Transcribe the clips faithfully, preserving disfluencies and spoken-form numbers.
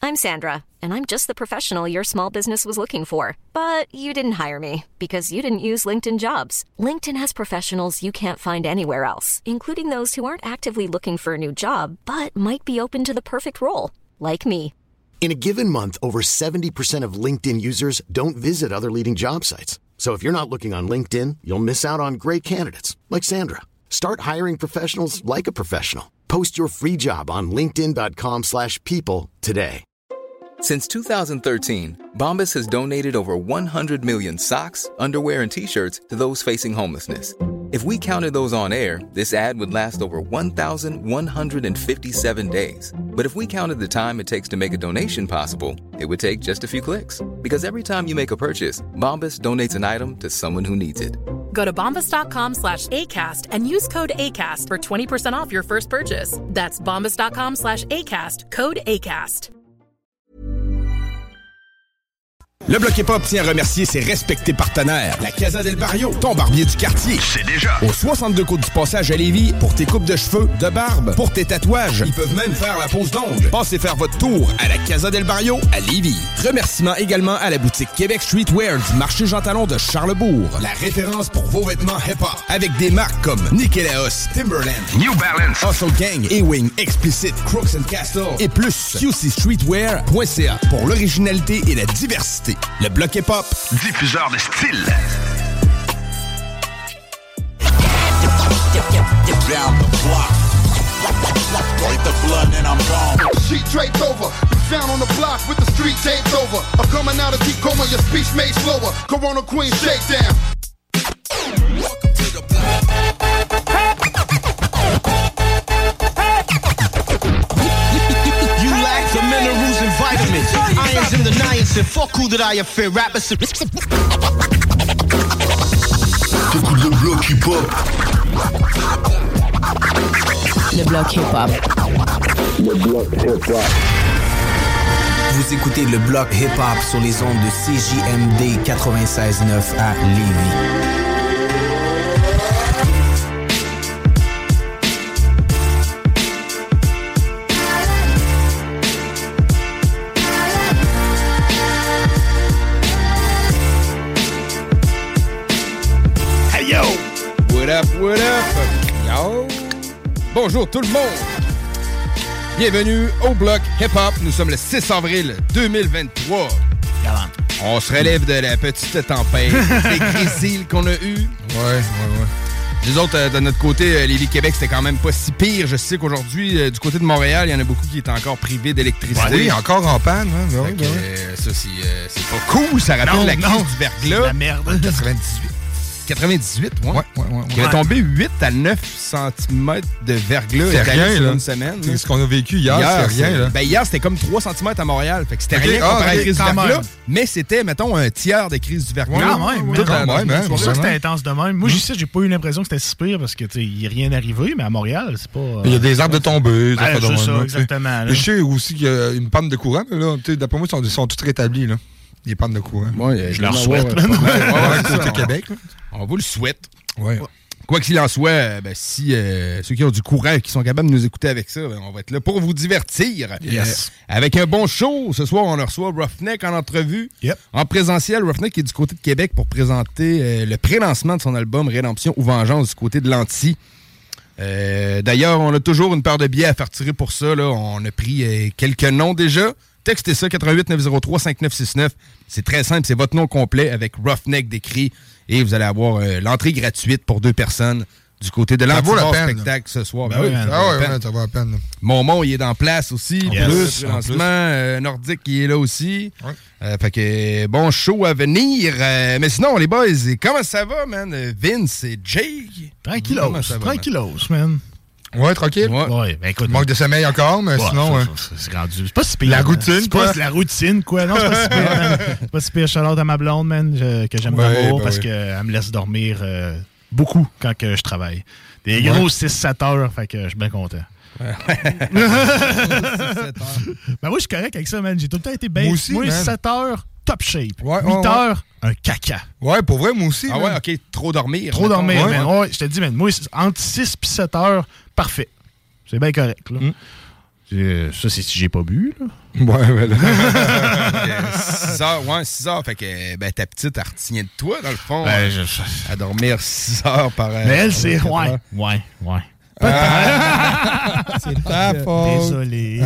I'm Sandra, and I'm just the professional your small business was looking for. But you didn't hire me because you didn't use LinkedIn Jobs. LinkedIn has professionals you can't find anywhere else, including those who aren't actively looking for a new job, but might be open to the perfect role, like me. In a given month, over seventy percent of LinkedIn users don't visit other leading job sites. So if you're not looking on LinkedIn, you'll miss out on great candidates like Sandra. Start hiring professionals like a professional. Post your free job on linkedin dot com slash people today. Since two thousand thirteen, Bombas has donated over one hundred million socks, underwear, and T-shirts to those facing homelessness. If we counted those on air, this ad would last over one thousand one hundred fifty-seven days. But if we counted the time it takes to make a donation possible, it would take just a few clicks. Because every time you make a purchase, Bombas donates an item to someone who needs it. Go to bombas.com slash ACAST and use code ACAST for twenty percent off your first purchase. That's bombas.com slash ACAST, code ACAST. Le Bloc Hip-Hop tient à remercier ses respectés partenaires. La Casa del Barrio, ton barbier du quartier. C'est déjà. Au soixante-deux côtes du Passage à Lévis, pour tes coupes de cheveux, de barbe, pour tes tatouages. Ils peuvent même faire la pose d'ongles. Passez faire votre tour à la Casa del Barrio à Lévis. Remerciements également à la boutique Québec Streetwear du marché Jean Talon de Charlesbourg. La référence pour vos vêtements hip-hop. Avec des marques comme Nikélaos, Timberland, New Balance, Hustle Gang, A-Wing, Explicit, Crooks and Castle et plus. Q C Streetwear point C A pour l'originalité et la diversité. Le Bloc Hip-Hop, diffuseur de style. Down the block. Break the blood and I'm gone. Sheet draped over. You found on the block with the street taped over. I'm coming out of deep coma, your speech made slower. Corona Queen shakedown. Welcome to the block. You lack the minerals and vitamins. Irons in the niacin. Fuck who that I fear. Rappers. T'écoutes le bloc hip-hop. Le bloc hip-hop. Le bloc hip-hop. Vous écoutez le bloc hip-hop sur les ondes de C J M D quatre-vingt-seize neuf à Lévis. What up, what up? Yo! Bonjour tout le monde! Bienvenue au Bloc Hip-Hop. Nous sommes le six avril deux mille vingt-trois. Galant. On se relève de la petite tempête des grésilles qu'on a eues. Ouais, ouais, ouais. Les autres, euh, de notre côté, euh, Lévis-Québec, c'était quand même pas si pire. Je sais qu'aujourd'hui, euh, du côté de Montréal, il y en a beaucoup qui étaient encore privés d'électricité. Ouais, oui, encore en panne. Hein? Fait que, euh, ça, c'est, euh, c'est pas cool. Ça rappelle non, la crise non, du verglas. C'est la merde. quatre-vingt-dix-huit. quatre-vingt-dix-huit, ouais. Ouais, ouais, ouais, ouais. Qui avait tombé huit à neuf centimètres de verglas. C'est rien, sur là. une semaine. C'est ce qu'on a vécu hier, hier c'est rien, là. Ben, hier, c'était comme trois centimètres à Montréal. Fait que c'était Okay. rien Ah, comparé à la okay, crise du quand verglas. même. Mais c'était, mettons, un tiers des crises du verglas. Ouais, quand même. Tout quand même, hein, C'est pour ça que vraiment. c'était intense de même. Moi, juste, j'ai pas eu l'impression que c'était si pire parce que il n'y a rien arrivé, mais à Montréal, c'est pas. Euh... Il y a des arbres de tombés. Ben, ça, c'est ça, là, exactement. Je sais aussi qu'il y a une panne de courant, mais là, d'après moi, ils sont, ils sont tous rétablis, là. Les pannes de courant. Ouais, je leur souhaite. Ouais, ouais, ouais, côté Québec. On vous le souhaite. Ouais. Quoi qu'il en soit, ben, si euh, ceux qui ont du courant et qui sont capables de nous écouter avec ça, ben, on va être là pour vous divertir. Yes. Euh, avec un bon show. Ce soir, on reçoit Roughneck en entrevue. Yep. En présentiel, Roughneck est du côté de Québec pour présenter euh, le pré-lancement de son album Rédemption ou Vengeance du côté de l'Anti. Euh, d'ailleurs, on a toujours une paire de billets à faire tirer pour ça. Là. On a pris euh, quelques noms déjà. Textez ça, quatre un huit neuf zéro trois cinq neuf six neuf. C'est très simple, c'est votre nom complet avec Roughneck décrit. Et vous allez avoir euh, l'entrée gratuite pour deux personnes du côté de l'Anti-Bar spectacle ce soir. Ben oui, ça, ah vaut ouais, la peine. ouais, ça vaut la peine. Momon, il est en place aussi. En Yes. plus, Le en lancement plus. euh, nordique, il est là aussi. Ouais. Euh, fait que bon show à venir. Euh, mais sinon, les boys, comment ça va, man? Vince et Jay? Tranquillos, Comment ça va, man? tranquillos, man. Ouais, tranquille. Ouais. Ouais, ben écoute. Manque de sommeil encore, mais ouais, sinon. ça, ouais. ça, c'est rendu. C'est pas si pire. La man. routine, c'est quoi. Pas, la routine, quoi. Non, c'est pas si pire, man. C'est pas si pire. Shout-out à ma blonde, man, je- que j'aime Ouais, d'amour ben parce oui. qu'elle me laisse dormir euh, beaucoup quand que je travaille. Des gros Ouais. six sept heures, fait que je suis bien content. Ben moi, je suis correct avec ça, man. J'ai tout le temps été bien. Moi aussi, man. sept heures, top shape. Ouais, huit ouais, ouais. heures, un caca. Ouais, pour vrai, moi aussi. Ah man. ouais, ok, trop dormir. Trop mettons. dormir, ouais, man. Ouais, je te dis, man. Moi, c'est entre six et sept heures, parfait. C'est bien correct, là. Mm. Euh, ça, c'est si j'ai pas bu, là. Ouais, ouais, là. six heures, ouais, six heures. Fait que ben, ta petite, elle retient de toi, dans le fond. Ben, je... À dormir six heures par... Mais elle, c'est... Ouais, ouais, ouais. Ah, c'est ta faute. Désolé.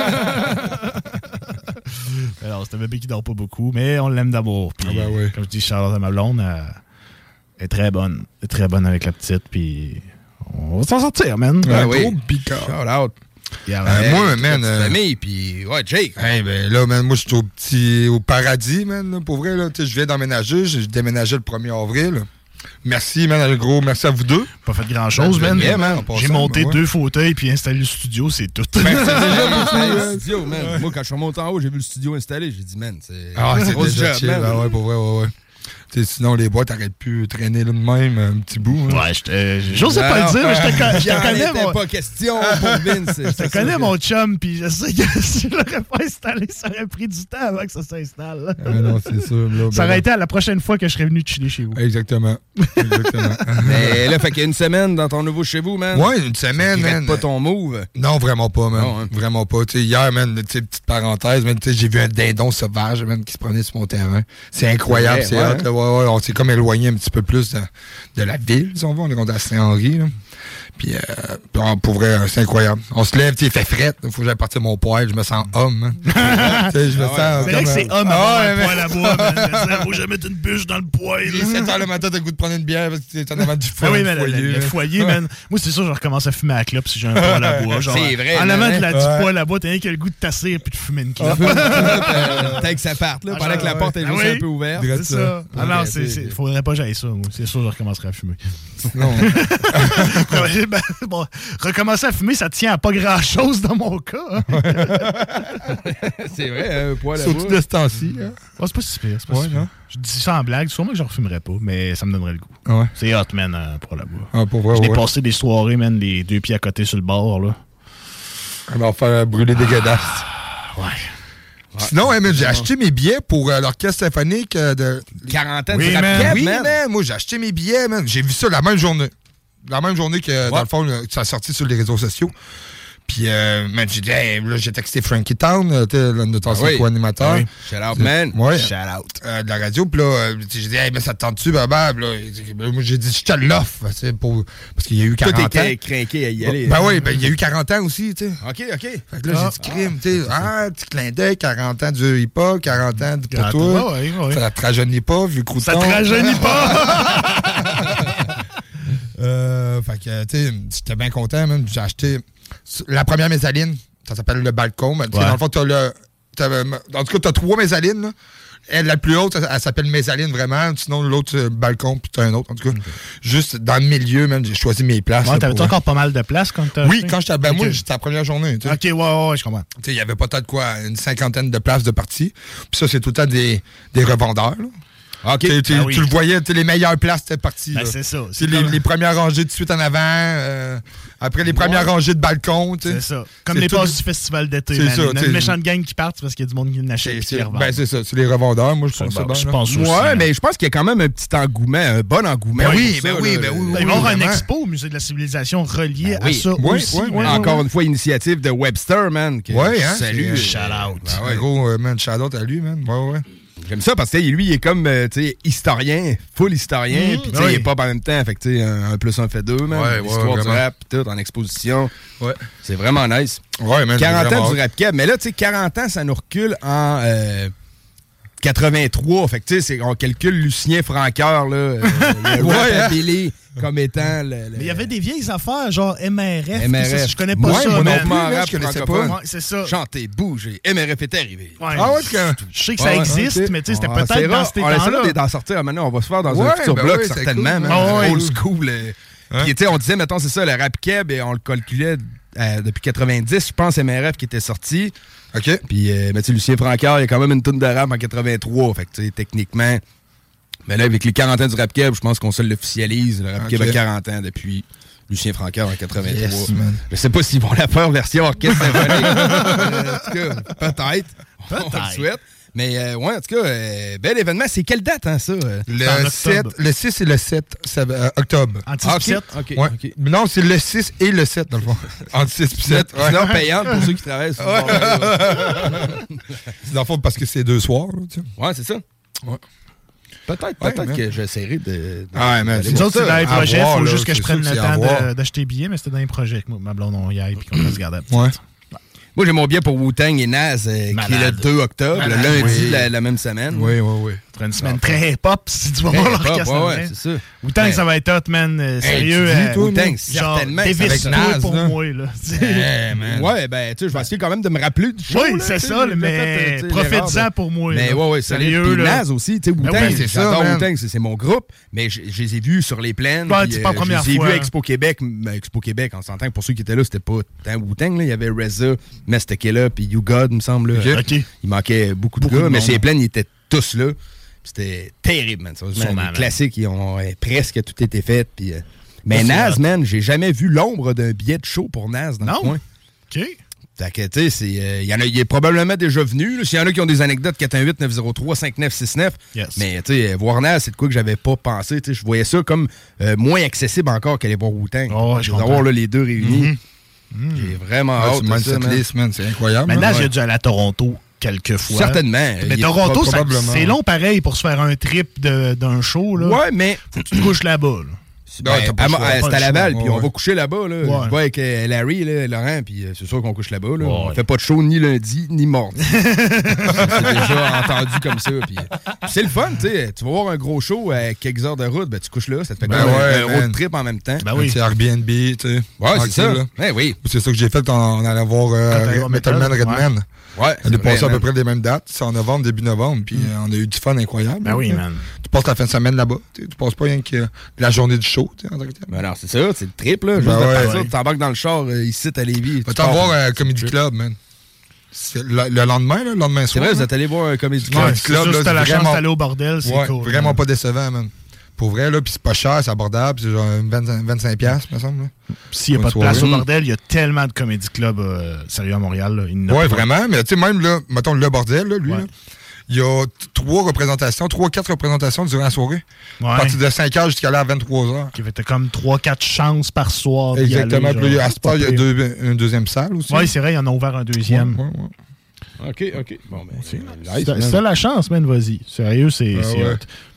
Alors, c'est un bébé qui dort pas beaucoup, mais on l'aime d'amour. Puis, ah ben oui. comme je dis, Charlotte à ma blonde, elle est très bonne. Elle est très bonne avec la petite, puis on va s'en sortir, man. Ah, un oui. gros bicard. Shout out. Yeah, euh, hey, moi, man. Euh, famille, puis ouais, Jake. Hey, ben là, man, moi, je suis au petit, au paradis, man, là, pour vrai, là. Je viens d'emménager, j'ai déménagé le premier avril. Là. Merci, man, un gros merci à vous deux. Pas fait grand-chose, man. Bien, man. J'ai monté ouais. deux fauteuils puis installé le studio, c'est tout. Ben, c'est déjà beaucoup, le studio, man. Ouais. Moi, quand je suis monté en haut, j'ai vu le studio installé. J'ai dit, man, c'est ah, c'est grosse déjà job, chill, man. Ah, ouais, pour vrai, ouais, ouais. T'sais, sinon, les boîtes t'arrêtes pu traîner là de même un petit bout. Hein. Ouais, j'osais pas le dire, mais je te, con- je te connais. Mon... pas question pour Vince. Je te connais, mon chum, puis je sais que si je l'aurais pas installé, ça aurait pris du temps avant que ça s'installe. Ah, non, c'est sûr. Là, ça ben aurait été à la prochaine fois que je serais venu chiller chez vous. Exactement. Exactement. Mais là, fait qu'il y a une semaine dans ton nouveau chez vous, man. Ouais, une semaine, man. pas ton move. Non, vraiment pas, man. Non, hein. Vraiment pas. T'sais, hier, man, t'sais, petite parenthèse, man, j'ai vu un dindon sauvage, man, qui se promenait sur mon terrain. C'est incroyable, c'est hot. Ouais, ouais, on s'est comme éloigné un petit peu plus de, de la ville, si on veut. On est rendu à Saint-Henri, là. Puis, euh, pour vrai, c'est incroyable. On se lève, il fait fret. Il faut que j'aille partir mon poêle. Je me sens homme. Hein. je me ah ouais, sens c'est vrai que c'est homme à ah avoir un poêle à bois. Il faut jamais mettre une bûche dans le poêle. Il est sept heures le matin, t'as le goût de prendre une bière parce que t'es en avant du ah oui, foyer. Le, le, le foyer, man. Moi, c'est sûr, je recommence à fumer à la clope si j'ai un poêle à bois. Genre, c'est vrai. En avant de la du poêle à bois, t'as rien que le goût de tasser et puis de fumer une clope. T'as que ça parte, là, pendant que la porte est juste un peu ouverte. C'est ça. Ah non, il faudrait pas que j'aille ça. C'est sûr, je recommencerai à fumer. Non. Bon, recommencer à fumer, ça tient à pas grand-chose dans mon cas. Hein. C'est vrai, un poil à bois. Surtout de ce temps-ci. Hein? Oh, c'est pas si pire. C'est pas ouais, si pire. Je dis ça en blague. Sûrement que je ne refumerais pas, mais ça me donnerait le goût. Ouais. C'est hot, man, un poil à bois. Ah, pour vrai, J'ai ouais. passé des soirées, man, les deux pieds à côté sur le bord. Là. On va faire brûler des godasses. Ouais. Ouais. Sinon, hey, man, j'ai acheté mes billets pour euh, l'orchestre symphonique euh, de... quarante ans oui, de man. Cap, Oui, man. man. Moi, j'ai acheté mes billets, man. J'ai vu ça la même journée. La même journée que, ouais. Dans le fond, là, ça a sorti sur les réseaux sociaux. Puis, euh, man, j'ai dit, hey, là, j'ai texté Frankie Town, notre ancien ah oui. co-animateur. Ah oui. Shout out, man. Ouais. Shout out. Euh, de la radio. Puis là, euh, j'ai dit, hey, mais ça te tente-tu, Baba? Là, moi, j'ai dit, je te l'offre. Pour... Parce qu'il y a eu quarante ans. Toi, t'es craqué à y aller. Ben oui, ben, il y a eu quarante ans aussi, tu sais. OK, OK. Fait que là, ah, j'ai dit, crime, tu sais. Ah, petit clin d'œil, quarante ans du hip-hop, quarante ans pour ah, toi. Ouais, ouais. Ça te rajeunit pas, vu le crouton. Ça te rajeunit pas! euh, fait que, tu sais, j'étais bien content, même. J'ai acheté la première mésaline. Ça s'appelle le balcon. Ouais. Dans le fond, t'as le. T'as, en tout cas, t'as trois mésalines, là. Elle, la plus haute, elle, elle s'appelle mésaline, vraiment. Sinon, l'autre, c'est balcon, puis t'as un autre. En tout cas, okay. Juste dans le milieu, même, j'ai choisi mes places. Ouais, t'avais-tu encore pas mal de places quand t'as Oui, acheté? quand j'étais. Ben, okay. Moi, j'étais la première journée. T'sais. OK, ouais, ouais, ouais, je comprends. Tu sais, il y avait peut-être quoi, une cinquantaine de places de parties. Puis ça, c'est tout le temps des, des revendeurs, là. Okay. Tu, ah oui. tu le voyais, les meilleures places étaient parties. Ben, c'est ça. C'est les, comme... les premières rangées de suite en avant. Euh, après les premières ouais. rangées de balcon. C'est ça. Comme c'est les passes tout... du festival d'été. C'est man. Ça. Il y a une méchante gang qui part parce qu'il y a du monde qui n'achète et qui les revend. Ben, c'est ça. C'est les revendeurs. Moi, je pense ça. Bon, je pense aussi. Ouais, mais je pense qu'il y a quand même un petit engouement, un bon engouement. Ben oui, ben oui, ben oui. Il va y avoir un expo au Musée de la Civilisation relié à ça aussi. Encore une fois, initiative de Webster, man. Ouais, hein. Salut. Shout out. Gros, man, shout out à lui, man. Ouais, ouais. J'aime ça parce que lui, il est comme euh, historien, full historien, mmh, puis oui. Il est pop en même temps, fait que un, un plus un fait deux, man. Ouais, l'histoire ouais, du rap, tout en exposition. Ouais. C'est vraiment nice. Ouais, man, quarante ans du rap cab, mais là, tu sais, quarante ans, ça nous recule en euh, quatre-vingt-trois, fait que tu sais, on calcule Lucien Francoeur, là, euh, le ouais, rap-abilité hein? Comme étant le, le... Mais il y avait des vieilles affaires, genre M R F. M R F. Ça, je connais pas ouais, ça. Moi non plus, là, je connaissais pas. Ouais, c'est ça. Chanter, bouger. M R F est arrivé. Ouais. Ah ouais, que... Je sais que ça ouais, existe, okay. Mais tu sais, c'était ouais, peut-être dans ces temps-là. On essaie d'en sortir. Maintenant, on va se faire dans ouais, un futur ben bloc, oui, certainement. Cool, man, ouais, old school. Euh, hein? Puis, tu sais, on disait, mettons, c'est ça, le rap keb, et on le calculait euh, depuis quatre-vingt-dix, je pense, M R F qui était sorti. OK. Puis, euh, mais tu sais, Lucien Francoeur, il y a quand même une toune de rap en quatre-vingt-trois. Fait que, tu sais, techniquement... Mais là, avec les quarante ans du rap keb, je pense qu'on se l'officialise. Le rap keb okay. a quarante ans depuis Lucien Francoeur en quatre-vingt-trois. Yes, je sais pas s'ils vont la faire version orchestre symphonique. En tout cas, peut-être. On le souhaite. Mais euh, ouais, en tout cas, euh, bel événement. C'est quelle date, hein, ça? Le, sept, le six et le sept ça, euh, octobre. Entre six et sept? OK. Ouais. okay. Non, c'est le six et le sept, dans le fond. Entre six et sept. Ouais. Sinon, payante pour ceux qui travaillent. Sur le c'est dans le fond parce que c'est deux soirs. Là, tu sais. Ouais, c'est ça. Ouais. Peut-être, peut-être ouais, que j'essaierai de. de ah, mais nous autres, c'est dans les projets. Il faut juste que je prenne le temps d'acheter billets, mais c'était dans les projets que ma blonde, on y aille et qu'on va se garder à petite. Ouais. Moi, j'ai mon billet pour Wu-Tang et Nas, euh, qui est le deux octobre, Malade. le lundi oui. la, la même semaine. Oui, oui, oui. C'est une semaine très hip-hop, si tu vas voir l'orchestre. Ouais, ouais, c'est ça. Wu-Tang, ouais. ça va être hot, man. Euh, sérieux. Hey, euh, toi, Wu-Tang, certainement. Avec Nas, pour là. moi, là. Hey, man. Ouais, ben, tu sais, je vais essayer quand même de me rappeler du show. Oui, c'est ça, mais profite-en pour moi. Mais ouais, ouais, sérieux. Puis Nas aussi, tu sais, Wu-Tang, j'adore Wu-Tang, c'est mon groupe, mais je les ai vus sur les plaines. C'est pas la première fois. Je les ai vus à Expo Québec. Expo Québec, on s'entend que pour ceux qui étaient là, c'était pas tant Wu-Tang, il y avait Reza, Mestekela, puis You God, il me semble. Okay. Okay. Il manquait beaucoup de beaucoup gars, de mais chez les plaines, ils étaient tous là. C'était terrible, man. Les classiques, ils ont euh, presque tout été fait. Puis, euh... Mais Nas, man, j'ai jamais vu l'ombre d'un billet de show pour Nas dans non. le coin. OK. Fait que, tu sais, il euh, y en a, il est probablement déjà venu. S'il y en a qui ont des anecdotes, quatre un huit neuf zéro trois cinq neuf six neuf. Yes. Mais, tu sais, voir Nas, c'est de quoi que j'avais pas pensé. Je voyais ça comme euh, moins accessible encore qu'aller voir Wu-Tang. Oh, je avoir là, les deux réunis. Mm-hmm. Mm. J'ai vraiment ouais, hâte de ça, man. List, man. C'est incroyable. Maintenant, ouais. j'ai dû aller à Toronto quelques fois. Certainement. Mais il Toronto, ça, c'est long pareil pour se faire un trip de, d'un show. Là. Ouais, mais... Faut que tu te couches là-bas. Là. Ben, à, à, c'est à Laval, puis ouais. on va coucher là-bas. Là. Ouais. Je vois avec euh, Larry, là, Laurent, puis euh, c'est sûr qu'on couche là-bas. Là. Ouais. On fait pas de show ni lundi, ni mardi. c'est, c'est déjà entendu comme ça. Puis, euh, c'est le fun, tu sais. Tu vas voir un gros show à quelques heures de route, ben, tu couches là, ça te fait ben comme ouais, un, un road trip en même temps. Ben oui. C'est Airbnb, tu sais. Ouais, c'est ça. Ben oui. C'est ça que j'ai fait en, en allant voir euh, Metal Man Redman. Ouais. Ouais, on est passé à peu près les mêmes dates. C'est en novembre, début novembre. Puis mm. euh, on a eu du fun incroyable. Ben oui, man. Tu passes la fin de semaine là-bas. Tu passes pas rien que la journée du show. En tant que ben non, c'est ça. C'est le trip, là. Juste ben ouais, de ouais. Tu t'embarques dans le char euh, ici à Lévis. Va t'en voir un Comedy Club, man. C'est le, le lendemain, là, le lendemain soir. C'est vrai, vous êtes allé voir un Comedy Club. Ouais, Club c'est juste là, la vraiment... chance d'aller au bordel, c'est ouais, cool. Vraiment man. Pas décevant, man. Pour vrai, là, puis c'est pas cher, c'est abordable, c'est genre vingt-cinq piastres, me semble. S'il n'y a pas de place au bordel, il y a tellement de comédie club euh, sérieux à Montréal. Là, oui, pas. Vraiment, mais tu sais, même là, mettons le bordel, là, lui, ouais. là, il y a trois représentations, trois, quatre représentations durant la soirée. Ouais. À partir de cinq heures jusqu'à là à vingt-trois heures. Qui fait comme trois, quatre chances par soir. Exactement. Puis là, à ce part, il y a deux, une deuxième salle aussi. Oui, c'est vrai, il y en a ouvert un deuxième. Ouais, ouais, ouais. OK, OK. Bon, ben, c'est nice, t'as la chance, man, vas-y. Sérieux, c'est ah, ouais.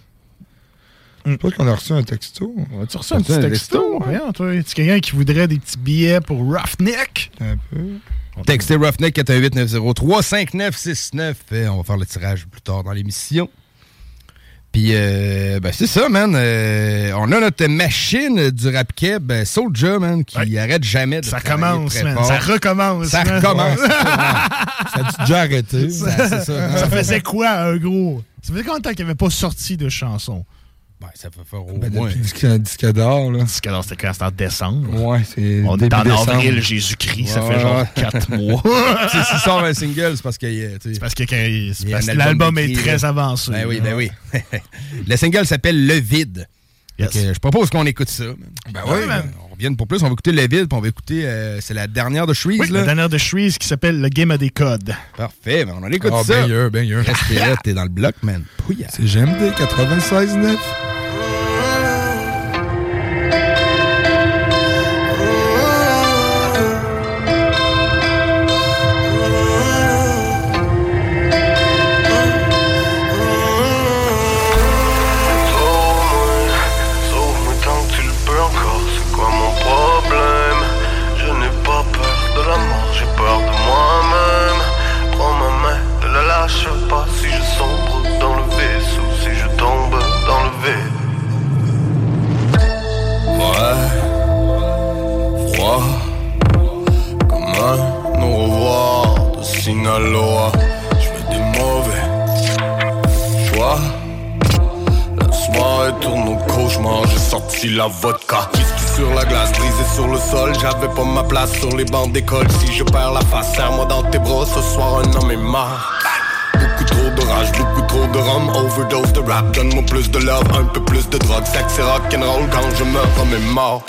Je pense qu'on a reçu un texto. On a-tu reçu un petit texto? Rien, toi. Es-tu quelqu'un qui voudrait des petits billets pour Roughneck? Un peu. Textez Roughneck quatre un huit neuf zéro trois cinq neuf six neuf. On va faire le tirage plus tard dans l'émission. Puis, euh, ben c'est ça, man. Euh, on a notre machine du rap keb, Soulja, man, qui ouais. arrête jamais de ça commence, très man. fort. Ça recommence. Ça man. recommence. Ouais. Ça a déjà arrêté. Ça, c'est ça, ça faisait quoi, un gros? Ça faisait combien de temps qu'il n'y avait pas sorti de chanson? Ben, ça fait faire au ben, moins. Disque, disque d'or, là. Disque d'or, c'était quand? C'était en décembre. Ouais, c'est. On est en avril, Jésus-Christ, ouais. Ça fait genre quatre mois. S'il sort un single, c'est parce que. C'est parce que, c'est parce que l'album est très là. Avancé. Ben oui, ben oui. Le single s'appelle Le Vide. Yes. Je propose qu'on écoute ça. Ben oui, man. On revient pour plus. On va écouter Le Vide, puis on va écouter. Euh, c'est la dernière de Shreeze, oui, là. La dernière de Shreeze qui s'appelle Le Game a des codes. Parfait, ben on en écoute oh, ça. Ben sûr, ben sûr. Restez là, t'es dans le bloc, man. Pouya. C'est G M D quatre-vingt-seize neuf. Je sais pas si je sombre dans le vaisseau, si je tombe dans le vide. Ouais, froid, comme un au revoir de Sinaloa. Je fais des mauvais choix. La soirée tourne au cauchemar, j'ai sorti la vodka. Whisky sur la glace, brisé sur le sol. J'avais pas ma place sur les bancs d'école. Si je perds la face, serre-moi dans tes bras. Ce soir un homme est mort. Beaucoup trop de rage, beaucoup trop de rhum. Overdose de rap, donne-moi plus de love. Un peu plus de drogue, sexe et rock'n'roll. Quand je meurs, homme est mort.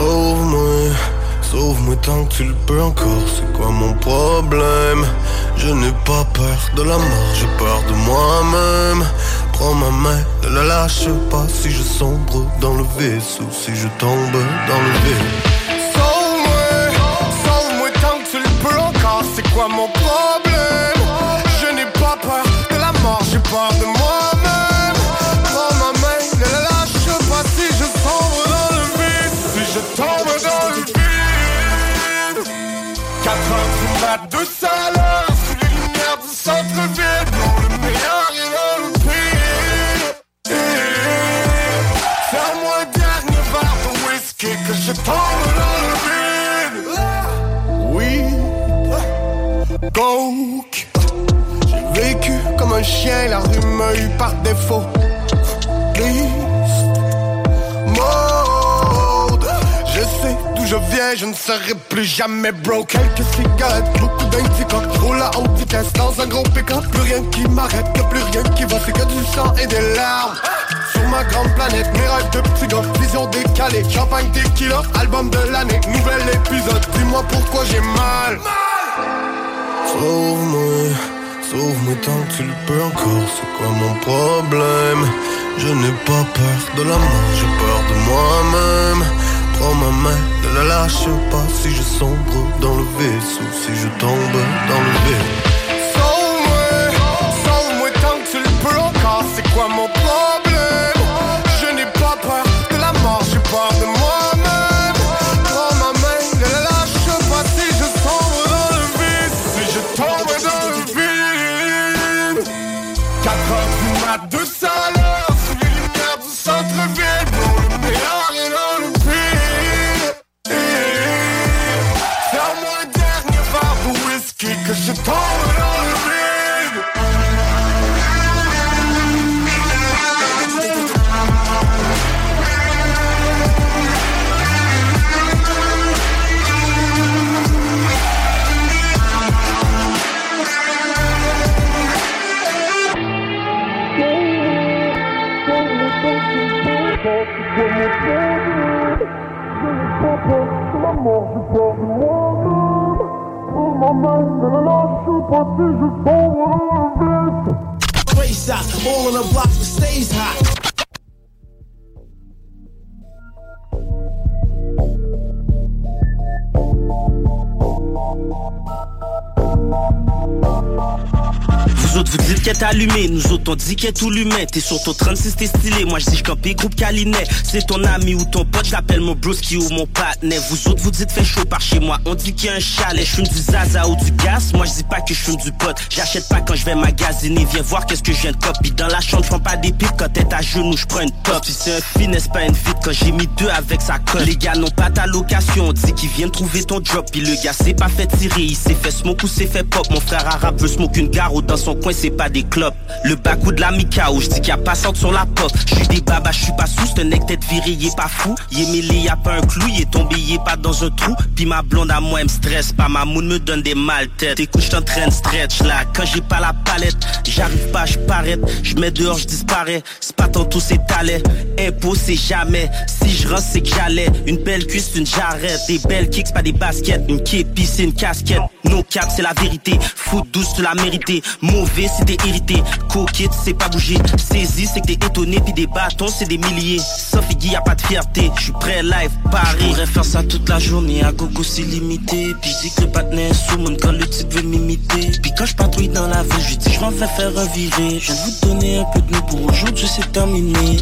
Sauve-moi, sauve-moi tant que tu le peux encore. C'est quoi mon problème? Je pas peur de la mort, j'ai peur de moi-même. Prends ma main, ne la lâche pas. Si je sombre dans le vaisseau, si je tombe dans le vide. Sauve-moi, sauve-moi tant que tu le peux encore. C'est quoi mon problème? Je n'ai pas peur de la mort, j'ai peur de moi-même. Prends ma main, ne la lâche pas. Si je sombre dans le vide, si je tombe dans le vide. Quatre heures du mat, deux salades sous les lumières du centre-ville. Non, le meilleur est dans le pire. Serre-moi un dernier verre de whisky que je tombe dans le vide. Oui, coke. J'ai vécu comme un chien, la rue m'a eu par défaut. Triste, mode. Je sais d'où je viens, je ne serai plus jamais broke. Quelques cigarettes, beaucoup d'indica. Je roule à haute vitesse dans un gros pick-up. Plus rien qui m'arrête, y'a plus rien qui va. C'est que du sang et des larmes. Sur ma grande planète, mes rêves de petits gars. Vision décalée, champagne, tequila. Album de l'année, nouvel épisode. Dis-moi pourquoi j'ai mal. Sauve-moi, sauve-moi tant que tu le peux encore. C'est quoi mon problème? Je n'ai pas peur de la mort, j'ai peur de moi-même. Prends ma main, ne la lâche pas. Si je sombre dans le vaisseau, si je tombe dans le vide. Sauve-moi, sauve-moi tant que tu le peux encore. C'est quoi mon problème? Je n'ai pas peur de la mort, j'ai peur de moi-même. Prends ma main, ne la lâche pas. Si je sombre dans le vide, si je tombe dans le vide. Quatre heures du mat, deux salades sous les lumières du centre-ville. Pour le meilleur et dans le pire. Serre-moi un dernier verre de whisky que je tombe dans le vide. Race out, all on the block that stays hot. Vous autres vous dites qu'elle est allumée, nous autres on dit qu'elle est tout l'humain. T'es sur ton trente-six t'es stylé, moi je dis j'campé groupe Calinet. C'est ton ami ou ton pote, j'appelle mon broski ou mon partner. Vous autres vous dites fait chaud par chez moi, on dit qu'il y a un chalet. J'fume du zaza ou du gaz, moi je dis pas que j'fume du pot. J'achète pas quand je vais magasiner, viens voir qu'est-ce que je viens de copie. Dans la chambre j'prends pas des pipes, quand t'es à genoux j'prends une top. Si c'est un finesse pas une vite, quand j'ai mis deux avec sa colle. Les gars n'ont pas ta location, on dit qu'ils viennent trouver ton drop. Puis le gars s'est pas fait tirer, il s'est fait smoke ou s'est fait pop. Mon frère arabe veut smoke une garo dans son coin, c'est pas des clopes. Le bac ou de la Mikao, j'dis qu'il y a passante sur la pop. J'suis des babas, j'suis pas sous, c'est un nec tête viré, il est pas fou. Il est mêlé, y'a pas un clou, il est tombé, il est pas dans un trou. Puis ma blonde à moi, elle me stresse pas, ma moune me donne des mal têtes. Écoute, j't'entraîne stretch là, quand j'ai pas la palette, j'arrive pas, j'paraît, j'mets dehors, j'disparais. C'est pas tantôt, c'est talent, impôt c'est jamais. Si j'rentre, c'est que j'allais. Une belle cuisse, une jarrette. Des belles kicks, pas des baskets. Une képi, c'est une casquette. No cap, c'est la vérité. Foot douce, tu l'as mérité. Mauvais, c'est t'es irrité. Coquette, c'est pas bouger. Saisi, c'est que t'es étonné. Puis des bâtons, c'est des milliers. Sauf Iggy, y'a pas de fierté. J'suis prêt live, Paris. J'pourrais faire ça toute la journée. À gogo, c'est limité. Puis j'dis que le patinet est sous mon quand le type veut m'imiter. Puis quand j'patrouille dans la ville, j'lui dis j'm'en vais faire un viré. Je viens de vous donner un peu de nous pour aujourd'hui, c'est terminé.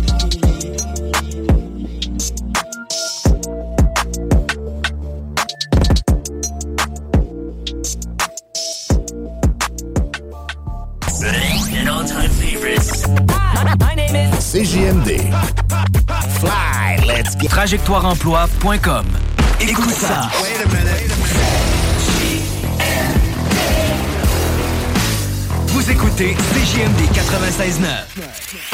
C J M D. Fly, let's get. trajectoire emploi point com. Écoute ça. Vous écoutez C J M D quatre-vingt-seize neuf.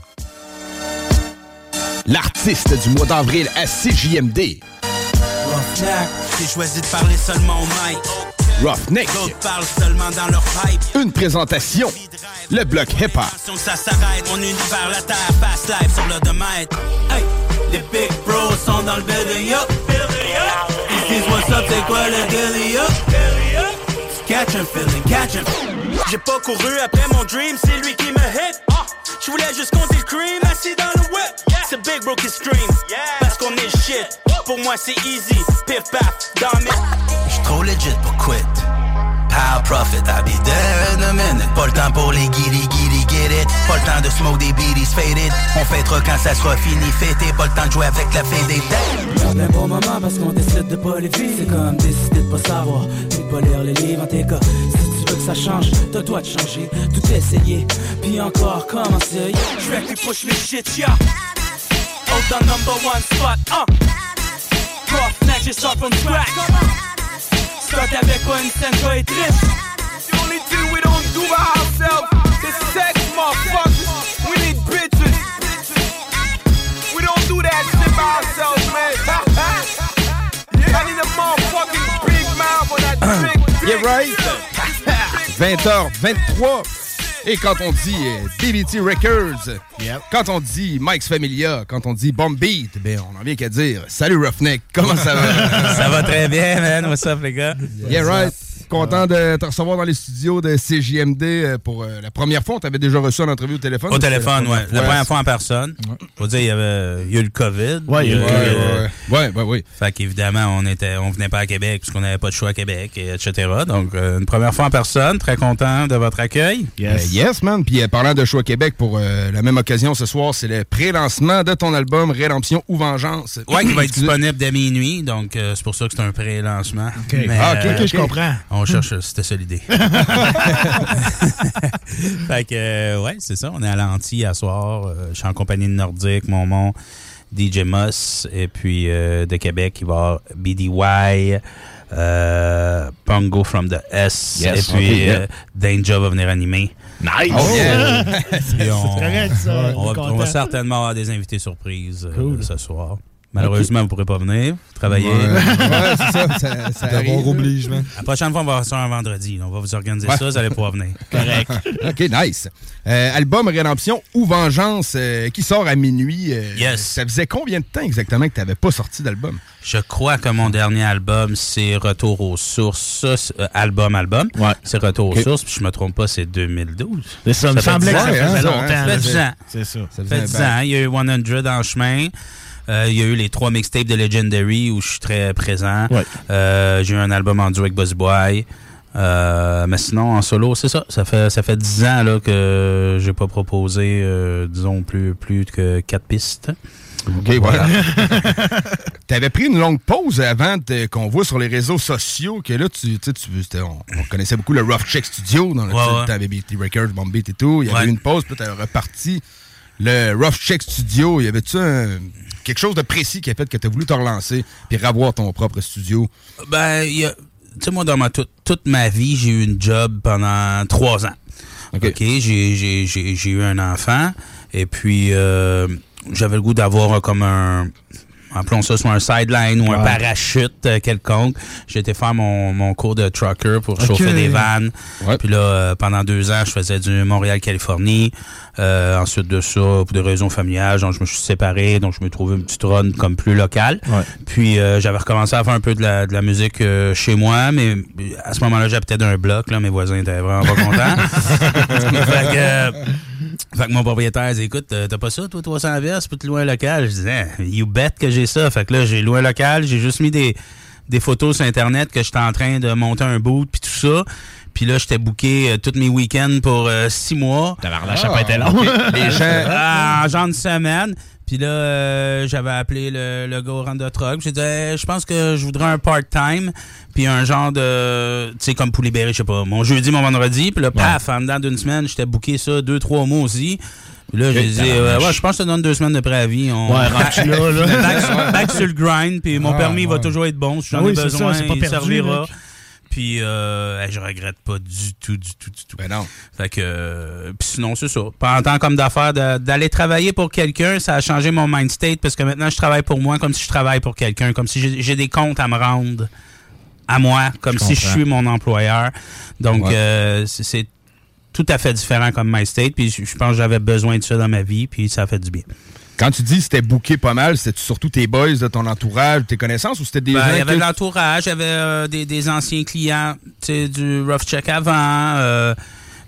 L'artiste du mois d'avril à C J M D. Roughneck, j'ai choisi de parler seulement au mic. Roughneck. D'autres parlent seulement dans leur pipe. Une présentation. Le bloc hip-hop. Ça s'arrête, mon univers, la terre, fast life sur le domaine. Hey, les big bros sont dans le building up. Ils disent what's up, c'est quoi le deal up? Catch 'em, feeling, catch 'em. J'ai pas couru après mon dream, c'est lui qui me hit. Je voulais juste compter le cream, assis dans le whip. C'est Big Bro qui stream, parce qu'on est shit. Pour moi c'est easy, pif paf, dans mes... J'suis trop legit pour quit. Power profit, I'll be there in a minute. Pas le temps pour les guiris, guiris, get it. Pas le temps de smoke des beaties faded. On fêtera quand ça sera fini, fêté. Pas le temps de jouer avec la fée des dames. Garde un bon moment parce qu'on décide de pas les vivre. C'est comme décider de pas savoir, puis de pas lire les livres en tes cas. Si tu veux que ça change, t'as toi de changer. Tout essayer, puis encore commencer. J'vais plus push mes shit, yeah. Hold the number one spot, uh. Prof, next, je sors from scratch. Start avec pas une scène, toi et triste. The only thing we don't do by ourselves is sex, motherfuckers. We need bitches. We don't do that shit by ourselves, man. I need a motherfucking big mouth on that big dick. Yeah, right. vingt heures vingt-trois. Et quand on dit euh, D B T Records, yep. Quand on dit Mike's Familia, quand on dit Bomb Beat, ben on n'a rien qu'à dire. Salut Roughneck, comment ça va? Ça va très bien, man. What's up, les gars? Yeah, right. Content de te recevoir dans les studios de C J M D pour euh, la première fois. On t'avait déjà reçu en entrevue au téléphone. Au téléphone, oui. La première fois en personne. Ouais. Faut dire, il y avait il y a eu le COVID. Oui, il y a eu euh, oui, oui, oui. Fait qu'évidemment, on était, on venait pas à Québec puisqu'on n'avait pas de choix à Québec, et et cetera. Donc, euh, une première fois en personne. Très content de votre accueil. Yes, euh, yes man. Puis euh, parlant de choix à Québec, pour euh, la même occasion ce soir, c'est le pré-lancement de ton album Rédemption ou Vengeance. Oui, qui va être disponible dès minuit. Donc, euh, c'est pour ça que c'est un pré-lancement. Okay. Mais, ah, OK, euh, okay, je comprends. On cherche, c'était ça l'idée. Fait que, euh, ouais, c'est ça. On est à l'Anti à soir. Euh, je suis en compagnie de Nordique, Momon, D J Moss, et puis euh, de Québec, il va y avoir B D Y, euh, Pongo from the S, yes, et puis okay, yeah. euh, Danger va venir animer. Nice! Oh, yeah. on, c'est correct, ça. On, va, on va certainement avoir des invités surprises cool. euh, ce soir. Malheureusement, okay. vous ne pourrez pas venir travailler. Ouais, ouais c'est ça. ça, ça D'abord oblige, man. La prochaine fois, on va faire ça un vendredi. On va vous organiser ouais. ça, vous allez pouvoir venir. Correct. OK, nice. Euh, album Rédemption ou Vengeance euh, qui sort à minuit. Euh, yes. Ça faisait combien de temps exactement que tu n'avais pas sorti d'album? Je crois que mon dernier album, c'est Retour aux sources. Euh, album, album. Ouais. C'est Retour okay. aux sources. Puis je me trompe pas, c'est deux mille douze. C'est ça, ça me semblait que ça faisait hein, longtemps. Ça fait dix ans. C'est ça. Ça fait dix ans. Il y a eu cent en chemin. Euh, il y a eu les trois mixtapes de Legendary où je suis très présent. Ouais. Euh, j'ai eu un album en duo avec Buzz Boy. Euh, mais sinon, en solo, c'est ça. Ça fait ça fait dix ans là, que j'ai pas proposé, euh, disons, plus, plus que quatre pistes. OK, voilà. T'avais pris une longue pause avant de, qu'on voit sur les réseaux sociaux, que là, tu sais, tu, on, on connaissait beaucoup le Rough Check Studio, dans le ouais, ouais. temps avec B T Records, Bomb Beat et tout. Il y avait ouais. eu une pause, puis t'avais reparti. Le Rough Check Studio, y avait-tu un, quelque chose de précis qui a fait que tu as voulu te relancer puis revoir ton propre studio? Ben, tu sais, moi, dans ma, toute, toute ma vie, j'ai eu une job pendant trois ans. OK, okay j'ai, j'ai, j'ai, j'ai eu un enfant et puis euh, j'avais le goût d'avoir comme un... appelons ça soit un sideline ou un ouais. parachute euh, quelconque. J'ai été faire mon, mon cours de trucker pour okay. chauffer des vannes. Ouais. Puis là, euh, pendant deux ans, je faisais du Montréal-Californie. Euh, ensuite de ça, pour des raisons familiales, donc je me suis séparé, donc je me trouvais une petite run comme plus locale. Ouais. Puis euh, j'avais recommencé à faire un peu de la, de la musique euh, chez moi, mais à ce moment-là, j'habitais d'un bloc. Là, mes voisins étaient vraiment pas contents. fait que... Euh, Fait que mon propriétaire dit, écoute, t'as pas ça, toi, trois cents piastres, peux te louer un local? Je disais, you bet que j'ai ça. Fait que là, j'ai loué un local, j'ai juste mis des, des photos sur Internet que j'étais en train de monter un boot, puis tout ça. Puis là, j'étais booké euh, tous mes week-ends pour euh, six mois. T'avais la chape était long. Les gens, ah, en genre de semaine. Puis là, euh, j'avais appelé le, le gars au Randa Truck. J'ai dit, hey, je pense que je voudrais un part-time. Puis un genre de, tu sais, comme pour libérer, je sais pas, mon jeudi, mon vendredi. Puis là, paf, en dedans d'une semaine, j'étais booké ça deux, trois mois aussi. Puis là, j'ai dit, euh, ouais, je pense que je te donne deux semaines de préavis. On... Ouais, rentre là, là. Back, sur, back sur le grind. Puis mon ah, permis ouais. va toujours être bon. Si j'en oui, ai besoin, ça, c'est pas il perdu, servira. Mec. Puis euh, je regrette pas du tout, du tout, du tout. Ben non. Fait que, euh, puis sinon, c'est ça. Pas en tant comme d'affaires, de, d'aller travailler pour quelqu'un, ça a changé mon mind state parce que maintenant, je travaille pour moi comme si je travaille pour quelqu'un, comme si j'ai, j'ai des comptes à me rendre à moi, comme je si comprends. Je suis mon employeur. Donc, ouais. euh, c'est, c'est tout à fait différent comme mind state. Puis je, je pense que j'avais besoin de ça dans ma vie, puis ça a fait du bien. Quand tu dis que c'était booké pas mal, c'était surtout tes boys de ton entourage, tes connaissances, ou c'était des ben, gens il y avait que... de l'entourage, il y avait euh, des, des anciens clients, tu sais, du Rough Check avant, euh,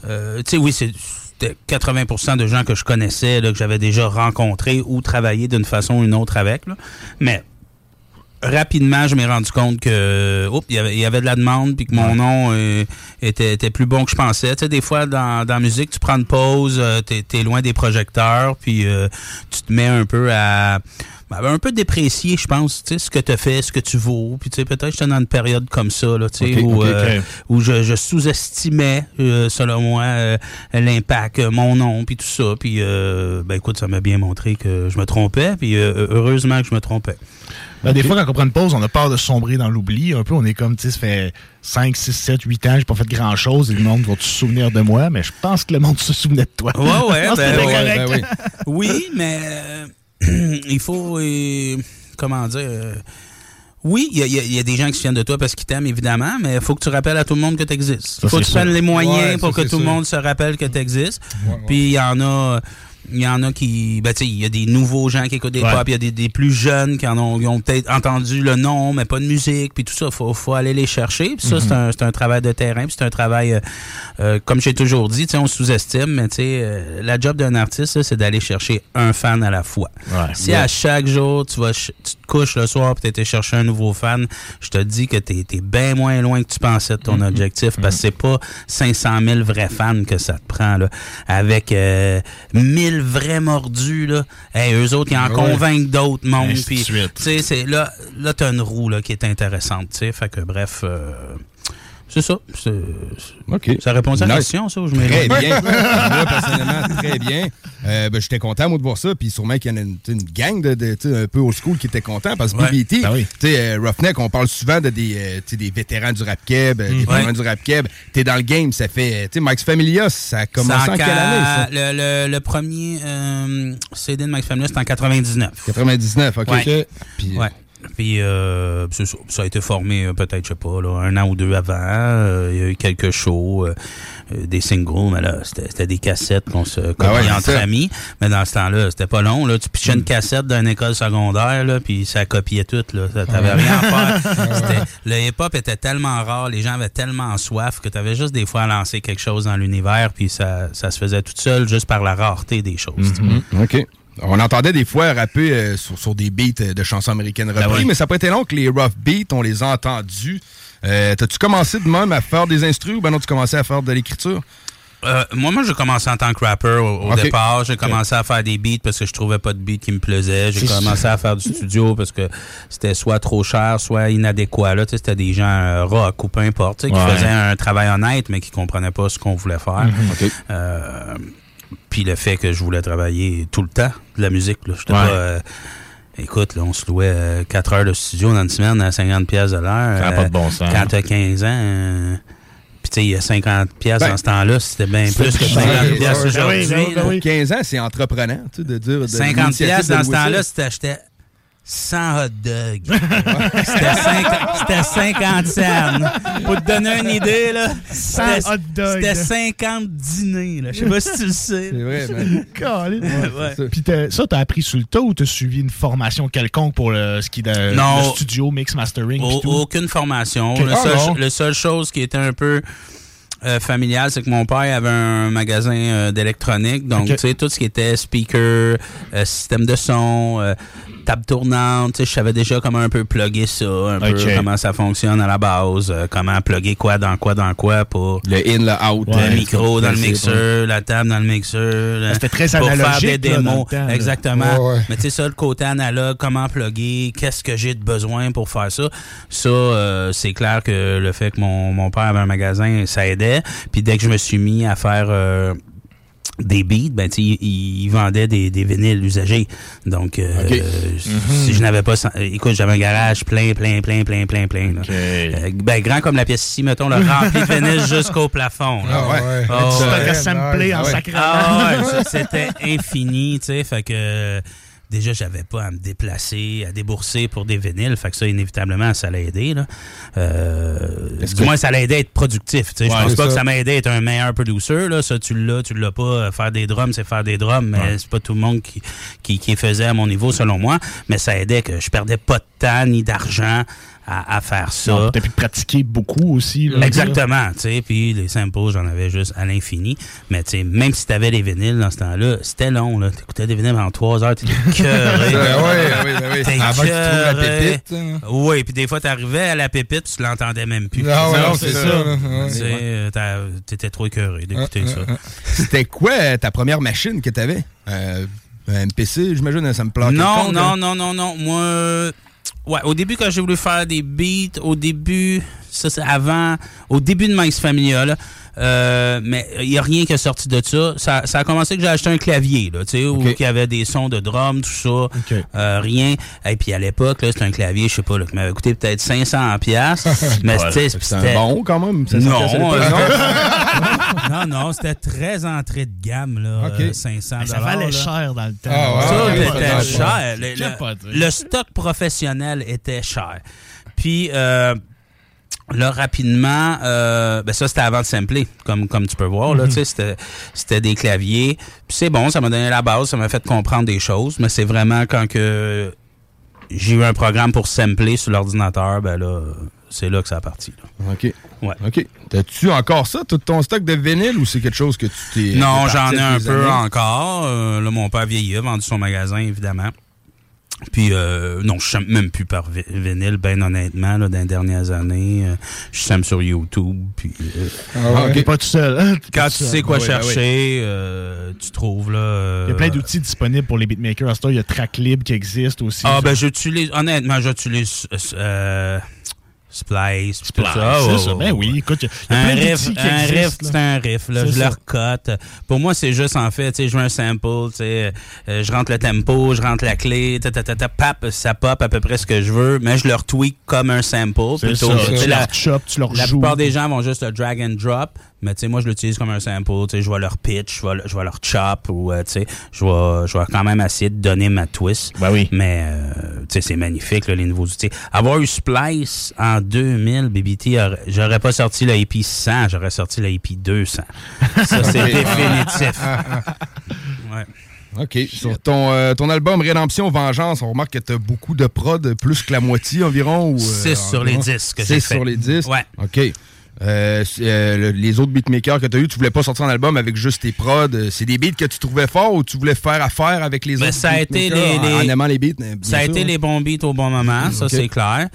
euh, tu sais, oui, c'est... C'était quatre-vingts pour cent de gens que je connaissais, là, que j'avais déjà rencontrés ou travaillé d'une façon ou une autre avec. Là. Mais rapidement, je m'ai rendu compte que oups, il y avait, il y avait de la demande puis que mon nom euh, était, était plus bon que je pensais. Tu sais, des fois, dans, dans la musique, tu prends une pause, euh, t'es, t'es loin des projecteurs, puis euh, tu te mets un peu à... un peu déprécié, je pense, tu sais, ce que tu as fait, ce que tu vaux. Puis, tu sais, peut-être que j'étais dans une période comme ça, là, tu sais, okay, où, okay, euh, okay. où je, je sous-estimais, euh, selon moi, euh, l'impact, euh, mon nom, puis tout ça. Puis, euh, ben, écoute, ça m'a bien montré que je me trompais, puis euh, heureusement que je me trompais. Ben, okay. Des fois, quand on prend une pause, on a peur de sombrer dans l'oubli. Un peu, on est comme, tu sais, ça fait cinq, six, sept, huit ans, j'ai pas fait grand-chose et le monde va se souvenir de moi, mais je pense que le monde se souvenait de toi. Ouais, ouais, ben, ben, ouais, ben oui. Oui, mais... Euh, il faut, euh, comment dire, euh, oui, il y, y, y a des gens qui se souviennent de toi parce qu'ils t'aiment, évidemment, mais il faut que tu rappelles à tout le monde que tu existes. Il faut que tu prennes les moyens ouais, pour ça, que tout le monde se rappelle que tu existes. Ouais, ouais. Puis il y en a... Il y en a qui... Ben, tu sais, il y a des nouveaux gens qui écoutent des ouais. pop, il y a des, des plus jeunes qui en ont, ont peut-être entendu le nom, mais pas de musique, puis tout ça, il faut, faut aller les chercher. Puis ça, mm-hmm. c'est, un, c'est un travail de terrain, puis c'est un travail, euh, euh, comme j'ai toujours dit, tu sais, on sous-estime, mais tu sais, euh, la job d'un artiste, là, c'est d'aller chercher un fan à la fois. Ouais. Si ouais. à chaque jour, tu vas, tu te couches le soir, puis tu été chercher un nouveau fan, je te dis que tu es bien moins loin que tu pensais de ton mm-hmm. objectif, parce que c'est pas cinq cent mille vrais fans que ça te prend, là, avec euh, mille vrais mordus, là. Hey, eux autres, ils en ouais. convainquent d'autres mondes. Puis, tu sais, c'est là, là, t'as une roue, là, qui est intéressante, tu sais. Fait que, bref, euh, c'est ça. C'est, c'est, OK. Ça répond à la nice. question, ça, où je Très bien. Moi, personnellement, très bien. Euh, ben, j'étais content, moi, de voir ça. Puis sûrement qu'il y en a une, une gang de, de un peu old school qui était content. Parce que ouais. B B T, ben oui. tu sais, euh, Roughneck, on parle souvent de des, euh, des vétérans du rap keb, mmh. des vétérans ouais. du rap keb. T'es dans le game, ça fait... Tu sais, Mike's Familia, ça a commencé en quelle année, ça? Le, le, le premier euh, C D de Mike's Familia, c'était en quatre-vingt-dix-neuf. quatre-vingt-dix-neuf, OK. Ouais. Puis, ouais. Puis euh, ça, ça a été formé euh, peut-être, je sais pas, là, un an ou deux avant. Euh, il y a eu quelques shows, euh, euh, des singles, mais là, c'était, c'était des cassettes qu'on se copiait ah ouais, entre ça. amis. Mais dans ce temps-là, c'était pas long. Là. Tu pichais mm. une cassette d'une école secondaire, là, puis ça copiait tout. Là. T'avais ah ouais. rien à faire. C'était, le hip-hop était tellement rare, les gens avaient tellement soif que t'avais juste des fois à lancer quelque chose dans l'univers, puis ça, ça se faisait tout seul juste par la rareté des choses. Mm-hmm. OK. On entendait des fois rapper euh, sur, sur des beats de chansons américaines repris, ben oui. mais ça n'a pas été long que les rough beats, on les a entendus. Euh, t'as-tu commencé de même à faire des instrus ou ben non, tu commençais à faire de l'écriture? Euh, moi, moi, j'ai commencé en tant que rapper au, au okay. départ. J'ai commencé okay. à faire des beats parce que je trouvais pas de beats qui me plaisaient. J'ai C'est commencé à faire du studio parce que c'était soit trop cher, soit inadéquat. Là, c'était des gens euh, rock ou peu importe, qui ouais. faisaient un travail honnête, mais qui comprenaient pas ce qu'on voulait faire. Mm-hmm. Okay. Euh, Puis le fait que je voulais travailler tout le temps de la musique. Là. J'étais ouais. pas... Euh, écoute, là, on se louait euh, quatre heures de studio dans une semaine à cinquante piastres de l'heure. Ça n'a euh, pas de bon sens. Quand t'as quinze ans... Euh, puis tu sais, il y a cinquante piastres ben, dans ce temps-là, c'était bien plus que cinquante piastres aujourd'hui. Ben oui, ben oui. quinze ans, c'est entreprenant, tu sais, de dire... De cinquante piastres dans ce temps-là, si t'achetais cent hot dogs. C'était cinquante, c'était cinquante cents. Pour te donner une idée, là, cent hot dogs. C'était cinquante dîners. Là. Je sais pas si tu le sais. C'est vrai, man. ouais, ouais. Ça. Puis t'as, ça, t'as appris sur le tas ou t'as suivi une formation quelconque pour le, ce qui de, non, le studio, mix, mastering? Au, tout? Aucune formation. Okay. Le, Ah, seul, le seul chose qui était un peu... Euh, familial, c'est que mon père avait un magasin euh, d'électronique, donc okay. tu sais, tout ce qui était speaker, euh, système de son, euh, table tournante, tu sais, je savais déjà comment un peu plugger ça, un okay. peu comment ça fonctionne à la base, euh, comment plugger quoi dans quoi dans quoi pour... Le in, le out. Le ouais, micro dans le mixeur, ouais. la table dans le mixeur. Là, c'était très pour analogique. Pour faire des démos, là, temps, exactement. Ouais, ouais. Mais tu sais, ça, le côté analogue, comment plugger, qu'est-ce que j'ai de besoin pour faire ça, ça, euh, c'est clair que le fait que mon, mon père avait un magasin, ça aidait. Puis dès que je me suis mis à faire euh, des beats, ben tu sais, il, il vendait des, des vinyles usagés. Donc, euh, okay. mm-hmm. si je n'avais pas... Écoute, j'avais un garage plein, plein, plein, plein, plein, plein. Là. Okay. Euh, ben, grand comme la pièce ici, mettons, le rempli de vinyles jusqu'au plafond. Là. Ah ouais. Oh, tu ouais. t'as samplé en sacrament. Ah ouais, c'était infini, tu sais, fait que... Déjà, j'avais pas à me déplacer, à débourser pour des vinyles. Fait que ça, inévitablement, ça l'a aidé. Là. Euh, du que... moins, ça l'a aidé à être productif. Ouais, je pense pas ça. que ça m'a aidé à être un meilleur producer. Là. Ça, tu l'as, tu l'as pas. Faire des drums, c'est faire des drums, mais ouais. c'est pas tout le monde qui, qui, qui faisait à mon niveau, selon moi. Mais ça aidait que je perdais pas de temps ni d'argent à, à faire ça. Tu as pu pratiquer beaucoup aussi. Là, exactement, tu sais, puis les samples, j'en avais juste à l'infini. Mais tu sais, même si tu avais les vinyles dans ce temps-là, c'était long, là. Tu écoutais des vinyles pendant trois heures, tu étais cœuré. oui, oui, oui. Avant que tu trouves la pépite. Hein. Oui, puis des fois, tu arrivais à la pépite, puis tu l'entendais même plus. Non, non, non c'est, c'est ça. ça. ça. Ouais. Tu étais trop écœuré d'écouter ah, ça. Ah, ah. C'était quoi ta première machine que tu avais? Euh, un M P C, j'imagine, ça me plaquait. Non, compte, non, hein? non, non, non. Moi, ouais, au début, quand j'ai voulu faire des beats, au début, ça c'est avant, au début de Mike's Familia, là, euh, mais il n'y a rien qui est sorti de ça. Ça, ça a commencé que j'ai acheté un clavier, là, tu sais, où okay. il y avait des sons de drum, tout ça, okay. euh, rien. Et puis à l'époque, là, c'était un clavier, je sais pas, là, qui m'avait coûté peut-être cinq cents piastres. Mais ouais, c'était, c'était un bon quand même. Non, euh, non, non, non, c'était très entrée de gamme, là, okay. euh, cinq cents dollars. Ça valait là. cher dans le temps. Ah, ouais, ça, ouais, c'était ouais, cher. Le, le, le stock professionnel était cher. Puis, euh, là, rapidement, euh, ben ça, c'était avant de sampler, comme, comme tu peux voir. Là, mm-hmm. tu sais, c'était, c'était des claviers. Puis c'est bon, ça m'a donné la base, ça m'a fait comprendre des choses, mais c'est vraiment quand que j'ai eu un programme pour sampler sur l'ordinateur, ben là, c'est là que ça a parti. Là. OK. Ouais. OK. T'as-tu encore ça, tout ton stock de vinyle, ou c'est quelque chose que tu t'es... Non, j'en ai un peu années? encore. Euh, là, mon père vieillit, a vendu son magasin, évidemment. Puis, euh, non, je ne même plus par vinyle, ben honnêtement, là, dans les dernières années. Euh, je sème sur YouTube, puis... Euh, ah ouais. T'es pas tout seul. Hein? Quand tu seul. sais quoi ah, chercher, oui, oui. Euh, tu trouves, là... Euh, il y a plein d'outils disponibles pour les beatmakers. À ce temps, il y a Tracklib qui existe aussi. Ah, ça. ben j'utilise... Honnêtement, j'utilise... Euh, Splice, Splice, tout ça. c'est oh, ça. Ben oui, écoute, il y a un plein riff, d'outils qui un existent. riff, c'est un riff, là. C'est Je ça. le recote. Pour moi, c'est juste, en fait, tu sais, je veux un sample, tu sais, euh, je rentre le tempo, je rentre la clé, ta, ta, ta, ta, pap, ça pop à peu près ce que je veux, mais je le retweak comme un sample. C'est plutôt. ça. Tu la, leur chop, tu leur la joues. plupart des gens vont juste le drag and drop, mais tu sais, moi, je l'utilise comme un sample, tu sais, je vais leur pitch, je vais, je vais leur chop, ou, euh, tu sais, je vais, je vais quand même essayer de donner ma twist. Ben oui. Mais, euh, tu sais, c'est magnifique, là, les nouveaux outils. Avoir eu Splice en deux mille, B B T, j'aurais pas sorti le A P cent, j'aurais sorti le A P deux cents. Ça, c'est définitif. Ouais. OK. Sur ton, euh, ton album Rédemption Vengeance, on remarque que tu as beaucoup de prod, plus que la moitié environ. six euh, sur environ. les dix que j'ai fait. sur les dix? Ouais. OK. Euh, euh, les autres beatmakers que tu as eu, tu voulais pas sortir un album avec juste tes prods. C'est des beats que tu trouvais forts ou tu voulais faire affaire avec les ben, autres ça a été les, les, en aimant les beats? Ça a sûr. été les bons beats au bon moment, ça okay. c'est clair.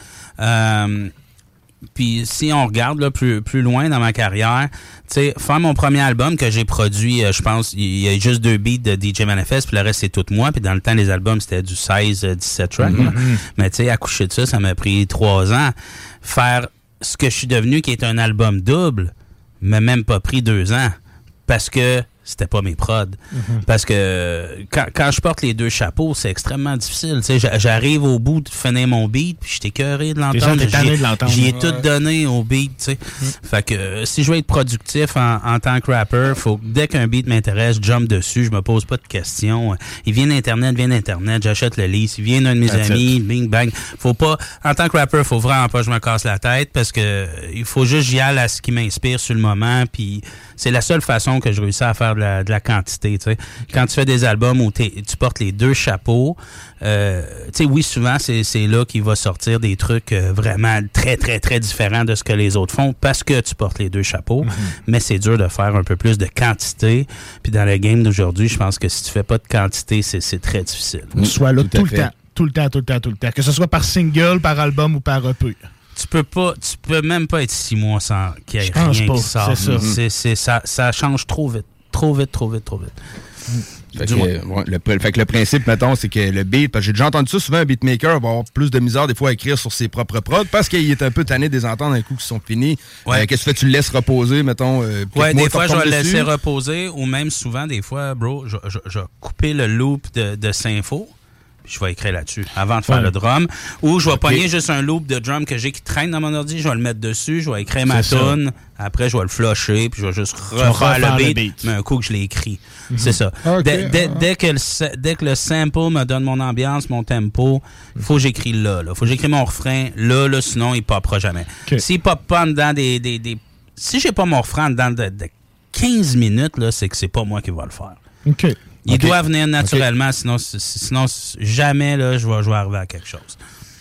Euh, Puis si on regarde là, plus, plus loin dans ma carrière, tu sais, faire mon premier album que j'ai produit, euh, je pense, il y a juste deux beats de D J Manifest, puis le reste c'est tout moi. Puis dans le temps, les albums, c'était du seize à dix-sept tracks. Mm-hmm. Mais tu sais, accoucher de ça, ça m'a pris trois ans. Faire ce que je suis devenu, qui est un album double, m'a même pas pris deux ans. Parce que c'était pas mes prods. Mm-hmm. Parce que quand, quand je porte les deux chapeaux, c'est extrêmement difficile. Tu sais, j'arrive au bout de finir mon beat, puis j'étais écœuré de l'entendre. J'y ai tout donné au beat, tu sais. Mm-hmm. Fait que euh, si je veux être productif en, en tant que rapper, faut que dès qu'un beat m'intéresse, je jump dessus, je me pose pas de questions. Il vient d'Internet, vient d'Internet, j'achète le lease. Il vient d'un de mes That's amis, it. bing, bang. Faut pas, en tant que rapper, faut vraiment pas que je me casse la tête parce que il faut juste j'y aille à ce qui m'inspire sur le moment, puis c'est la seule façon que je réussis à faire de la, de la quantité, tu sais. Quand tu fais des albums où tu portes les deux chapeaux, euh, tu sais, oui, souvent, c'est, c'est là qu'il va sortir des trucs euh, vraiment très, très, très différents de ce que les autres font parce que tu portes les deux chapeaux. Mm-hmm. Mais c'est dur de faire un peu plus de quantité. Puis dans le game d'aujourd'hui, je pense que si tu fais pas de quantité, c'est, c'est très difficile. Tu sois là tout, tout le temps, tout le temps, tout le temps, tout le temps. Que ce soit par single, par album ou par E P. Tu peux pas, tu peux même pas être six mois sans qu'il y ait rien pas, qui sort. C'est ça. Mm-hmm. C'est, c'est, ça. Ça change trop vite. Trop vite, trop vite, trop vite. Fait que, ouais, le, fait que le principe, mettons, c'est que le beat, parce que j'ai déjà entendu ça, souvent un beatmaker va avoir plus de misère des fois à écrire sur ses propres prods parce qu'il est un peu tanné des ententes d'un coup qui sont finis. Ouais. Euh, qu'est-ce que tu fais? Tu le laisses reposer, mettons? Euh, ouais, des fois, je vais le laisser reposer ou même souvent, des fois, bro, je, je, je vais couper le loop de, de Sympho. Je vais écrire là-dessus avant de faire ouais. le drum. Ou je vais okay. pogner juste un loop de drum que j'ai qui traîne dans mon ordi, je vais le mettre dessus, je vais écrire ma tune, après je vais le flusher, puis je vais juste refaire, refaire le, beat, le beat, mais un coup que je l'ai écrit. Mm-hmm. C'est ça. Okay. Dès, dès, dès, que le, dès que le sample me donne mon ambiance, mon tempo, il faut que j'écris là. Il faut que j'écris mon refrain là, là, sinon il popera jamais. Okay. S'il pop pas dedans des, des, des... Si j'ai pas mon refrain dedans de, de quinze minutes, là, c'est que c'est pas moi qui va le faire. OK. Il okay. doit venir naturellement, okay. sinon, sinon jamais là, je vais, je vais arriver à quelque chose.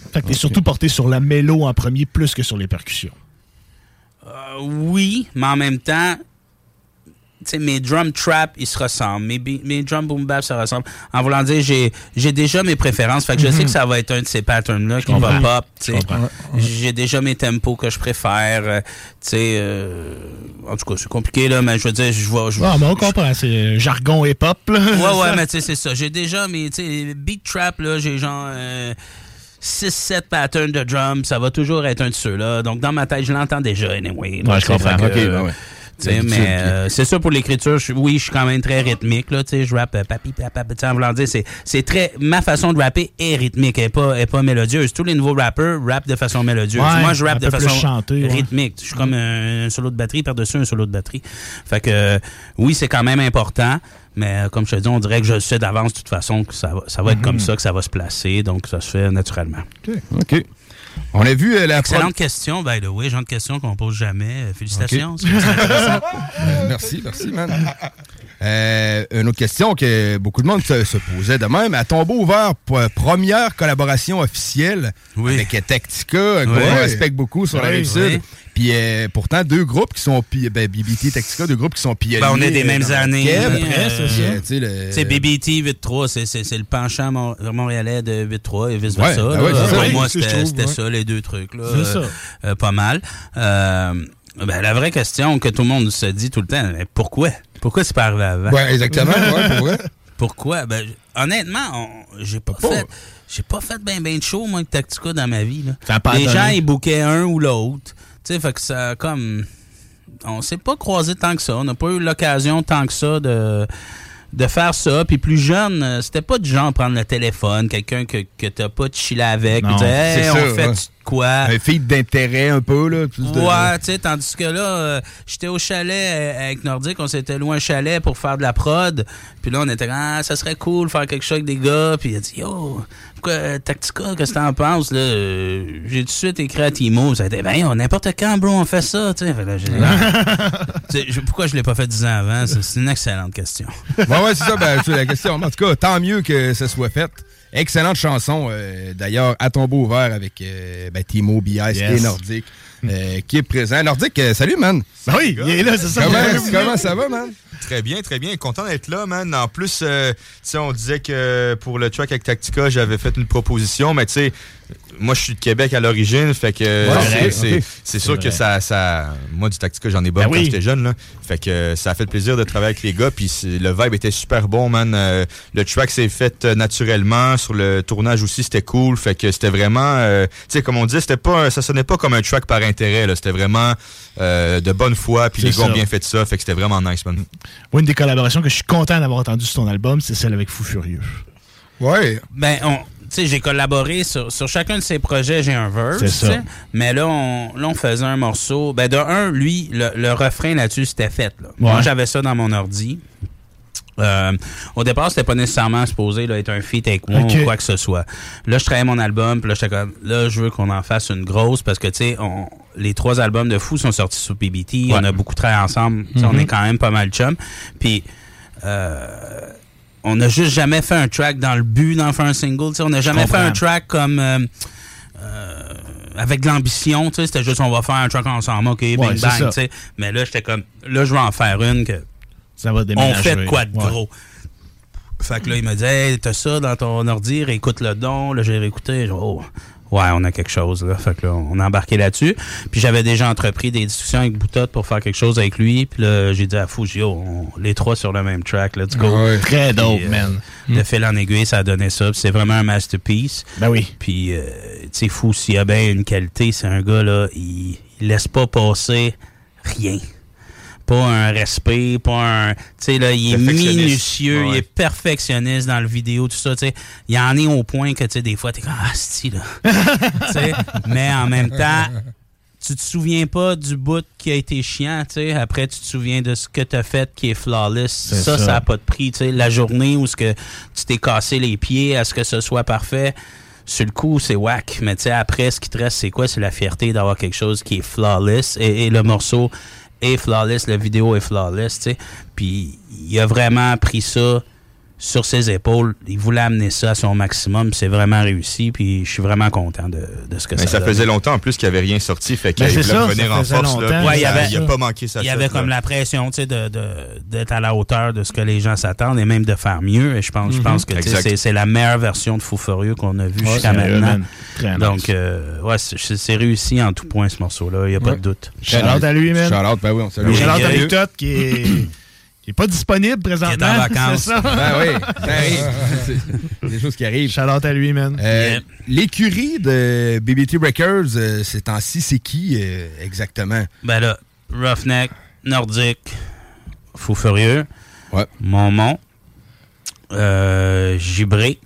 Fait que t'es okay. surtout porté sur la mélo en premier plus que sur les percussions. Euh, oui, mais en même temps, tu sais, mes drum trap, ils se ressemblent. Mes, mes drum boom bap se ressemblent. En voulant dire, j'ai, j'ai déjà mes préférences. Fait que je mm-hmm. sais que ça va être un de ces patterns-là qui va pop. Tu sais. J'ai déjà mes tempos que je préfère. Euh, tu sais, euh, en tout cas, c'est compliqué, là, mais je veux dire, je vois. Ah, mais on comprend. C'est jargon hip-hop, là. Ouais, ouais, mais tu sais, c'est ça. J'ai déjà mes, tu sais, beat trap, là, j'ai genre. Euh, six sept patterns de drum, ça va toujours être un de ceux-là. Donc, dans ma tête, je l'entends déjà, anyway. Ouais, je comprends. Que, OK, euh, ben ouais. T'sais, mais euh, c'est ça pour l'écriture. Je, oui, je suis quand même très rythmique. Là, je rappe euh, papi, papa, en voulant dire, c'est, c'est très. Ma façon de rapper est rythmique, elle n'est pas, pas mélodieuse. Tous les nouveaux rappeurs rappent de façon mélodieuse. Ouais, moi, je rappe de façon chanter, rythmique. Ouais. Je suis comme un, un solo de batterie par-dessus un solo de batterie. Fait que, euh, oui, c'est quand même important. Mais euh, comme je te dis, on dirait que je sais d'avance de toute façon que ça va, ça va être mm-hmm. comme ça, que ça va se placer. Donc, ça se fait naturellement. OK. OK. On a vu euh, la excellente pro... question, by the way, genre de question qu'on pose jamais. Félicitations. Okay. euh, merci, merci, man. Euh, une autre question que beaucoup de monde se, se posait de même. À tombeau ouvert, pour, euh, première collaboration officielle oui. avec Tactica, qu'on oui. respecte beaucoup sur oui, la Rive-Sud. Oui. Puis euh, pourtant, deux groupes qui sont... Ben, B B T et Tactica, deux groupes qui sont pionniers. Ben, on est des mêmes euh, années. Québec, oui, après, euh, c'est ça. Le... C'est B B T huit trois, c'est, c'est, c'est le penchant mon, montréalais de huit trois et vice-versa. Ouais, ben ouais, Pour ça, moi, oui, c'était, trouve, c'était ouais. ça, les deux trucs. Là, c'est euh, ça. Euh, pas mal. Euh, ben, la vraie question que tout le monde se dit tout le temps, pourquoi? Pourquoi c'est pas arrivé avant? Ouais, exactement. ouais, pour vrai. Pourquoi? Ben, honnêtement, on, j'ai pas, pas fait... J'ai pas fait ben ben de show, moi, avec Tactica dans ma vie. Là. Les donné. gens, ils bookaient un ou l'autre. Tu sais, fait que ça, comme... On s'est pas croisé tant que ça. On n'a pas eu l'occasion tant que ça de... de faire ça. Puis plus jeune, c'était pas du genre prendre le téléphone, quelqu'un que, que t'as pas de chiller avec. Non, dire, hey, c'est on ça, fait ouais. quoi? Un feed d'intérêt un peu, là. Plus de... Ouais, tu sais, tandis que là, euh, j'étais au chalet avec Nordique, on s'était loué un chalet pour faire de la prod. Puis là, on était ah, ça serait cool faire quelque chose avec des gars. Puis il a dit, yo, pourquoi Tactica, qu'est-ce que t'en penses, là? Euh, j'ai tout de suite écrit à Timo. Ça a été, ben, n'importe quand, bro, on fait ça, tu sais. Pourquoi je l'ai pas fait dix ans avant? C'est, c'est une excellente question. Ouais, ouais, c'est ça, ben, c'est la question. En tout cas, tant mieux que ça soit fait. Excellente chanson, euh, d'ailleurs, à tombeau ouvert avec euh, ben, Timo, B S yes. et Nordique, euh, qui est présent. Nordique, euh, salut, man. Ben oui, il est là, c'est ça. Comment, comment ça va, man? Très bien, très bien. Content d'être là, man. En plus, euh, tu sais, on disait que pour le track avec Tactica, j'avais fait une proposition, mais tu sais, moi, je suis de Québec à l'origine, fait que ouais, c'est, vrai, c'est, okay. c'est, c'est sûr vrai. que ça, ça... Moi, du Tactica, j'en ai bon ben quand oui. j'étais jeune, là. Fait que ça a fait plaisir de travailler avec les gars, puis le vibe était super bon, man. Euh, le track s'est fait naturellement, sur le tournage aussi, c'était cool, fait que c'était vraiment... Euh, tu sais, comme on dit, c'était pas, ça sonnait pas comme un track par intérêt, là. C'était vraiment euh, de bonne foi, puis les gars ont bien fait ça, fait que c'était vraiment nice, man. Moi, une des collaborations que je suis content d'avoir entendu sur ton album, c'est celle avec Fou Furieux. Ouais. Ben, on... Tu sais, j'ai collaboré sur, sur chacun de ces projets, j'ai un verse. C'est ça. Mais là on, là, on faisait un morceau. Ben, de un, lui, le, le refrain là-dessus, c'était fait. Là. Ouais. Moi, j'avais ça dans mon ordi. Euh, au départ, c'était pas nécessairement supposé là, être un feat avec moi okay. ou quoi que ce soit. Là, je travaillais mon album, puis là, j'étais comme, là, je veux qu'on en fasse une grosse parce que, tu sais, les trois albums de Fou sont sortis sur P B T. Ouais. On a beaucoup travaillé ensemble. Mm-hmm. On est quand même pas mal chum. Puis, euh, on n'a juste jamais fait un track dans le but d'en faire un single. T'sais. On n'a jamais fait un track comme euh, euh, avec de l'ambition. T'sais. C'était juste on va faire un track ensemble, ok, bing ouais, bang. T'sais. Mais là, j'étais comme là, je vais en faire une que ça va déménager. On fait de quoi de ouais. gros. Fait que là, il me dit hey, t'as ça dans ton ordi, réécoute le don. Là, j'ai réécouté. Oh. Ouais, on a quelque chose, là. Fait que là, on a embarqué là-dessus. Puis j'avais déjà entrepris des discussions avec Boutotte pour faire quelque chose avec lui. Puis là, j'ai dit à Fouji, oh, on, les trois sur le même track, let's go. Ouais, très dope, euh, man. De mm. fil en aiguille, ça a donné ça. Puis c'est vraiment un masterpiece. Ben oui. Puis, euh, tu sais, Fou, s'il y a bien une qualité, c'est un gars, là, il, il laisse pas passer rien. Pas un respect, pas un... Tu sais, là, il est minutieux, ouais. il est perfectionniste dans le vidéo, tout ça, tu sais. Il en est au point que, tu sais, des fois, t'es comme, ah, c'est là. Tu sais, mais en même temps, tu te souviens pas du bout qui a été chiant, tu sais. Après, tu te souviens de ce que t'as fait qui est flawless. C'est ça, ça, ça a pas de prix, tu sais. La journée où ce que tu t'es cassé les pieds à ce que ce soit parfait, sur le coup, c'est whack. Mais tu sais, après, ce qui te reste, c'est quoi? C'est la fierté d'avoir quelque chose qui est flawless. Et, et le morceau... est flawless, la vidéo est flawless, tu sais. Puis il a vraiment pris ça sur ses épaules. Il voulait amener ça à son maximum. C'est vraiment réussi. Puis je suis vraiment content de, de ce que mais ça ça donne. faisait longtemps en plus qu'il n'y avait rien sorti. Fait qu'il Ben, voulait c'est ça, revenir ça en faisait force. Là, longtemps. puis Ouais, il y ça- avait- il n'a pas manqué sa Il y shot, avait là. comme la pression, tu sais, de, de, d'être à la hauteur de ce que les gens s'attendent et même de faire mieux. Et je pense, je Mhm. pense que tu sais, Exact. c'est, c'est la meilleure version de Fou Furieux qu'on a vue Ouais, jusqu'à c'est maintenant. très Donc, nice. euh, ouais, c'est, c'est réussi en tout point ce morceau-là. Il n'y a pas Ouais. de doute. Shout-out à lui, man. Shout-out, ben oui, on salue. Shout-out à Sérieux? Rick Todd qui est, qui est pas disponible présentement. Qui est en vacances. C'est ça. Ben oui, ça arrive. C'est- c'est des choses qui arrivent. Shout-out à lui, man. Euh, Yeah. L'écurie de B B T Records, euh, ces temps-ci, c'est qui euh, exactement? Ben là, Roughneck, Nordique, Fou Furieux, Ouais. Momon, euh, Gibré,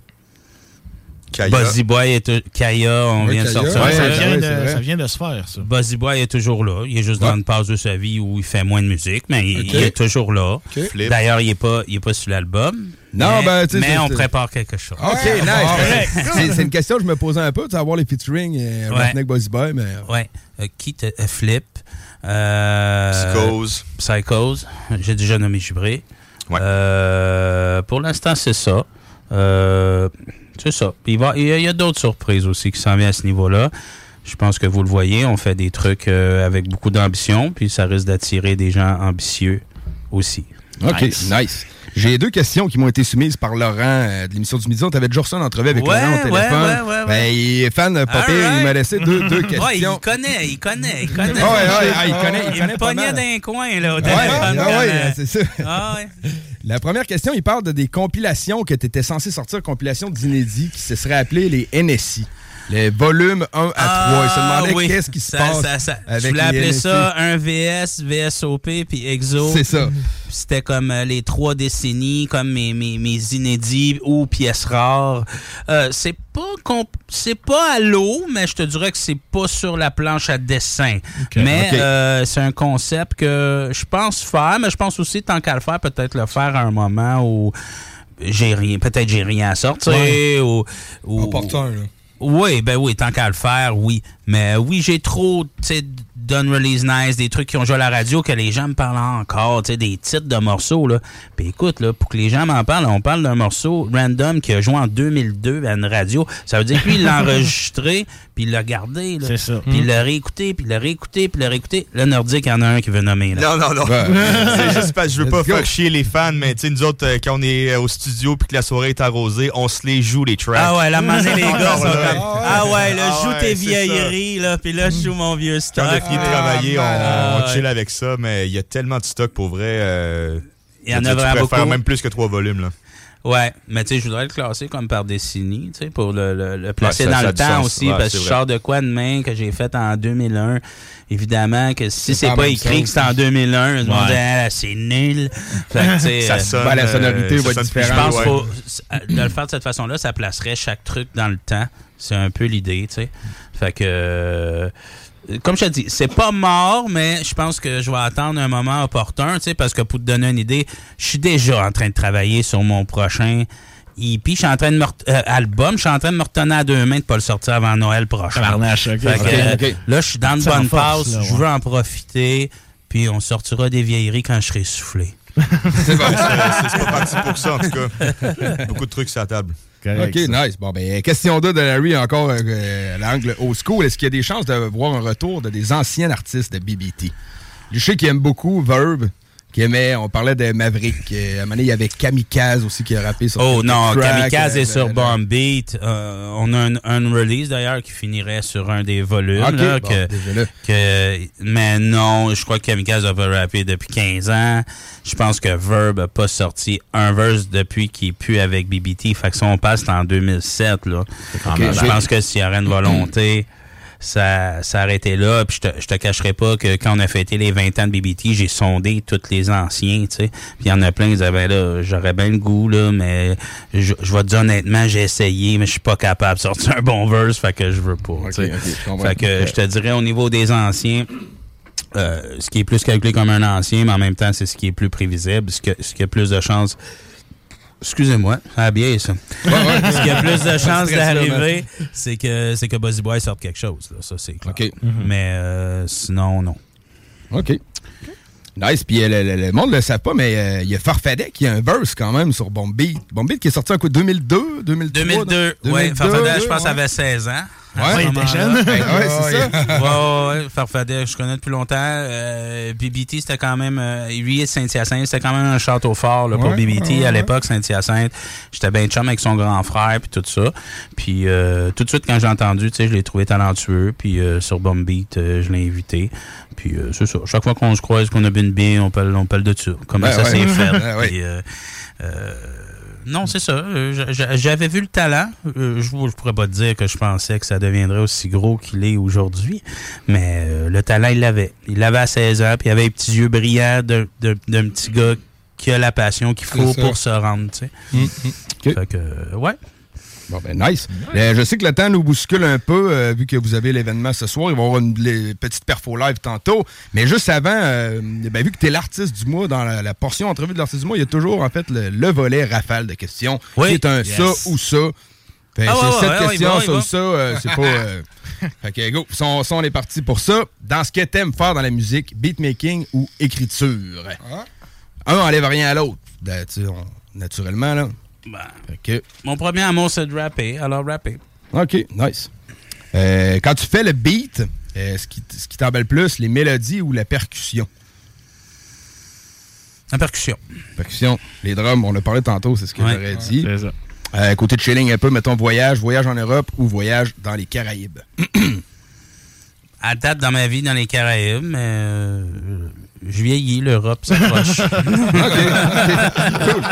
Kaya. Buzzy Boy est Kaya, on Ouais, vient de Kaya. sortir. Ouais, ça, ouais, vient ouais, de, c'est vrai. ça vient de se faire, ça. Buzzy Boy est toujours là. Il est juste dans Ouais. une phase de sa vie où il fait moins de musique, mais il, Ok. il est toujours là. Flip. D'ailleurs, il n'est pas, il est pas sur l'album. Non, mais, ben, tu sais, mais c'est- on c'est- prépare quelque chose. OK, nice. C'est, c'est une question que je me posais un peu, de savoir les featuring euh, Ouais. Roughneck Buzzy Boy, mais... Ouais. Euh, Keith euh, Flip. Euh, Psychose. Psychose. J'ai déjà nommé Gibré. Ouais. Euh, pour l'instant, c'est ça. Euh, c'est ça. Puis il, va, il y a, il y a d'autres surprises aussi qui s'en viennent à ce niveau-là. Je pense que vous le voyez, on fait des trucs euh, avec beaucoup d'ambition, puis ça risque d'attirer des gens ambitieux aussi. OK, nice. Nice. J'ai deux questions qui m'ont été soumises par Laurent euh, de l'émission du Midi. On t'avait déjà reçu en entrevue avec Ouais, Laurent au ouais, téléphone. ouais, ouais, ouais. Ben, il est fan de Popé, Alright. il m'a laissé deux, deux questions. Ouais, il connaît, il connaît, il connaît. Ah ouais, ouais, ah, il connaît, il Il connaît me pas pognait mal. d'un coin, là, au Ouais, téléphone. ah quand, ouais, euh, c'est ça. Ah ouais. La première question, il parle de des compilations que tu étais censé sortir, compilations d'inédits qui se seraient appelées les N S I. Les volumes un à trois. Il se demandait Ah oui. qu'est-ce qui se Ça- passe ça- ça- avec Je voulais les appeler N S I. ça un V S, V S O P, puis Exo. C'est ça. Puis c'était comme euh, les trois décennies, comme mes, mes, mes inédits ou pièces rares. Euh, c'est pas comp- c'est pas à l'eau, mais je te dirais que c'est pas sur la planche à dessin. Mais Ok. euh, c'est un concept que je pense faire, mais je pense aussi, tant qu'à le faire, peut-être le faire à un moment où j'ai rien, peut-être j'ai rien à sortir. Ouais. Ou, ou- Opportun, là. Oui, ben oui, tant qu'à le faire, oui. Mais oui, j'ai trop, tu sais, d'Unreleased Nice, des trucs qui ont joué à la radio que les gens me parlent encore, tu sais, des titres de morceaux, là. Puis écoute, là, pour que les gens m'en parlent, on parle d'un morceau random qui a joué en deux mille deux à une radio. Ça veut dire que lui, il l'a enregistré, puis il l'a gardé, là. C'est ça. Puis il l'a réécouté, puis il l'a réécouté, puis il l'a réécouté. Là, Nordique, il y en a un qui veut nommer, là. Non, non, non. Ouais. C'est juste parce que je veux Let's pas go. faire chier les fans, mais tu sais, nous autres, euh, quand on est euh, au studio puis que la soirée est arrosée, on se les joue, les tracks. Ah ouais, là, maintenant, les gars sont Encore là. comme, ah ouais, là, Ah joue ouais, tes c'est vieilleries, là, puis là, je joue mon vieux stock. Quand on a fini de travailler, on, Ah, on chill ouais. avec ça, mais il y a tellement de stock pour vrai. euh, Il y en tu- a tu vraiment pourrais faire beaucoup. même plus que trois volumes, là. Ouais, mais tu sais, je voudrais le classer comme par décennie, tu sais, pour le, le, le placer Ouais, ça- dans ça a le du temps sens. aussi, Ouais, parce c'est que je vrai. sors de quoi demain que j'ai fait en deux mille un. Évidemment que si C'est c'est pas pas la même écrit chose. que c'est en deux mille un, je me Ouais. dis, ah, c'est nul. Fait que, tu sais, Ça euh, sonne, ben, la sonorité euh, va ça être sonne plus je différente. pense ouais. qu'il faut euh, de le faire de cette façon-là, ça placerait chaque truc dans le temps. C'est un peu l'idée, tu sais. Fait que, euh, comme je te dis, c'est pas mort, mais je pense que je vais attendre un moment opportun, tu sais, parce que pour te donner une idée, je suis déjà en train de travailler sur mon prochain E P. Je suis en train de me ret- euh, album, je suis en train de me retenir à deux mains de pas le sortir avant Noël prochain. Tabarnache, ok. Fait que, Ok, euh, ok. là, je suis dans une C'est en bonne force, passe, là, je ouais. veux en profiter, puis on sortira des vieilleries quand je serai soufflé. C'est bon. C'est c'est pas parti pour ça, en tout cas. Beaucoup de trucs sur la table. Correct, OK, ça. nice. Bon, ben, question deux de Larry, encore euh, à l'angle old school. Est-ce qu'il y a des chances de voir un retour de des anciens artistes de B B T? Je sais qu'il aime beaucoup Verb, qui aimait, on parlait de Maverick. Euh, à un moment donné, il y avait Kamikaze aussi qui a rappé sur Oh quelques non, tracks, Kamikaze euh, est sur le- Bomb Beat. Euh, on a un, un release d'ailleurs qui finirait sur un des volumes. Ok, là, bon, que, déjà là. que, mais non, je crois que Kamikaze a pas rappé depuis quinze ans. Je pense que Verb a pas sorti un verse depuis qu'il est plus avec B B T. Fait que si on passe, c'est en deux mille sept. Là. Ok, je j'ai- pense que s'il y aurait une volonté, ça, ça arrêtait là. Puis je te, je te cacherai pas que quand on a fêté les vingt ans de B B T, j'ai sondé tous les anciens, tu sais. Puis il y en a plein qui disaient, ben là, j'aurais bien le goût, là, mais je, je vais te dire honnêtement, j'ai essayé, mais je suis pas capable de sortir un bon verse, fait que je veux pas, tu sais. ok, je comprends. Fait que je te dirais, au niveau des anciens, euh, ce qui est plus calculé comme un ancien, mais en même temps, c'est ce qui est plus prévisible, ce, que, ce qui a plus de chances. Excusez-moi, ça a bien ça. Ce qui a plus de chances d'arriver, c'est que c'est que Buzzy Boy sorte quelque chose. Là. Ça, c'est clair. OK. Mais euh, sinon, non. OK. Nice, puis euh, le, le, le monde ne le sait pas, mais il euh, y a Farfadet qui a un verse quand même sur Bomb Beat. Bomb Beat qui est sorti en quoi, deux mille deux, deux mille trois? deux mille deux, oui. Farfadet, je pense, ouais. avait seize ans. Ouais, il était jeune. Ouais, c'est ça. Ouais, ouais, Farfadet, je connais depuis longtemps. Euh, B B T, c'était quand même... Euh, lui et Saint-Hyacinthe, c'était quand même un château fort là, pour ouais, B B T. Ouais, à l'époque, Saint-Hyacinthe, j'étais bien chum avec son grand frère, puis tout ça. Puis euh, tout de suite, quand j'ai entendu, tu sais, je l'ai trouvé talentueux. Puis euh, sur Bomb Beat, euh, je l'ai invité. Puis euh, c'est ça. Chaque fois qu'on se croise, qu'on a bu une bière, on parle, on parle de ça. Comment ben ça ouais. s'est fait. Ben ouais. Puis, euh, euh, non, c'est ça. J'avais vu le talent. Je ne pourrais pas te dire que je pensais que ça deviendrait aussi gros qu'il est aujourd'hui, mais euh, le talent, il l'avait. Il l'avait à seize ans, puis il avait les petits yeux brillants d'un petit gars qui a la passion qu'il faut pour se rendre, tu sais. Mm -hmm. Okay. Fait que, euh, ouais. Bon, ben, nice. Uh-huh. euh, je sais que le temps nous bouscule un peu, euh, vu que vous avez l'événement ce soir. Il va y avoir une les, petite perfo live tantôt. Mais juste avant, euh, ben, vu que tu es l'artiste du mois, dans la, la portion entrevue de l'artiste du mois, il y a toujours, en fait, le, le volet rafale de questions. Oui. Qui est un yes. ça ou ça. Fait, ah, c'est ouais, cette ouais, question, ouais, ça ou ça. Euh, c'est pas... Euh... fait que, go. Ça, on, ça, on est parti pour ça. Dans ce que t'aimes faire dans la musique, beatmaking ou écriture? Ah. Un enlève rien à l'autre. Ben, naturellement, là. Ben, okay. Mon premier amour, c'est de rapper, alors rapper. OK, nice. Euh, quand tu fais le beat, euh, ce qui, ce qui t'embelle plus, les mélodies ou la percussion? La percussion. Percussion. Les drums, on a parlé tantôt, c'est ce que ouais, j'aurais dit. C'est ça. Euh, côté de chilling un peu, mettons voyage, voyage en Europe ou voyage dans les Caraïbes? À date dans ma vie dans les Caraïbes, mais euh, je vieillis, l'Europe s'approche. OK. Cool.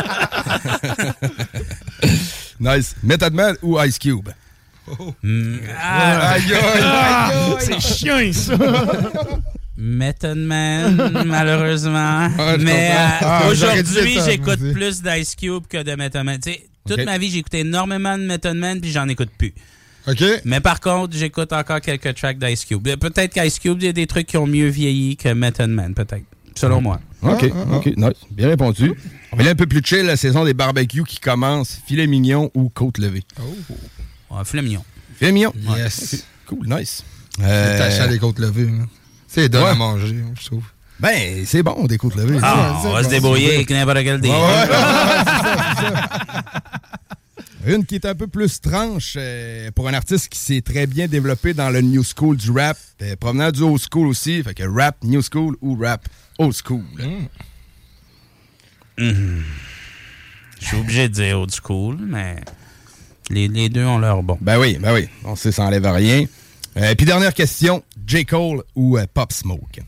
Nice. Method Man ou Ice Cube? Oh. Mm. Ah, aïe, aïe, aïe, aïe. C'est chiant, ça. Method Man, malheureusement. Ah, mais euh, ah, aujourd'hui, j'écoute plus d'Ice Cube que de Method Man. Tu sais, toute okay. ma vie, j'ai écouté énormément de Method Man, puis j'en écoute plus. OK. Mais par contre, j'écoute encore quelques tracks d'Ice Cube. Peut-être qu'Ice Cube, il y a des trucs qui ont mieux vieilli que Method Man, peut-être. Selon moi. OK, ah, ah, OK, nice. Bien répondu. On va aller un peu plus chill, la saison des barbecues qui commence. Filet mignon ou côte levée? Oh. Ouais, filet mignon. Filet mignon? Yes. Okay. Cool, nice. Euh... C'est tâché à des côtes levées. Hein. C'est donne ouais. à manger, je trouve. Ben, c'est bon, des côtes levées. Ah, on va se débrouiller avec n'importe quel des. Ouais, ouais. c'est ça, c'est ça. Une qui est un peu plus tranche euh, pour un artiste qui s'est très bien développé dans le new school du rap, euh, provenant du old school aussi, fait que rap new school ou rap old school. Mm. Mm. Je suis obligé de dire old school, mais les, les deux ont leur bon. Ben oui, ben oui, on sait, ça enlève rien. Euh, Puis dernière question, J. Cole ou euh, Pop Smoke?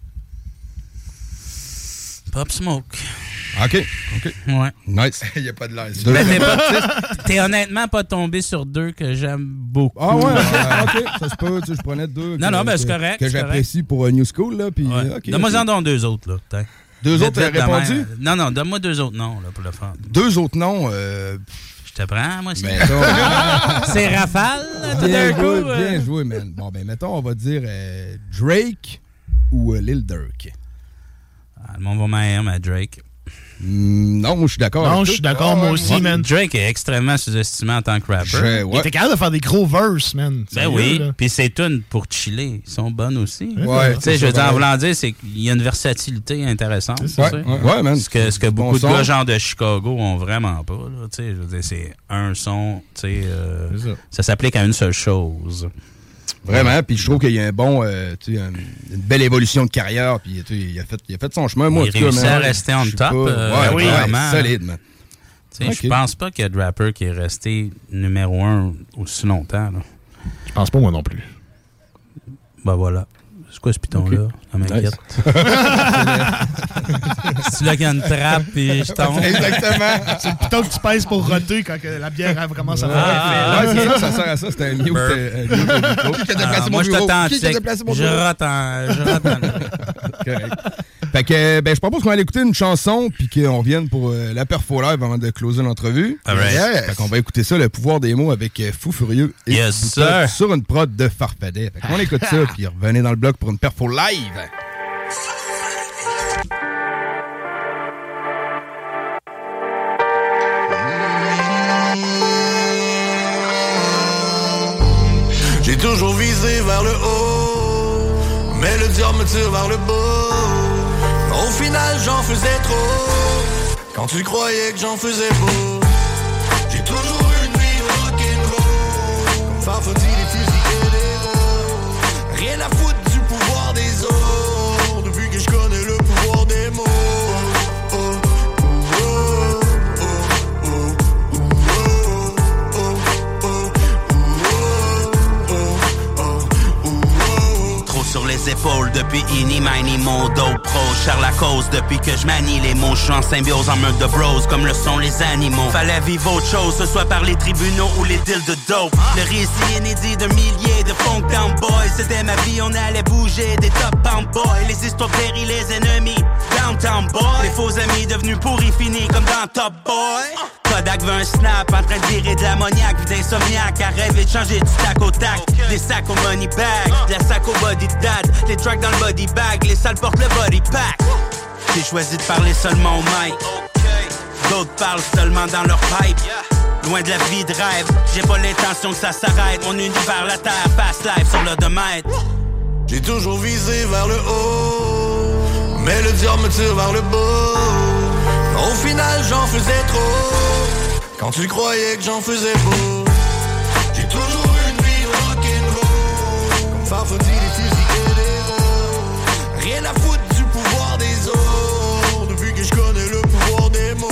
Pop Smoke. OK, OK. Ouais. Nice. Il n'y a pas de l'air. Ben, t'es, pas, t'es honnêtement pas tombé sur deux que j'aime beaucoup. Ah ouais, OK. Ça se peut, tu sais, je prenais deux. Non, que, non, ben que, c'est correct. Que c'est j'apprécie correct. pour uh, New School, là. Puis, ouais. okay, donne-moi okay. en donc deux autres, là. T'as. Deux vite, autres, t'as répondu? Demain. Non, non, donne-moi deux autres noms, là, pour le faire. Deux autres noms, euh... Je te prends, moi, c'est. Mettons, c'est Rafale, là, bien joué, coup, bien euh... joué, man. Bon, ben, mettons, on va dire euh, Drake ou euh, Lil Durk. Ah, le monde va m'aimer, mais Drake. Mm, non, moi je suis d'accord. Non, je suis d'accord, moi aussi, ouais. man. Drake est extrêmement sous-estimé en tant que rapper. Je, ouais. Il était capable de faire des gros verses, man. Ben oui, puis ses tunes pour chiller, ils sont bonnes aussi. Ouais. Tu sais, je veux dire, en voulant dire, c'est qu'il y a une versatilité intéressante. C'est ouais, ouais, ouais, man. Ce que, ce que beaucoup bon de gars genre de Chicago ont vraiment pas. Tu sais, je veux dire, c'est un son, tu sais, euh, ça, ça s'applique à une seule chose. Vraiment, puis je trouve qu'il y a un bon, euh, tu sais, un, une belle évolution de carrière, puis il a fait, il a fait son chemin. Moi, il réussit à rester on top. Pas, euh, ouais, oui, vraiment. Solide, man. Tu sais, okay. Je pense pas qu'il y a de rapper qui est resté numéro un aussi longtemps. Là. Je pense pas moi non plus. Ben voilà. C'est quoi ce piton-là? Okay. Ça m'inquiète. C'est là qu'il y a une trappe et je tombe. Exactement. C'est le piton que tu pèses pour roter quand que la bière commence à faire. Ah, ouais, c'est ça, ça sert à ça. C'était un mute. Euh, Qui a déplacé ah, mon bureau? Qui a déplacé mon bureau? Je rote en... Je rote en... Correct. Fait que, ben, je propose qu'on aille écouter une chanson puis qu'on revienne pour euh, la perfo live avant de closer l'entrevue. Right. Yes. Fait qu'on va écouter ça, le pouvoir des mots avec euh, Fou Furieux et yes, sir. Sur une prod de Farfadet. Fait qu'on écoute ça puis revenez dans le bloc pour une perfo live. J'ai toujours visé vers le haut, mais le diable me tire vers le bas. Au final j'en faisais trop. Quand tu croyais que j'en faisais beau. J'ai toujours eu une vie rock'n'roll. Comme Farfadie, les fusils et les mots. Rien à foutre du pouvoir des autres. Depuis que je connais le pouvoir des mots. Sur les épaules depuis Ini, Mini, Modo, Pro. Charles la cause depuis que je manie les mots. Je suis en symbiose en meute de bros comme le sont les animaux. Fallait vivre autre chose, ce soit par les tribunaux ou les deals de dope. Le récit inédit de milliers de funk down boys. C'était ma vie, on allait bouger des top pound boys. Les histoires péris, les ennemis, downtown boys. Les faux amis devenus pourris finis comme dans Top Boy. Kodak veut un snap, en train de virer de l'ammoniaque, vu d'insomniaque, à rêver de changer du tac au tac. Des sacs au money bag, de la sac au body dad, les tracks dans le body bag, les salles portent le body pack. J'ai choisi de parler seulement au mic, d'autres parlent seulement dans leur pipe. Loin de la vie de rêve, j'ai pas l'intention que ça s'arrête. Mon univers, la terre, passe live sur l'odomètre. J'ai toujours visé vers le haut, mais le diable me tire vers le bas. Au final j'en faisais trop. Quand tu croyais que j'en faisais beau. J'ai toujours eu une vie rock'n'roll. Comme Farfadie, les fusils et les mots. Rien à foutre du pouvoir des autres. Depuis que je connais le pouvoir des mots.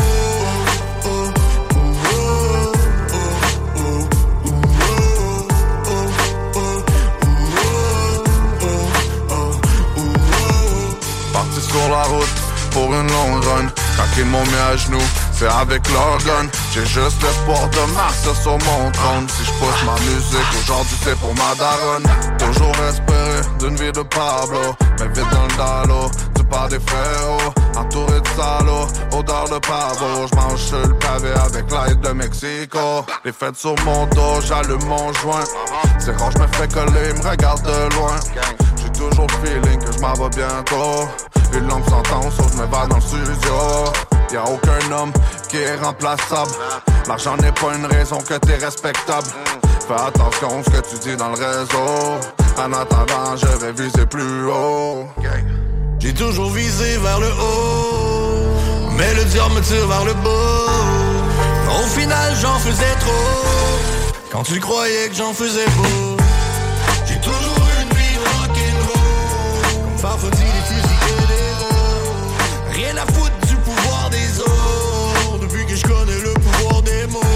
Parti sur la route pour une longue run. Quand ils m'ont mis à genoux, c'est avec leur gun. J'ai juste l'espoir de marcher sur mon trône. Si je pousse ma musique, aujourd'hui c'est pour ma daronne. Toujours espéré d'une vie de Pablo, mais vite dans le dallo, du pas des frérots. Entouré de salauds, odeur de pavot. J'mange sur le pavé avec l'aide de Mexico. Les fêtes sur mon dos, j'allume mon joint. C'est rare, j'me fais coller, me regarde de loin. J'ai toujours le feeling que j'm'en vais bientôt. Une lampe s'entend, sauf je me bats dans le studio. Y'a aucun homme qui est remplaçable. L'argent n'est pas une raison que t'es respectable. Fais attention à ce que tu dis dans le réseau. En attendant, je vais viser plus haut. J'ai toujours visé vers le haut, mais le diable me tire vers le bas. Au final, j'en faisais trop. Quand tu croyais que j'en faisais beau. J'ai toujours eu une vie rock'n'roll. Comme Farfadie, les fusils et les mots. Rien à foutre du pouvoir des autres. Depuis que je connais le pouvoir des mots.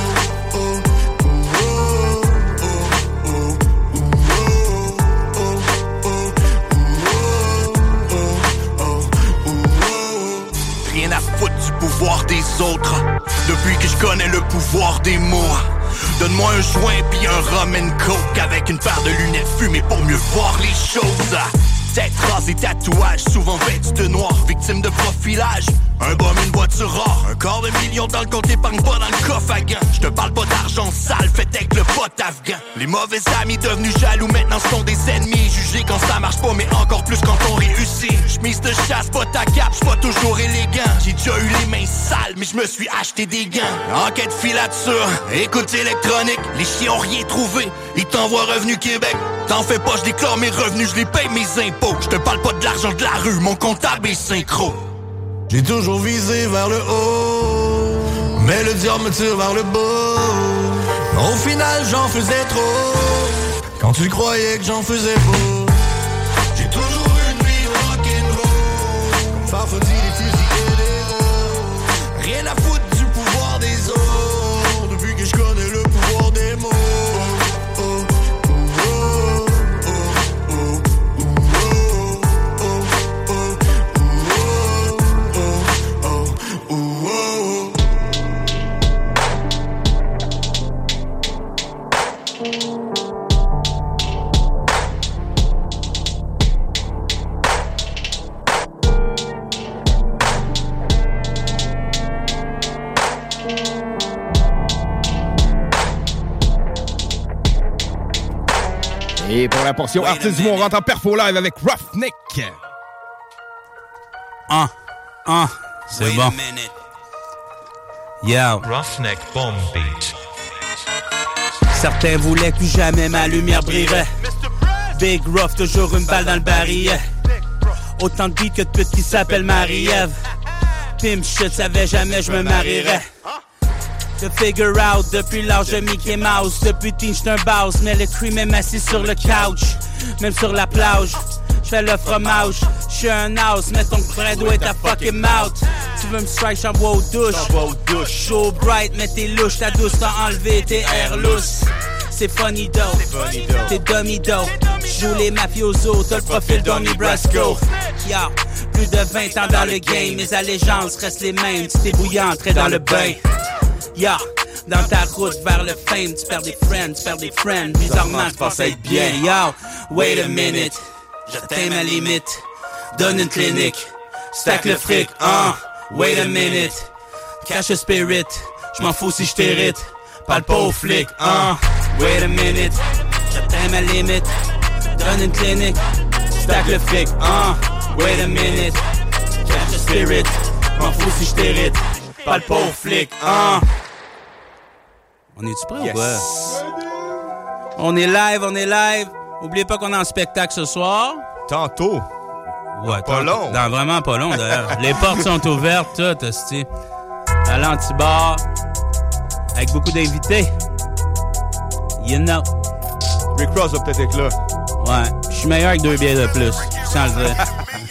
Rien à foutre du pouvoir des autres. Depuis que je connais le pouvoir des mots. Donne-moi un joint pis un rum and coke avec une paire de lunettes fumées pour mieux voir les choses. Tête rasée, tatouage, souvent vêtu de noir, victime de profilage. Un bum, une voiture rare, un quart de million dans le compte, épargne pas dans le coffre à gants. J'te parle pas d'argent sale, fait avec le pote afghan. Les mauvais amis devenus jaloux maintenant sont des ennemis. Jugés quand ça marche pas, mais encore plus quand on réussit. J'mise de chasse, pas ta cape, j'suis pas toujours élégant. J'ai déjà eu les mains sales, mais j'me suis acheté des gants. Enquête filature, écoute électronique, les chiens ont rien trouvé. Ils t'envoient Revenu Québec. T'en fais pas, je déclare mes revenus, je les paye mes impôts. Je te parle pas de l'argent de la rue, mon comptable est synchro. J'ai toujours visé vers le haut, mais le diable me tire vers le bas. Au final, j'en faisais trop. Quand tu croyais que j'en faisais beau. J'ai toujours eu une vie rock'n'roll. Comme Farfadie, les fusils et les mots. Rien à foutre du pouvoir des autres. Depuis que je connais le pouvoir des mots. Et pour la portion artiste du mois, on rentre en perfo live avec Roughneck. Ah, ah, c'est bon. Yeah. Roughneck Bomb Beat. Certains voulaient que plus jamais ma lumière brillerait. Big Rough, toujours une balle dans le barillet. Autant de beats que de putes qui s'appellent Marie-Ève. Pimp shit, savais jamais je me marierais. De figure out depuis l'âge de Mickey Mouse. Depuis teen j'suis un boss, mais le cream est assis sur le couch. Même sur la plage, j'fais le fromage. J'suis un house, mais ton frère doit être à fucking mouth. Tu veux me strike, j'envoie aux douches. Show bright, mais t'es louche, ta douce t'a enlevé tes airs lousses. C'est funny though, t'es dummy though. J'joue les mafiosos, t'as le profil Donnie Brasco. Yo, plus de vingt ans dans le game, mes allégeances restent les mêmes. Tu t'es bouillant, entrer dans le bain. Yo, dans ta route vers le fame, tu perds des friends, tu perds des friends. Bizarrement, tu penses être bien. Yo, wait a minute, j'atteins ma limite. Donne une clinique, stack le fric, hein. Wait a minute, cache le spirit. J'm'en fous si j't'hérite, parle pas aux flics, hein. Wait a minute, j'atteins ma limite. Donne une clinique, stack le fric, hein. Wait a minute, cache le spirit. J'm'en fous si j't'hérite, parle pas aux flics, hein. On est-tu prêt yes. ou quoi? On est live, on est live. Oubliez pas qu'on est en spectacle ce soir. Tantôt. Ouais, pas tantôt. long. Dans vraiment pas long, d'ailleurs. Les portes sont ouvertes, tout, hostie. À l'antibar. Avec beaucoup d'invités. You know. Rick Ross va peut-être être là. Ouais, je suis meilleur avec deux bières de plus. Sans le dire.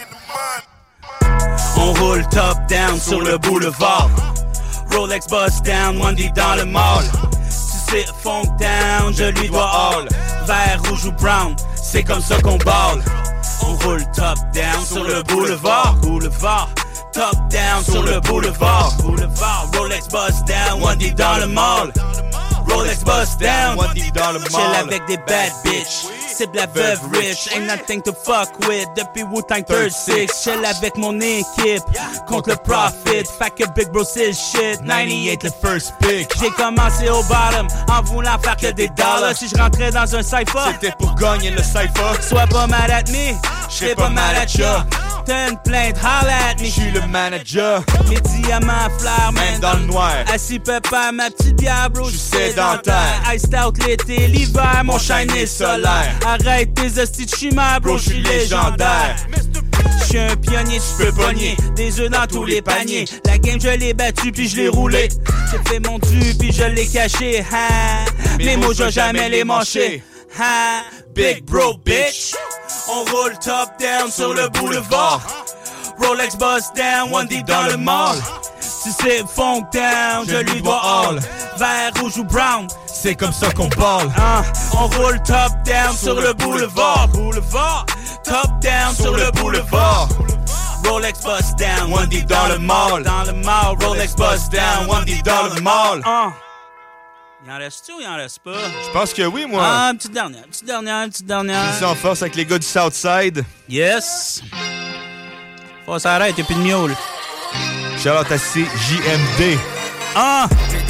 On roule top down sur le boulevard. Rolex bust down, one deep dans le mall. Tu sais, funk down, je lui dois all. Vert, rouge ou brown, c'est comme ça qu'on balle. On roule top down sur le boulevard. Boulevard, top down sur le boulevard. Boulevard, Rolex bust down, one deep dans le mall. Rolex bust down, one deep dans le mall. Chill avec des bad bitch. Cible la veuve rich, ain't nothing to fuck with. Depuis Wu-Tang thirty-six, chill avec mon équipe. Contre le profit, fait que Big Bro c'est shit. ninety-eight le first pick. J'ai commencé au bottom, en voulant faire que des dollars. Si je rentrais dans un cypher, c'était pour gagner le cypher. Sois pas mad at me, j'serais pas mad at ya. T'as une plainte, holla at me. J'suis le manager. Mes diamants flairent, même dans le noir. Assis pépère, ma petite bière, bro, j'suis sédentaire. Iced out l'été, l'hiver, mon shine est solaire. Arrête tes hosties de chimère, bro, j'suis légendaire. J'suis un pionnier, tu peux pogner des œufs dans tous les paniers. La game, je l'ai battu puis je l'ai roulé. J'ai fait mon dû puis je l'ai caché. Ha, mes mots, je jamais les mâcher. Ha, big bro, bitch. On roule top down sur le boulevard. Rolex bust down, one deep dans le mall. Si c'est funk down, je lui dois all. Vert, rouge ou brown, c'est comme ça qu'on parle. Hein, on roule top down sur le boulevard. Boulevard, top down sur le boulevard. Rolex bust down, one deep dans le mall. Dans le mall, Rolex bust down, one deep dans le mall. Hein. Il en reste-tu ou il en reste pas? Je pense que oui, moi. Ah, une petite dernière, une petite dernière, une petite dernière. Ici en force avec les gars du Southside. Yes. Faut s'arrêter, y'a plus de miaule. Shout-out à C J M D. Ah!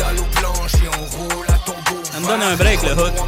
Ça me donne un break, le hook.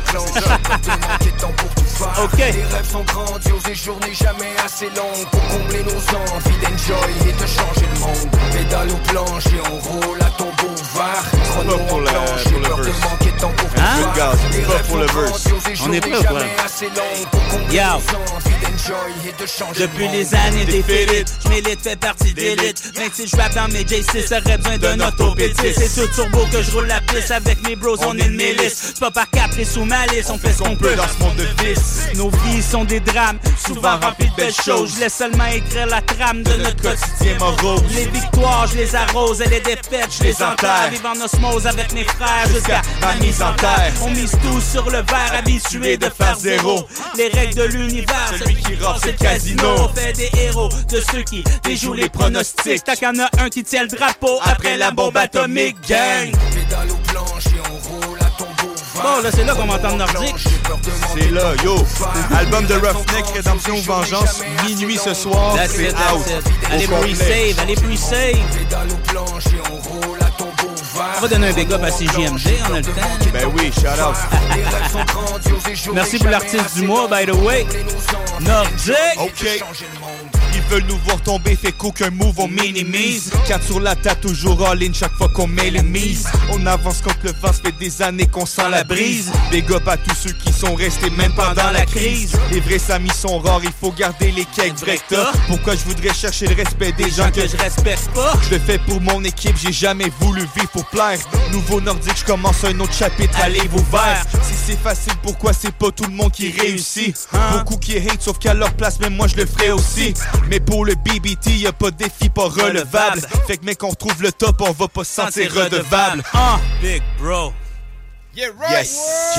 OK. Les rêves sont grandioses, les journées jamais assez longues pour combler nos envies d'enjoy et de changer le monde. Pédale aux planches et on roule à tombeau ouvert. Chrono en planche, j'ai peur de manquer de temps pour tout hein? faire. Les rêves sont grandioses, les on est prêt, journées jamais assez longues pour combler Yo. nos envies d'enjoy et de changer Depuis le monde. les années d'élite, j'm'élite, fait partie d'élite. Même si j'rappe dans mes J six, j'aurais besoin d'un autopétiste. C'est tout turbo que j'roule la piste avec mes bros, on est une milice. C'est pas par caprice ou malice, on fait ce qu'on peut dans ce monde de vice. Nos vies sont des drames, souvent remplis de belles choses. Je laisse seulement écrire la trame de notre quotidien morose. Les victoires, je les arrose et les défaites, je les enterre. Vivre en osmose avec mes frères jusqu'à ma mise en terre. On mise tout sur le verre, habitué de faire zéro. Les règles de l'univers, celui qui rate c'est le casino. On fait des héros de ceux qui déjouent les pronostics. Tant qu'il y en a un qui tient le drapeau après la bombe atomique, gang. Pédale aux planches et on roule à tombeau ouvert. Bon, là, c'est là qu'on m'entend nordique. C'est là, yo. Album de Roughneck, Rédemption ou Vengeance, minuit ce soir. That's c'est it, that's out. it. Allez pre-save, allez pre-save. Pédale aux planches et on roule à tombeau ouvert. On va donner un big up à C J M D, on a le temps. Ben oui, shout out. Merci pour l'artiste du mois, by the way. Nordique. OK. Ils veulent nous voir tomber, fait qu'aucun move on minimise. Quatre sur la table, toujours all-in chaque fois qu'on met les mises. On avance contre le vent, ça fait des années qu'on sent la brise. Big up à tous ceux qui sont restés même pendant la crise. Les vrais amis sont rares, il faut garder les cakes vrais que t'as. Pourquoi je voudrais chercher le respect des gens que je respecte pas? Je le fais pour mon équipe, j'ai jamais voulu vivre pour plaire. Nouveau nordique, je commence un autre chapitre, allez vous verts. Si c'est facile, pourquoi c'est pas tout le monde qui réussit? Beaucoup qui hate, sauf qu'à leur place, même moi je le ferais aussi. Mais pour le B B T, y'a pas de défi pas relevable. Fait que mec, on retrouve le top, on va pas se sentir redevable. Ah, big bro. Yeah, right! Yes!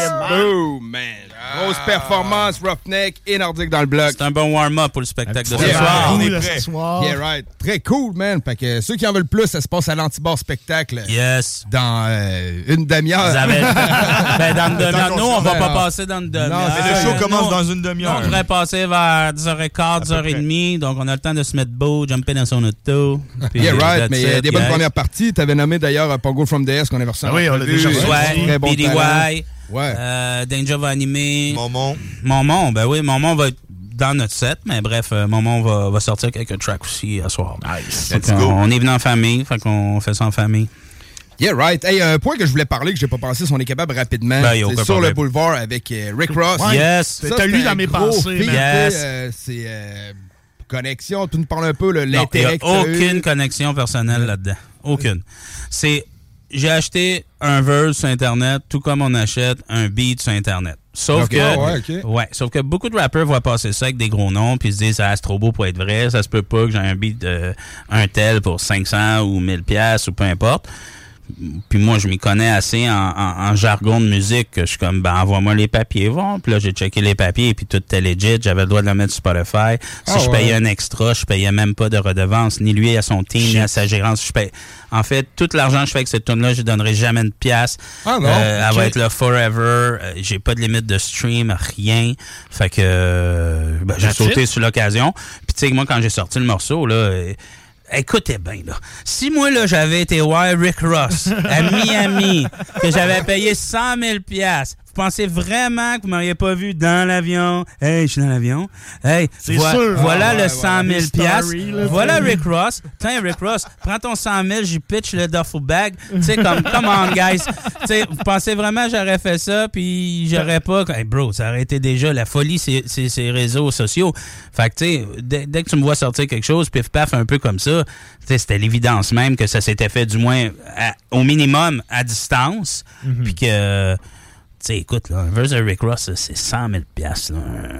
Boom, man! Grosse performance, Roughneck et Nordique dans le bloc. C'est un bon warm-up pour le spectacle de ce yeah, soir. On est prêt. Yeah, right. Très cool, man. Fait que ceux qui en veulent plus, ça se passe à l'Antibar Spectacle. Yes. Dans euh, une demi-heure. Vous avez... ben, dans une demi-heure. Nous, on va pas passer dans une demi-heure. Non, mais le show commence dans une demi-heure. On devrait passer vers dix heures quinze, dix heures trente. Donc, on a le temps de se mettre beau, jumper dans son auto. Yeah, right. Mais il y a des bonnes premières parties. Tu avais nommé d'ailleurs Pongo from the S qu'on avait reçu. Oui, on l'a déjà reçu. Ouais, bon B D Y. Ouais. Euh, Danger va animer. Momon. Momon, ben oui, Momon va être dans notre set, mais bref, euh, Momon va, va sortir quelques tracks aussi à soir. Nice. Let's go. On est venu en famille, fait qu'on fait ça en famille. Yeah, right. Hey, un point que je voulais parler, que j'ai pas pensé, si on est capable rapidement, ben, c'est sur le boulevard avec euh, Rick Ross. Ouais. Yes. T'as lu dans mes pensées. Yes. Euh, c'est euh, connexion. Tu nous parles un peu de l'intérêt que il n'y a aucune connexion personnelle ouais. là-dedans. Aucune. C'est... J'ai acheté un verse sur Internet, tout comme on achète un beat sur Internet. Sauf okay, que, ouais, okay. ouais, sauf que beaucoup de rappeurs voient passer ça avec des gros noms, puis se disent ah, c'est trop beau pour être vrai, ça se peut pas que j'ai un beat de un tel pour cinq cents ou mille piastres ou peu importe. Puis moi, je m'y connais assez en, en, en jargon de musique que je suis comme, ben, envoie-moi les papiers, bon. Puis là, j'ai checké les papiers et puis tout était legit. J'avais le droit de le mettre sur Spotify. Si ah, je payais ouais. un extra, je payais même pas de redevance, ni lui à son team, Shit. ni à sa gérance. Je paye... En fait, tout l'argent que je fais avec cette tune-là, je ne donnerai jamais une pièce. Ah non, euh, okay. Elle va être là forever. Euh, j'ai pas de limite de stream, rien. Fait que euh, ben, j'ai sauté it. sur l'occasion. Puis tu sais, moi, quand j'ai sorti le morceau, là... Euh, écoutez bien, là. Si moi, là, j'avais été voir Rick Ross à Miami, que j'avais payé cent mille piastres, vous pensez vraiment que vous m'auriez pas vu dans l'avion? Hey, je suis dans l'avion. Hey, vo- sûr. voilà ah, le ouais, cent mille piastres. Là, voilà Rick Ross. Tiens, Rick Ross, prends ton cent mille, j'y pitch le duffel bag. Tu sais, comme, come on, guys. Tu sais, vous pensez vraiment que j'aurais fait ça, puis j'aurais pas... Hey, bro, ça aurait été déjà la folie, c'est ces réseaux sociaux. Fait que, tu sais, dès, dès que tu me vois sortir quelque chose, pif paf, un peu comme ça, tu sais, c'était l'évidence même que ça s'était fait du moins à, au minimum à distance, mm-hmm. puis que... Tu sais, écoute, là, un verse de Rick Ross, c'est cent mille piastres.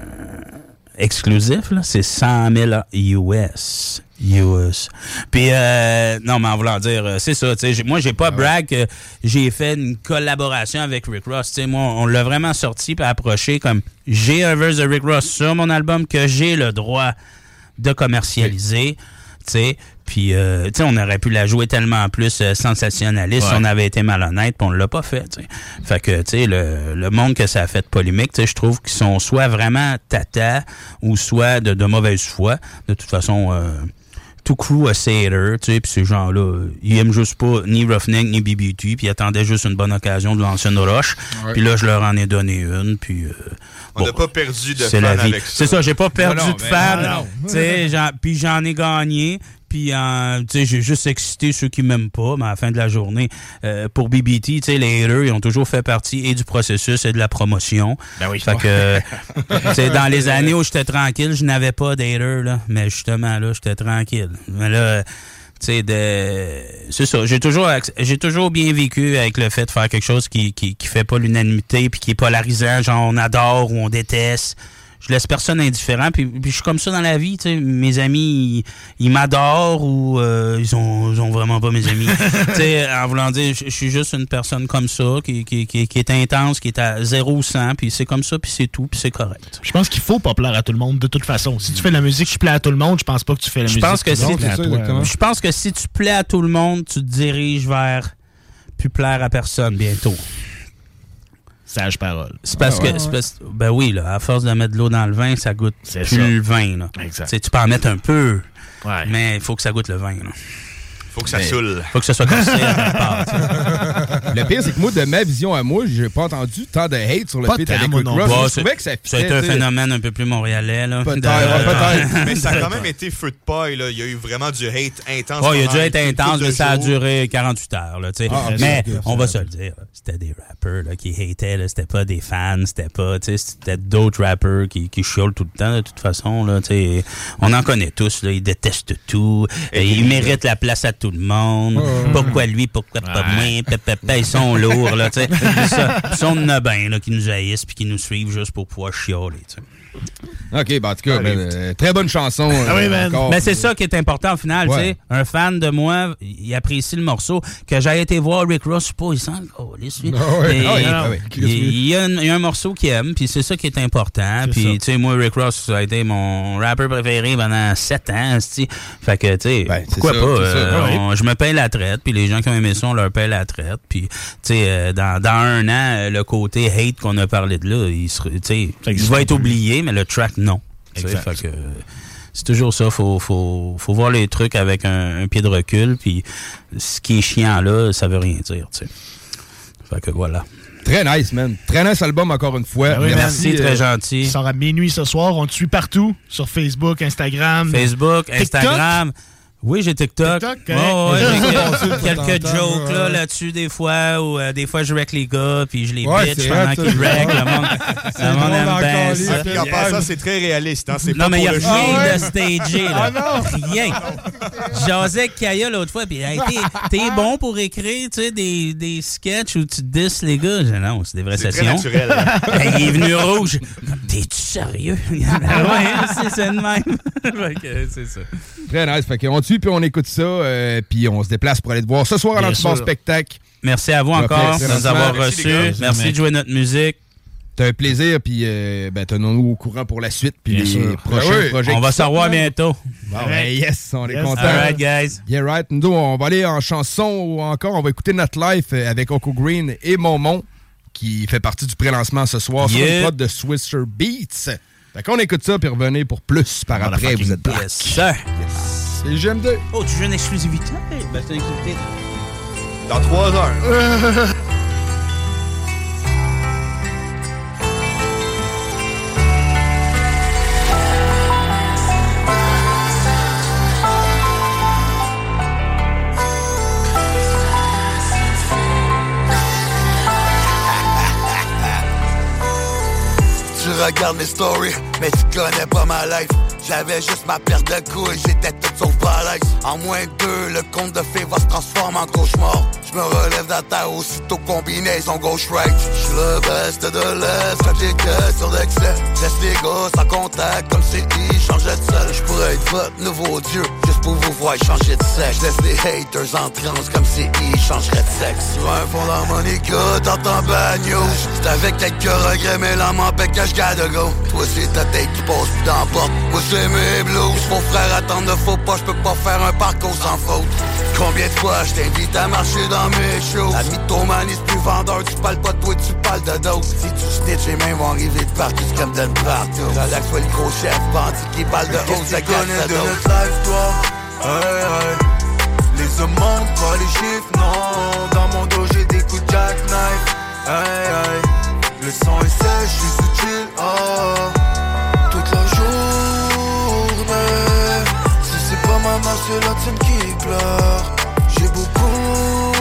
Exclusif, là, c'est cent mille U S. U S. Puis, euh, non, mais en voulant dire, c'est ça, tu sais, moi, j'ai pas brag que j'ai fait une collaboration avec Rick Ross. Tu sais, moi, on l'a vraiment sorti puis approché comme, j'ai un verse de Rick Ross sur mon album que j'ai le droit de commercialiser, tu sais. Puis, euh, tu sais, on aurait pu la jouer tellement plus euh, sensationnaliste ouais. si on avait été malhonnête, puis on l'a pas fait, tu sais. Fait que, tu sais, le, le monde que ça a fait polémique, tu sais, je trouve qu'ils sont soit vraiment tata ou soit de, de mauvaise foi. De toute façon, euh, tout crew a ses haters, tu sais, puis ces gens-là, ils aiment juste pas ni Roughneck ni B B T, puis ils attendaient juste une bonne occasion de lancer une roche. Ouais. Puis là, je leur en ai donné une, puis... Euh, on n'a bon, pas perdu de fans avec ça. C'est ça, j'ai pas perdu non, non, de fans, tu sais, j'en, puis j'en ai gagné. Puis, euh, tu sais, j'ai juste excité ceux qui m'aiment pas, mais à la fin de la journée, euh, pour B B T, tu sais, les haters, ils ont toujours fait partie et du processus et de la promotion. Ben oui. Fait que, tu sais, dans les années où j'étais tranquille, je n'avais pas d'haters, là. Mais justement, là, j'étais tranquille. Mais là, tu sais, de... c'est ça. J'ai toujours, j'ai toujours bien vécu avec le fait de faire quelque chose qui, qui, qui fait pas l'unanimité puis qui est polarisant, genre on adore ou on déteste. Je laisse personne indifférent, puis, puis je suis comme ça dans la vie, tu sais. Mes amis, ils, ils m'adorent ou euh, ils, ont, ils ont vraiment pas mes amis. Tu sais, en voulant dire, je suis juste une personne comme ça, qui, qui, qui, qui est intense, qui est à zéro ou cent, puis c'est comme ça, puis c'est tout, puis c'est correct. Je pense qu'il faut pas plaire à tout le monde, de toute façon. Si tu fais de la musique qui plaît à tout le monde, je pense pas que tu fais la je musique pense que qui si plaît à toi. Je pense que si tu plais à tout le monde, tu te diriges vers plus plaire à personne bientôt. Sage parole. C'est parce ah, que, ouais, c'est parce, ben oui, là, à force de mettre de l'eau dans le vin, ça goûte c'est plus ça. le vin, là. Exact. T'sais, tu peux en mettre un peu, ouais. mais il faut que ça goûte le vin, là. Faut que ça mais, saoule. Faut que ça soit cassé à quelque part. Le pire, c'est que moi, de ma vision à moi, j'ai pas entendu tant de hate sur le feat avec Rick Ross. Bon, je trouvais que ça Ça a été un phénomène un peu plus montréalais. Là, peut-être, de... peut-être. Mais ça a quand même été feu de paille. Là. Il y a eu vraiment du hate intense. Oh, il y a du hate intense, mais ça a duré quarante-huit heures. Là, ah, mais okay, on va se le dire, c'était des rappers là, qui hataient. Là. C'était pas des fans. C'était pas, c'était d'autres rappers qui, qui chiolent tout le temps, de toute façon. Là, on en connaît tous. Là, ils détestent tout. Et ils méritent la place à tout le monde. Oh. Pourquoi lui, pourquoi pas ouais. moi? Pépépé, ils sont lourds. Là, ça, ils sont de bains là, qui nous haïssent puis qui nous suivent juste pour pouvoir chialer. T'sais. OK, ben, en tout cas, ben, euh, très bonne chanson. Euh, ah oui, ben, mais c'est ça qui est important au final. Ouais. Un fan de moi, il apprécie le morceau. Que j'ai été voir Rick Ross, je sais pas, il sent oh, les suites. Oh, ouais. Et, oh, il, ah, ouais. il, il, y a un, il y a un morceau qu'il aime, puis c'est ça qui est important. Puis, tu sais, moi, Rick Ross, ça a été mon rapper préféré pendant sept ans. T'sais. Fait que, tu sais, ben, pourquoi ça, pas? Euh, on, ouais. Je me paye la traite, puis les gens qui ont aimé ça, on leur paye la traite. Puis, tu sais, euh, dans, dans un an, le côté hate qu'on a parlé de là, il, sera, il va être oublié, mais le track, non. Fait que, c'est toujours ça, faut, faut, faut voir les trucs avec un, un pied de recul, puis ce qui est chiant là, ça veut rien dire, tu sais. Fait que voilà. Très nice, man. Très nice album, encore une fois. Ben oui, merci, merci, très euh, gentil. Il sort à minuit ce soir, on te suit partout, sur Facebook, Instagram. Facebook, TikTok. Instagram. Oui, j'ai TikTok. TikTok oh, ouais, j'ai quelques jokes là, là-dessus des fois, ou euh, des fois je wreck les gars, puis je les ouais, bitch pendant qu'ils wreck. Le monde, le monde aime bien ça. Puis en passant, c'est très réaliste. Hein? C'est non, pas mais il n'y a rien ah, ouais. de stagé. Là. Ah, rien. J'osais avec Kaya l'autre fois, puis hey, t'es, t'es bon pour écrire tu sais, des, des sketchs où tu disses les gars. Je, non, c'est des vraies c'est sessions. C'est très naturel. Hein? Hey, il est venu rouge. T'es-tu sérieux? Ouais, c'est ça de même. Fait c'est ça. Très nice. Fait qu'on tue puis on écoute ça, euh, puis on se déplace pour aller te voir ce soir à l'Antibar Spectacle. Merci à vous encore de nous avoir reçus. Merci, Merci de jouer notre musique. T'as un plaisir, puis euh, ben, tenons-nous au courant pour la suite, puis les sûr. prochains ben oui. projets. On va se revoir bientôt. Bon, ben, yes, on est yes. contents. All right, guys. Yeah, right. Nous, on va aller en chanson ou encore, on va écouter Not Life avec Oko Green et Momon, qui fait partie du pré-lancement ce soir yeah. sur le pod de Swisher Beats. Fait qu'on écoute ça, puis revenez pour plus par on après. Vous êtes yes, sir. Yes. C'est G M D. Oh, tu veux une exclusivité? Ben, c'est une exclusivité. Dans trois heures. Tu regardes mes stories, mais tu connais pas ma life. J'avais juste ma paire de couilles, j'étais tout sauf balèze. En moins de deux, le conte de fées va se transformer en cauchemar. J'me relève de la terre aussitôt combinaison gauche-right. J'suis le best de l'Est, quand j'ai que sur l'excès. Laisse les gars sans contact, comme c'est I, change de seul. J'pourrais être votre nouveau dieu, juste pour vous voir changer de sexe. J'laisse les haters en transe, comme c'est I, changerait de sexe. Sur un fond d'harmonica, dans ton bagno. C'est avec quelques regrets, mais l'âme m'empêche que j'garde go. Toi c'est ta tête qui passe plus dans la porte. Moi c'est mes blues, mon frère attend ne faut pas, j'peux pas faire un parcours sans faute. Combien de fois j't'invite à marcher dans mes shows? La mythomanie c'est plus vendeur, tu parles pas de toi, tu parles de d'autres. Si tu snitch, les mains vont arriver de partout, c'est comme de partout. Relax, soit le gros chef, bandit qui parle de haut, ça gagne de notre life, toi. Hey, hey. Les hommes montent pas les chiffres, non. Dans mon dos j'ai des coups de jackknife. Hey, hey. Le sang est sèche, j'suis sous chill, oh. Toute la journée. Si c'est pas ma mère, c'est la tienne qui pleure. J'ai beaucoup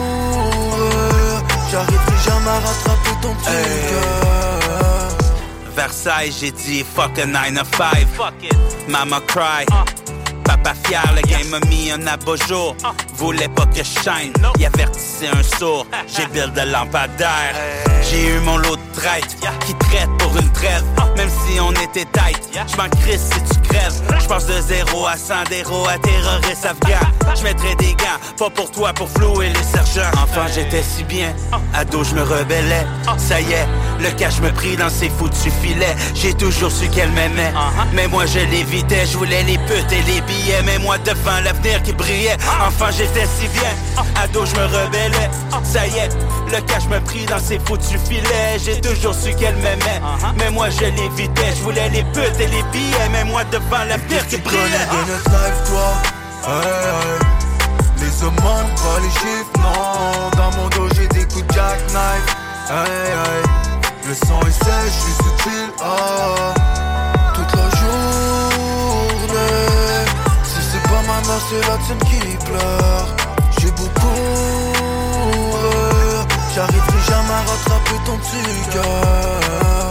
euh, j'arriverai jamais à rattraper ton petit hey. cœur. Versailles, j'ai dit fuck a nine to five. Fuck it. Mama cry. Uh. Papa fier, le game m'a mis un abat-jour. Uh. Voulait pas que je shine, no. Il avertissait un sourd. J'ai build de lampadaire. Hey. J'ai eu mon lot de traite yeah. Qui traite pour une trêve. Uh. Même si on était tight, yeah. J'm'en crisse si tu crèves. J'passe de zéro à cent d'héros à terroriste afghan. J'mettrais des gants, pas pour toi, pour flouer les sergents. Enfant j'étais si bien, ado j'me rebellais. Ça y est, le cash me pris dans ses foutus filets. J'ai toujours su qu'elle m'aimait, uh-huh. Mais moi je l'évitais. J'voulais les putes et les billets. Mais moi devant l'avenir qui brillait. Enfant j'étais si bien, ado j'me rebellais. Ça y est, le cash me pris dans ses foutus filets. J'ai toujours su qu'elle m'aimait, uh-huh. Mais moi je l'évitais. J'voulais les putes et les billets. Mais moi devant l'avenir qui brillait. Tu connais de notre life toi. Hey, hey. les aumônes, pas les chiffres, non. Dans mon dos j'ai des coups de jackknife. Aïe aïe, le sang est sèche, je suis subtil, ah. Toute la journée. Si c'est pas ma mère, c'est la tienne qui pleure. J'ai beaucoup rire. J'arriverai jamais à rattraper ton petit cœur.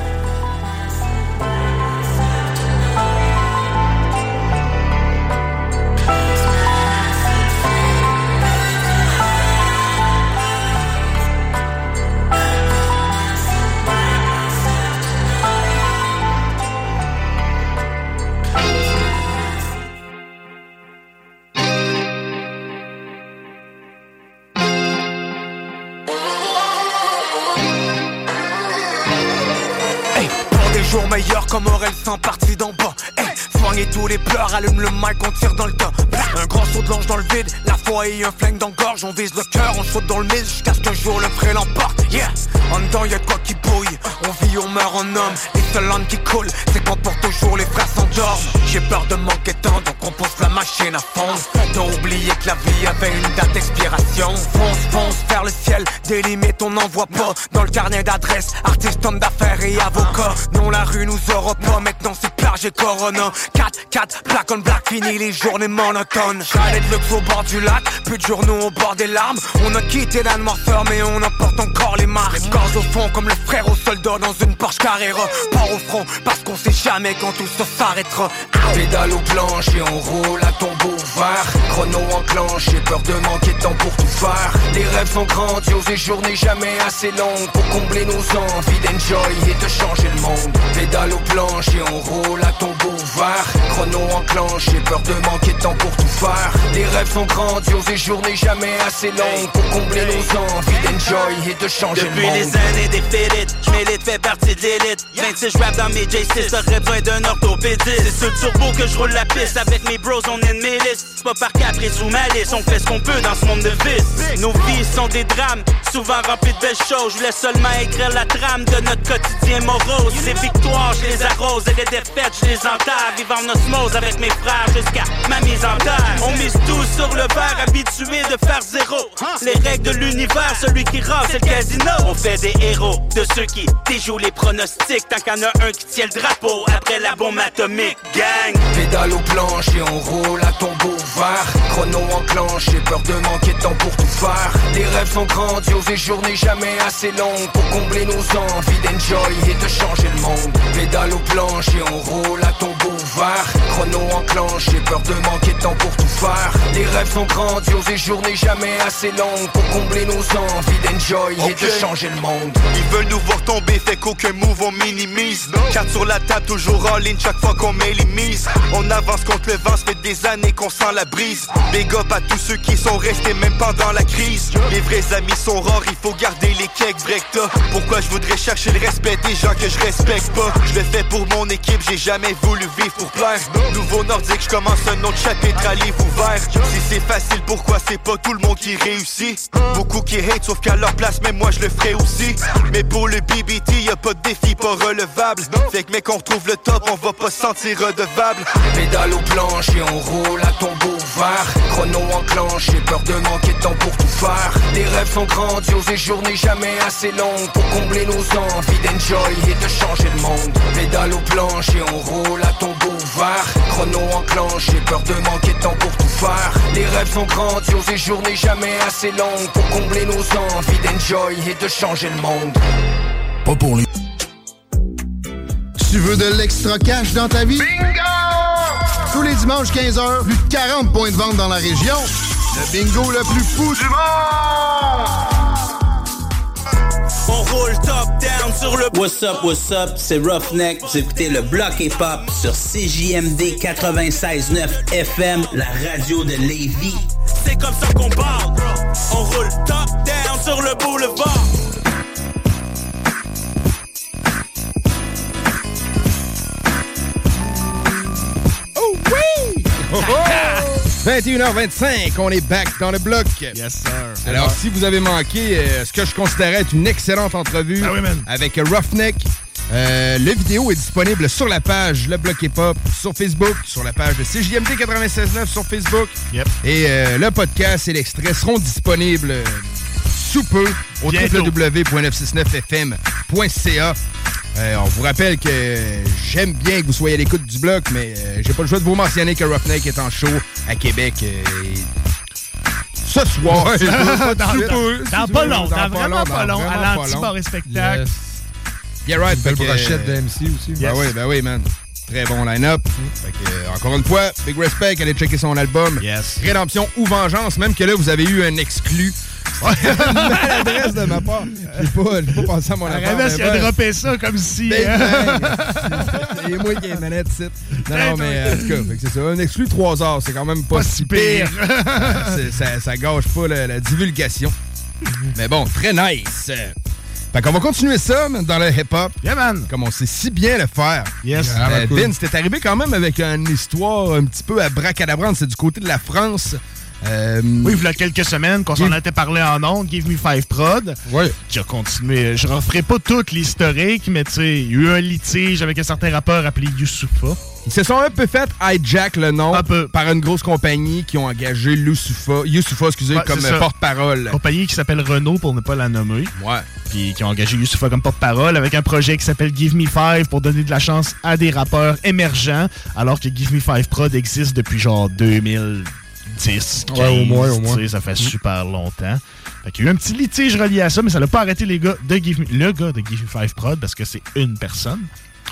Jour meilleur comme Aurel sans partie d'en bas. Hey, soignez tous les pleurs, allume le mic, on tire dans le tas. Un grand saut de l'ange dans le vide, la foi et un flingue dans gorge. On vise le cœur, on saute dans le mille jusqu'à ce qu'un jour le vrai l'emporte. Yeah, en dedans y'a de quoi qui bouille. On vit, on meurt en homme. Les seules langues qui coulent, c'est quand pour toujours les frères s'endorment. J'ai peur de manquer de temps, donc on pousse la machine à fond. T'as oublié que la vie avait une date d'expiration. Fonce, fonce vers le ciel, des limites on n'en voit pas. Dans le carnet d'adresse, artiste, homme d'affaires et avocat. Non, la rue nous aura pas, maintenant c'est plage et Corona. quatre, quatre, black on black, fini les journées monotones. Chalet de luxe au bord du lac, plus de journaux au bord des larmes. On a quitté la noirceur mais on emporte encore les marques. Corps au fond comme le frère au soldat dans une Porsche Carrera. Pas au front parce qu'on sait jamais quand tout ça s'arrêtera. Pédale au planche et on roule à tombeau ouvert. Chrono enclenche, j'ai peur de manquer de temps pour tout faire. Les rêves sont grandioses et journées jamais assez longues pour combler nos envies d'enjoy et de changer le monde. Pédale aux planches et on roule à tombeau ouvert. Chrono enclenche, j'ai peur de manquer de temps pour tout faire. Les rêves sont grandioses et journées jamais assez longues pour combler nos envies d'enjoy et de changer Depuis le monde. Depuis les années des félites, j'm'élite, fais partie de l'élite. vingt-six j'rappe dans mes J six, j'aurais besoin d'un orthopédiste. C'est sur le turbo que j'roule la piste, avec mes bros on est de mes listes. C'est pas par caprice ou malice, on fait ce qu'on peut dans ce monde de vice. Nos vies sont des drames, souvent remplies de belles choses. Je laisse seulement écrire la trame de notre quotidien morose. Les victoires, je les arrose et les défaites, je les enterre. Vivre en osmose avec mes frères jusqu'à ma mise en terre. On mise tout sur le verre, habitué de faire zéro. Les règles de l'univers, celui qui rase, c'est le casino. On fait des héros de ceux qui déjouent les pronostics. Tant qu'il y en a un qui tient le drapeau après la bombe atomique. Gang! Pédale aux planches et on roule à tombeau ouvert. Chrono enclenche, j'ai peur de manquer de temps pour tout faire. Les rêves sont grandioses et journées jamais assez longues pour combler nos envies d'enjoy et de changer le monde. Pédale aux planches et on roule à tombeau ouvert. Chrono enclenche, j'ai peur de manquer de temps pour tout faire. Les rêves sont grandioses et journées jamais assez longues pour combler nos envies d'enjoy et de changer le monde. Ils veulent nous voir tomber, fait qu'aucun move on minimise. Carte sur la table, toujours en ligne chaque fois qu'on met les mises. On avance contre le vent, ça fait des années qu'on sent la brise. Big up à tous ceux qui sont restés même pendant la crise. Les vrais amis sont rares, il faut garder les cakes brecta. Pourquoi je voudrais chercher le respect des gens que je respecte pas? Je le fais pour mon équipe, j'ai jamais voulu vivre pour plaire. Nouveau nordique, je commence un autre chapitre à livre ouvert. Si c'est facile, pourquoi c'est pas tout le monde qui réussit? Beaucoup qui hate, sauf qu'à leur place, même moi je le ferai aussi. Mais pour le B B T, y'a pas de défi pas relevable. Fait que mec, on retrouve le top, on va pas se sentir redevable. Pédale aux planches et on roule à tombeau ouvert. Chrono enclenche, j'ai peur de manquer de temps pour tout faire. Les rêves sont grandioses et journées jamais assez longues pour combler nos envies d'enjoy et de changer le monde. Pédale aux planches et on roule à tombeau ouvert. Chrono enclenche, j'ai peur de manquer de temps pour tout faire. Les rêves sont grandioses et journées jamais assez longues pour combler nos envies d'enjoy et de changer le monde. Pas pour les... Tu veux de l'extra cash dans ta vie? Bingo! Tous les dimanches quinze heures, plus de quarante points de vente dans la région. Le bingo le plus fou du monde! On roule top down sur le... What's up, what's up, c'est Roughneck. Vous écoutez le Bloc Hip-Hop sur C J M D quatre-vingt-seize neuf F M, la radio de Lévis. C'est comme ça qu'on parle. On roule top down sur le boulevard. Oh oui! vingt et une heures vingt-cinq, on est back dans le bloc. Yes, sir. Alors, alors si vous avez manqué euh, ce que je considérais être une excellente entrevue ah oui, avec Roughneck, Euh, le vidéo est disponible sur la page Le Bloc Hip-Hop sur Facebook, sur la page de C J M D quatre-vingt-seize neuf sur Facebook. Yep. Et euh, le podcast et l'extrait seront disponibles euh, sous peu au w w w point neuf cent soixante-neuf f m point c a. Euh, on vous rappelle que j'aime bien que vous soyez à l'écoute du bloc, mais euh, j'ai pas le choix de vous mentionner que Roughneck est en show à Québec euh, ce soir. Ouais, c'est dans, pas, dans, dans pas long, dans vraiment pas long, à l'anti-bar et spectacle. Yes. Yeah, right. Belle que, brochette de M C aussi. Ben yes. oui, ben oui, man. Très bon line-up. Fait que, euh, encore une fois, big respect, allez checker son album. Yes. Rédemption ou Vengeance, même que là, vous avez eu un exclu. Maladresse de ma part. J'ai pas, j'ai pas pensé à mon affaire. Aramis, il a droppé ça comme si... Ben, ben, c'est moi qui ai les manettes ici. Non, non, mais en tout cas, fait que c'est ça. Un exclu trois heures, c'est quand même pas, pas si pire. pire. ça, ça gâche pas la, la divulgation. Mais bon, très nice. Fait qu'on va continuer ça dans le hip-hop. Yeah, man. Comme on sait si bien le faire. Yes. Euh, cool. Vince, t'es arrivé quand même avec une histoire un petit peu abracadabrante. C'est du côté de la France. Euh, oui, il y a quelques semaines qu'on s'en était parlé en ondes, Give Me Five Prod. Oui. Qui a continué. Je ne referai pas toute l'historique, mais tu sais, il y a eu un litige avec un certain rappeur appelé Youssoupha. Ils se sont un peu fait hijack le nom par une grosse compagnie qui ont engagé Youssoupha, Youssoupha excusez, ouais, comme porte-parole. Compagnie qui s'appelle Renault pour ne pas la nommer. Ouais. Puis qui ont engagé Youssoupha comme porte-parole avec un projet qui s'appelle Give Me Five pour donner de la chance à des rappeurs émergents, alors que Give Me Five Prod existe depuis genre deux mille dix, quinze, ouais, au moins, au moins. Ça fait super longtemps. Fait qu'il y a eu un petit litige relié à ça, mais ça n'a pas arrêté les gars de Give Me, le gars de Give Me Five Prod parce que c'est une personne.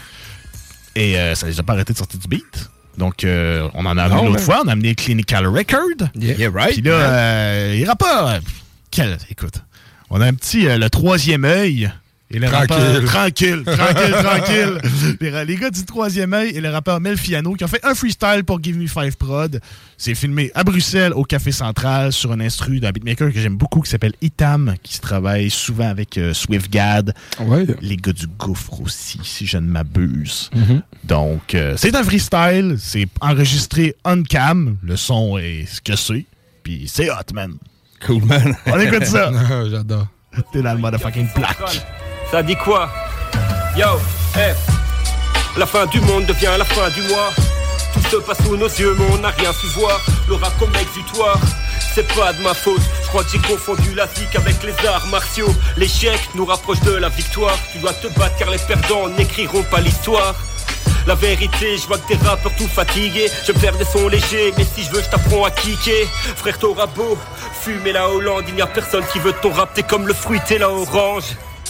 Et euh, ça les a pas arrêté de sortir du beat. Donc, euh, on en a amené l'autre fois. On a amené Clinical Record. Yeah, yeah right. Puis là, yeah. euh, les rappeurs... Euh, quel, écoute, on a un petit... Euh, le troisième œil... Et le tranquille. rappeur, tranquille, tranquille, tranquille. Les, les gars du troisième œil et le rappeur Melfiano qui ont fait un freestyle pour Give Me Five Prod. C'est filmé à Bruxelles, au Café Central, sur un instru d'un beatmaker que j'aime beaucoup qui s'appelle Itam, qui se travaille souvent avec euh, SwiftGad. Ouais. Les gars du Gouffre aussi, si je ne m'abuse. Mm-hmm. Donc, euh, c'est un freestyle. C'est enregistré on-cam. Le son est ce que c'est. Puis c'est hot, man. Cool, man. On écoute ça. J'adore. T'es dans le motherfucking plaque. Ça dit quoi? Yo, hey. La fin du monde devient la fin du mois. Tout se passe sous nos yeux mais on n'a rien su voir. Le rap comme exutoire, c'est pas de ma faute. Je crois que j'ai confondu la zik avec les arts martiaux. L'échec nous rapproche de la victoire. Tu dois te battre car les perdants n'écriront pas l'histoire. La vérité, je vois que des rappeurs tout fatigués. Je vais faire des sons légers, mais si je veux, je t'apprends à kicker. Frère, t'auras beau fumer la Hollande, il n'y a personne qui veut ton rap. T'es comme le fruit, t'es la orange.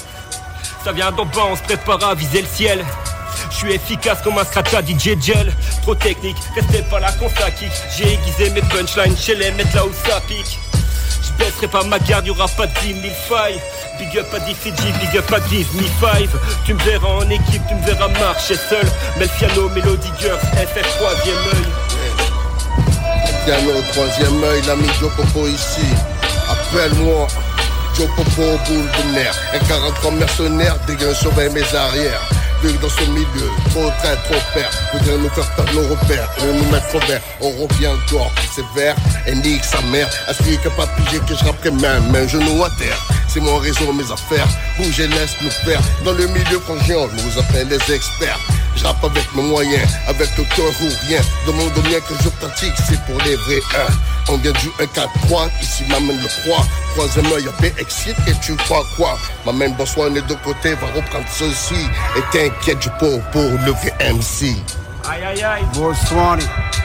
Ça vient d'en bas, on se prépare à viser le ciel. Je suis efficace comme un scratch D J Gel. Trop technique, restez pas là qu'on kick. J'ai aiguisé mes punchlines chez les mecs là où ça pique. Je baisserai pas ma garde, y'aura pas de dix mille failles. Big up à D C G, big up à Give Me Five. Tu me verras en équipe, tu me verras marcher seul. Melfiano, Melody Girls, F F troisième œil. Melfiano, troisième œil, l'ami Joe Popo ici. Appelle-moi Joe Popo au boule de nerf. Un quarante-trois mercenaire, dégain surveille mes arrières. Vu dans ce milieu, trop train, trop père. Voudrait nous faire perdre nos repères, et nous mettre au vert. On revient encore plus sévère, et nique sa mère. Ainsi que pas pigé que je rapperai même, un genou à terre. C'est mon réseau, mes affaires. Bouge et laisse nous faire. Dans le milieu frangin, on nous appelle les experts. Je rappe avec mes moyens, avec le cœur ou rien. Demande au mien que je pratique, c'est pour les vrais un. On vient du un quatre trois, ici m'amène le trois. Troisième œil, y'a B X et tu crois quoi? M'amène Bonsoir, on est de côté, va reprendre ceci. Et t'inquiète, je pour pour le vrai M C. Aïe aïe aïe. Bonsoir,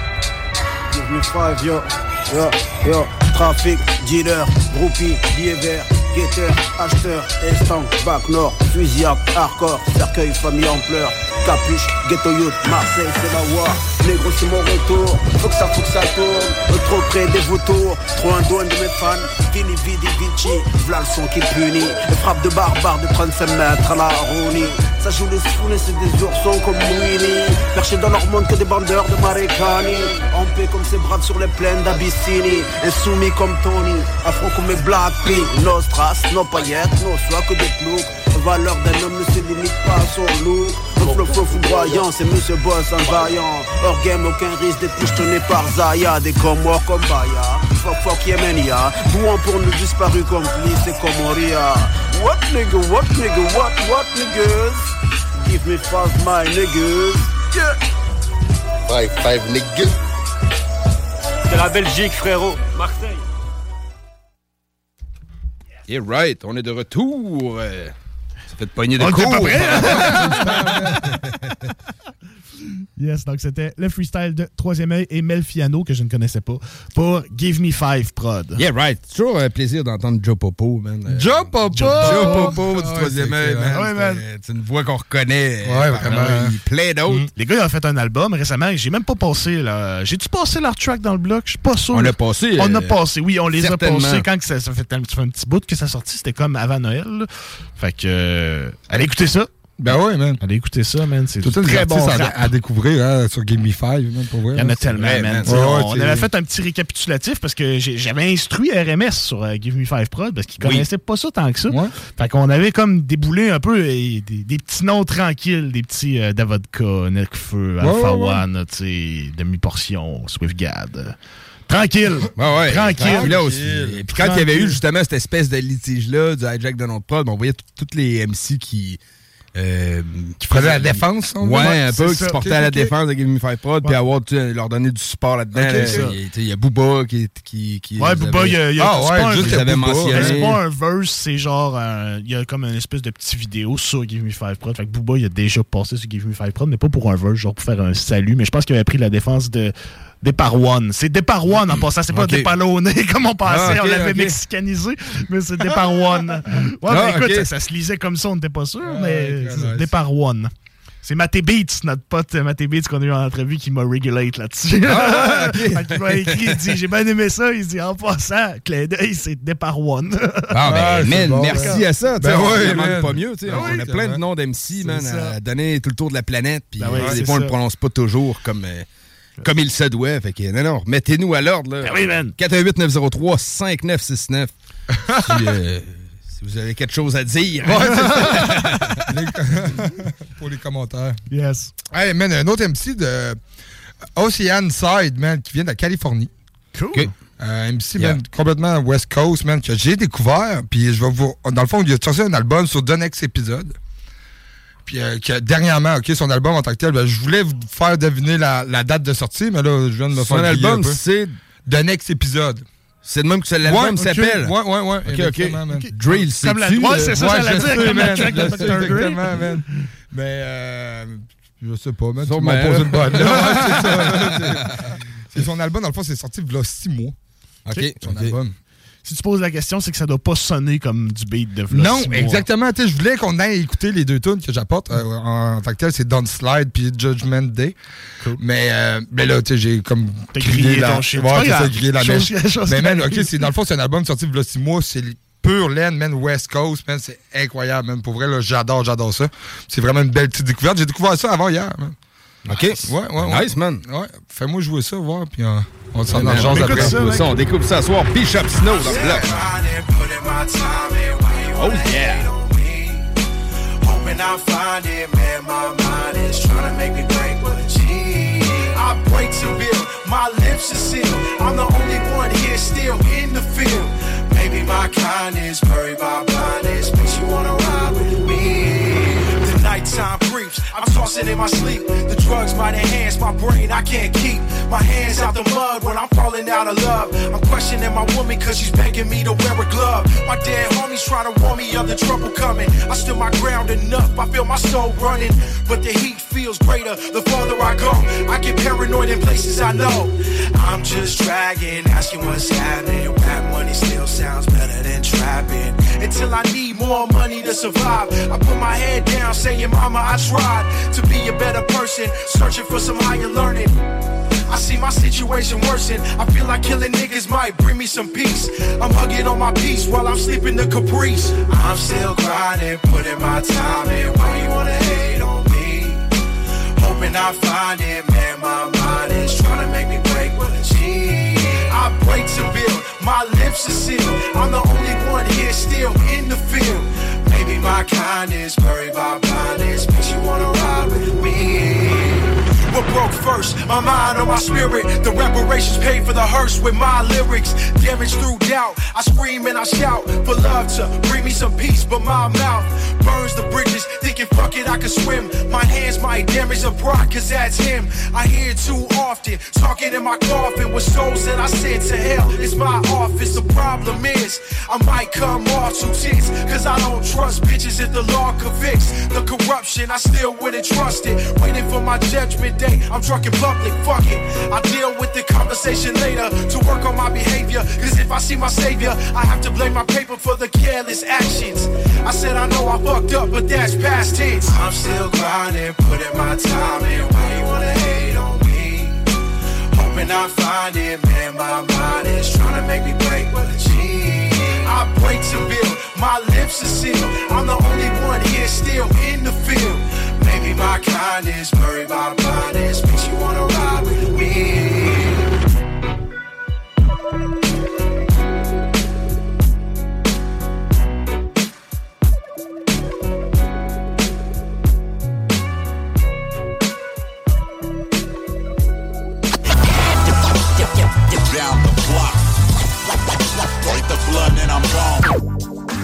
Give Me Five, yo, yo, yo. Trafic, dealer, groupie, billets verts, guetteur, acheteur, estanque, bac nord, fusillade, hardcore, cercueil, famille en pleurs, capuche, ghetto youth, Marseille, c'est la war, négro c'est mon retour, faut que ça, faut que ça tourne, trop près des vautours, trop un douane de mes fans, Vini, Vidi, Vici, v'là le son qui punit, les frappes de barbares de trente-cinq mètres à la Rouni, ça joue les foulées, c'est des oursons comme Winnie, perchés dans leur monde que des bandeurs de Marécani, en paix comme ces braves sur les plaines d'Abyssinie, insoumis comme Tony, afro comme mes Black Pink, nos strass, nos paillettes, nos soies que des ploucs. La valeur d'un homme ne se limite pas à son look. Mon flow flow foudroyant, c'est Monsieur Boss en vaillant. Hors game, aucun risque d'être pichetonné par Zaya. Des comme moi, comme Baya. Fuck fuck Yemenia. Bouant pour nos disparus complices, c'est comme Moria. What nigga, what nigga, what, what niggas? Give me five, my niggas. Yeah. Five, five, niggas. C'est la Belgique, frérot. Marseille. Yeah, right. On est de retour. Euh, ça fait de pogner de On cours. était pas prêt, hein? Yes, donc c'était le freestyle de Troisième œil et Melfiano, que je ne connaissais pas, pour Give Me Five Prod. Yeah, right. Toujours un plaisir d'entendre Joe Popo, man. Euh, Joe Popo! Joe Popo du Ah ouais, Troisième œil, man. Ouais, man. C'est- C'est une voix qu'on reconnaît. Ouais, euh, vraiment. parmi plein d'autres. Mm. Les gars, ils ont fait un album récemment. J'ai même pas passé, là. J'ai-tu passé leur track dans le bloc? Je suis pas sûr. On l'a passé. On euh, a passé, oui, on les certainement. a passés quand que ça, ça fait un, ça fait un petit bout que ça sorti. C'était comme avant Noël. Là. Fait que, euh, allez écouter ça. Ben ouais, man. Allez écouter ça, man. C'est Tout du un très bon à, rap. à découvrir hein, sur Give Me Five, man, pour vrai. Il y en a man. tellement, Ouais, man. Ouais, on ouais, avait fait un petit récapitulatif parce que j'ai- j'avais instruit R M S sur euh, Give Me Five Prod parce qu'ils Oui. connaissaient pas ça tant que ça. Ouais. Fait qu'on avait comme déboulé un peu euh, des, des petits noms tranquilles, des petits euh, Davodka, Necfeu, Alpha ouais, ouais. One, tu sais, Demi-Portion, Swiftgad. Tranquille. Ouais, ouais. Tranquille. Puis là aussi. Et puis quand il y avait eu justement cette espèce de litige-là du hijack de notre prod, on voyait tous les M C qui. Euh, Qui faisaient la défense, on Ouais, dit? un peu, C'est qui ça. se portaient Ok, à la ok. défense de Give Me Five Prod, puis avoir, tu sais, leur donner du support là-dedans. Ok, là. ça. Il y a- tu sais, il y a Booba qui. qui, qui Ouais, les Booba, avait- il y a, il y a- Ah, c'est ouais, pas un- juste les avait Booba. mentionnés. mais c'est pas un verse, c'est genre, euh, il y a comme une espèce de petite vidéo sur Give Me Five Prod. Fait que Booba, il a déjà passé sur Give Me Five Prod, mais pas pour un verse, genre pour faire un salut. Mais je pense qu'il avait pris la défense de Départ One. C'est Départ One en passant, c'est pas Ok. Dépalonné comme on pensait, Ah, ok, on l'avait ok. mexicanisé, mais c'est Départ One. Ouais, Ah, mais écoute, ok. ça, ça se lisait comme ça, on n'était pas sûr, Ah, mais ok, c'est nice. Départ One. C'est Maté Beats, notre pote Maté Beats qu'on a eu en entrevue qui m'a regulate là-dessus. Ah, ok. Fait qu'il m'a écrit, il dit, j'ai bien aimé ça. Il dit, en passant, clin d'œil, c'est Départ One. Ah, ben, Ah, c'est man, bon, merci ouais. à ça. tu Ben sais, on ouais, ne demande man. pas mieux. tu sais. Ben on oui, a c'est plein de vrai. noms d'M C, man, ça. à donner tout le tour de la planète. Puis Ben oui, euh, des c'est fois, on ça. ne le prononce pas toujours comme, euh, comme il se doit. Fait que, non, non, mettez-nous à l'ordre. là. Ben oui, man. quatre un huit neuf zéro trois cinq neuf six neuf. si, euh, si vous avez quelque chose à dire. Ouais, c'est ça. Les- Pour les commentaires. Yes. Hey, man, un autre M C de Ocean Side, man, qui vient de la Californie. Cool. Ok. Un M C, Yeah. man, complètement West Coast, man, que j'ai découvert. Puis je vais vous. Dans le fond, il a sorti un album sur The Next Episode. Puis euh, que dernièrement, OK, son album en tant que tel, ben, je voulais vous faire deviner la, la date de sortie, mais là, je viens de me Son faire griller album, un peu. c'est. The Next Episode. C'est de même que ça, l'album Ouais, ok. s'appelle. Ouais, ouais, ouais. Ok, exactement, ok. man. Drill, c'est Comme la- ouais, c'est ça, j'allais je dire, sais, comme la man, track de je docteur sais Dre. exactement, man. Mais, euh, je sais pas, man. Tu Sûrement. m'en poses une bonne. là. Ouais, c'est ça, man, c'est- C'est son album, dans le fond, c'est sorti il y a six mois. OK. Son ok. album. Si tu poses la question, c'est que ça doit pas sonner comme du beat de v'là Non, six mois. exactement. Tu sais, je voulais qu'on aille écouter les deux tunes que j'apporte. Euh, en, en tant que tel, c'est Don't Slide puis Judgment Day. Cool. Mais, euh, mais là, tu sais, j'ai comme T'as grillé la... ton shit. Ouais, C'est pas c'est ça, grave. grillé la Chose- mèche. chose Mais qui man, arrive. OK, c'est, dans le fond, c'est un album sorti il y a six mois. C'est pure laine, man, West Coast, man. C'est incroyable, man. Pour vrai, là, j'adore, j'adore ça. C'est vraiment une belle petite découverte. J'ai découvert ça avant hier, man. OK. Ouais, ouais, ouais. Nice, man. Ouais, fais-moi jouer ça, voir, puis euh, on s'en Ouais, man, arrange on après. écoute ça, mec. On découvre ça ce soir. Bishop Snow dans le bloc. Oh yeah. Hoping I find it, man, my mind is trying to make me break with a G. I break to build, my lips are sealed. I'm the only one here still in the field. Maybe my kindness, buried by blindness, makes you wanna ride with me. The nighttime creeps, I'm tossing in my sleep. The drugs might enhance my brain, I can't keep my hands out the mud when I'm falling out of love. I'm questioning my woman cause she's begging me to wear a glove. My dead homies trying to warn me of the trouble coming. I stood my ground enough, I feel my soul running. But the heat feels greater the farther I go. I get paranoid in places I know. I'm just dragging, asking what's happening. Rap money still sounds better than trapping. Until I need more money to survive. I put my head down saying, mama, I tried to be a better person, searching for some higher learning. I see my situation worsen. I feel like killing niggas might bring me some peace. I'm hugging on my peace while I'm sleeping the Caprice. I'm still grinding, putting my time in. Why you wanna hate on me? Hoping I find it, man. My mind is trying to make me break with a G. I break to build, my lips are sealed. I'm the only one here still in the field. Maybe my kindness, buried by blindness, makes you wanna ride with me. never broke first. My mind on my spirit. The reparations paid for the hearse with my lyrics. Damage through doubt. I scream and I shout for love to bring me some peace, but my mouth burns the bridges. Thinking fuck it, I can swim. My hands might damage the bride, cause that's him. I hear it too often, talking in my coffin with souls that I sent to hell. It's my office. The problem is I might come off too tense, cause I don't trust bitches if the law convicts. The corruption, I still wouldn't trust it. Waiting for my judgment day, I'm drunk in public, fuck it. I deal with the conversation later to work on my behavior, cause if I see my savior, I have to blame my paper for the careless actions. I said I know I fucked up, but that's past tense. I'm still grinding, putting my time in. Why you wanna hate on me? Hoping I find it, man, my mind is trying to make me break with a G. I break to build, my lips are sealed. I'm the only one here still in the field. Maybe my kindness, buried my blindness, makes you wanna ride with me. Down the block, break the blood and I'm gone.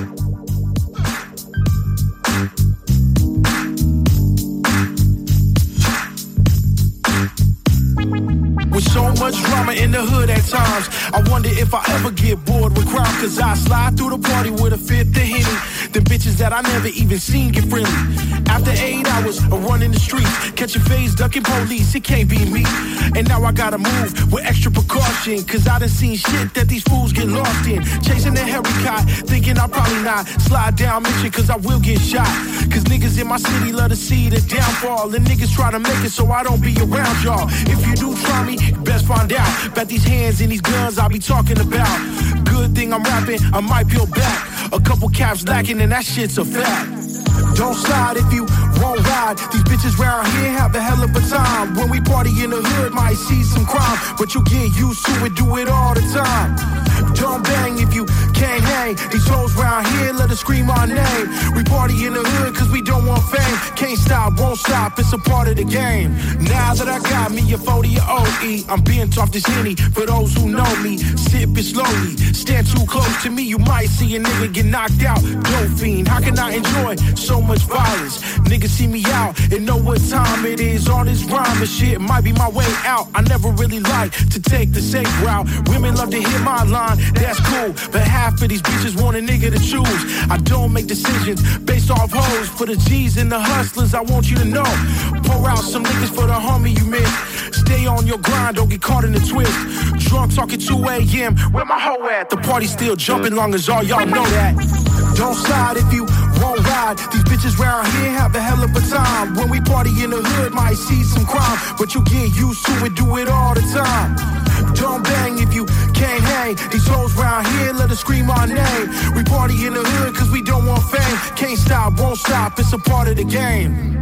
With so much drama in the hood at times, I wonder if I ever get bored with crime, cause I slide through the party with a fifth of Henny. The bitches that I never even seen get friendly. After eight hours of running the streets, catching phase, ducking police, it can't be me. And now I gotta move with extra precaution, cause I done seen shit that these fools get lost in. Chasing the Harry Cot, thinking I'll probably not slide down mission, cause I will get shot. Cause niggas in my city love to see the downfall, and niggas try to make it so I don't be around y'all. If you do try me, you best find out. Bet these hands and these guns I'll be talking about. Good thing I'm rapping, I might peel back. A couple caps lacking and that shit's a fact. Don't slide if you won't ride. These bitches round here have a hell of a time. When we party in the hood, might see some crime, but you get used to it, do it all the time. Don't bang if you can't hang. These hoes round here let us scream our name. We party in the hood cause we don't want fame. Can't stop, won't stop, it's a part of the game. Now that I got me a forty or O E, I'm bent off this Henny for those who know me. Sip it slowly, stand too close to me, you might see a nigga get knocked out. Dope fiend, how can I enjoy so much violence? Niggas see me out and know what time it is. All this rhyme and shit might be my way out. I never really like to take the safe route. Women love to hear my line, that's cool, but half of these bitches want a nigga to choose. I don't make decisions based off hoes. For the G's and the hustlers, I want you to know. Pour out some niggas for the homie you miss. Stay on your grind, don't get caught in the twist. Drunk talking two a.m. Where my hoe at? The party still jumping long as all y'all know that. Don't slide if you won't ride. These bitches round here have a hell of a time. When we party in the hood, might see some crime, but you get used to it, do it all the time. Don't bang if you can't hang. These hoes round here let us scream our name. We party in the hood cause we don't want fame. Can't stop, won't stop, it's a part of the game.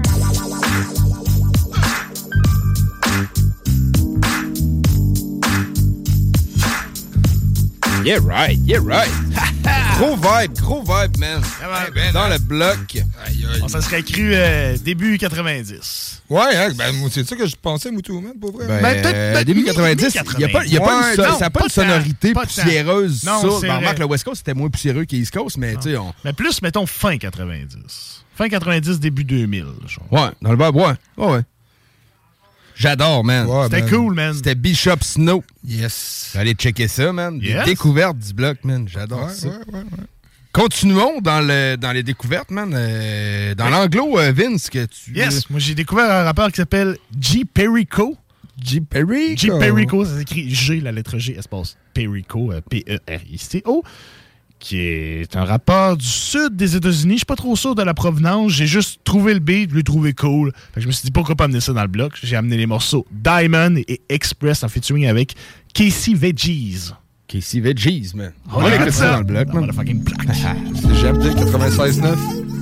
Yeah right, yeah right. Gros vibe, gros vibe, man. Ouais, ben, Dans hein. le bloc. Aïe, aïe. On s'en serait cru euh, début quatre-vingt-dix. Ouais, hein, ben, c'est ça que je pensais, Moutou, man, pour vrai. Ben, Ben, peut-être- euh, peut-être début mi- quatre-vingt-dix, il n'y a pas, il y a pas Ouais, une, so- non, ça n'a pas, pas une de temps, sonorité pas de temps. poussiéreuse. Non, ça. c'est Ben, vrai. remarque, le West Coast, c'était moins poussiéreux qu'East Coast, mais tu sais, on... Mais plus, mettons, fin quatre-vingt-dix. Fin quatre-vingt-dix, début deux mille. Genre. Ouais, dans le vibe, ouais. Ouais, ouais. J'adore, man. Ouais, C'était man. cool, man. C'était Bishop Snow. Yes. Allez checker ça, man. Des Yes. découvertes du bloc, man. J'adore Ouais, ça. ouais, ouais, ouais. Continuons dans, le, dans les découvertes, man. Euh, dans l'anglo, euh, Vince, que tu... Yes, moi j'ai découvert un rappeur qui s'appelle G. Perico. G. Perico. G. Perico, ça s'écrit G, la lettre G, espace Perico, euh, P E R I C O, qui est un rappeur du sud des États-Unis. Je suis pas trop sûr de la provenance. J'ai juste trouvé le beat, je l'ai trouvé cool. Fait que je me suis dit, pourquoi pas amener ça dans le bloc? J'ai amené les morceaux Diamond et Express en featuring avec Casey Veggies. Casey Veggies, man. On On écoute écoute ça ça dans le bloc, dans man. la fucking plaque. C'est G M D quatre-vingt-seize neuf.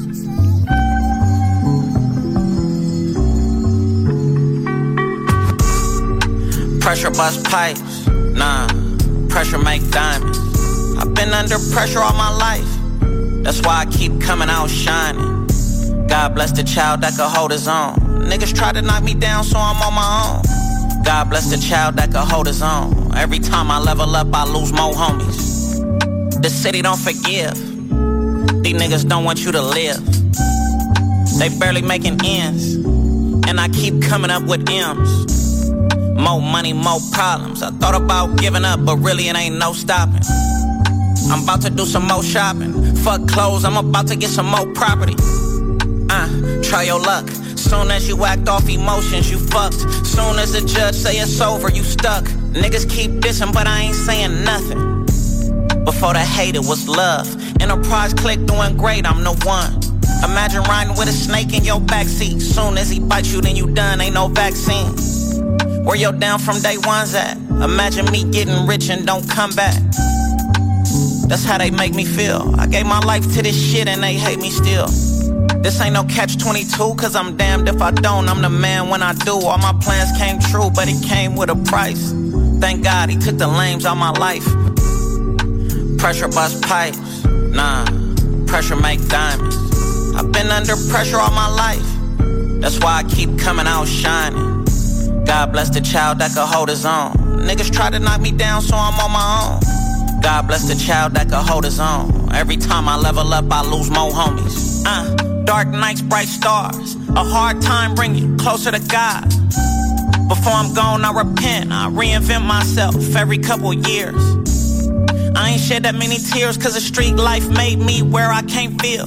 Pressure bust pipes, nah, pressure make diamonds. I've been under pressure all my life, that's why I keep coming out shining. God bless the child that could hold his own. Niggas try to knock me down, so I'm on my own. God bless the child that can hold his own. Every time I level up, I lose more homies. The city don't forgive. These niggas don't want you to live. They barely making ends, and I keep coming up with M's. More money, more problems. I thought about giving up, but really it ain't no stopping. I'm about to do some more shopping. Fuck clothes, I'm about to get some more property. Uh, try your luck. Soon as you act off emotions, you fucked. Soon as the judge say it's over, you stuck. Niggas keep dissing, but I ain't saying nothing. Before the hate, it was love. Enterprise click doing great, I'm the one. Imagine riding with a snake in your backseat. Soon as he bites you, then you done, ain't no vaccine. Where your down from day one's at? Imagine me getting rich and don't come back. That's how they make me feel. I gave my life to this shit and they hate me still. This ain't no catch twenty-two, cause I'm damned if I don't. I'm the man when I do. All my plans came true, but it came with a price. Thank God he took the lames out my life. Pressure bust pipes, nah, pressure make diamonds. I've been under pressure all my life. That's why I keep coming out shining. God bless the child that could hold his own. Niggas try to knock me down, so I'm on my own. God bless the child that could hold his own. Every time I level up, I lose more homies. Uh, dark nights, bright stars. A hard time bring you closer to God. Before I'm gone, I repent. I reinvent myself every couple years. I ain't shed that many tears, cause the street life made me where I can't feel.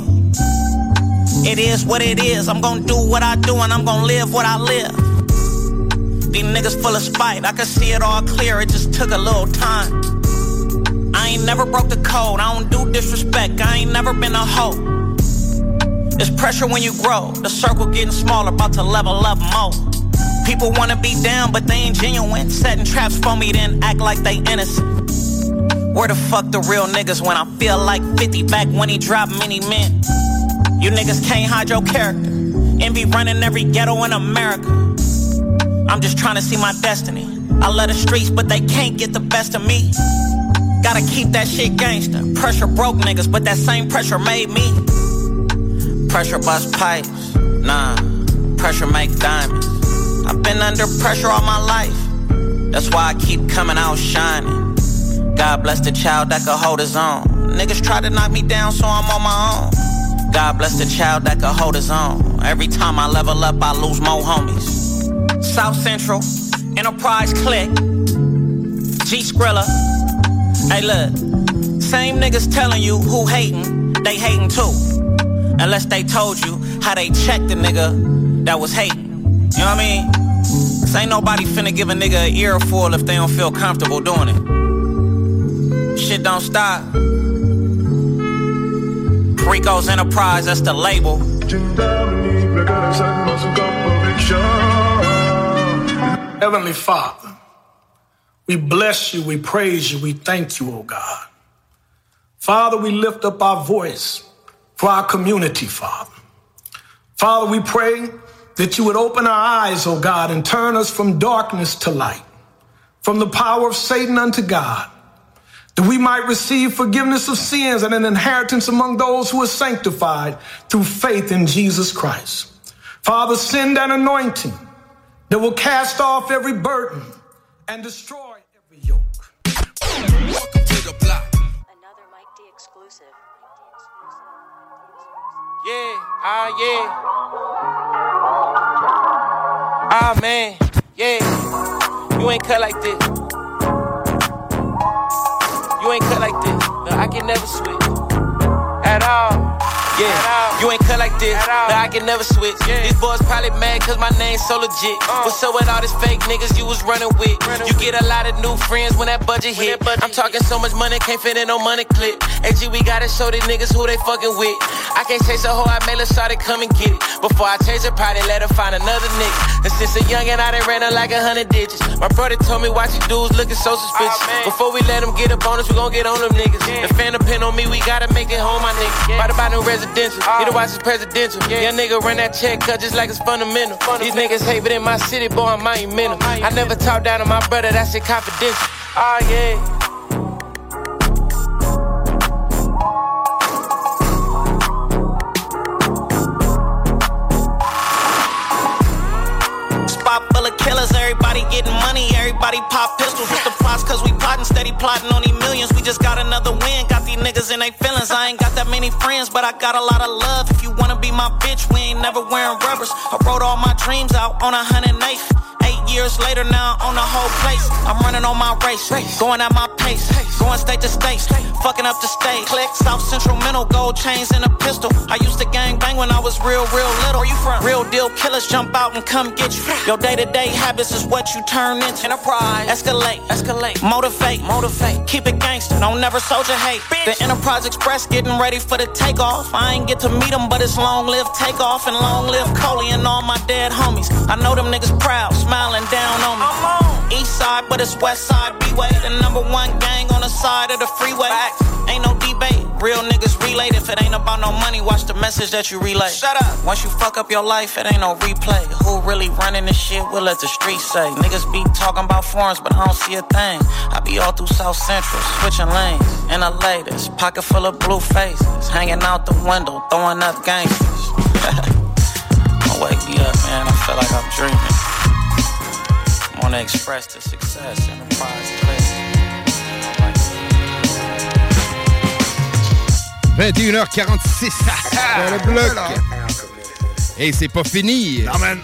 It is what it is. I'm gonna do what I do and I'm gonna live what I live. These niggas full of spite, I can see it all clear, it just took a little time. I ain't never broke the code, I don't do disrespect, I ain't never been a hoe. It's pressure when you grow, the circle getting smaller, about to level up more. People wanna be down, but they ain't genuine. Setting traps for me, then act like they innocent. Where the fuck the real niggas when I feel like fifty back when he dropped many men? You niggas can't hide your character. Envy running every ghetto in America. I'm just trying to see my destiny. I love the streets, but they can't get the best of me. Gotta keep that shit gangster. Pressure broke niggas, but that same pressure made me. Pressure bust pipes, nah, pressure make diamonds. I've been under pressure all my life. That's why I keep coming out shining. God bless the child that could hold his own. Niggas try to knock me down, so I'm on my own. God bless the child that could hold his own. Every time I level up, I lose more homies. South Central, Enterprise Click, G Skrilla. Hey look, same niggas telling you who hating, they hating too. Unless they told you how they checked the nigga that was hating. You know what I mean? Cause ain't nobody finna give a nigga an earful if they don't feel comfortable doing it. Shit don't stop. Rico's Enterprise, that's the label. Heavenly Father, we bless you, we praise you, we thank you, oh God. Father, we lift up our voice for our community, Father. Father, we pray that you would open our eyes, oh God, and turn us from darkness to light, from the power of Satan unto God, that we might receive forgiveness of sins and an inheritance among those who are sanctified through faith in Jesus Christ. Father, send an anointing that will cast off every burden and destroy every yoke. Welcome to the block. Another Mike D exclusive. Yeah, ah, yeah. Ah, man, yeah. You ain't cut like this. You ain't cut like this. No, I can never switch at all. Yeah, you ain't cut like this. No, I can never switch. Yeah. These boys probably mad cause my name's so legit. Uh. What's up with all these fake niggas you was running with? Running you get a lot of new friends when that budget when hit. That budget I'm talking hit. So much money, can't fit in no money clip. A G, we gotta show these niggas who they fucking with. I can't chase a hoe, I made her start to come and get it. Before I chase her, probably let her find another nigga. And since a youngin', I done ran her like a hundred digits. My brother told me watch you dudes looking so suspicious. Oh, before we let them get up on us, we gon' get on them niggas. Yeah. The fan depend on me, we gotta make it home, my nigga. Yeah. Right about them residential, oh. Need to watch his presidential. Yeah. Young nigga run that check cut just like it's fundamental. fundamental. These niggas hate, but in my city, boy, I'm monumental. Oh, I never talk down to my brother, that shit confidential. Oh, yeah. everybody pop pistols. With the plots, cause we plotting, steady plotting on these millions. We just got another win, got these niggas in they feelings. I ain't got that many friends, but I got a lot of love. If you wanna be my bitch, we ain't never wearing rubbers. I wrote all my dreams out on a hundred eighth. Eight years later now on the whole place. I'm running on my race, going at my pace, going state to state, fucking up the state. Click South Central Mental, gold chains and a pistol. I used to gang bang when I was real, real little. Where you from? Real deal killers jump out and come get you. Your day to day habits is what you turn into. Enterprise, escalate, escalate, motivate, motivate. Keep it gangster, don't never soldier hate. Bitch. The Enterprise Express getting ready for the takeoff. I ain't get to meet them, but it's long live takeoff and long live Coley and all my dead homies. I know them niggas proud, smiling down on me. I'm on. East side, but it's west side B-way. The number one gang on the side of the freeway. Facts. Ain't no debate. Real niggas relate. If it ain't about no money, watch the message that you relay. Shut up. Once you fuck up your life, it ain't no replay. Who really running this shit? We'll let the streets say. Niggas be talking about foreigns, but I don't see a thing. I be all through South Central, switching lanes. In the latest, pocket full of blue faces. Hanging out the window, throwing up gangsters. Don't wake me up, man. I feel like I'm dreaming. I'm on the express to success, Enterprise place. vingt et une heures quarante-six dans le bloc. Et c'est pas fini. Non, man.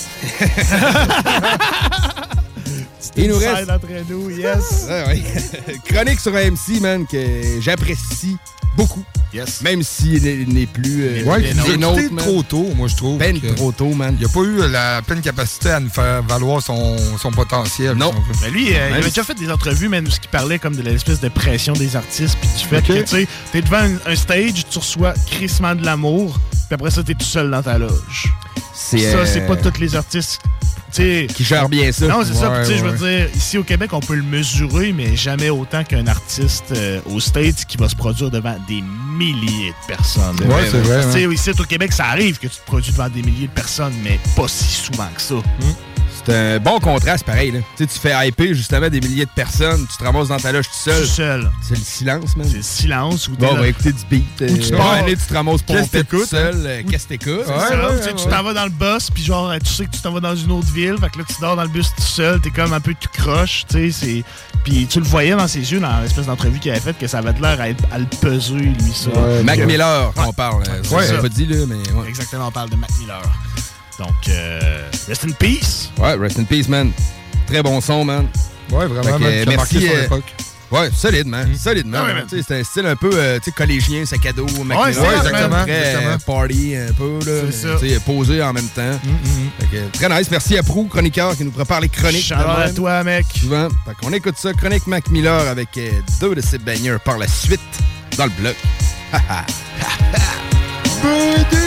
Il nous reste... entre nous, yes. Ah, oui. Chronique sur A M C, man, que j'apprécie beaucoup. Yes. Même s'il n'est plus... Euh, ouais, c'est nôtres, trop tôt, moi, je trouve. Ben trop tôt, man. Il n'a pas eu la pleine capacité à nous faire valoir son, son potentiel. Non. Si mais lui, euh, il avait déjà fait des entrevues, même, où il parlait comme de l'espèce de pression des artistes, puis du fait okay. que, tu sais, t'es devant un, un stage, tu reçois crissement de l'amour, puis après ça, t'es tout seul dans ta loge. C'est, ça, euh... c'est pas tous les artistes... T'sais, qui gèrent bien ça. Non, c'est ouais, ça. Ouais. Je veux dire, ici au Québec, on peut le mesurer, mais jamais autant qu'un artiste euh, aux States qui va se produire devant des milliers de personnes. Oui, c'est vrai. Ouais. Ici au Québec, ça arrive que tu te produis devant des milliers de personnes, mais pas si souvent que ça. Hum. C'est un bon contraste, pareil. Là. Tu fais hyper justement des milliers de personnes, tu te ramasses dans ta loge tout seul. Tout seul. C'est le silence, man. C'est le silence. Où bon, on va écouter du beat. Où tu, euh, pars, aller, tu te ramasses pompé tout seul. Hein? Euh, qu'est-ce que t'écoutes? C'est ouais, ça. Ouais, ouais, tu t'en vas dans le bus, puis genre, tu sais que tu t'en vas dans une autre ville. Fait que là, tu dors dans le bus tout seul. T'es comme un peu tout croche. Tu sais, puis tu le voyais dans ses yeux, dans l'espèce d'entrevue qu'il avait faite, que ça avait l'air à, être, à le peser, lui, ça. Ouais, Mac Miller, ouais. on parle. Ouais, ouais, c'est pas dit, là, mais... Ouais. Exactement, on parle de Mac Miller. Donc, euh, rest in peace. Ouais, rest in peace, man. Très bon son, man. Ouais, vraiment, man, que, merci. Euh, ouais, solide, man. Mmh. Solidement. Ouais, c'est un style un peu euh, collégien, sac à dos, Mac ouais, Miller. Ouais, exactement. Très exactement. party un peu, là. C'est ça. Posé en même temps. Mmh, mmh. Que, très nice. Merci à Prou, chroniqueur, qui nous prépare les chroniques. Shout out à toi, mec. Souvent. Fait qu'on écoute ça. Chronique Mac Miller avec euh, deux de ses baigneurs par la suite dans le bloc. Ha ha. Ha ha.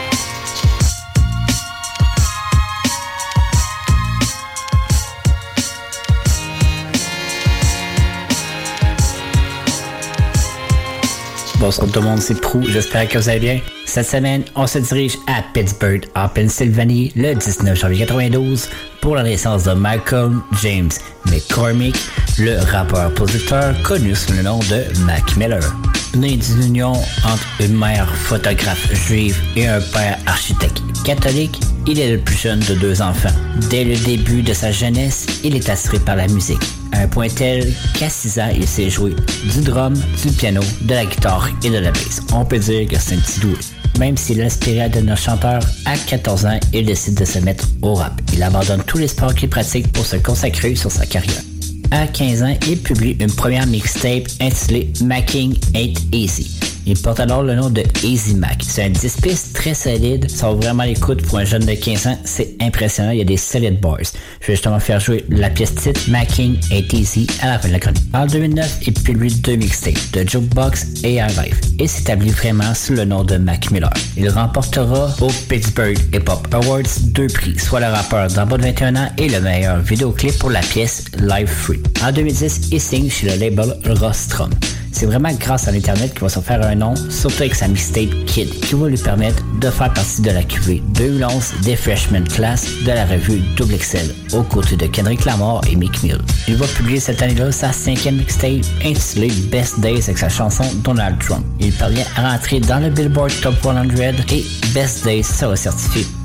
Bonsoir tout le monde, c'est Prou, j'espère que vous allez bien. Cette semaine, on se dirige à Pittsburgh, en Pennsylvanie, le dix-neuf janvier quatre-vingt-douze, pour la naissance de Malcolm James McCormick, le rappeur-producteur connu sous le nom de Mac Miller. Né d'une union entre une mère photographe juive et un père architecte catholique, il est le plus jeune de deux enfants. Dès le début de sa jeunesse, il est attiré par la musique, à un point tel qu'à six ans, il sait jouer du drum, du piano, de la guitare et de la basse. On peut dire que c'est un petit doué. Même s'il aspirait de notre chanteur, à quatorze ans, il décide de se mettre au rap. Il abandonne tous les sports qu'il pratique pour se consacrer sur sa carrière. À quinze ans, il publie une première mixtape intitulée Macking Ain't Easy. Il porte alors le nom de Easy Mac. C'est un dix pistes très solide. Ça vaut vraiment l'écoute pour un jeune de quinze ans. C'est impressionnant. Il y a des solides bars. Je vais justement faire jouer la pièce titre Macking Ain't Easy à la fin de la chronique. En deux mille neuf, il publie deux mixtapes, de Jukebox et High Life, et s'établit vraiment sous le nom de Mac Miller. Il remportera au Pittsburgh Hip Hop Awards deux prix, soit le rappeur d'en bas de vingt et un ans et le meilleur vidéoclip pour la pièce Live Free. En deux mille dix, il signe chez le label Rostrum. C'est vraiment grâce à l'Internet qu'il va se faire un nom, surtout avec sa mixtape Kid, qui va lui permettre de faire partie de la cuvée deux mille onze des Freshman Class de la revue Double X L, aux côtés de Kendrick Lamar et Meek Mill. Il va publier cette année-là sa cinquième mixtape intitulée Best Days avec sa chanson Donald Trump. Il parvient à rentrer dans le Billboard Top cent et Best Days sera certifié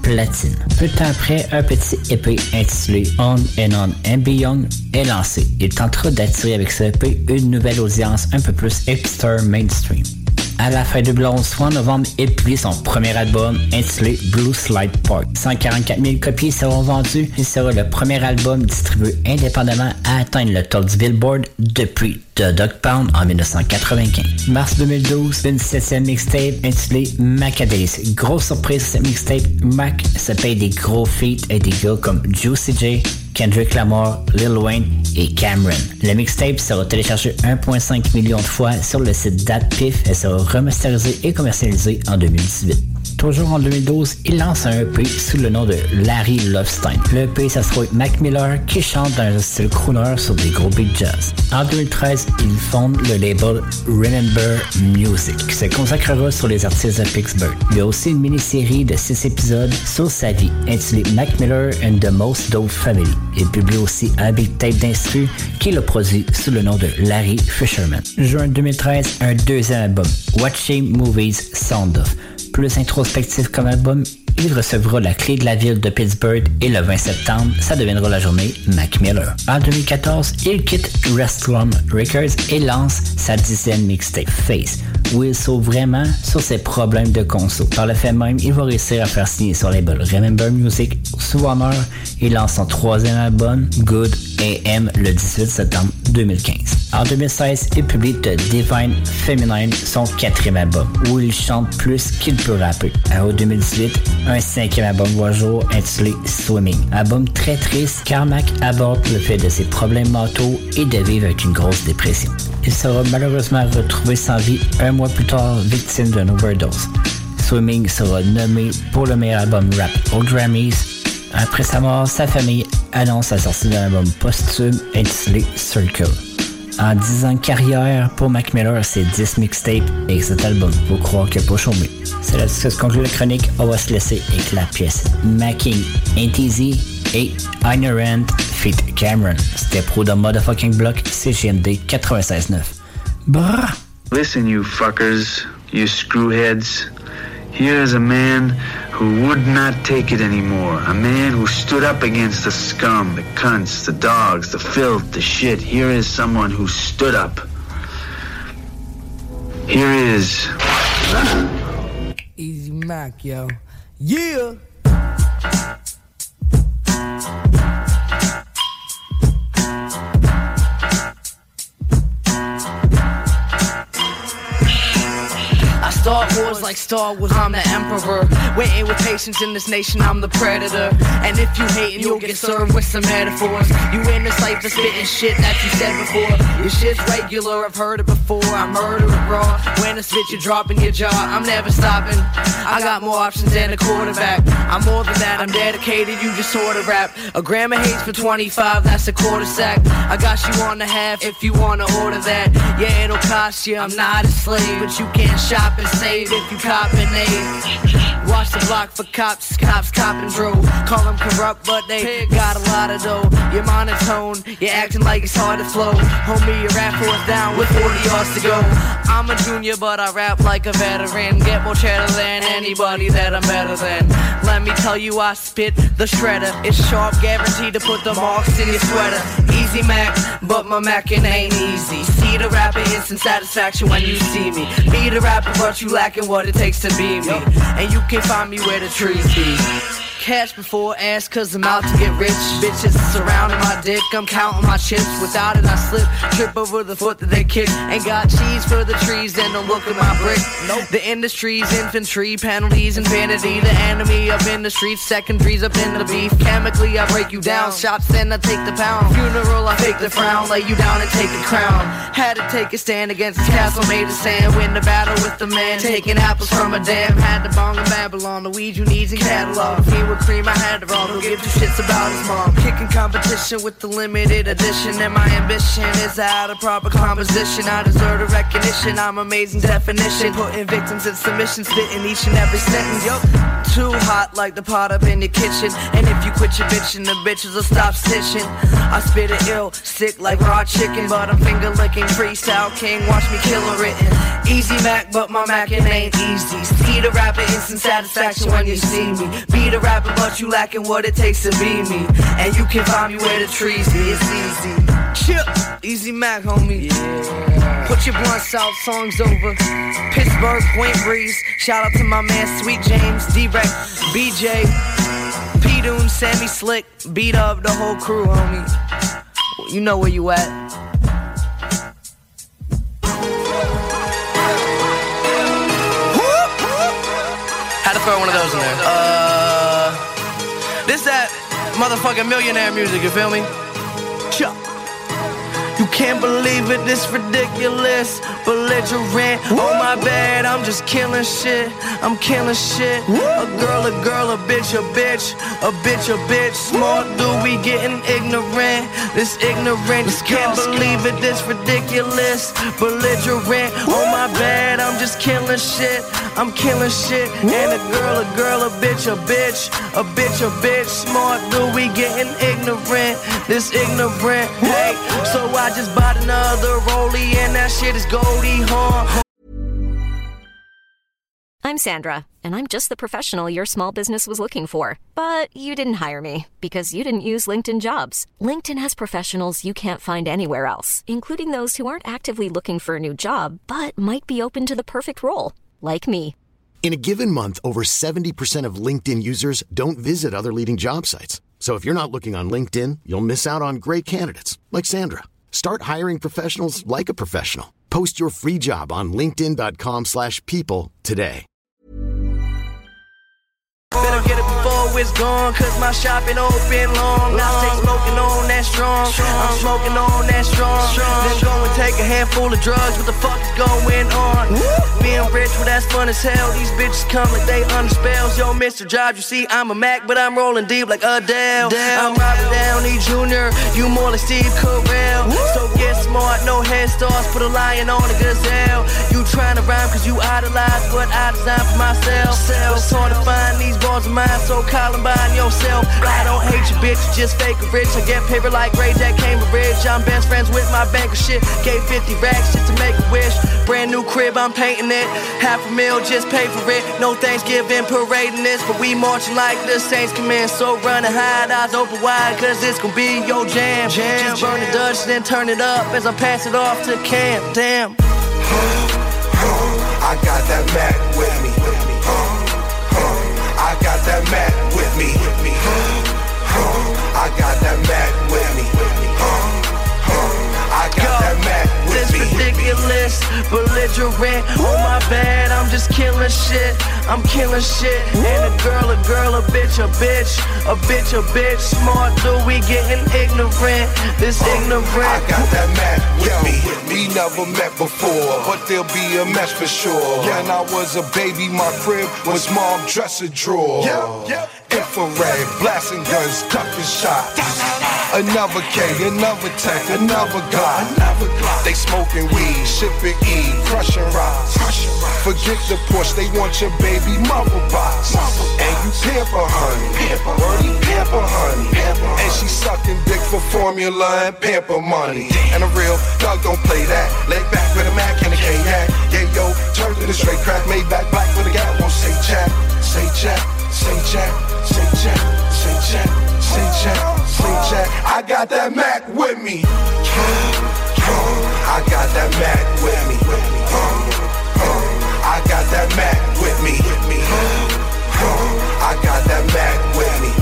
platine. Peu de temps après, un petit E P intitulé On and On and Beyond est lancé. Il tentera d'attirer avec ce E P une nouvelle audience un peu plus hipster mainstream. À la fin deux mille onze, soit en novembre, il publie son premier album intitulé Blue Slide Park. cent quarante-quatre mille copies seront vendues. Il sera le premier album distribué indépendamment à atteindre le top du Billboard depuis The Dog Pound en dix-neuf cent quatre-vingt-quinze. Mars deux mille douze, une septième mixtape intitulée Macadays. Grosse surprise sur cette mixtape, Mac se paye des gros feats et des gars comme Juicy J, Kendrick Lamar, Lil Wayne et Cameron. Le mixtape sera téléchargé un virgule cinq million de fois sur le site DatPiff et sera remasterisé et commercialisé en deux mille dix-huit. Toujours en deux mille douze, il lance un E P sous le nom de Larry Lovestein. Le E P, ça se trouve Mac Miller qui chante dans un style crooner sur des gros big jazz. En deux mille treize, il fonde le label Remember Music qui se consacrera sur les artistes de Pittsburgh. Il y a aussi une mini-série de six épisodes sur sa vie intitulée Mac Miller and the Most Dope Family. Il publie aussi un big tape d'instru qu'il a produit sous le nom de Larry Fisherman. Juin deux mille treize, un deuxième album, Watching Movies Sound Off. Plus introspectif comme album, il recevra la clé de la ville de Pittsburgh et le vingt septembre, ça deviendra la journée Mac Miller. En deux mille quatorze, il quitte Restrum Records et lance sa dixième mixtape Face, où il sauve vraiment sur ses problèmes de conso. Par le fait même, il va réussir à faire signer son label Remember Music sous Warner et lance son troisième album Good A M le dix-huit septembre deux mille quinze. En deux mille seize, il publie The Divine Feminine, son quatrième album, où il chante plus qu'il peut rapper. En deux mille dix-huit, un cinquième album voit jour intitulé Swimming. Album très triste car Mac aborde le fait de ses problèmes mentaux et de vivre avec une grosse dépression. Il sera malheureusement retrouvé sans vie un mois plus tard, victime d'une overdose. Swimming sera nommé pour le meilleur album rap aux Grammys. Après sa mort, sa famille annonce la sortie d'un album posthume intitulé Circle. En dix ans de carrière, pour Mac Miller, c'est dix mixtapes et cet album, faut croire qu'il n'a pas chômé. C'est là que se conclut la chronique, on va se laisser avec la pièce Macking Ain't Easy et Ignorant feat. Cameron. C'était pro de Motherfucking Block, C G M D quatre-vingt-seize neuf. Brrr! Listen, you fuckers, you screwheads. Here's a man who would not take it anymore. A man who stood up against the scum, the cunts, the dogs, the filth, the shit. Here is someone who stood up. Here is... Easy Mac, yo. Yeah! Star Wars like Star Wars, I'm the Emperor. Waiting with patience in this nation, I'm the predator. And if you hating, you'll get served with some metaphors. You in this life for spitting shit that you said before. Your shit's regular, I've heard it before. I murder it raw. When I spit, you're dropping your jaw. I'm never stopping. I got more options than a quarterback. I'm more than that, I'm dedicated, you just sort of rap. A gram of haze for twenty-five, that's a quarter sack. I got you on the half if you wanna order that. Yeah, it'll cost you, I'm not a slave. But you can't shop and save if you cop an aid. Watch the block for cops, cops copping drove. Call them corrupt, but they got a lot of dough. You're monotone, you're acting like it's hard to flow. Homie, your rap force down with forty yards to go. I'm a junior, but I rap like a veteran. Get more cheddar than anybody that I'm better than. Let me tell you, I spit the shredder. It's sharp, guaranteed to put the marks in your sweater. Easy Mac, but my Mackin' ain't easy. See the rapper, instant satisfaction when you see me. Be the rapper, but you lacking what it takes to be me. And you can find me where the trees be. Cash before ass, cause I'm out to get rich. Bitches surrounding my dick, I'm counting my chips. Without it I slip, trip over the foot that they kick. Ain't got cheese for the trees, then don't look at my brick. Nope. The industry's infantry, penalties and vanity. The enemy up in the streets, secondaries up in the beef. Chemically I break you down, shots then I take the pound. Funeral I fake the frown, lay you down and take the crown. Had to take a stand against this castle made of sand. Win the battle with the man, taking apples from a dam. Had to bong in Babylon, the weed you need in catalog. Cream, I had to roll, who give two shits about his mom. Kicking competition with the limited edition. And my ambition is out of proper composition. I deserve the recognition, I'm amazing definition. Putting victims in submission, spitting each and every sentence. Yup, too hot like the pot up in your kitchen. And if you quit your bitching, the bitches will stop stitching. I spit it ill, sick like raw chicken. But I'm finger licking, freestyle king, watch me kill a written. Easy Mac, but my Mackin' ain't easy. See the rapper, instant satisfaction when you see me. Be the rapper, rapper, but you lacking what it takes to be me. And you can find me where the trees be, it's easy. Chip, Easy Mac, homie. Yeah. Put your blunts out, songs over. Pittsburgh, Point Breeze. Shout out to my man Sweet James, D-Rex, B J, P-Doon, Sammy Slick. Beat up the whole crew, homie. You know where you at. Had to throw one of those in there. Uh, this that motherfucking millionaire music, you feel me? Chuck. You can't believe it, this ridiculous. Belligerent, oh my bad, I'm just killing shit. I'm killing shit. A girl, a girl, a bitch, a bitch. A bitch, a bitch. Smart dude, we getting ignorant. This ignorant, you can't believe it, this ridiculous. Belligerent, oh my bad, I'm just killing shit. I'm killing shit. And a girl, a girl, a bitch, a bitch. A bitch, a bitch. Smart dude, we getting ignorant. This ignorant, hey. So I just bought another rollie and that shit is Goldie Hawn. I'm Sandra, and I'm just the professional your small business was looking for. But you didn't hire me because you didn't use LinkedIn Jobs. LinkedIn has professionals you can't find anywhere else, including those who aren't actively looking for a new job, but might be open to the perfect role, like me. In a given month, over seventy percent of LinkedIn users don't visit other leading job sites. So if you're not looking on LinkedIn, you'll miss out on great candidates like Sandra. Start hiring professionals like a professional. Post your free job on linkedin.com slash people today. Better get it before it's gone, cause my shop ain't open long. I stay smoking on that strong, I'm smoking on that strong. Then go and take a handful of drugs, what the fuck is going on? Being rich, well that's fun as hell. These bitches come like they under spells. Yo, Mister Jobs, you see I'm a Mac, but I'm rolling deep like Adele. I'm Robert Downey Junior, you more like Steve Carell. So get smart, no head starts, put a lion on a gazelle. You trying to rhyme cause you idolize what I designed for myself. It's hard to find these bars of mine, so Columbine yourself. I don't hate you, bitch, you just fake a rich. I get paper like Ray J Cambridge. I'm best friends with my banker shit. Gave fifty racks just to make a wish. Brand new crib, I'm painting it. Half a mil, just pay for it. No Thanksgiving parading this, but we marching like the Saints come in. So run and hide, eyes open wide, cause it's gonna be your jam. jam just burn the Dutch, then turn it up as I pass it off to Cam. Damn. I got that Mac with me. I got that Mac with me. I got that Mac with me. I got that Mac with me. This ridiculous, belligerent. Oh my bad, I'm just killing shit. I'm killing shit. And a girl, a girl, a bitch, a bitch. A bitch, a bitch. Smart dude, we getting ignorant. This ignorant. I got that Mac with me. We never met before, but there'll be a match for sure. When I was a baby, my crib was mom dresser drawer. Infrared, blasting guns, ducking shots. Another K, another tech, another Glock. They smoking weed, shipping E, crushing rocks. Forget the Porsche, they want your baby mother box. And you pamper honey, wordy pamper honey. And she sucking dick for formula and pamper money. And a real dog don't play that. Lay back with a Mac and a K-Yak. Yeah, yo, turn to the straight crack, made back black with a gap. Won't say jack, say jack, say jack, say jack, say jack, say jack, say jack. I got that Mac with me. I got that Mac with me. I got that Mac with me. I got that Mac with me.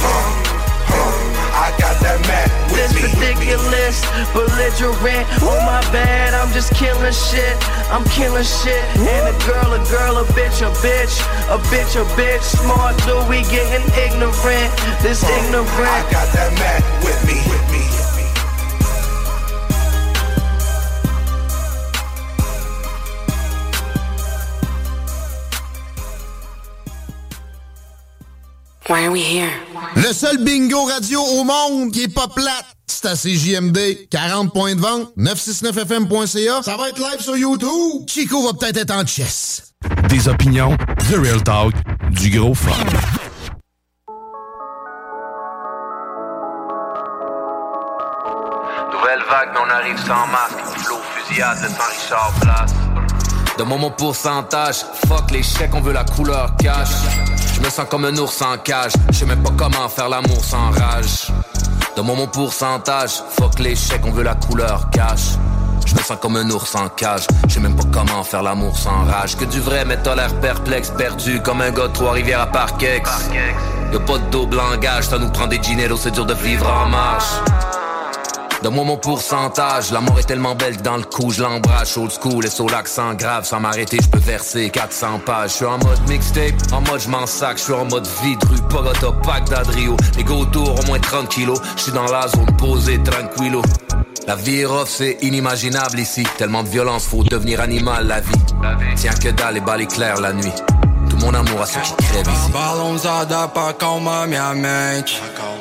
I got that Mac with me. This ridiculous, belligerent. Oh my bad, I'm just killing shit. I'm killing shit. And a girl, a girl, a bitch, a bitch. A bitch, a bitch. Smart dude, we getting ignorant. This ignorant. I got that Mac with me. With me. Why are we here? Le seul bingo radio au monde qui est pas plate, c'est à C J M D. quarante points de vente, neuf cent soixante-neuf F M point C A. Ça va être live sur YouTube. Chico va peut-être être en chess. Des opinions, The Real Talk, du gros fun. Nouvelle vague, mais on arrive sans masque. Flow, fusillade, le sang Richard place. De mon mon pourcentage, fuck les chèques, on veut la couleur cash. Je me sens comme un ours en cage, je sais même pas comment faire l'amour sans rage. De mon mon pourcentage, fuck les chèques, on veut la couleur cash. Je me sens comme un ours en cage, je sais même pas comment faire l'amour sans rage. Que du vrai, mais t'as l'air perplexe, perdu comme un gars de Trois-Rivières à Parkex. Y'a pas de double langage, ça nous prend des gineros, c'est dur de vivre en marche. Donne-moi mon pourcentage, la mort est tellement belle que dans le coup je l'embrasse. Old school et sur l'accent grave, sans m'arrêter je peux verser quatre cents pages. Je suis en mode mixtape, en mode je m'en sac. Je suis en mode vide, rue Bogota, Bagdad, Rio. Les gars autour au moins trente kilos, je suis dans la zone posée, tranquillo. La vie est rough, c'est inimaginable ici. Tellement de violence, faut devenir animal la vie. Tiens que dalle et balles éclairs la nuit. Tout mon amour à ceux qui crèvent ici. Balãozada pra acalmar minha mente.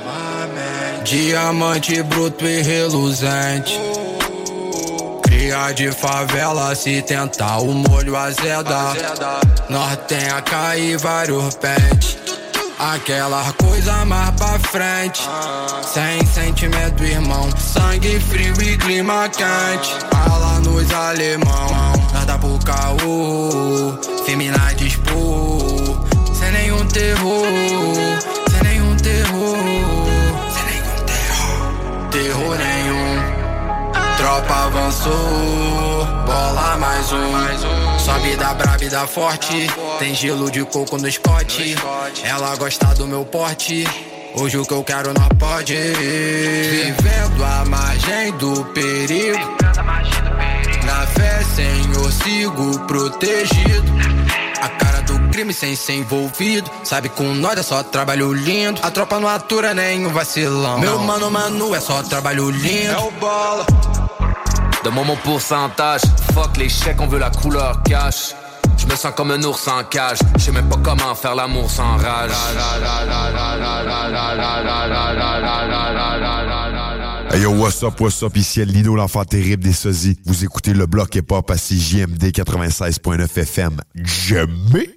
Diamante bruto e reluzente. Cria de favela, se tentar o molho azeda. Nós tem a cair vários pentes. Aquela coisa mais pra frente. Sem sentimento, irmão. Sangue frio e clima quente. Fala nos alemão. Nada por caô. Femina de expor. Sem nenhum terror. Sem nenhum terror. Terror nenhum, tropa avançou, bola mais um, sobe da braba e da forte, tem gelo de coco no Scott, ela gosta do meu porte, hoje o que eu quero não pode, vivendo à margem do perigo, na fé Senhor sigo protegido. A cara do crime sem ser envolvido. Sabe com nós é só trabalho lindo. A tropa não atura nenhum vacilão. Meu mano, mano, é só trabalho lindo. É o bola. Donne-moi mon pourcentage, fuck les chèques, on veut la couleur cash. Je me sens comme un ours en cage, je sais même pas comment faire l'amour sans rage. Hey yo, what's up, what's up, ici Lino, l'enfant terrible des sosies. Vous écoutez le bloc hip-hop à C J M D quatre-vingt-seize point neuf F M. Jamais!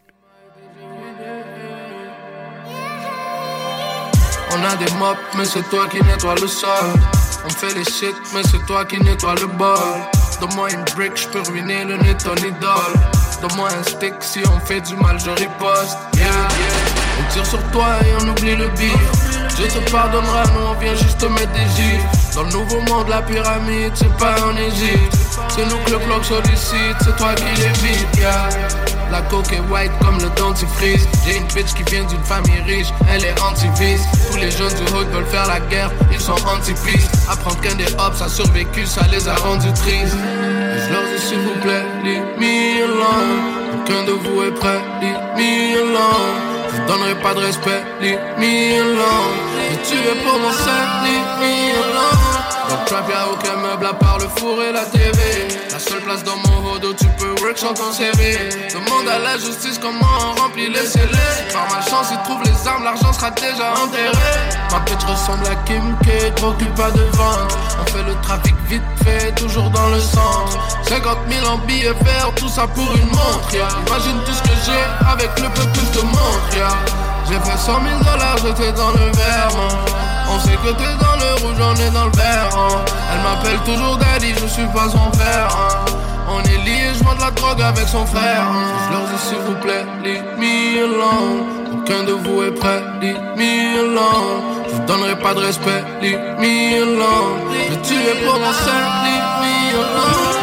On a des mops, mais c'est toi qui nettoie le sol. On fait les shit, mais c'est toi qui nettoie le bol. Donne-moi une brick, j'peux ruiner le nez de ton idole. Donne-moi un stick, si on fait du mal, je riposte. Yeah, yeah. On tire sur toi et on oublie le bif. Dieu te pardonnera, nous on vient juste te mettre des gifs. Dans le nouveau monde, la pyramide, c'est pas en Égypte. C'est nous que le bloc sollicite, c'est toi qui l'évites, yeah. La coke est white comme le dentifrice. J'ai une bitch qui vient d'une famille riche, elle est anti-vice. Tous les jeunes du hood veulent faire la guerre, ils sont anti-peace. Apprendre qu'un des hops a survécu, ça les a rendus tristes. Et je leur dis s'il vous plaît, leave me alone. Aucun de vous est prêt, leave me alone. Je vous donnerai pas de respect, leave me alone. Et tu es pour mon set, leave me alone. Dans le trap y'a aucun meuble à part le four et la T V. La seule place dans mon hood où tu peux work sans ton C V. Demande à la justice comment on remplit les scellés. Par ma chance ils trouvent les armes, l'argent sera déjà enterré. Ma bitch ressemble à Kim K, trop occupe pas de vente. On fait le trafic vite fait, toujours dans le centre. Cinquante mille en billets verts, tout ça pour une montre, yeah. Imagine tout ce que j'ai avec le peu que je te montre, yeah. J'ai fait cent mille dollars, j'étais dans le Vermont. On sait que t'es dans le rouge, on est dans le vert, hein. Elle m'appelle toujours daddy, je suis pas son père, hein. On est liés, je vends de la drogue avec son frère, hein. Je leur dis s'il vous plaît, leave me alone. Aucun de vous est prêt, leave me alone. Je vous donnerai pas de respect, leave me alone. Je tuerai pour mon sein, leave me alone.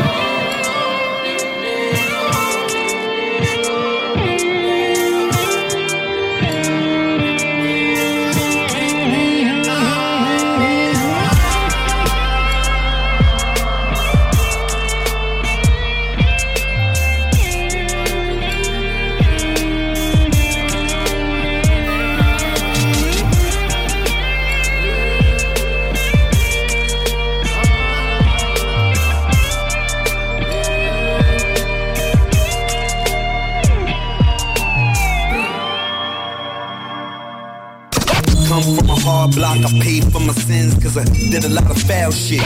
From a hard block, I paid for my sins, cause I did a lot of foul shit.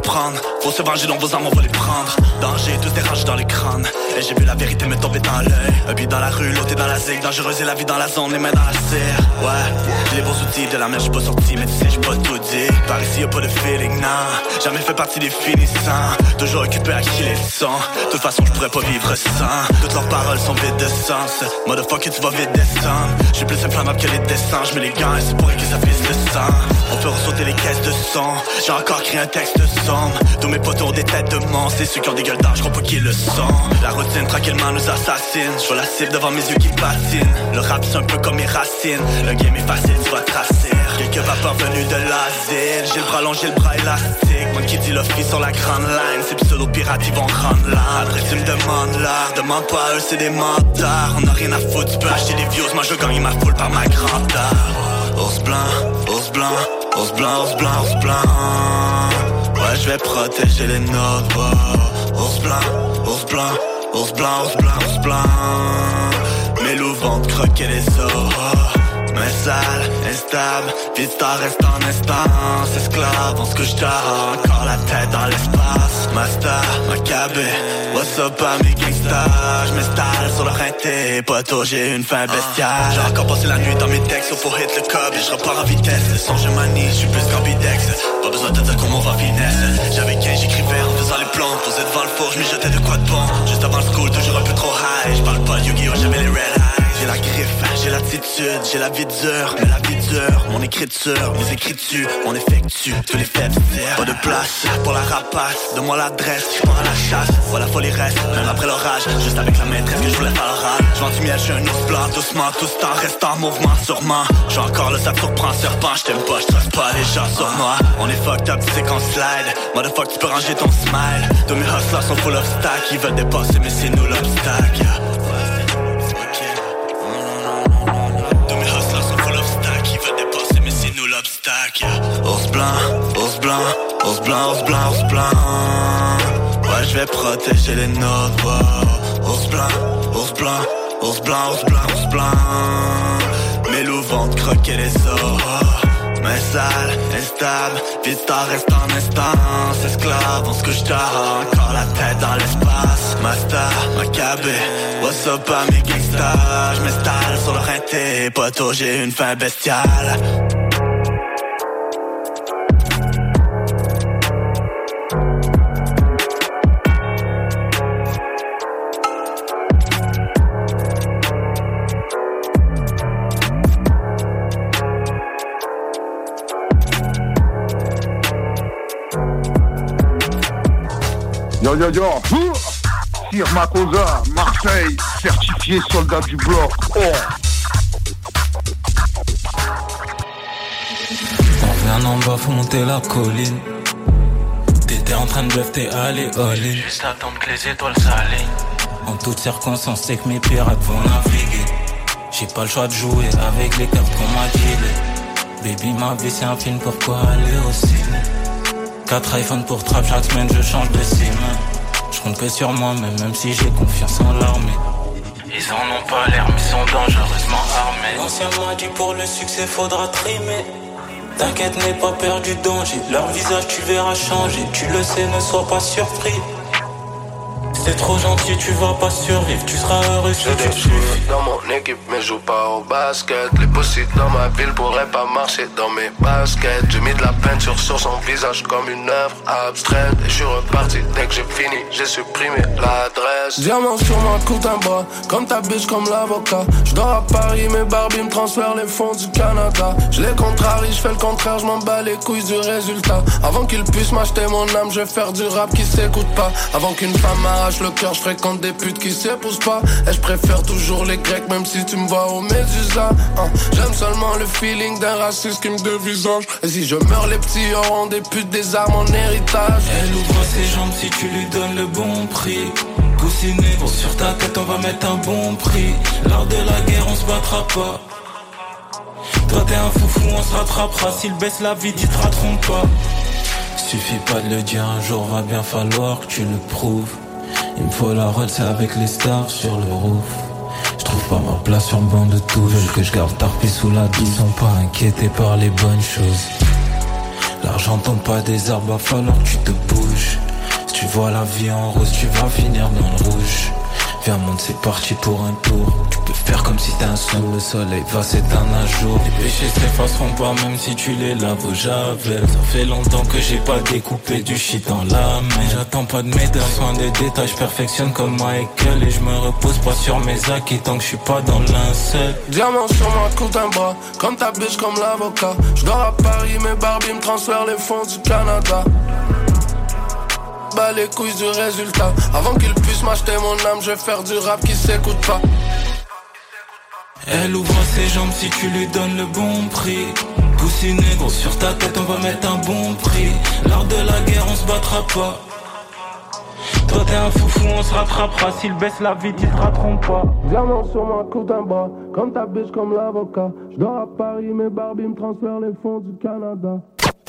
prendre. Faut se venger, donc vos armes on va les prendre. Danger, tous des rages dans les crânes. Et j'ai vu la vérité me tomber dans l'œil. Un but dans la rue, l'autre est dans la zig. Dangereuse et la vie dans la zone, les mains dans la serre. Ouais, j'ai les bons outils, de la merde j'suis pas sorti. Mais tu sais j'suis pas tout dit. Par ici y'a pas de feeling, nah. Jamais fait partie des finissants. Toujours occupé à qui les sons. De toute façon j'pourrais pas vivre sans. Toutes leurs paroles sont vides de sens. Motherfucker tu vas vite descendre. J'suis plus inflammable que les descends. J'mets les gants et c'est pour que ça pisse le sang. On peut ressauter les caisses de son. J'ai encore créé un texte sombre. Tous mes potos ont des têtes de monstres. C'est ceux qui ont des gueules d'âge, j'crois pas qu'ils le sont. La routine tranquillement nous assassine. J'vois la cible devant mes yeux qui patinent. Le rap c'est un peu comme mes racines. Le game est facile, tu vas tracer. Quelques vapeurs venus de l'asile. J'ai le bras long, j'ai le bras élastique. Moi qui dis le free sur la grande line. Ces pseudo-pirates ils vont rendre là. Après tu me demandes là. Demande pas à eux, c'est des mentards. On a rien à foutre, tu peux acheter des views. Moi je gagne ma foule par ma grandeur. Ours blanc, ours blanc, ours blanc, ours blanc, ours blanc. Ouais, je vais protéger les nôtres. Oh. Ours blanc, ours blanc, ours blanc, ours blanc, ours blanc. Mes loups vont te croquer les os. Oh. Mais sale, instable, vista reste en instance. Esclave, on se couche tard, encore la tête dans l'espace. Master, Maccabé, what's up à mes gangsters. J'm'installe sur le rinté, poteau, j'ai une fin bestiale. J'ai encore passé la nuit dans mes textes, faut hit le cob et j'repars en vitesse. Le son je manie, j'suis plus qu'ambidex. Pas besoin de dire comment on va finesse. J'avais quinze, j'écrivais en faisant les plans. Posé devant le four, j'm'y jetais de quoi de bon. Juste avant le school, toujours un peu trop high. J'parle pas de Yu-Gi-Oh, j'avais les red eyes. J'ai la griffe, j'ai l'attitude, j'ai la vie dure, mais la vie dure, mon écriture, mes écritures, on effectue tous les faits de pas de place pour la rapace, donne-moi l'adresse, je pars à la chasse, voilà folie reste, même après l'orage, juste avec la maîtresse que je voulais faire l'oral. Je vends du miel, j'suis un ours blanc, doucement, tout ce temps reste en mouvement, sûrement. J'suis encore là, ça te surprend, serpent, j't'aime pas, j'trace pas les gens sur moi. On est fucked up, tu sais qu'on slide, motherfuck, tu peux ranger ton smile. Tous mes hustlers sont full of stack, ils veulent dépasser, mais c'est nous l'obstacle. Ours blanc, ours blanc, ours blanc, ours blanc, ours blanc. Ouais, je vais protéger les nôtres. Oh. Ours blanc, ours blanc, ours blanc, ours blanc, ours blanc. Mes loups vont te croquer les os. Oh. Mais sale, instable, vista reste en instance. Esclave, on se couche tard, encore la tête dans l'espace. Master, Maccabé, what's up à mes gangsters. J'm'installe sur le rinté, poteau, j'ai une fin bestiale. Yo yo yo, Sir Makosa, Marseille, certifié soldat du bloc. Oh. On vient en bas, faut monter la colline. T'étais en train de bluff, t'es allé all in. Juste attendre que les étoiles s'alignent. En toutes circonstances, c'est que mes pirates vont naviguer. J'ai pas le choix de jouer avec les cartes qu'on m'a dealées. Baby, ma vie c'est un film, pourquoi aller au ciné? Quatre iPhones pour trap, chaque semaine je change de sim. Je compte que sur moi, mais même si j'ai confiance en l'armée. Ils en ont pas l'air, mais sont dangereusement armés. L'ancien m'a dit pour le succès faudra trimer. T'inquiète, n'aie pas peur du danger. Leur visage tu verras changer. Tu le sais, ne sois pas surpris. C'est trop gentil, tu vas pas survivre. Tu seras heureux si tu suis. Dans mon équipe, mais joue pas au basket. Les possibles dans ma ville pourraient pas marcher dans mes baskets. J'ai mis de la peinture sur son visage comme une œuvre abstraite. Et je suis reparti dès que j'ai fini, j'ai supprimé l'adresse. Diamant sur ma coupe d'un bras, comme ta bitch, comme l'avocat. Je dors à Paris, mes Barbie me transfèrent les fonds du Canada. Je les contrarie, je fais le contraire, je m'en bats les couilles du résultat. Avant qu'ils puissent m'acheter mon âme, je vais faire du rap qui s'écoute pas. Avant qu'une femme m'arrache le cœur, je fréquente des putes qui s'épousent pas. Et je préfère toujours les Grecs, même si tu me vois au Médusa. hein. J'aime seulement le feeling d'un raciste qui me dévisage. Et si je meurs, les petits auront des putes, des armes en héritage. Elle ouvre ses jambes si tu lui donnes le bon prix. Coussiné, bon, sur ta tête on va mettre un bon prix. Lors de la guerre on se battra pas. Toi t'es un foufou, on se rattrapera. S'il baisse la vie, ils te rateront pas. Suffit pas de le dire, un jour va bien falloir que tu le prouves. Il me faut la roll, c'est avec les stars sur le roof. Je trouve pas ma place sur le banc de touche. Veulent que je garde tarpé sous la douce. Ils sont pas inquiétés par les bonnes choses. L'argent tombe pas des arbres, va falloir que tu te bouges. Si tu vois la vie en rose, tu vas finir dans le rouge. Viens monte, c'est parti pour un tour. Tu peux faire comme si t'es un son. Le soleil va s'éteindre un jour. Les péchés s'effaceront pas même si tu les laves au javel. Ça fait longtemps que j'ai pas découpé du shit dans la main. J'attends pas de médailles, soin des détails. Je perfectionne comme Michael. Et je me repose pas sur mes acquis tant que je suis pas dans l'incel. Diamant sur ma coupe d'un bras, comme ta biche, comme l'avocat. J'dors à Paris, mes Barbie me transfèrent les fonds du Canada. Bas les couilles du résultat. Avant qu'il puisse m'acheter mon âme, je vais faire du rap qui s'écoute pas. Elle ouvre ses jambes si tu lui donnes le bon prix. Poussiné gros sur ta tête, on va mettre un bon prix. L'art de la guerre, on se battra pas. Toi t'es un foufou, on se rattrapera. S'il baisse la vie, ils te rateront pas. Diamant sur ma coupe d'un bras, comme ta biche, comme l'avocat. J'dors à Paris, mes Barbie me transfèrent les fonds du Canada.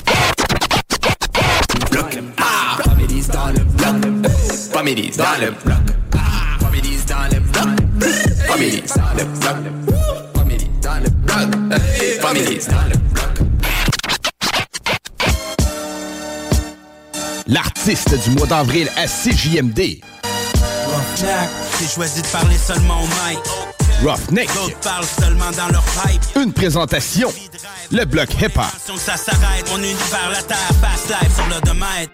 Ah, Families dans le bloc. Families dans le bloc. Families dans le bloc. Families dans le bloc. Families dans le bloc. Families dans le bloc. L'artiste du mois d'avril à C J M D. Roughneck, j'ai choisi de parler seulement au mic. Roughneck. D'autres parlent seulement dans leur pipe. Une présentation. Le bloc hip-hop. Ça s'arrête, mon univers, la terre, fast life sur l'odomètre.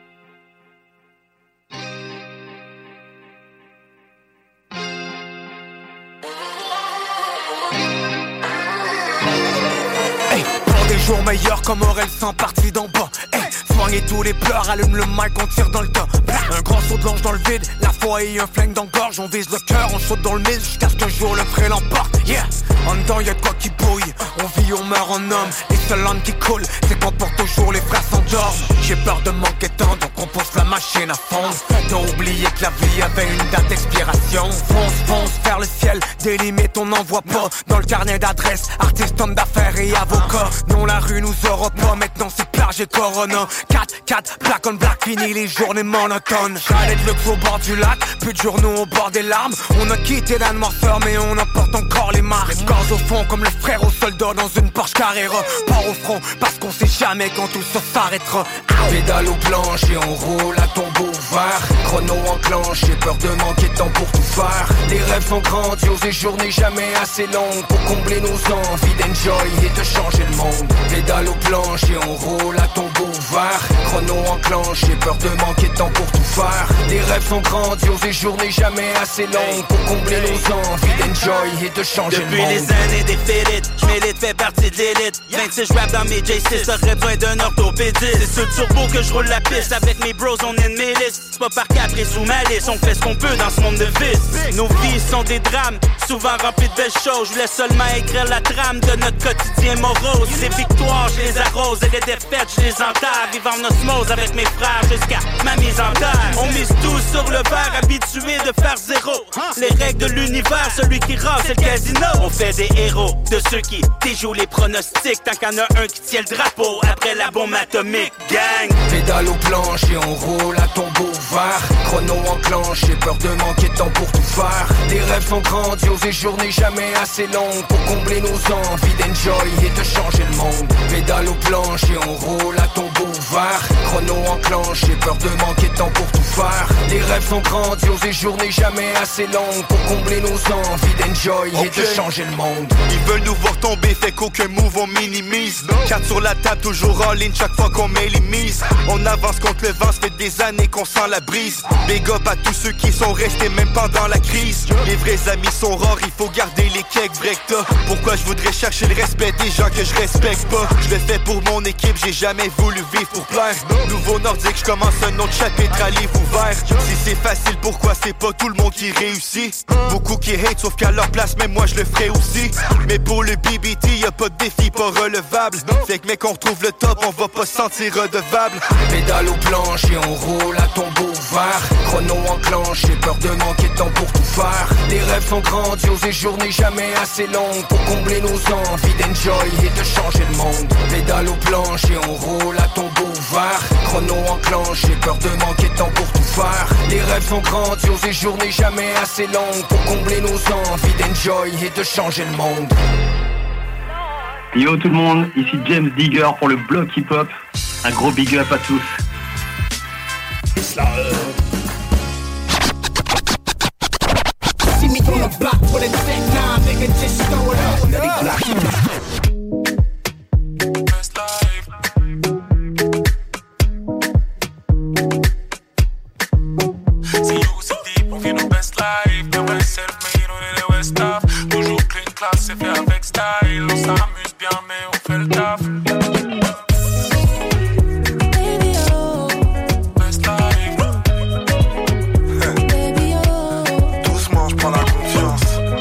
Hey, pour des jours meilleurs comme Aurel sans partie d'en bas. Hey, soignez tous les pleurs, allume le mic, on tire dans le tas. Un grand saut de l'ange dans le vide, la foi et un flingue dans le gorge. On vise le cœur, on saute dans le mille jusqu'à ce qu'un jour le frais l'emporte. Yeah, en dedans y'a quoi qui bouille. On vit, on meurt en homme. Les seuls langues qui coulent, c'est qu'on pour toujours les frères s'endorment. J'ai peur de manquer de temps, donc on pousse la machine à fond. T'as oublié que la vie avait une date d'expiration. Fonce, fonce vers le ciel, des limites on n'en voit pas. Dans le carnet d'adresse, artiste, homme d'affaires et avocat. Non, la rue nous aura pas, maintenant c'est plage et corona. quatre, quatre, black on black, fini les journées monotones. J'allais de luxe au bord du lac, plus de journaux au bord des larmes. On a quitté la noirceur, mais on emporte encore les marques. Les corps au fond, comme le frère au soldat dans une Porsche Carrera. Pas au front, parce qu'on sait jamais quand tout ça s'arrêtera. Pédale au planche et on roule à tombeau ouvert. Chrono enclenche, j'ai peur de manquer de temps pour tout faire. Les rêves sont grandioses et journées jamais assez longues pour combler nos envies d'enjoy et de changer le monde. Pédale au planche et on roule à tombeau ouvert. Chrono enclenche, j'ai peur de manquer de temps pour tout faire. Les rêves sont grandioses et journées jamais assez longues pour combler nos envies d'enjoy et de changer Depuis le monde. les années des félites, j'm'élite, fais partie de l'élite. vingt-six rap dans mes J six, j'aurais besoin d'un orthopédiste. C'est sur le turbo que je roule la piste, avec mes bros on est mes listes. C'est pas par caprice ou malice, on fait ce qu'on peut dans ce monde de vice. Nos vies sont des drames, souvent remplis de belles choses. Je voulais seulement écrire la trame de notre quotidien morose. Les victoires, je les arrose, et les défaites, je les enterre. Vivre en osmose avec mes frères jusqu'à ma mise en terre. On mise tout sur le verre, habitué de faire zéro. Les règles de l'univers, celui qui rase, c'est le casino. On fait des héros, de ceux qui déjouent les pronostics. Tant qu'il y en a un qui tient le drapeau, après la bombe atomique, gang. Pédale aux planches et on roule à tombeau ouvert. Chrono enclenche, j'ai peur de manquer de temps pour tout faire. Les rêves sont grandioses et journées jamais assez longues pour combler nos envies d'enjoy et de changer le monde. Pédale aux planches et on roule à tombeau ouvert. Chrono enclenche, j'ai peur de manquer de temps pour tout faire. Les rêves sont grandioses et journées jamais assez longues pour combler nos envies d'enjoy et de changer le monde. Ils veulent nous voir tomber, fait qu'aucun move on minimise. Quatre sur la table, toujours en ligne chaque fois qu'on met les mises. On avance contre le vent, ça fait des années qu'on sent la brise. Big up à tous ceux qui sont restés même pendant la crise. Les vrais amis sont rares, il faut garder les cakes break-ta. Pourquoi je voudrais chercher le respect des gens que je respecte pas? Je le fais pour mon équipe, j'ai jamais voulu vivre pour plaire. Nouveau nordique, je commence un autre chapitre à livre ouvert. Si c'est facile, pourquoi c'est pas tout le monde qui réussit? Beaucoup qui hate, sauf qu'à leur place, même moi je le ferai aussi. Mais pour le B B T, y'a pas de défi pas relevable. Fait que mec, on retrouve le top, on va pas se sentir redevable. Pédale aux planches et on roule à tombeau ouvert. Chrono enclenche, j'ai peur de manquer de temps pour tout faire. Les rêves sont grandioses et journées jamais assez longues pour combler nos envies d'enjoy et de changer le monde. Pédale aux planches et on roule à tombeau ouvert. Chrono enclenche, j'ai peur de manquer de temps pour tout faire. Les rêves sont grandioses et journées jamais assez longues pour combler nos envies d'enjoy et de changer le monde. Yo tout le monde, ici James Digger pour le bloc hip-hop. Un gros big up à tous. C'est fait avec style, on s'amuse bien mais on fait le taf. Baby oh, best life. Baby oh, doucement je prends la confiance.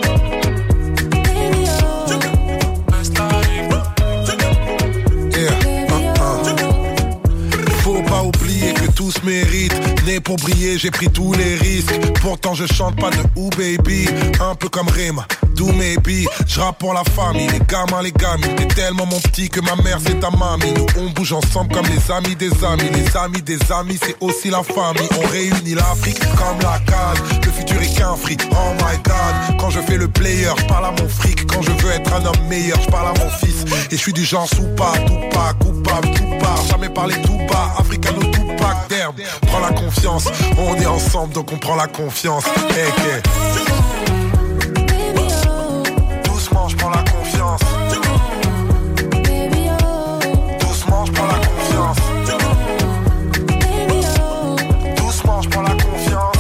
Baby oh, best life. Yeah, uh, uh. Faut pas oublier que tous méritent. Né pour briller, j'ai pris tous les risques. Pourtant je chante pas de ou baby. Un peu comme Rima, do maybe. Je rappe pour la famille, les gamins, les gamines. T'es tellement mon petit que ma mère c'est ta mamie. Nous on bouge ensemble comme les amis des amis. Les amis des amis c'est aussi la famille. On réunit l'Afrique comme la canne. Le futur est qu'un fric, oh my god. Quand je fais le player, je parle à mon fric. Quand je veux être un homme meilleur, je parle à mon fils. Et je suis du genre soupa, tout pas, coupable, tout part. Jamais parler tout bas, africano tout pack d'herbe. Prends la confiance, on est ensemble donc on prend la confiance. Hey, hey. Doucement je prends la confiance. Doucement je prends la confiance. Doucement je prends la confiance.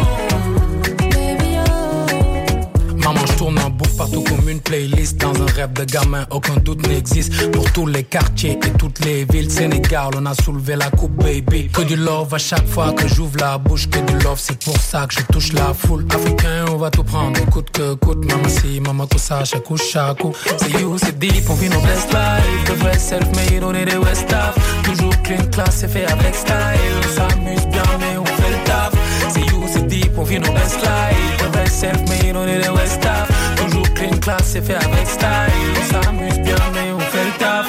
Maman je tourne en boucle partout comme une playlist. Dans un rêve de gamin aucun doute n'existe. Pour tous les quartiers et toutes les villes Sénégal on a soulevé la coupe baby. Que du love à chaque fois que j'ouvre la bouche. Que du love c'est pour ça que je touche la foule. Africain on va tout prendre coûte que coûte. Maman si maman tout ça chaque coup chaque coup. C'est you c'est deep on vit nos best life. Le vrai self-made on est des West-Af. Toujours clean class c'est fait avec style. On s'amuse bien mais on fait le taf. C'est you c'est deep on vit nos best life. Le vrai self-made on est des West-Af. Toujours clean class c'est fait avec style. On s'amuse bien mais on fait le taf.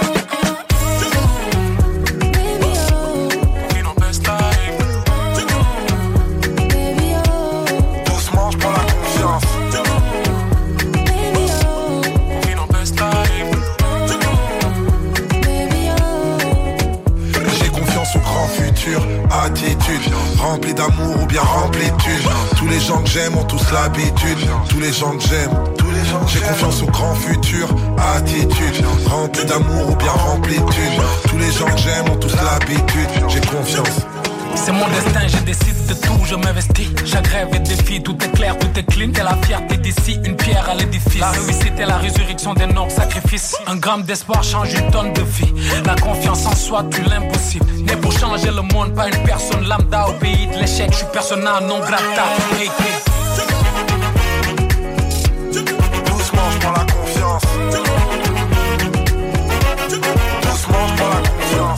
Doucement je prends la confiance. J'ai confiance au grand futur. Attitude remplie d'amour ou bien remplie de thunes. Tous les gens que j'aime ont tous l'habitude. Tous les gens que j'aime. J'ai confiance au grand futur. Attitude remplie d'amour ou bien remplie de thunes. Tous les gens que j'aime ont tous l'habitude. J'ai confiance. C'est mon destin, je décide de tout, je m'investis. Chaque rêve est défi, tout est clair, tout est clean. T'es la fierté d'ici, une pierre à l'édifice. La réussite est la résurrection des nobles sacrifices. Un gramme d'espoir change une tonne de vie. La confiance en soi tue l'impossible. Né pour changer le monde, pas une personne lambda. Au pays de l'échec, je suis persona non grata. Hey, hey. Doucement je prends la confiance. Doucement je prends la confiance.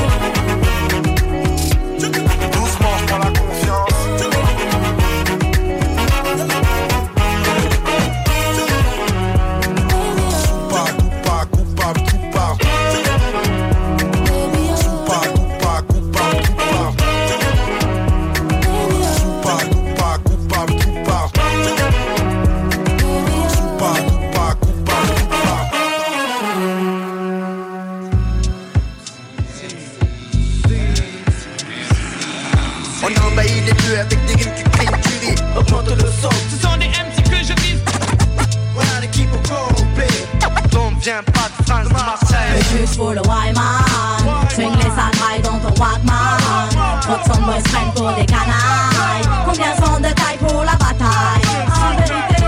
Avec des rimes qui prennent du riz, augmente le son. Ce sont des M C que je vise. Voilà l'équipe au complet. Donc viens pas de France, de Marseille. Juste pour le Wyman. Swing les sacrailles dans ton Walkman. Votre son boys prennent pour des canailles. Combien sont de taille pour la bataille? En vérité,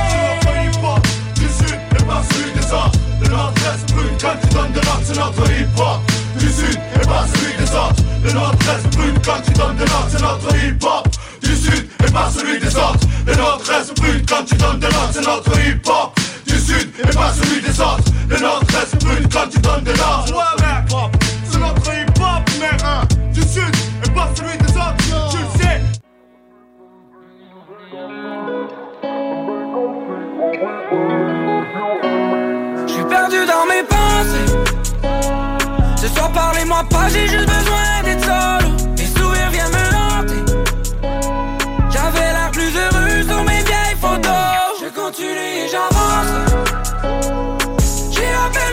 du sud et pas celui des autres. Le nord-est brûle quand tu donnes de l'ordre, c'est notre hip-hop. Du sud et pas celui des autres. Le nord-est brûle quand tu donnes de l'ordre, c'est notre hip-hop. Du sud et pas celui des autres. Le nord-est brûle quand tu donnes de l'ordre, c'est notre hip-hop. Du sud et pas celui des autres. Le nord-est brûle quand tu donnes de l'ordre. Ouais, c'est notre hip-hop, mais hein. Du sud et pas celui des autres, tu le sais. j'suis perdu dans mes pensées. Ce soir parlez-moi pas, j'ai juste besoin d'être solo. Les sourires viennent me hanter. J'avais l'air plus heureux sur mes vieilles photos. Je continue et j'avance. J'ai appelé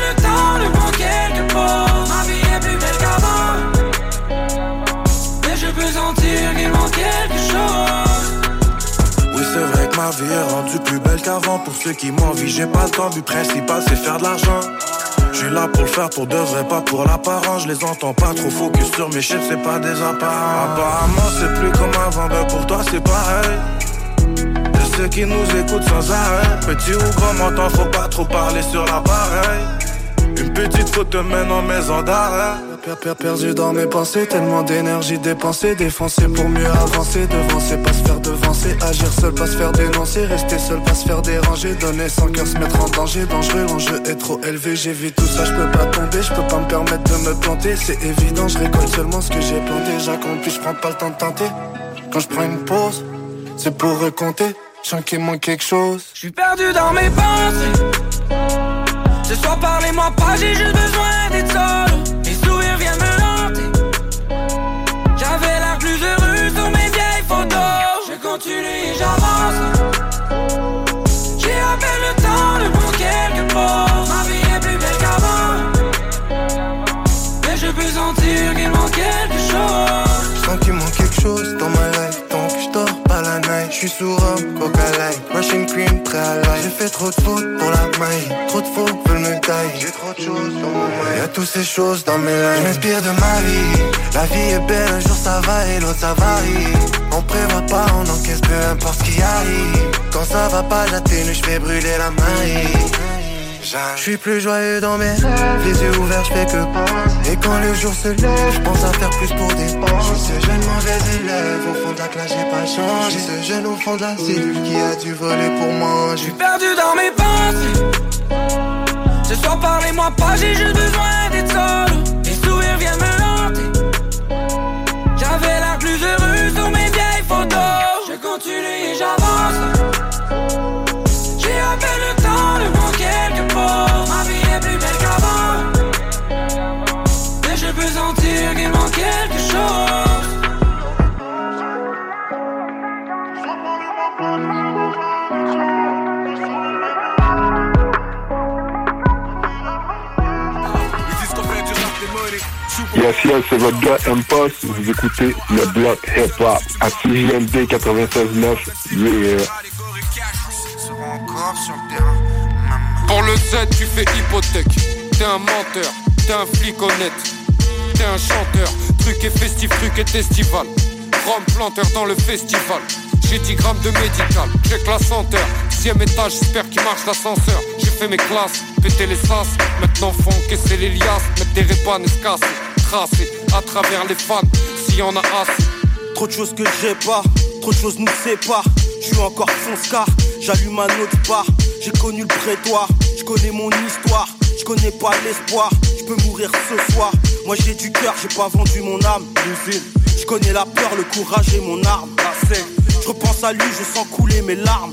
vie est rendue plus belle qu'avant. Pour ceux qui m'envient, j'ai pas le temps. But principal, c'est faire de l'argent. J'suis là pour le faire pour de vrai, pas pour l'apparence. Je les entends pas trop focus sur mes shit, c'est pas des apparents. Apparemment c'est plus comme avant, ben pour toi c'est pareil. De ceux qui nous écoutent sans arrêt. Petit ou grand menton, faut pas trop parler sur l'appareil. Une petite faute te mène en maison d'arrêt. Perdu dans mes pensées, tellement d'énergie dépensée. Défoncer pour mieux avancer, devancer, pas se faire devancer. Agir seul, pas se faire dénoncer. Rester seul, pas se faire déranger. Donner sans cœur, se mettre en danger. Dangereux, l'enjeu est trop élevé. J'ai vu tout ça, je peux pas tomber. Je peux pas me permettre de me planter. C'est évident, je récolte seulement ce que j'ai planté. J'accomplis, je prends pas le temps de tenter. Quand je prends une pause, c'est pour recompter. Je sens qu'il manque quelque chose. Je suis perdu dans mes pensées. Ce soir parlez-moi pas, j'ai juste besoin d'être solo. Les sourires viennent me hanter. J'avais l'air plus heureux sur mes vieilles photos. Je continue et j'avance. J'ai à peine le temps de prendre quelques pauses. Ma vie est plus belle qu'avant. Mais je peux sentir qu'il manque quelque chose. Je sens qu'il manque quelque chose dans ma life. Tant que je dors pas la night. Je suis sous rhum, coca light, Russian cream, très à l'ail. J'ai fait trop de fautes pour la maille. Trop de faux veulent me tailler. J'ai trop de choses dans mon maille. Y'a toutes ces choses dans mes lines. Je m'inspire de ma vie. La vie est belle, un jour ça va et l'autre ça varie. On prévoit pas, on encaisse peu importe ce qui arrive. Quand ça va pas, j'atténue, je fais brûler la maille. Je suis plus joyeux dans mes rêves, les yeux ouverts, je fais que penser. Et quand le jour se lève, je pense à faire plus pour dépenser. Je suis ce jeune mauvais élève, au fond de la classe j'ai pas changé. Ce jeune au fond de la cellule qui a dû voler pour manger. Je suis perdu dans mes pensées. Ce soir parlez-moi pas, j'ai juste besoin d'être solo. Les sourires viennent me hanter. J'avais l'air plus heureux sur mes vieilles photos. Je continue et j'avance. J'ai à peine le temps de prendre quelques pauses. Ma vie est plus belle qu'avant. Mais je peux sentir qu'il manque quelque chose. Yes, yes, c'est votre gars M-Post. Vous écoutez le bloc hip-hop à C J M D quatre-vingt-seize neuf. Yeah. Pour le Z, tu fais hypothèque. T'es un menteur, t'es un flic honnête. T'es un chanteur, truc et festif, truc et festival. Rome planteur dans le festival. J'ai dix grammes de médical, check la senteur. Dixième étage, j'espère qu'il marche l'ascenseur. J'ai fait mes classes, pété les sas. Maintenant faut encaisser les liasses. Mettre des répanes et se casser. Tracer à travers les fans, s'il y en a assez. Trop de choses que j'ai pas, trop de choses nous séparent. J'suis encore fonce-car, j'allume un autre bar. J'ai connu le prétoire, j'connais mon histoire. J'connais pas l'espoir, j'peux mourir ce soir. Moi j'ai du cœur, j'ai pas vendu mon âme. L'usine, j'connais la peur, le courage et mon arme. Je repense à lui, je sens couler mes larmes.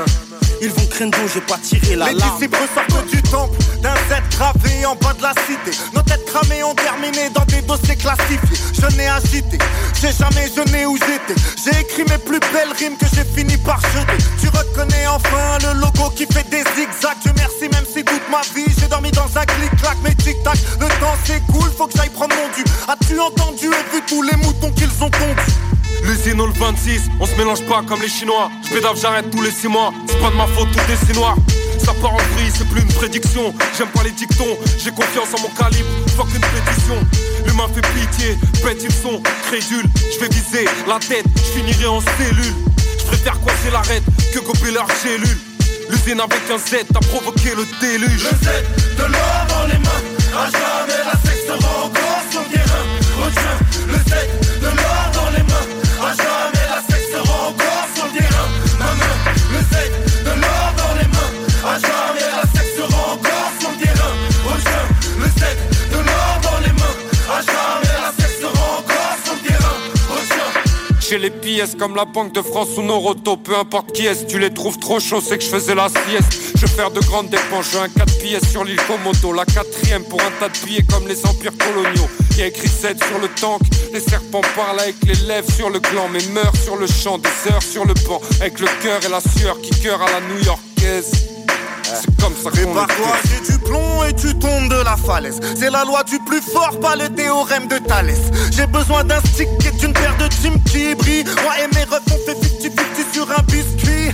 Ils vont craindre, j'ai pas tiré la larme. Les disciples sortent du temple, d'un Z gravé en bas de la cité. Nos têtes cramées ont terminé dans des dossiers classifiés. Je n'ai agité, j'ai jamais jeûné où j'étais. J'ai écrit mes plus belles rimes que j'ai fini par jeter. Tu reconnais enfin le logo qui fait des zigzags. Dieu merci, même si toute ma vie j'ai dormi dans un clic-clac. Mais tic-tac, le temps s'écoule, faut que j'aille prendre mon dû. As-tu entendu et vu tous les moutons qu'ils ont tondus? L'usine au le vingt-six, on se mélange pas comme les Chinois. J'pédave, j'arrête tous les six mois. C'est pas de ma faute, tout est si noir. Ça part en vrille, c'est plus une prédiction. J'aime pas les dictons, j'ai confiance en mon calibre. Fuck une pétition. L'humain fait pitié, bête ils sont crédules. J'vais viser la tête, j'finirai en cellule. J'préfère coincer l'arête que gober leur cellule. L'usine avec un Z a provoqué le déluge. Le Z de l'or dans les mains. À jamais la sexe sera encore sur le terrain. Retiens le Z de l'or dans les mains. À jamais la sexe sera encore sur le terrain. Ma main, le Z de l'or dans les mains. À jamais la sexe sera encore sur le terrain. Retiens le Z de l'or dans les mains. À jamais la sexe sera encore sur le terrain. Retiens. J'ai les pièces comme la Banque de France ou Noroto. Peu importe qui est, tu les trouves trop chauds, c'est que je faisais la sieste. Je vais faire de grandes dépenses, j'ai un quatre pièces sur l'île Komodo. La quatrième pour un tas de billets comme les empires coloniaux. Y'a écrit sept sur le tank, les serpents parlent avec les lèvres sur le gland. Mais meurent sur le champ, des heures sur le banc. Avec le cœur et la sueur qui cœur à la new-yorkaise. C'est comme ça qu'on le Prépare-toi, j'ai du plomb et tu tombes de la falaise. C'est la loi du plus fort, pas le théorème de Thalès. J'ai besoin d'un stick et d'une paire de teams qui brillent. Moi et mes refs on fait fifty fifty sur un biscuit.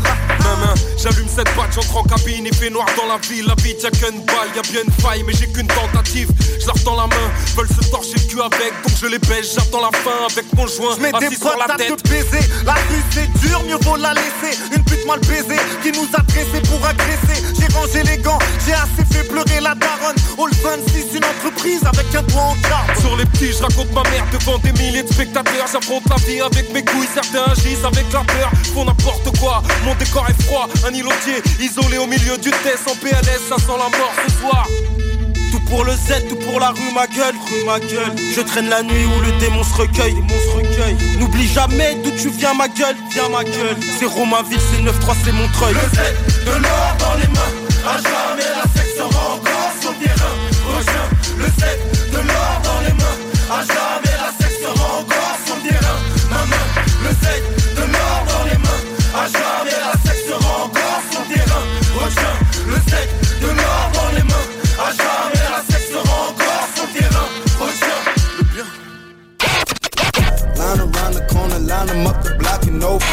main. J'allume cette batte, j'entre en cabine, il fait noir dans la ville. La vie, y'a qu'une balle, y'a bien une faille, mais j'ai qu'une tentative. Je leur tends la main, veulent se torcher le cul avec, donc je les baisse, j'attends la fin avec mon joint. J'mets des sur la potes à tête. te baiser. La rue c'est dur, mieux vaut la laisser. Une pute mal baisée qui nous a dressés pour agresser. J'ai rangé les gants, j'ai assez fait pleurer la daronne. All vingt-six, une entreprise avec un doigt en carbone. Sur les petits, je raconte ma mère devant des milliers de spectateurs. J'affronte la vie avec mes couilles, certains agissent avec la peur. Font n'importe quoi, mon décor est froid. Un îlotier isolé au milieu du test en P L S, ça sent la mort ce soir. Tout pour le Z, tout pour la rue, ma gueule, rue, ma gueule. Je traîne la nuit où le démon se recueille, démon se recueille. N'oublie jamais d'où tu viens, ma gueule, viens ma gueule. C'est Romainville, c'est neuf trois, c'est Montreuil. Le Z, de l'or dans les mains. À jamais la sexe sera encore sur le terrain. Rejoins le Z, de l'or dans les mains. À jamais la sexe sera encore sur le terrain. Ma main, le Z, de l'or dans les mains. À jamais la sexe sera encore sur le terrain. Rejoins le Z, de l'or dans les mains. À jamais la sexe sera encore sur le terrain. Rejoins le bien. Line around the corner, line them up the block and over.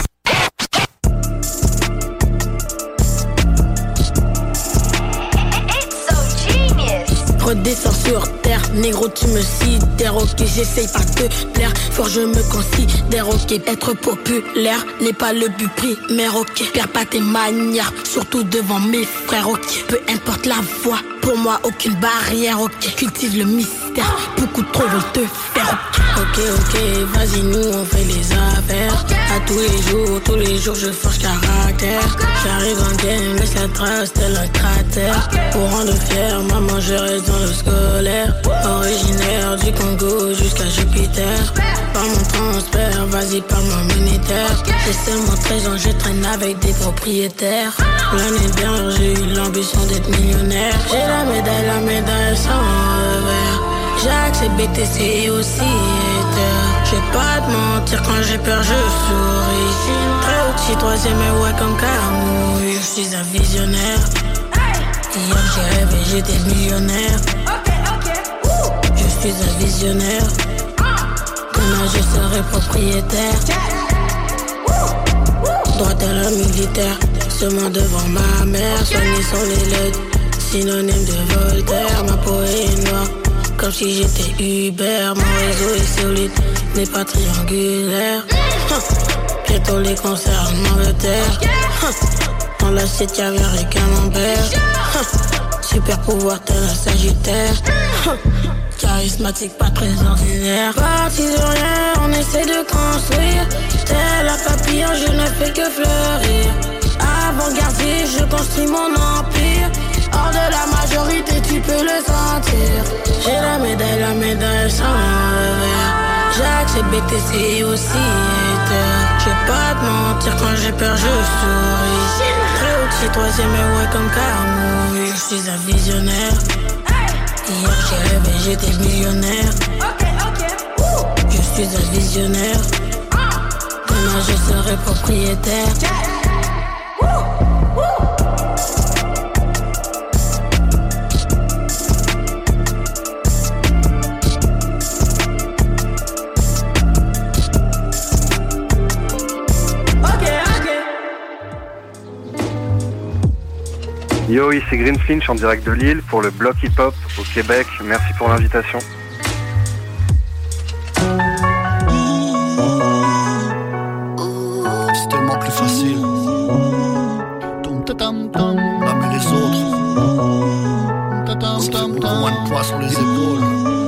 Redescends sur terre, négro tu me sidères. Ok, j'essaye pas de plaire, fort je me considère. Ok, être populaire n'est pas le but primaire. Ok, perds pas tes manières, surtout devant mes frères. Ok, peu importe la voix, pour moi aucune barrière. Ok, cultive le mystère, beaucoup trop veulent te faire. Ok, ok, vas-y nous on fait les affaires. À tous les jours, tous les jours je forge caractère. J'arrive en game, laisse la trace tel un cratère. Pour rendre fier, maman je reste dans le scolaire. Originaire du Congo jusqu'à Jupiter. Par mon transfert, vas-y parle-moi militaire. J'ai seulement treize ans, je traîne avec des propriétaires. L'année dernière j'ai eu l'ambition d'être millionnaire. J'ai la médaille, la médaille sans revers. J'ai accès B T C et aussi hater. Je vais pas te mentir, quand j'ai peur je souris. Très haut, troisième et ouais comme Camouille. Je suis un visionnaire. Hier j'ai rêvé, j'étais millionnaire. Je suis un visionnaire. Demain je serai propriétaire. Droite à la militaire. Seulement devant ma mère. Soigné sur les lettres, synonyme de Voltaire. Ma peau est noire, comme si j'étais Uber. Mon réseau est solide, n'est pas triangulaire. Bientôt les concerts en Angleterre. Dans l'assiette caviar et camembert. Super pouvoir tel un sagittaire. Charismatique, pas très ordinaire. Parti de rien, on essaie de construire. Tel un papillon, je ne fais que fleurir. Avant-gardiste, je construis mon empire. Hors de la majorité, tu peux le sentir. J'ai la médaille, la médaille sans revers. J'ai accès B T C et aussi hater. Je vais pas te mentir, quand j'ai peur je souris. Très haut, troisième et ouais comme Camouille. Je suis un visionnaire. Hier j'ai rêvé, j'étais millionnaire. Je suis un visionnaire. Demain je serai propriétaire. Yo, ici Green Finch en direct de Lille pour le bloc hip-hop au Québec. Merci pour l'invitation. C'est tellement plus facile. Tom tam tam, blâmer les autres. Tam tam tam, moins de poids sur les épaules.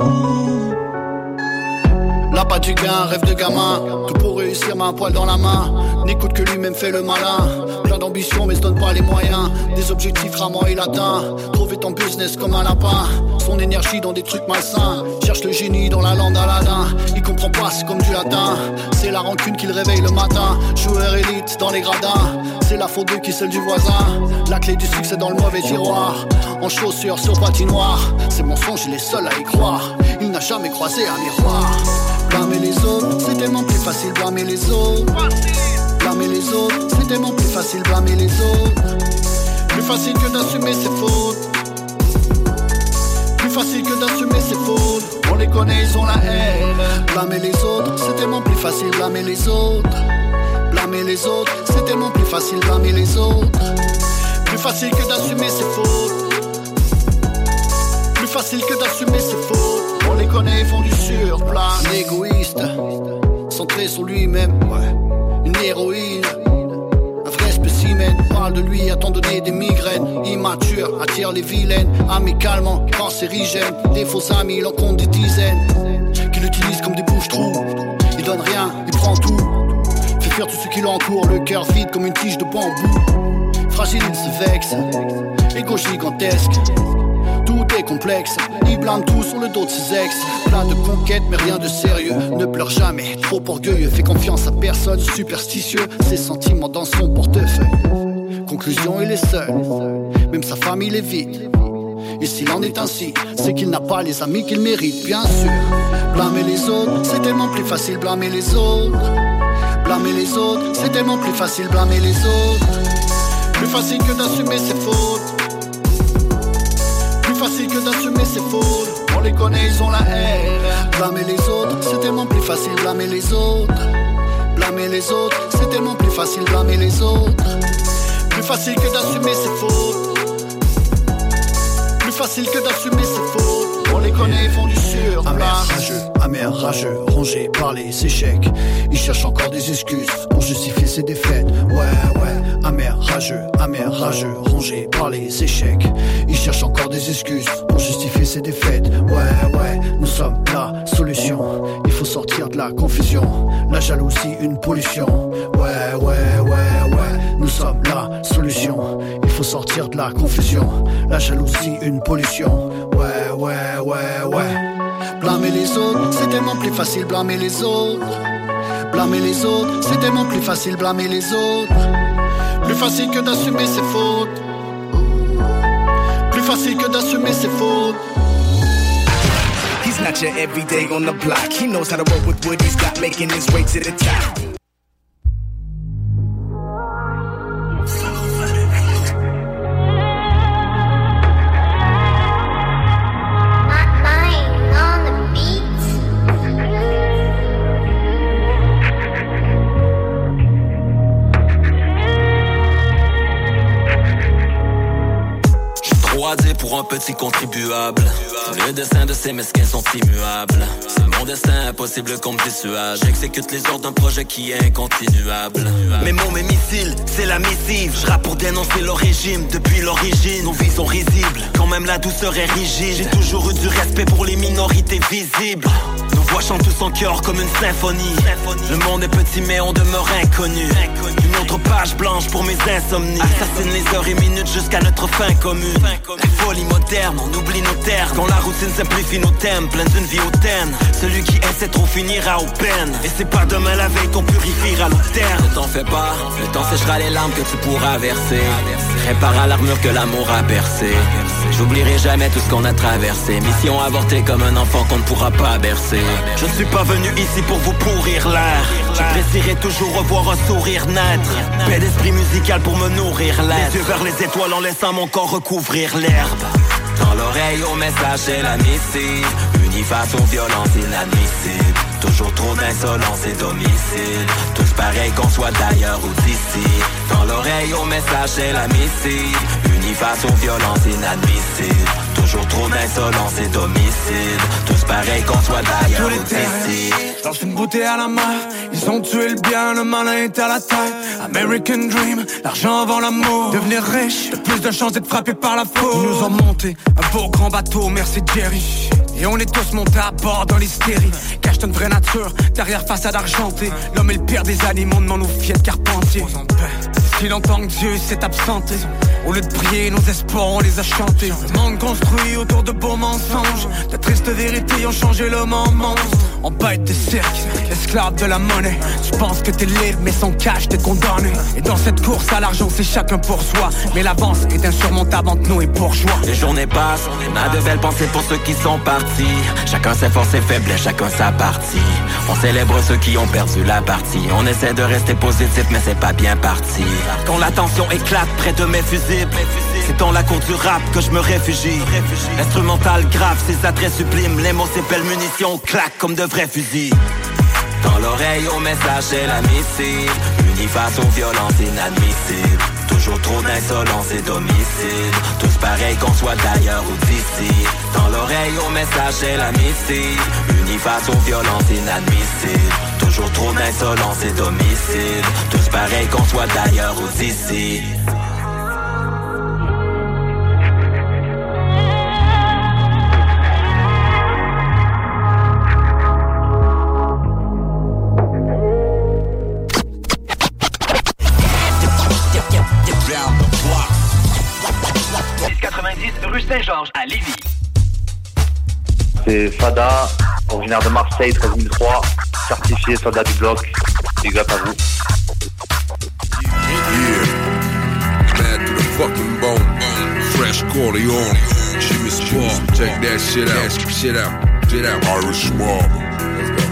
Là pas du gain, rêve de gamin. Tout pour réussir, main un poil dans la main. N'écoute que lui-même, fait le malin. Plein d'ambition mais se donne pas les moyens. Des objectifs rarement il atteint. Trouver ton business comme un lapin. Son énergie dans des trucs malsains. Cherche le génie dans la lande d'Aladin. Il comprend pas, c'est comme du latin. C'est la rancune qui le réveille le matin. Joueur élite dans les gradins. C'est la faute de qui, celle du voisin. La clé du succès dans le mauvais tiroir. En chaussures sur patinoire. Ces mensonges, il est seul à y croire. Il n'a jamais croisé un miroir. Blâmer les autres, c'est tellement plus facile blâmer les autres. Blâmer les autres, c'est tellement plus facile blâmer les autres. Plus facile que d'assumer ses fautes. Plus facile que d'assumer ses fautes. On les connaît, ils ont la haine. Blâmer les autres, c'est tellement plus facile blâmer les autres. Blâmer Blâmer les autres, c'est tellement plus facile blâmer les autres. Plus facile que d'assumer ses fautes. Plus facile que d'assumer ses fautes. On les connaît, ils font du surplace. Un égoïste, centré sur lui-même, ouais. Une héroïne, un vrai spécimen. Parle de lui à t'en donner des migraines. Immature, attire les vilaines. Amicalement, cancérigène. Des faux amis, il en compte des dizaines. Qui l'utilisent comme des bouches-trous. Il donne rien, il prend tout. Fait fuir tout ce qui l'entoure. Le cœur vide comme une tige de bambou. Fragile, il se vexe. Égo gigantesque. Tout est complexe, il blâme tout sur le dos de ses ex. Plein de conquêtes mais rien de sérieux. Ne pleure jamais, trop orgueilleux. Fait confiance à personne, superstitieux. Ses sentiments dans son portefeuille. Conclusion, il est seul. Même sa famille est vide. Et s'il en est ainsi, c'est qu'il n'a pas les amis qu'il mérite, bien sûr. Blâmer les autres, c'est tellement plus facile blâmer les autres. Blâmer les autres, c'est tellement plus facile blâmer les autres. Plus facile que d'assumer ses fautes. Plus facile que d'assumer ses fautes. On les connaît, ils ont la haine. Blâmer les autres, c'est tellement plus facile blâmer les autres. Blâmer les autres, c'est tellement plus facile blâmer les autres. Plus facile que d'assumer ses fautes. Plus facile que d'assumer ses fautes. On les connaît, ils font du sur. Amer, rageux, amer, rageux, rongé par les échecs. Ils cherchent encore des excuses pour justifier ses défaites. Ouais, ouais, amer, rageux, amer, rageux, rongé par les échecs. Ils cherchent encore des excuses pour justifier ses défaites. Ouais, ouais, nous sommes la solution. Il faut sortir de la confusion. La jalousie, une pollution. Ouais, ouais, ouais, ouais, nous sommes la solution. Il faut sortir de la confusion. La jalousie, une pollution. Ouais, ouais, ouais, ouais. Blâmer les autres, c'est tellement plus facile blâmer les autres. Blâmer les autres, c'est tellement plus facile blâmer les autres. Plus facile que d'assumer ses fautes. Plus facile que d'assumer ses fautes. He's not your everyday on the block. He knows how to work with what he's got, making his way to the top. Pour un petit contribuable, le destin de ces mesquins sont immuables. C'est mon destin, impossible qu'on me dissuade. J'exécute les ordres d'un projet qui est incontinuable. Mes mots, mes missiles, c'est la missive. Je rappe pour dénoncer leur régime depuis l'origine. Nos vies sont risibles, quand même la douceur est rigide. J'ai toujours eu du respect pour les minorités visibles. Nos voix chantent tous en chœur comme une symphonie. Le monde est petit mais on demeure inconnu. Une autre page blanche pour mes insomnies. Assassine les heures et minutes jusqu'à notre fin commune. Folie moderne, on oublie nos terres. Quand la routine simplifie nos thèmes, pleine d'une vie hautaine. Celui qui essaie trop finira aux peines. Et c'est pas demain la veille qu'on purifiera l'eau terre. Ne t'en fais pas, le temps séchera les larmes que tu pourras verser. Répare l'armure que l'amour a percée. J'oublierai jamais tout ce qu'on a traversé. Mission avortée comme un enfant qu'on ne pourra pas bercer. Je ne suis pas venu ici pour vous pourrir l'air. J'apprécierais toujours revoir un sourire naître. Paix d'esprit musical pour me nourrir l'air. Les yeux vers les étoiles en laissant mon corps recouvrir l'herbe. Dans l'oreille au message c'est la missive. Unis face aux violences inadmissibles. Toujours trop d'insolence et d'homicide. Tous pareils qu'on soit d'ailleurs ou d'ici. Dans l'oreille au message c'est la missive. Unis face aux violences inadmissibles. Toujours trop d'insolence et d'homicide. Tous pareils qu'on soit d'ailleurs ou d'ici. Lance une bouteille à la main. Ils ont tué le bien, le malin est à la taille. American Dream, l'argent avant l'amour. Devenir riche, le plus de chances d'être frappé par la faute. Ils nous ont monté un beau grand bateau, merci Jerry. Et on est tous montés à bord dans l'hystérie. Cache une vraie nature, derrière façade argentée. L'homme est le pire des animaux, demande nos filles de Carpentier. Si longtemps que Dieu s'est absenté, au lieu de prier, nos espoirs on les a chantés. Le monde construit autour de beaux mensonges. De tristes vérités ont changé l'homme en monstre. En bête de cirque, esclave de la monnaie. Tu penses que t'es libre mais sans cash t'es condamné. Et dans cette course à l'argent c'est chacun pour soi. Mais l'avance est insurmontable entre nous et bourgeois. Les journées passent, on a de belles pensées pour ceux qui sont partis. Chacun ses forces et faiblesses, chacun sa partie. On célèbre ceux qui ont perdu la partie. On essaie de rester positif mais c'est pas bien parti. Quand la tension éclate près de mes fusibles, c'est dans la cour du rap que je me réfugie. Instrumental grave, ses attraits sublimes. Les mots, ces belles munitions claquent comme de vrais fusils. Dans l'oreille au message c'est la missive. Unis face aux violences inadmissibles. Toujours trop d'insolence et d'homicide. Tous pareils qu'on soit d'ailleurs ou d'ici. Dans l'oreille au message c'est la missive. Unis face aux violences inadmissibles. Toujours trop d'insolence et d'homicide. Tous pareils qu'on soit d'ailleurs ou d'ici. quatre-vingt-dix rue Saint-Georges à Lévis. C'est Fada, originaire de Marseille, treize mille trois, certifié soldat du bloc. Big up à vous. Yeah, mad to the fucking bone, fresh Corleone, Jimmy Sport, check that shit out, shit out, shit out, Irish mob. Let's go.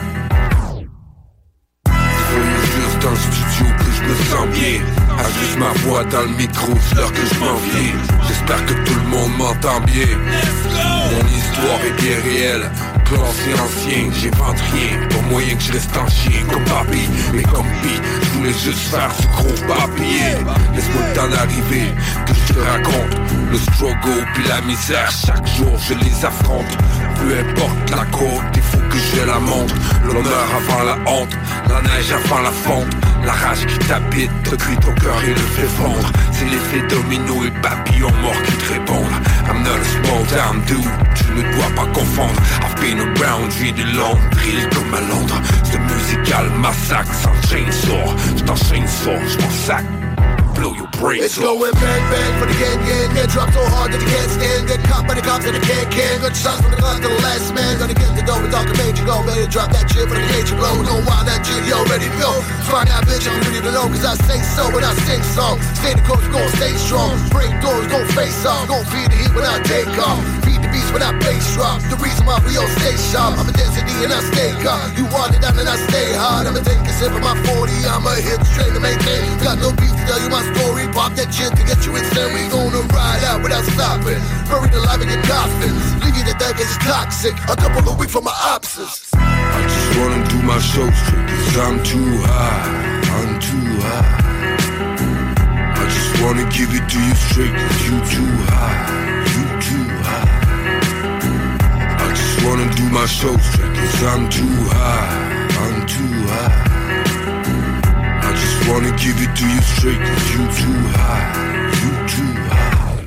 Juste dans le studio que je me sens bien. Ajuste ma voix dans le micro, c'est l'heure que je m'en viens. J'espère que tout le monde m'entend bien. Mon histoire est bien réelle, classé ancien, j'invente rien. Pas moyen que je reste en chien comme papi, mais comme pis, je voulais juste faire du gros papier. Laisse-moi le temps d'arriver, que je te raconte le struggle puis la misère. Chaque jour je les affronte, peu importe la côte, il faut que je la monte. L'honneur avant la honte, la neige avant la fonte. La rage qui t'habite, te cuit ton cœur et le fait fondre. C'est l'effet domino et papillon mort qui te répondent. I'm not a small town dude, tu ne dois pas confondre. I've been around, j'ai du long, drill comme à Londres. C'est musical massacre sans chainsaw. J't'enchaîne fort, j'm'en sac. Blow your brains It's going bang bang for the gang gang. Get dropped so hard that you can't stand. Get caught by the cops and the can can. Good shots from the gun to the last man. Gonna get the dough with Doctor Major go. Better drop that shit for the cage blow. Know why that shit you already know. Find out bitch I'm ready to know. Cause I say so when I sing songs. Stay the course, gon' stay strong. Break doors, gon' face off. Gon' feed the heat when I take off. Feed the beast when I bass drop. The reason why we all stay sharp. I'm a density and I stay calm. You want it down and I stay hard. I'ma take a sip of my forty. I'ma hit straight to maintain. Got no beef to tell you my story. Pop that shit to get you insane. We gonna ride out without stopping. Buried alive in your coffin. Leave you to death cause it's toxic. A couple of weeks from my opposites. I just wanna do my show straight cause I'm too high, I'm too high. I just wanna give it to you straight cause you too high, you too high. I just wanna do my show straight cause I'm too high, I'm too high. I just wanna give it to you straight cause you too high, you too high.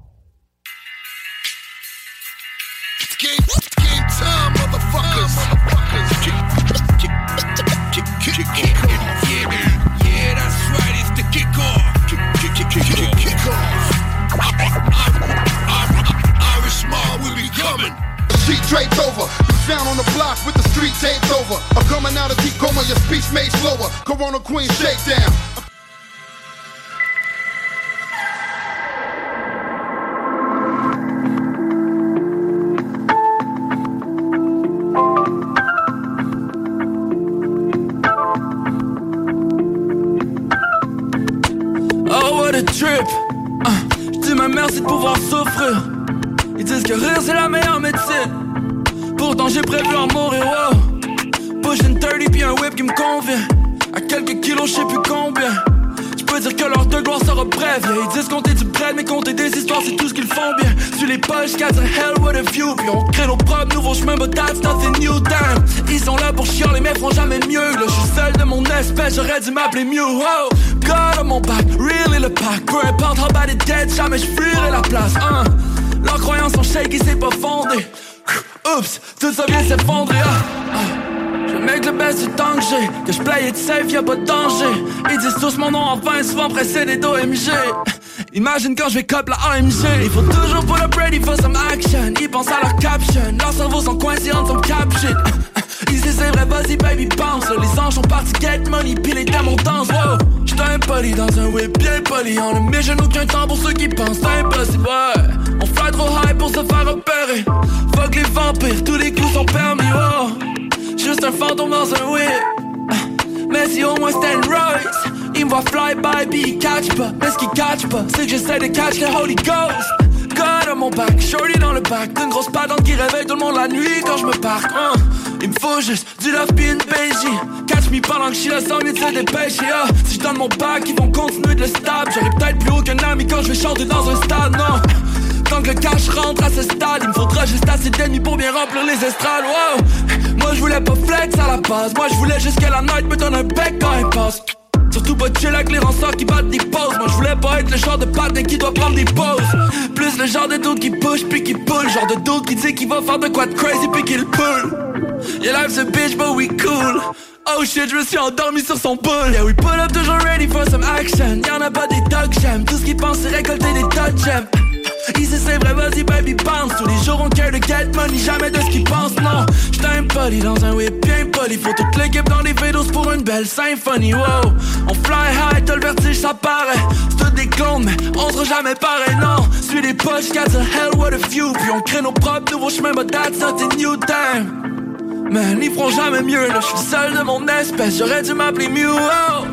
It's game, it's game time, motherfuckers. Motherfuckers. Kick, kick, kick, kick, kick, kick off. Yeah, yeah, that's right, it's the kick off. Kick, kick, kick, kick, kick, kick off. Irish mob, we be coming. Sheet draped over, you found on the block with the street taped over. I'm coming out of deep coma, your speech made slower. Corona Queen shakedown. Oh what a trip. uh, J'dis ma merci de pouvoir souffrir. Ils disent que rire c'est la meilleure médecine. Pourtant j'ai prévu en mourir, wow. Pushing thirty puis un whip qui me convient. À quelques kilos je sais plus combien. J'peux dire que l'heure de gloire sera brève, yeah. Ils disent compter du bread mais compter des histoires c'est tout ce qu'ils font bien. Sur les poches quatre hell what a view. Puis on crée nos propres nouveaux chemins but that's nothing new damn. Ils sont là pour chialer mais feront jamais mieux. Là j'suis seul de mon espèce, j'aurais dû m'appeler Mew, wow. God on mon back, really le pack. Peu importe how bad it gets, jamais j'fuirai la place, hein. Leurs croyances sont shaky, c'est pas fondé. Oups, tout ça vient s'effondrer, ah, ah. Je make le best du temps que j'ai. Que je play it safe, y'a pas de danger. Ils disent tous mon nom en vain, souvent précédé d'O M G. Imagine quand je vais cop la A M G. Il faut toujours pull up ready for some action. Ils pensent à leur caption, leurs cerveaux sont coincés en some cap shit. Ils disent c'est vrai, vas-y baby bounce. Les anges sont partis get money, pis les démons dansent, wow. J'suis impoli dans un whip bien poli. On ne met jamais aucun temps pour ceux qui pensent, c'est impossible, ouais. On fly trop high pour se faire repérer. Fuck les vampires, tous les coups sont permis, wow. Juste un fantôme dans un whip. Mais si au moins c'était une Royce. Ils me voient fly by, pis ils catch pas. Mais ce qu'ils catch pas, c'est que j'essaie de catch le Holy Ghost. gars dans mon bac, shorty dans le bac, d'une grosse patente qui réveille tout le monde la nuit quand je me parque. Hein. Il me faut juste du love pis une B J. Catch me pendant que je suis là sans mieux de se dépêcher. Ah. Si je donne mon bac, ils vont continuer de le stab. J'aurai peut-être plus haut qu'un ami quand je vais chanter dans un stade, non. Tant que le cash rentre à ce stade, il me faudra juste assez d'ennemis pour bien remplir les estrades. Wow. Moi je voulais pas flex à la base, moi je voulais juste que la night me donne un bec quand elle passe. Surtout pas chill avec les rançons qui battent des pauses. Moi je voulais pas être le genre de patin qui doit prendre des pauses. Plus le genre de dude qui push puis qui pull. Genre de dude qui dit qu'il va faire de quoi de crazy puis qu'il pull. Yeah life's a bitch but we cool. Oh shit, je me suis endormi sur son boule. Yeah, we pull up toujours ready for some action. Y'en a pas des dogs, j'aime. Tout ce qu'ils pensent c'est récolter des tas de gemmes. Ici c'est vrai, vas-y baby bounce. Tous les jours on care de get money, jamais de ce qu'ils pensent, non. J'suis un poli dans un whip bien poli. Faut toute l'équipe dans les vélos pour une belle symphonie, wow. On fly high, t'as le vertige, ça paraît. C'est tout des clones, mais on sera jamais pareil, non. Suis les poches, got the hell what a few. Puis on crée nos propres nouveaux chemins, but that's not a new time. Man, ils feront jamais mieux, là, j'suis seul de mon espèce. J'aurais dû m'appeler Mew, oh.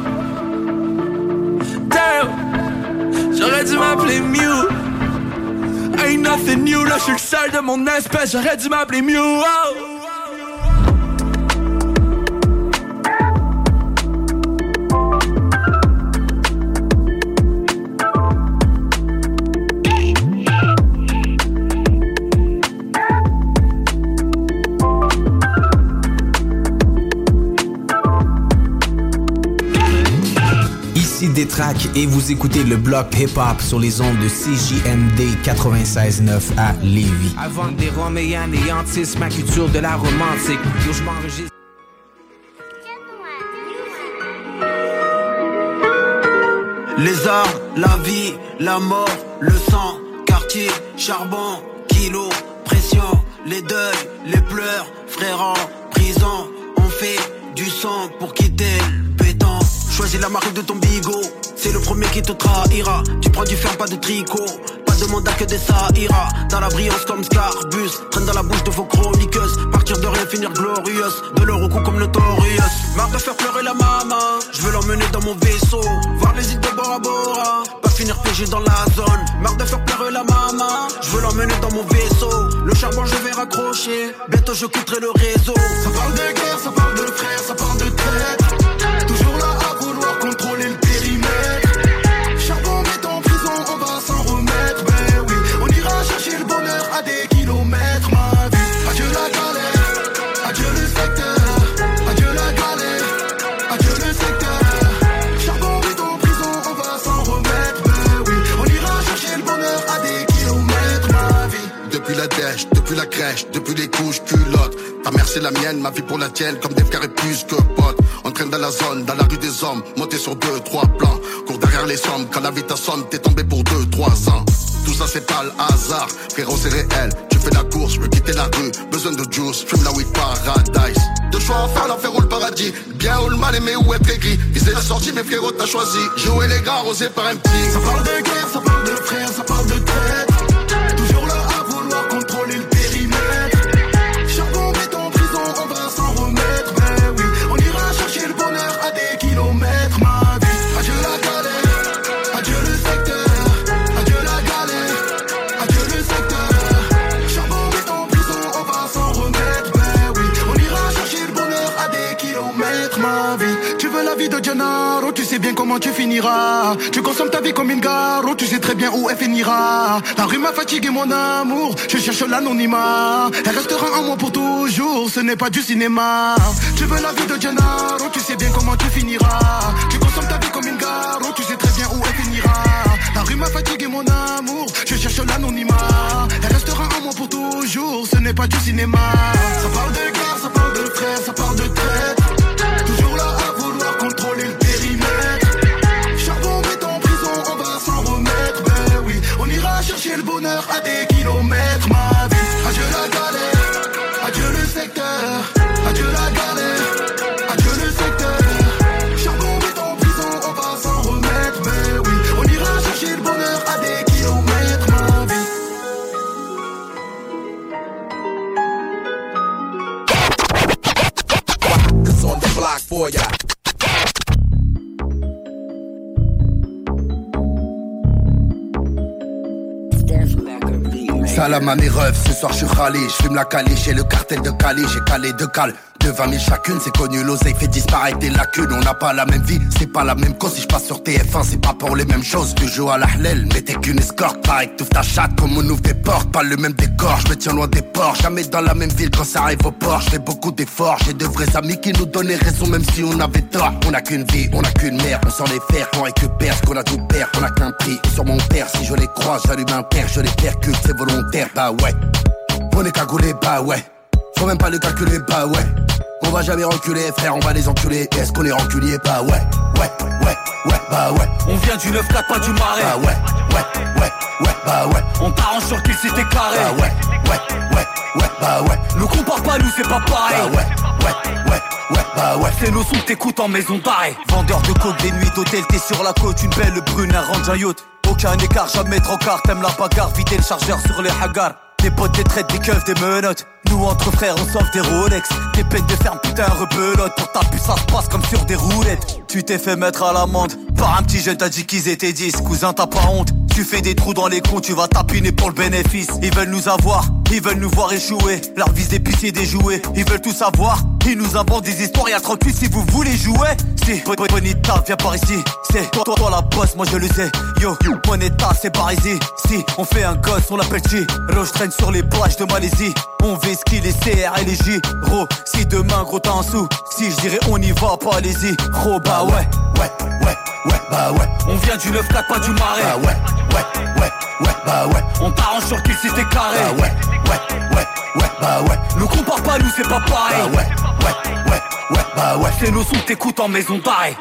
Damn, j'aurais dû m'appeler Mew. Ain't nothing new, là j'suis le seul de mon espèce. J'aurais dû m'appeler Mew, oh. Détraque et vous écoutez le bloc hip-hop sur les ondes de C J M D quatre-vingt-seize neuf à Lévis. Avant des roms et anéantissent ma culture de la romantique. Yo, je m'enregistre. Les arts, la vie, la mort, le sang, quartier, charbon, kilo, pression, les deuils, les pleurs, frères en prison. On fait du sang pour quitter le béton. Choisis la marque de ton bigot, c'est le premier qui te trahira. Tu prends du fer, pas de tricot, pas de mandat que des ça ira. Dans la brillance comme Scarbus, traîne dans la bouche de vos chroniqueuses. Partir de rien, finir glorieuse, de leur au cou comme Notorious. Marre de faire pleurer la maman, je veux l'emmener dans mon vaisseau, voir les îles de Bora Bora, pas finir piégé dans la zone. Marre de faire pleurer la maman, je veux l'emmener dans mon vaisseau. Le charbon je vais raccrocher, bientôt je quitterai le réseau. Ça parle de guerre, ça parle de frères, ça parle de traître. Toujours là à vouloir contrôler le périmètre. Charbon met en prison, on va s'en remettre. Ben oui, on ira chercher le bonheur à des kilomètres. Ma vie, adieu la galère, adieu le secteur. Adieu la galère, adieu le secteur. Charbon met en prison, on va s'en remettre. Ben oui, on ira chercher le bonheur à des kilomètres. Ma vie. Depuis la dèche, depuis la crèche, depuis les couches culottes. Ta mère c'est la mienne, ma vie pour la tienne, comme des frères et plus que potes. On traîne dans la zone, dans la rue des hommes, monté sur deux, trois plans. Cours derrière les sommes, quand la vie t'assomme, t'es tombé pour deux, trois ans. Tout ça c'est pas le hasard, frérot c'est réel. Tu fais la course, je veux quitter la rue, besoin de juice, fume la weed paradise. Deux choix à faire, l'enfer ou le paradis. Bien ou le mal aimé ou être aigri. Viser la sortie, mais frérot t'as choisi. Jouer les gars, arrosé par un petit. Ça parle de guerre, ça parle de frères, ça parle de traître. Toujours là à vouloir contrôler le périmètre. Charbon met en prison, on va s'en remettre. Ben oui, on ira chercher le bonheur à des kilomètres. Ma vie, adieu la galère, adieu le secteur. Adieu la galère, adieu le secteur. Charbon met en prison, on va s'en remettre. Ben oui, on ira chercher le bonheur à des kilomètres. Ma vie, tu veux la vie de Gennaro, tu sais bien comment tu finiras. Tu consommes ta vie comme une gare, tu sais très bien où elle finira. La rue m'a fatigué mon amour, je cherche l'anonymat. Elle restera en moi pour toujours, ce n'est pas du cinéma. Tu veux la vie de Gennaro, tu sais bien comment tu finiras. Tu consommes ta vie comme une gare, tu sais très bien où elle finira. La rue m'a fatigué mon amour, je cherche l'anonymat. Elle restera en moi pour toujours, ce n'est pas du cinéma. Ça parle de guerre, ça parle de frères, ça parle de traître. Toujours là à vouloir contrôler le périmètre. Charbon met en prison, on va s'en remettre. Ben oui, on ira chercher le bonheur à des kilomètres. Ma vie, adieu la galère, adieu le secteur. Adieu la galère, adieu le secteur. Charbon met en prison, on va s'en remettre. Ben oui, on ira chercher le bonheur à des kilomètres. Ma vie. Cause on the block for ya. Steph Becker. Salam à mes refs, ce soir je suis râlé. Je fume la caliche et le cartel de Cali. J'ai calé deux cales de vingt mille chacune, c'est connu, l'oseille fait disparaître des lacunes. On n'a pas la même vie, c'est pas la même cause. Si je passe sur T F un, c'est pas pour les mêmes choses. Tu joues à la hlel, mais t'es qu'une escorte. Pareil que t'ouvres ta chatte comme on ouvre des portes. Pas le même décor, je me tiens loin des ports. Jamais dans la même ville quand ça arrive au port. Je fais beaucoup d'efforts, j'ai de vrais amis qui nous donnaient raison même si on avait tort. On a qu'une vie, on a qu'une mère, on s'en les faire, on récupère ce qu'on a tout perd. On a qu'un prix, et sur mon père, si je les croise, j'allume un père, je les percute, c'est volontaire, bah ouais. On est cagoulé, bah ouais. Faut même pas le calculer, bah ouais. On va jamais reculer, frère, on va les enculer. Est-ce qu'on est reculier? Bah ouais, ouais, ouais, ouais, bah ouais. On vient du neuf quatre, pas du marais. Bah ouais, ouais, ouais, ouais, bah ouais. On t'arrange sur qu'il s'était carré. Bah ouais, ouais, ouais, ouais, bah ouais. Nous compare pas, nous c'est pas pareil. Bah ouais, ouais, ouais, ouais, bah ouais. C'est nos sons que t'écoutes en maison d'arrêt. Vendeur de coke, des nuits d'hôtel, t'es sur la côte. Une belle brune, un range, un yacht. Aucun écart, jamais trop quart. T'aimes la bagarre, vider le chargeur sur les hagars. Des potes, des traites, des keufs, des menottes. Nous entre frères, on sauve des Rolex. Des peines de ferme, putain, rebelote. Pour ta puce, ça se passe comme sur des roulettes. Tu t'es fait mettre à l'amende par un petit jeune, t'as dit qu'ils étaient dix. Cousin, t'as pas honte. Tu fais des trous dans les comptes, tu vas tapiner pour le bénéfice. Ils veulent nous avoir, ils veulent nous voir échouer. Leur vise des pitiés, des jouets. Ils veulent tout savoir, ils nous inventent des histoires. Y'a trente-huit si vous voulez jouer. Si, Bonita, viens par ici. C'est toi, toi, toi la bosse, moi je le sais. Yo, Bonita, c'est par ici. Si, on fait un gosse, on l'appelle Chi. Roche traîne sur les plages de Malaisie. On vesquille les C R et les J. Gros, si demain gros t'as un sou. Si je dirais on y va, pas allez-y. Gros, bah ouais, ouais, ouais, ouais, bah ouais. On vient du neuf quatre, pas du marais. Bah ouais, ouais, ouais, ouais, bah ouais. On t'arrange sur qu'il s'était carré. Bah ouais, ouais, ouais, ouais, bah ouais. Nous compare pas, nous c'est pas pareil. Bah ouais, ouais, ouais, ouais, bah ouais. C'est nos sons que t'écoutes en maison d'arrêt.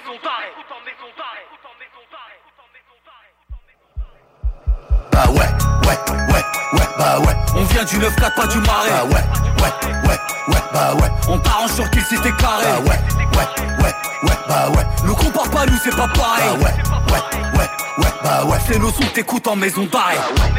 Bah ouais, ouais, ouais, ouais, bah ouais. On vient du neuf quatre, pas du marais. Bah ouais, ouais, ouais, ouais, bah ouais. On t'arrange sur qu'il s'était carré. Bah ouais, ouais, ouais, ouais, bah ouais. Nous compare pas, nous c'est pas pareil. Bah ouais, ouais, ouais, ouais, bah ouais. C'est nos sons que t'écoutes en maison d'arrêt. Bah ouais.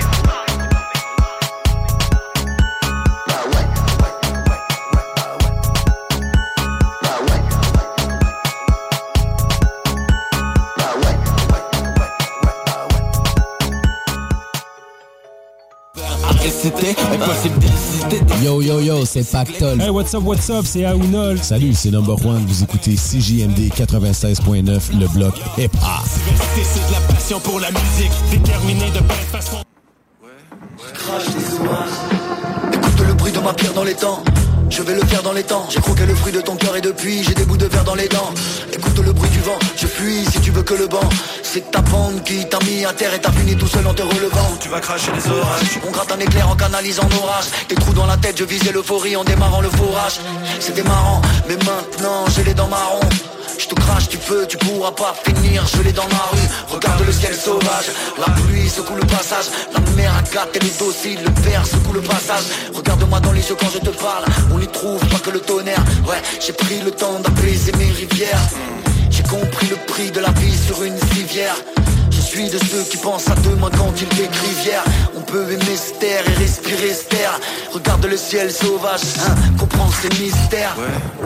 Yo yo yo, c'est Pactol. Hey, what's up, what's up, c'est Aounol. Salut, c'est Number One. Vous écoutez C J M D quatre-vingt-seize point neuf, le bloc hip-hop. C'est de la passion pour la musique, déterminé de plein de façons. Crache des oies. Écoute le bruit de ma pierre dans les temps. Je vais le faire dans les temps. J'ai croqué le fruit de ton cœur et depuis j'ai des bouts de verre dans les dents. Écoute le bruit du vent, je fuis si tu veux que le banc. C'est ta bande qui t'a mis à terre et t'as fini tout seul en te relevant. Tu vas cracher les orages. On gratte un éclair en canalisant l'orage. Des trous dans la tête, je visais l'euphorie en démarrant le forage. C'était marrant, mais maintenant j'ai les dents marron. Je te crache, tu peux, tu pourras pas finir gelé dans ma rue. Regarde le ciel sauvage, la pluie secoue le passage. La mer à gâte, elle est docile, le verre secoue le passage. Regarde-moi dans les yeux quand je te parle, on n'y trouve pas que le tonnerre. Ouais, j'ai pris le temps d'apaiser mes rivières. J'ai compris le prix de la vie sur une civière. Je suis de ceux qui pensent à demain quand ils décrivent hier. On peut aimer se taire et respirer se taire. Regarde le ciel sauvage, hein, comprends ces mystères. Ouais.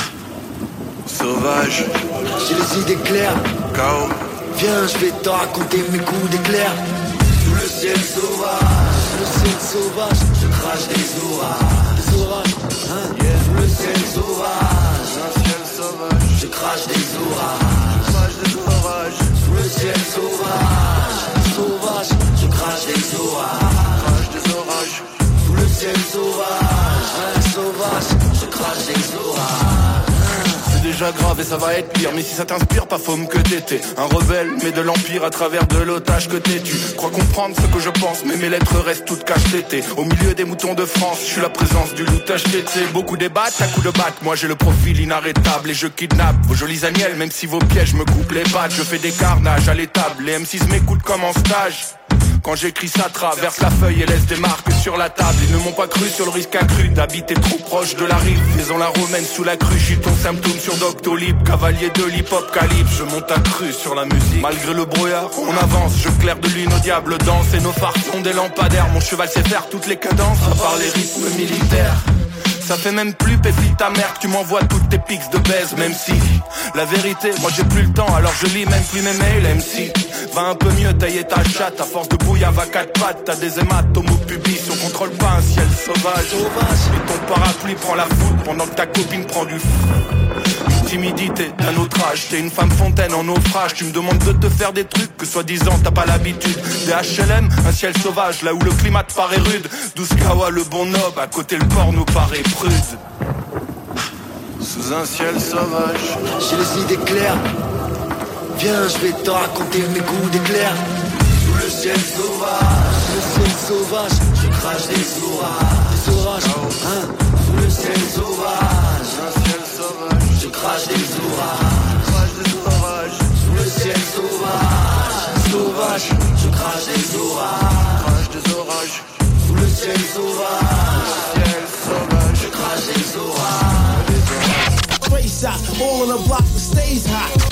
Sauvage, j'ai les idées claires. K O. Viens, je vais te raconter mes coups d'éclair. Sous le ciel sauvage, le ciel sauvage, je crache des orages. Des orages, hein, yeah. Sous le ciel sauvage, un ciel sauvage, je crache des orages. Je crache des orages. Sous le ciel sauvage, sauvage, je crache des orages. Crache des orages. Sous le ciel sauvage, hein, sauvage, je crache des orages. Déjà grave et ça va être pire. Mais si ça t'inspire, pas faume que t'étais un rebelle, mais de l'empire à travers de l'otage que t'es. Tu crois comprendre ce que je pense, mais mes lettres restent toutes cache-tétées. Au milieu des moutons de France, je suis la présence du loup tache-tété. Beaucoup débattent à coups de batte, moi j'ai le profil inarrêtable. Et je kidnappe vos jolis agnelles, même si vos pièges me coupent les pattes. Je fais des carnages à l'étable, les M six m'écoutent comme en stage. Quand j'écris ça traverse la feuille et laisse des marques sur la table. Ils ne m'ont pas cru sur le risque accru d'habiter trop proche de la rive. Faisons la romaine sous la crue, j'suis ton symptôme sur Doctolib. Cavalier de l'hip-hop calibre, je monte à cru sur la musique. Malgré le brouillard, on avance, je claire de lune au diable danse. Et nos phares sont des lampadaires, mon cheval sait faire toutes les cadences, à part les rythmes militaires. Ça fait même plus péfli ta mère que tu m'envoies toutes tes pics de baise. Même si, la vérité, moi j'ai plus le temps, alors je lis même plus mes mails. M C, Va un peu mieux tailler ta chatte, à force de bouillave à quatre pattes. T'as des hématomes au pubis, on contrôle pas un ciel sauvage. Et ton parapluie prend la foudre pendant que ta copine prend du fou. Timidité d'un autre âge, t'es une femme fontaine en naufrage. Tu me demandes de te faire des trucs que soi-disant t'as pas l'habitude. Des H L M, un ciel sauvage, là où le climat te paraît rude. douze kawa le bon nob, à côté le port nous paraît prude. Sous un ciel sauvage, j'ai les idées claires. Viens, je vais te raconter mes coups d'éclair. Sous le ciel sauvage, sous le ciel sauvage, je crache des orages, des orages, hein. Sous le ciel sauvage, un ciel sauvage, je crache des orages, crache des orages. Sous le ciel sauvage, sauvage, je crache des orages, crache des orages. Sous le ciel sauvage, ciel sauvage, je crache des orages. Straight shot, all on the block stays hot.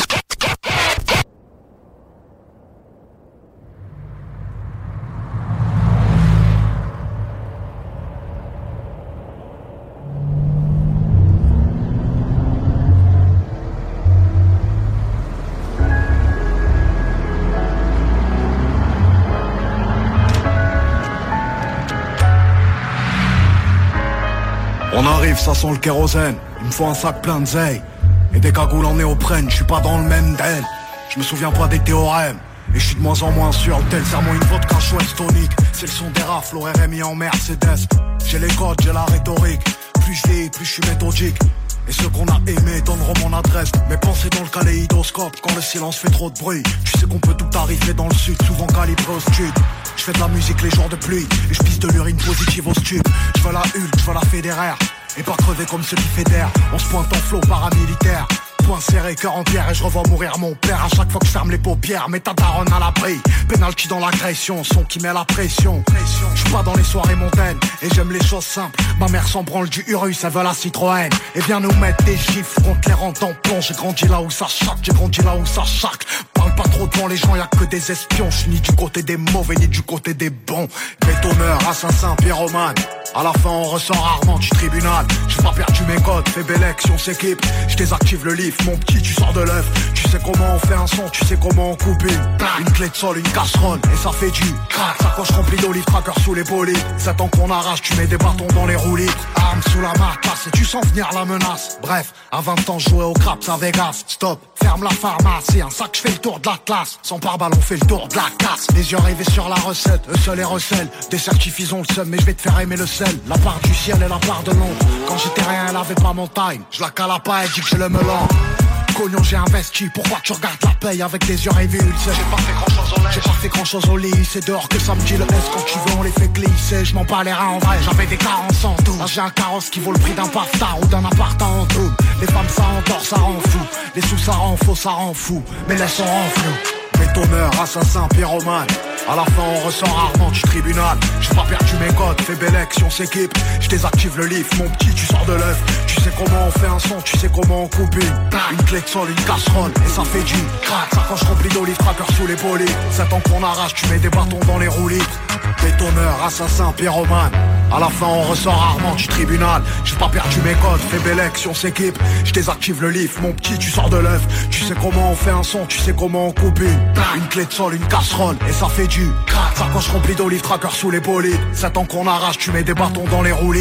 On arrive, ça sent le kérosène. Il me faut un sac plein de zeille et des cagoules en néoprène. Je suis pas dans le même d'elle. Je me souviens pas des théorèmes. Et je suis de moins en moins sûr. Tel serment une vodka chouette tonique. C'est le son des rafles au R M I en Mercedes. J'ai les codes, j'ai la rhétorique. Plus je vieillis, plus je suis méthodique. Et ceux qu'on a aimés donneront mon adresse. Mes pensées dans le kaléidoscope quand le silence fait trop de bruit. Tu sais qu'on peut tout arriver dans le sud, souvent calibré au stud. Je fais de la musique les jours de pluie et je pisse de l'urine positive au stud. Je veux la Hulk, je veux la fédéraire. Et pas crever comme ceux qui fédèrent. On se pointe en flot paramilitaire. Point serré, cœur en pierre et je revois mourir mon père à chaque fois que je ferme les paupières. Mais ta daronne à l'abri, penalty dans l'agression, son qui met la pression. Je suis pas dans les soirées montaines et j'aime les choses simples. Ma mère s'en branle du Urus, elle veut la Citroën. Et vient nous mettre des gifs contre les rentes en plomb. J'ai grandi là où ça chaque, j'ai grandi là où ça chaque. Parle pas trop devant les gens, y'a que des espions. Je suis ni du côté des mauvais ni du côté des bons. Bétonneur, assassin, pyromane. À la fin on ressort rarement du tribunal. J'ai pas perdu mes codes, fais belle action, on s'équipe. Je désactive le lift, mon petit tu sors de l'œuf. Tu sais comment on fait un son, tu sais comment on coupe une Une clé de sol, une casserole, et ça fait du crack. Sacoche remplie d'olive, tracker sous les bolets. Sept ans qu'on arrache, tu mets des bâtons dans les roulis. Arme sous la matelasse et tu sens venir la menace. Bref, à vingt ans je jouais au craps à Vegas. Stop, ferme la pharmacie, un sac je fais le tour de la classe. Sans pare-balles on fait le tour de la casse. Les yeux rivés sur la recette, eux seuls les recèlent. Des certifs ils ont le seum mais je vais te faire aimer le sel. La part du ciel et la part de l'ombre. Quand j'étais rien elle avait pas mon time. Je la cala pas, elle dit que j'ai le melon. Cognon j'ai investi, pourquoi tu regardes la paye avec des yeux rivés? J'ai pas fait grand chose au lit, j'ai pas fait grand chose au lit. C'est dehors que ça me dit le S, quand tu veux on les fait glisser. Je m'en bats les reins en vrai, j'avais des carences en tout. Là j'ai un carrosse qui vaut le prix d'un paftar ou d'un appart en tout. Les femmes ça endort, ça rend fou. Les sous ça rend faux, ça rend fou. Mais laisse on rend flou. Bétonneur, assassin, pyromane. À la fin on ressort rarement du tribunal. J'ai pas perdu mes codes, fais belle action, s'équipe. Je désactive le lift, mon petit tu sors de l'œuf. Tu sais comment on fait un son, tu sais comment on coupe une Une clé de sol, une casserole, et ça fait du crack. Sacoche remplie d'olive, tracker sous les bolets. Sept ans qu'on arrache, tu mets des bâtons dans les roulis. Bétonneur, assassin, pyromane. À la fin on ressort rarement du tribunal. J'ai pas perdu mes codes, fais belle action, s'équipe. Je désactive le lift, mon petit tu sors de l'œuf. Tu sais comment on fait un son, tu sais comment on coupe une Une clé de sol, une casserole, et ça fait du crack. Sacoche remplie d'olive, tracker sous les bolets. Sept ans qu'on arrache, tu mets des bâtons dans les roulis.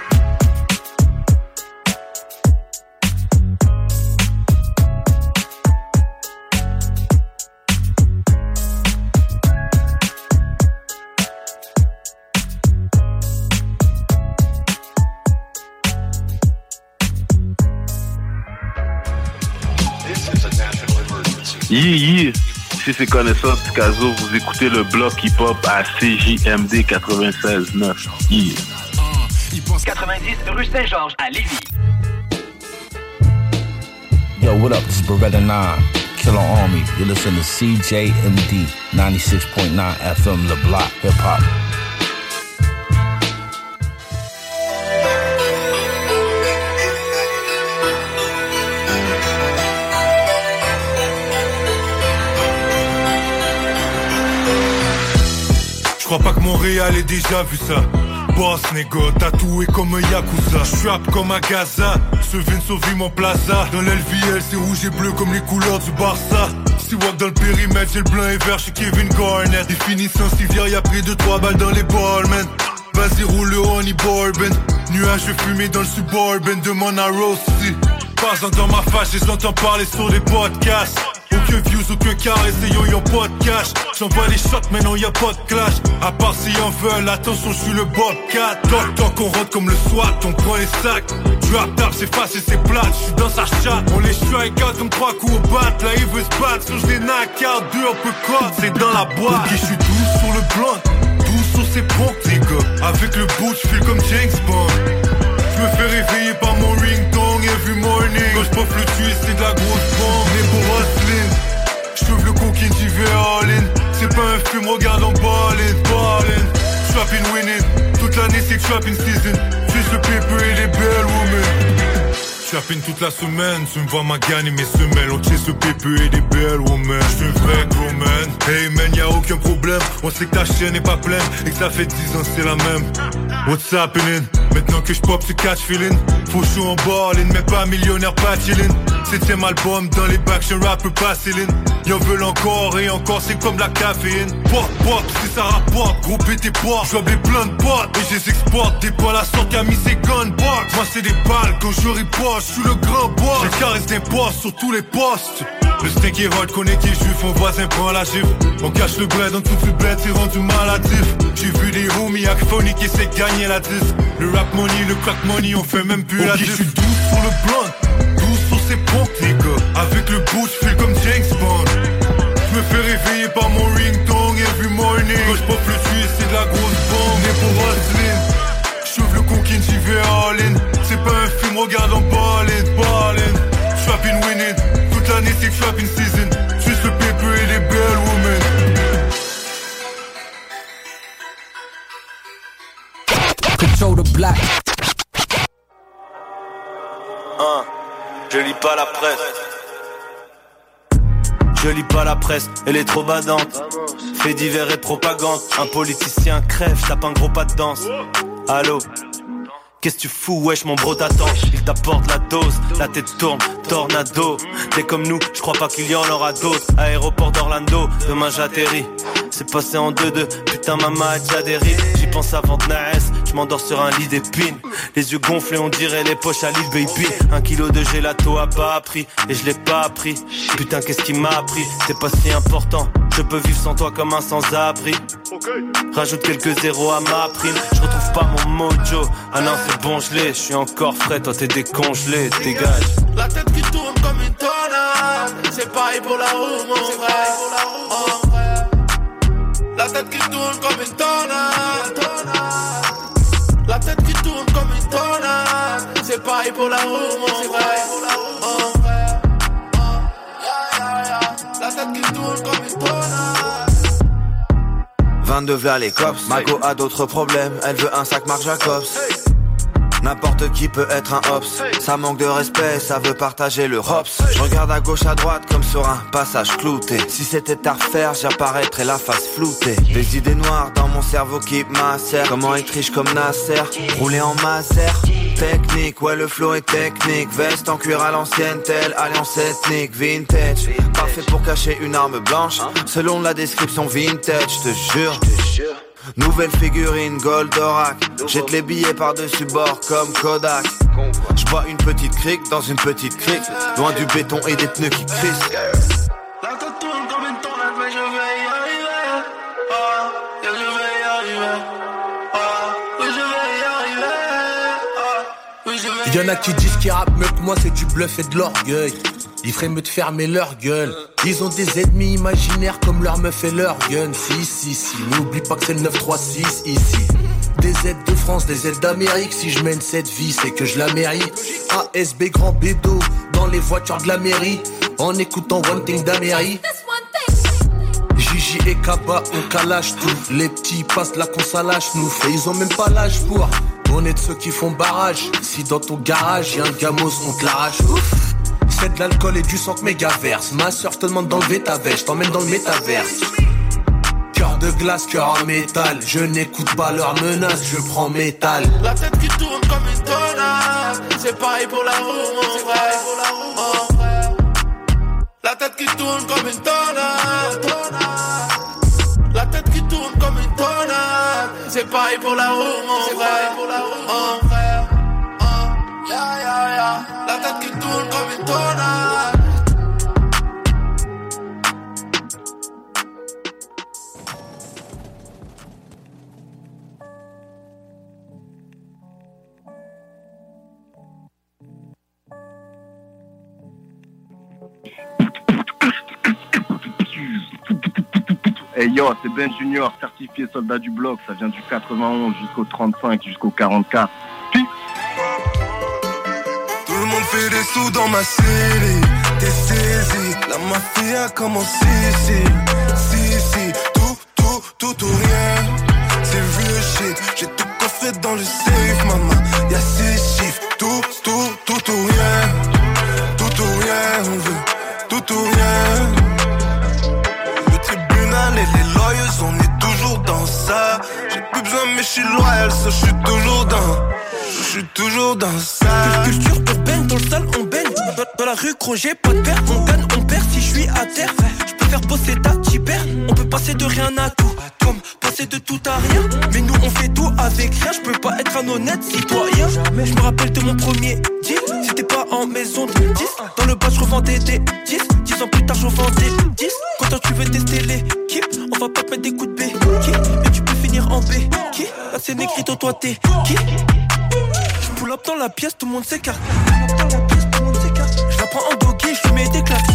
Yi yi, si c'est connaisseur Picasso, vous écoutez le bloc hip-hop à C J M D quatre-vingt-seize neuf. Yi. quatre-vingt-dix rue Saint-Georges à Lévis. Yo, what up? This is Beretta nine, Killer Army. You're listening to C J M D ninety-six point nine F M, Le Bloc Hip Hop. Je crois pas que Montréal ait déjà vu ça. Boss, négo, tatoué comme un Yakuza. J'rappe comme à Gaza, ce vin sauve mon plaza. Dans l'L V L, c'est rouge et bleu comme les couleurs du Barça. Si walk dans le périmètre, j'ai le blanc et vert chez Kevin Garnett. Définition civière, y'a pris deux trois balles dans les balles, man. Vas-y roule le honey bourbon. Nuages fumés dans le suburban, demande à Rossi. Passant dans ma face, et j'entends parler sur des podcasts. Aucun views, aucun carré, essayons, y'en pas de cash. J'envoie les shots, mais non y'a pas de clash. À part si y'en veulent, attention, j'suis le Bobcat. Toc toc, on rentre comme le SWAT, on prend les sacs. Drop tap, c'est facile, c'est plate, j'suis dans sa chatte. On les strike out comme trois coups au bat. Là il veut se battre, sur j'les knock out, deux un peu code, c'est dans la boîte. Ok, j'suis douce sur le blunt, douce sur ses pompes, les gars. Avec le bout, j'file comme James Bond. J'me fais réveiller par mon ringtone every morning. Quand j'pof le tuer, c'est de la grosse bombe. Les beaux hustling, j't'ouvre le coquine, j'y vais all in. C'est pas un film, regarde en ballin', ballin'. Trappin' winning, toute l'année c'est trappin' season. Juste le paper et les belles women. Trappin' toute la semaine, tu me vois ma gagne et mes semelles. On chase le paper et des belles women. J'suis un vrai gros man. Hey man, y'a aucun problème. On sait que ta chaîne est pas pleine et que ça fait dix ans c'est la même. What's happening? Maintenant que j'pop ce catch feeling. Faut chaud en ballin', mais pas millionnaire, pas chillin'. Septième album dans les bacs, j'suis un rapper pas Céline. Y'en veulent encore et encore, c'est comme la caféine. Pop, pop, si ça rapporte, gros pété pop. J'oublie plein de potes et j'les exporte. Des balles à sorte qu'a mis ses gunbox. Moi c'est des balles quand je riposte, j'suis le grand boss. Je caresse des postes sur tous les postes. Le steak est hot, connaît qui est juif, mon voisin prend la gifle. On cache le bled, dans toute le bled, c'est rendu maladif. J'ai vu des homies acphoniques qui essaient de gagner la disque. Le rap money, le crack money, on fait même plus okay, la diff. J'suis douce sur le blunt, douce sur ses pompes, les gars. Avec le bout, j'file comme James Bond. J'me fais réveiller par mon ringtone every morning. Quand j'pop le tuer, c'est de la grosse bombe. Né pour hustling, j'ouvre le coquine, j'y vais all in. C'est pas un film, regarde en ballin', ballin'. Trappin' winning, toute l'année c'est trappin' season. Juste le paper et les belles women. Control the black. Hein, je lis pas la presse. Je lis pas la presse, elle est trop badante. Fait divers et propagande. Un politicien crève, tape un gros pas de danse. Allô? Qu'est-ce que tu fous, wesh, mon bro t'attend. Il t'apporte la dose, la tête tourne, tornado. T'es comme nous, je crois pas qu'il y en aura d'autres. Aéroport d'Orlando, demain j'atterris. C'est passé en deux deux, putain maman a déjà des rides. J'y pense avant de naître, je m'endors sur un lit d'épines. Les yeux gonflés, on dirait les poches à Lil Baby. Un kilo de gelato a pas appris, et je l'ai pas appris. Putain qu'est-ce qui m'a appris, c'est pas si important. Je peux vivre sans toi comme un sans-abri. Rajoute quelques zéros à ma prime. Je retrouve pas mon mojo. Ah non c'est bon je l'ai, je suis encore frais. Toi t'es décongelé, dégage. La tête qui tourne comme une tornade. C'est pareil pour la roue mon frère. Oh. La tête qui tourne comme une tornade. La tête qui tourne comme une tornade. C'est pareil pour la roue mon frère. Oh. La tête qui tourne comme une tornade. vingt-deux v'là les cops. Mago a d'autres problèmes, elle veut un sac Marc Jacobs. N'importe qui peut être un hops. Ça manque de respect, ça veut partager le hops. Je regarde à gauche à droite comme sur un passage clouté. Si c'était à refaire, j'apparaîtrais la face floutée. Des idées noires dans mon cerveau qui macèrent. Comment être riche comme Nasser, rouler en Maser. Technique, ouais le flow est technique. Veste en cuir à l'ancienne, telle alliance ethnique. Vintage, parfait pour cacher une arme blanche. Selon la description vintage, je te jure. Nouvelle figurine Goldorak. Jette les billets par-dessus bord comme Kodak. J'bois une petite crique dans une petite crique. Loin du béton et des pneus qui crissent. La tête tourne comme une tornade mais je vais y arriver. Oh, yeah, je vais y arriver. Oh, oui je vais y arriver. Oh, oui je vais y Y'en a qui disent qu'ils rappent mieux que moi, c'est du bluff et de l'orgueil. Ils feraient mieux de fermer leur gueule. Ils ont des ennemis imaginaires comme leur meuf et leur gun. Si, si, si, n'oublie pas que c'est le neuf trois six ici. Des aides de France, des aides d'Amérique. Si je mène cette vie, c'est que je la mérite. A S B grand bédo dans les voitures de la mairie. En écoutant One Thing d'Amérique. Gigi et Kaba, on calage tout. Les petits passent là qu'on s'allâche nous. Et ils ont même pas l'âge pour. On est de ceux qui font barrage. Si dans ton garage y'a un gamos, on te l'arrache. Ouf. C'est de l'alcool et du sang que méga verse. Ma soeur, je te demande d'enlever ta veste, je t'emmène dans le métaverse. Cœur de glace, cœur en métal. Je n'écoute pas leurs menaces, je prends métal. La tête qui tourne comme une tornade. C'est pareil pour la roue, mon frère. Oh. La tête qui tourne comme une tornade. La tête qui tourne comme une tornade. C'est pareil pour la roue, mon frère. Mon frère. Oh. Yeah, yeah, yeah. La tête qui tourne comme une tornade. Hey yo, c'est Ben Junior, certifié soldat du bloc. Ça vient du quatre-vingt-onze jusqu'au trente-cinq, jusqu'au quarante-quatre. Peace. Tout le monde fait des sous dans ma série. T'es saisi, la mafia commence ici. Si, si, tout, tout, tout ou rien. C'est real shit, j'ai tout coffré dans le safe, maman. Y'a six chiffres, tout, tout, tout ou rien. Tout ou rien, on veut, tout ou rien. Et les lawyers, on est toujours dans ça. J'ai plus besoin mais je suis loyal, ça je suis toujours dans. Je suis toujours dans ça. Culture urbaine, dans le sale on baigne. Dans, dans la rue gros j'ai pas de père. On gagne, on perd si je suis à terre. Je peux faire bosser ta t'y perds. On peut passer de rien à tout, comme passer de tout à rien. Mais nous on fait tout avec rien. Je peux pas être un honnête citoyen. Je me rappelle de mon premier deal. C'était pas en maison de dix. Dans le bas je revendais des dix. Dix ans plus tard je revendais dix. Quand toi tu veux tester l'équipe, on va pas te mettre des coups de B. Qui? Mais tu peux finir en B. Qui? Là c'est Negrito, toi t'es qui? Je pull up dans la pièce, tout le monde s'écarte. Je la prends en doggy, je lui mets des claques.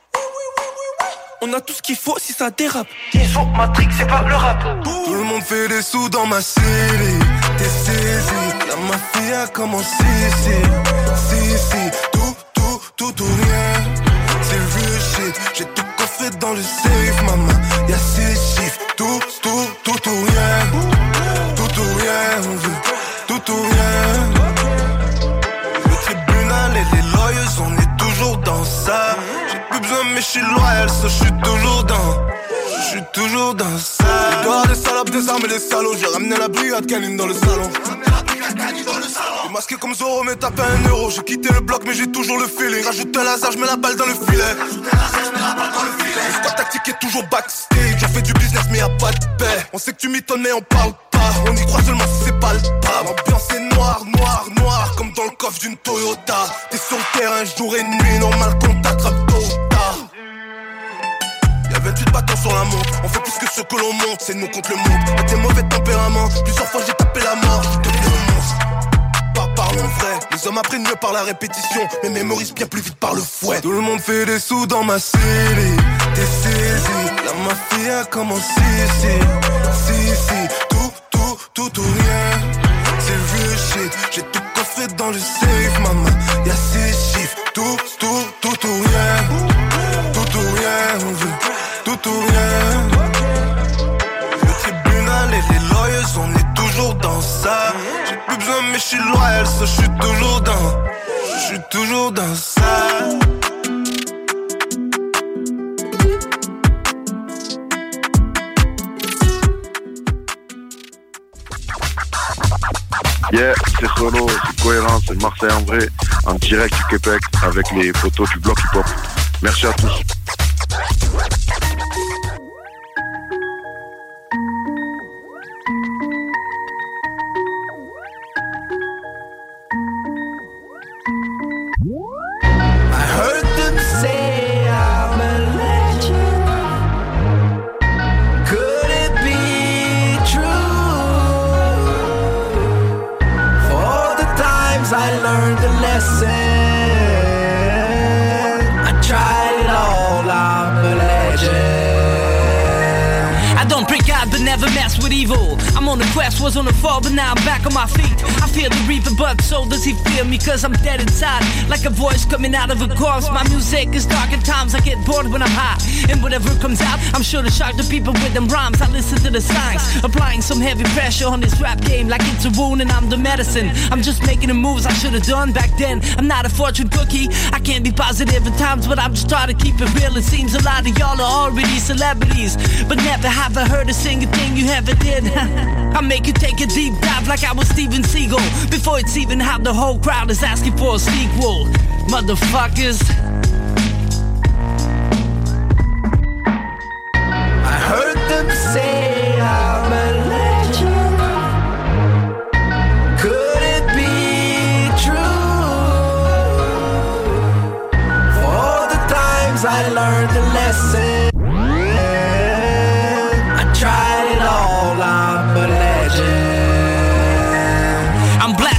On a tout ce qu'il faut si ça dérape. Ils sont Matrix, c'est pas le rap. Tout le monde fait des sous dans ma série. T'es saisi, la mafia commence ici. Si, si, tout, tout, tout ou rien. C'est real shit, j'ai tout coffré dans le safe, maman. Y'a six chiffres, tout, tout, tout ou rien. Tout ou rien, on veut, tout ou rien. Le tribunal et les lawyers, on est toujours dans ça. J'ai plus besoin mais je suis loyal, ça je suis toujours dans. Je suis toujours dans ça. Les gars, des salopes, des armes et des salauds. J'ai ramené la brigade canine dans le salon. J'ai masqué comme Zoro mais tapé un euro. J'ai quitté le bloc mais j'ai toujours le feeling. Rajoute un laser, j'mets la balle dans le filet. Le squad tactique est toujours backstage. J'ai fait du business mais y'a pas de paix. On sait que tu m'étonnes mais on parle pas. On y croit seulement si c'est palpable. L'ambiance est noire, noire, noire. Comme dans le coffre d'une Toyota. T'es sur le terrain jour et nuit. Normal qu'on t'attrape tôt ou tard. Y'a vingt-huit battants sur la montre. On fait plus que ce que l'on monte. C'est nous contre le monde. Y'a des mauvais tempéraments. Plusieurs fois j'ai tapé la mort. Je deviens le monstre. Pas parlons vrai. Les hommes apprennent mieux par la répétition. Mais mémorisent bien plus vite par le fouet. Tout le monde fait des sous dans ma série. T'es saisi, la mafia commence ici. Si, si, tout, tout, tout ou rien. C'est real shit, j'ai tout coffré dans le safe, maman. Y'a six chiffres, tout, tout, tout ou rien. Tout ou rien, on veut, tout ou rien. Le tribunal et les lawyers, on est toujours dans ça. J'ai plus besoin mais je suis loyal, ça je suis toujours dans. Je suis toujours dans ça. Yeah, c'est Solo, c'est Cohérent, c'est Marseille en vrai, en direct du Québec avec les photos du bloc hip-hop. Merci à tous. I heard them say I'm a legend. Could it be true? For all the times I learned the lesson, I tried it all, I'm a legend. I don't pray God but never mess with evil. I'm on the quest, was on the fall but now I'm back on my feet. I fear the reaper but so does he fear me, cause I'm dead inside, like a voice coming out of a corpse. My music is dark at times, I get bored when I'm high, and whatever comes out, I'm sure to shock the people with them rhymes. I listen to the signs, applying some heavy pressure on this rap game like it's a wound and I'm the medicine. I'm just making the moves I should've done back then. I'm not a fortune cookie, I can't be positive at times, but I'm just trying to keep it real. It seems a lot of y'all are already celebrities, but never have I heard a single thing you ever did. I make you take a deep dive like I was Steven Seagal, before it's even how the whole crowd is asking for a sequel. Motherfuckers.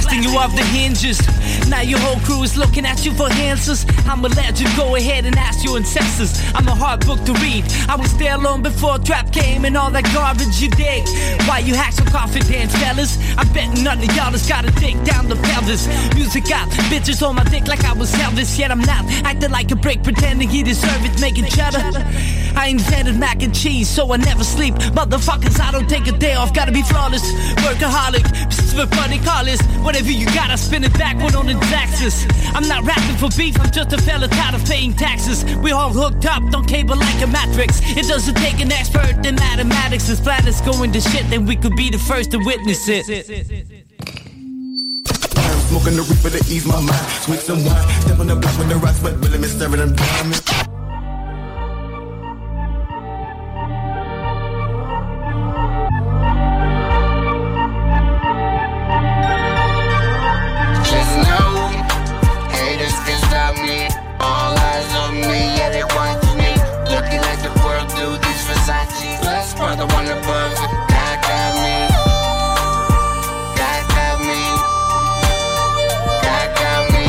busting you off the hinges. Now your whole crew is looking at you for answers. I'm a legend, go ahead and ask your ancestors. I'm a hard book to read. I was there long before trap came and all that garbage you dig. Why you hack so confident, fellas? I bet none of y'all has gotta dig down the feathers. Music got bitches on my dick like I was Elvis. Yet I'm not acting like a brick, pretending he deserve it, making cheddar. I invented mac and cheese, so I never sleep. Motherfuckers, I don't take a day off, gotta be flawless. Workaholic, for funny callers. Whatever you got, I spin it backward on the taxes. I'm not rapping for beef, I'm just a fella tired of paying taxes. We all hooked up, don't cable like a matrix. It doesn't take an expert in mathematics. As flat as going to shit, then we could be the first to witness it. Smoking the reaper to ease my mind. Sweet some wine, step on the block with the rocks, but really me staring them diamonds. Just know, haters can stop me. All eyes on me, yeah they want me. Looking like the world through these Versace. Plus, brother, one above it. God got me. God got me. God got me.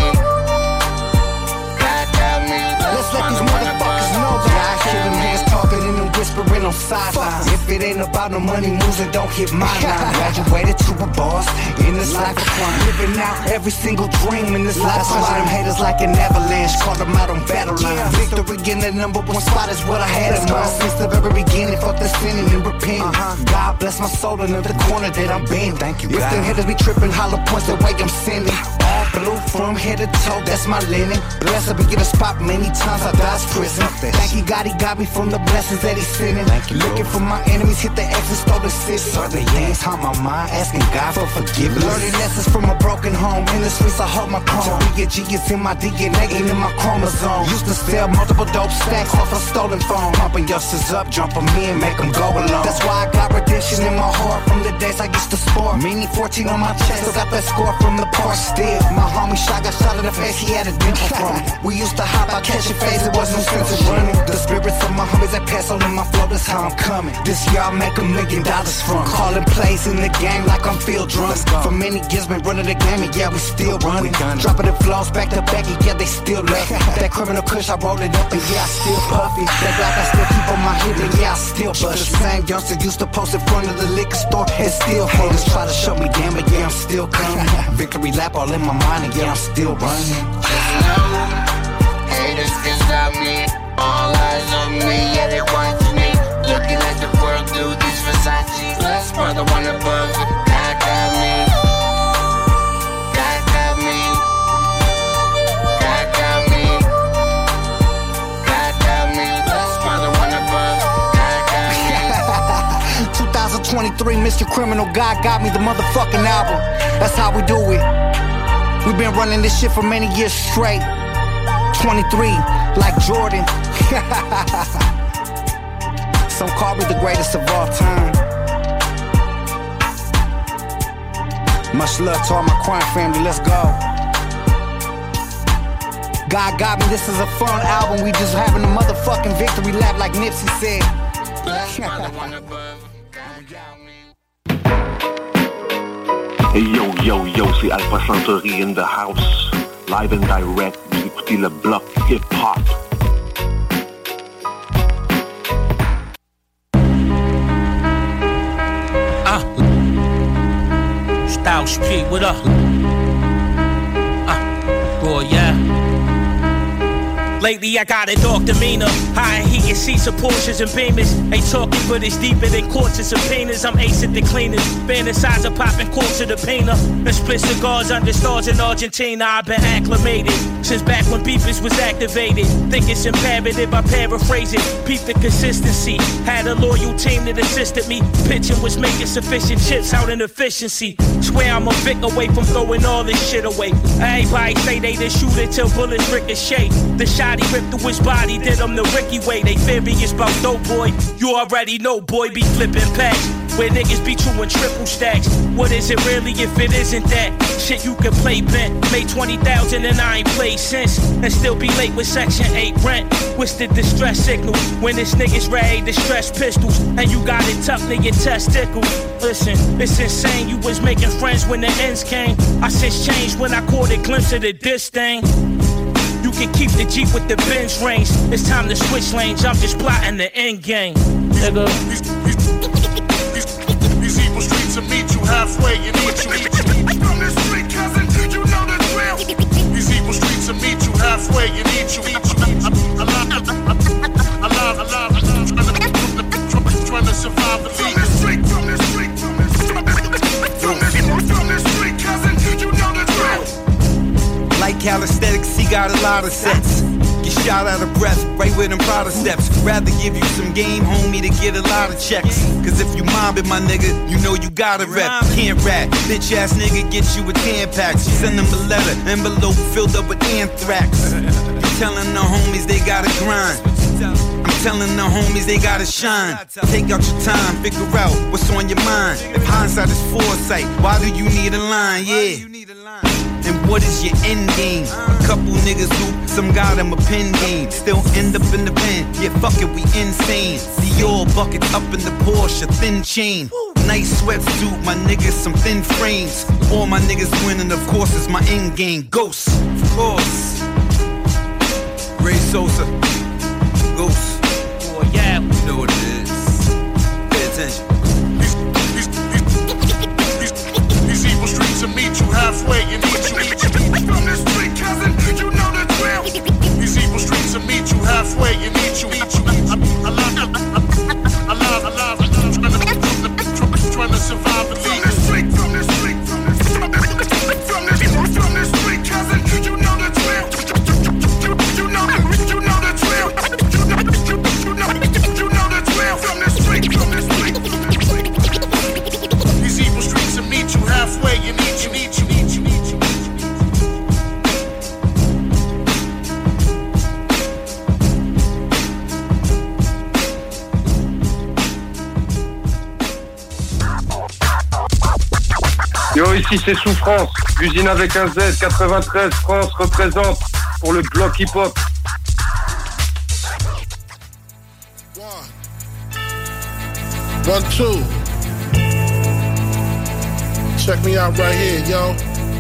God got me. Let's let these motherfuckers know that I hear them hands talking and them whispering on sidelines. If it ain't about no money moves, it don't hit my line. Graduated to a boss in this life of crime. Living out every single dream in this life. Punching them haters like an avalanche. Call them out on battle line. Victory in the number one spot is what I had in mind since the very beginning. Fuck the sinning and repent. God bless my soul in the corner that I'm been. Thank you, God. If the haters be tripping, hollow points the way I'm sending. All blue from head to toe, that's my linen. Blessed be get a spot many times I dodged prison. Thank you, God, he got me from the blessings that he's sending. Looking for my enemies, hit the X and stole the six. Certain things haunt my mind, asking God for forgiveness. Learning lessons from a broken home. In the streets, I hold my chrome. To be a G is in my D N A and in my chromosome. Used to sell multiple dope stacks off a stolen phone. Pumping youngsters up, jump them in, make them go along. That's why I got redemption in my heart from the days I used to sport. Meaning fourteen on my chest, still got that score from the park still. My homie shot got shot in the face, he had a dimple from it. We used to hop out, catching phase, it wasn't no sense in running. The spirits of my homies that pass on in my flow, that's how I'm coming. This year I'll make a million dollars from calling plays in the game like I'm Phil Drummond. For many years been running the game and yeah, we still running. Dropping the flows back to back and yeah, they still love it. That criminal kush, I roll it up and yeah, I still puff it. That black I still keep on my hip and yeah, I still bust it. The same youngster used to post in front of the liquor store and still haters try to shut me down, but yeah, I'm still coming. Victory lap all in my mind and yeah, I'm still running. Just know, haters can stop me. All eyes on me, yeah, they want me. Looking at the world through these Versace. Plus, brother, one above it. God got me. God got me. God got me. God got me. Plus, brother, one above it. God got me. twenty twenty-three, Mister Criminal, God got me, the motherfucking album. That's how we do it. We've been running this shit for many years straight. twenty-three, like Jordan. Some call me the greatest of all time. Much love to all my crime family, let's go. God got me, this is a fun album. We just having a motherfucking victory lap like Nipsey said. Hey yo yo yo, c'est Alpha Centauri in the house. Live and direct, vous écoutez le bloc hip-hop. Ah, Style Street, what up? Ah, boy, yeah. Lately I got a dog demeanor. High heat and seats of Porsches and Beamers. Ain't talking, but it's deeper than courts and subpoenas. I'm acing the cleaners. Fantasize of popping quarts of the painter. And split cigars under stars in Argentina. I've been acclimated since back when beepers was activated. Think it's imperative, I paraphrase it. Peep the consistency. Had a loyal team that assisted me. Pitching was making sufficient chips out in efficiency. Swear I'm a Vic away from throwing all this shit away. Everybody say they the shooter till bullets ricochet. The shot he ripped through his body, did him the Ricky way. They furious about dope boy. You already know, boy, be flipping packs where niggas be true and triple stacks. What is it really if it isn't that? Shit you can play bent. Made twenty thousand and I ain't played since. And still be late with section eight rent. What's the distress signal? When this nigga's ready to stress pistols. And you got it tucked in your testicles. Listen, it's insane. You was making friends when the ends came. I since changed when I caught a glimpse of the diss thing. You can keep the Jeep with the Benz range. It's time to switch lanes. I'm just plotting the end game. Nigga. These, these, these, these evil streets will meet you halfway and eat you. Eat you. From this street, cousin, you know the drill. These evil streets will meet you halfway and eat you. Eat you. Alive, alive, alive, alive. Trying to survive and leave. From this street, from this street, from this street, from this, from this street, cousin, you know the drill. Like calisthenics, he got a lot of sets. Get shot out of breath, right with them Prada steps. Rather give you some game, homie, to get a lot of checks. Cause if you mobbing my nigga, you know you gotta rep. Can't rap, bitch ass nigga get you a ten pack. Send them a letter, envelope filled up with anthrax. You telling the homies they gotta grind. I'm telling the homies they gotta shine. Take out your time, figure out what's on your mind. If hindsight is foresight, why do you need a line? Yeah. And what is your end game? A couple niggas who, some got them a pen game. Still end up in the pen, yeah fuck it, we insane. Dior buckets up in the Porsche, thin chain. Nice sweatsuit, my niggas some thin frames. All my niggas winning, of course, is my end game. Ghost, of course. Ray Sosa, Ghost. Oh yeah, you know what it is. Pay attention. These evil streets will meet you halfway and eat you. From this street, cousin, you know the drill. These evil streets will meet you halfway and eat you. Eat you. Alive, alive, alive, alive. Trying to survive and leave. From this street, from this street, from this street, from this, from this street, cousin, you know the drill. You know, you know the drill. You know, you know, you know the drill. From this street, from this street. These evil streets will meet you halfway and eat you, eat you, eat you, eat you. Yo, ici c'est Souffrance, l'usine avec un Z, quatre-vingt-treize, France représente pour le bloc hip-hop. One, two. Check me out right here, yo.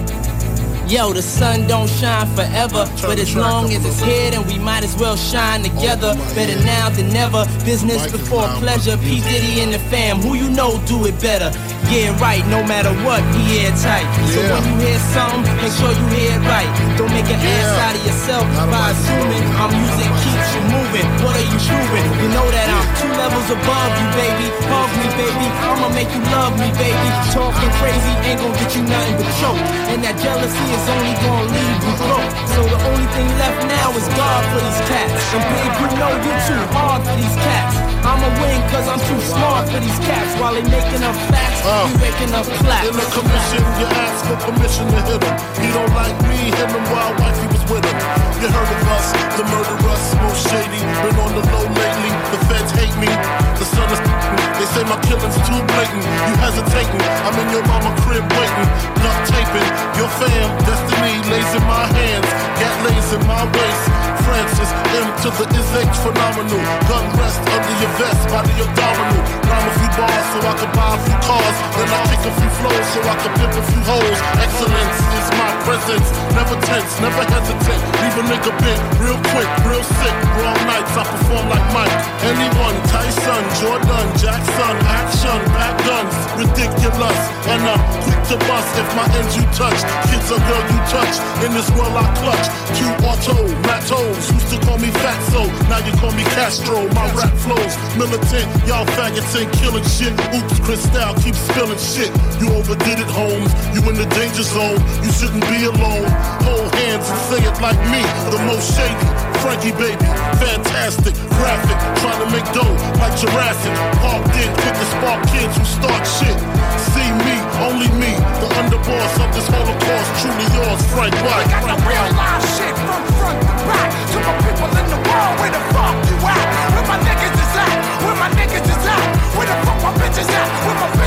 Yo, the sun don't shine forever, but as long as it's here, then we might as well shine together. Better now than never, business before pleasure. P. Diddy and the fam, who you know do it better. Yeah, right, no matter what, be airtight. So when you hear something, make sure you hear it right. Don't make an ass out of yourself by assuming our music keeps you moving. What are you proving? You know that I'm two levels above you, baby. Hug me, baby, I'ma make you love me, baby. Talking crazy ain't gonna get you nothing but choke. And that jealousy is only gonna leave you broke. So the only thing left now is God for these cats. And babe, you know you're too hard for these cats. I'ma win cause I'm too smart for these cats. While they making up facts, uh, you making up claps. In the commission, you ask for permission to hit him. He don't like me, him and wild wife, he was with him. You heard of us, the murderers, most shady. Been on the low lately, the feds hate me. The sun is they say my killing's too blatant. You hesitating, I'm in your mama crib waiting. Duct taping, your fam, destiny lays in my hands. Gat lays in my waist. Francis, M to the is H phenomenal. Gun rest under your vest, body abdominal. Rhyme a few bars so I can buy a few cars. Then I kick a few flows so I can pimp a few hoes. Excellence is my presence. Never tense, never hesitate. Leave a nigga bit real quick, real sick. Wrong nights, I perform like Mike. Anyone, Tyson, Jordan, Jackson, action, back guns, ridiculous. And I'm quick to bust if my ends you touch. Kids or girl you touch. In this world I clutch. Q auto, Matos. Used to call me Fatso, now you call me Castro. My rap flows militant, y'all faggots ain't killing shit. Oops, Cristal keeps spilling shit. You overdid it, Holmes. You in the danger zone. You shouldn't be alone. Hold hands and say it like me, the most shady. Frankie baby, fantastic, graphic, trying to make dough like Jurassic. Parked in, quick to spark kids who start shit. See me, only me, the underboss of this Holocaust. Truly yours, Frank White. I got the real live shit from front to back. To my people in the world, where the fuck you at? Where my niggas is at? Where my niggas is at? Where the fuck my bitches at? Where my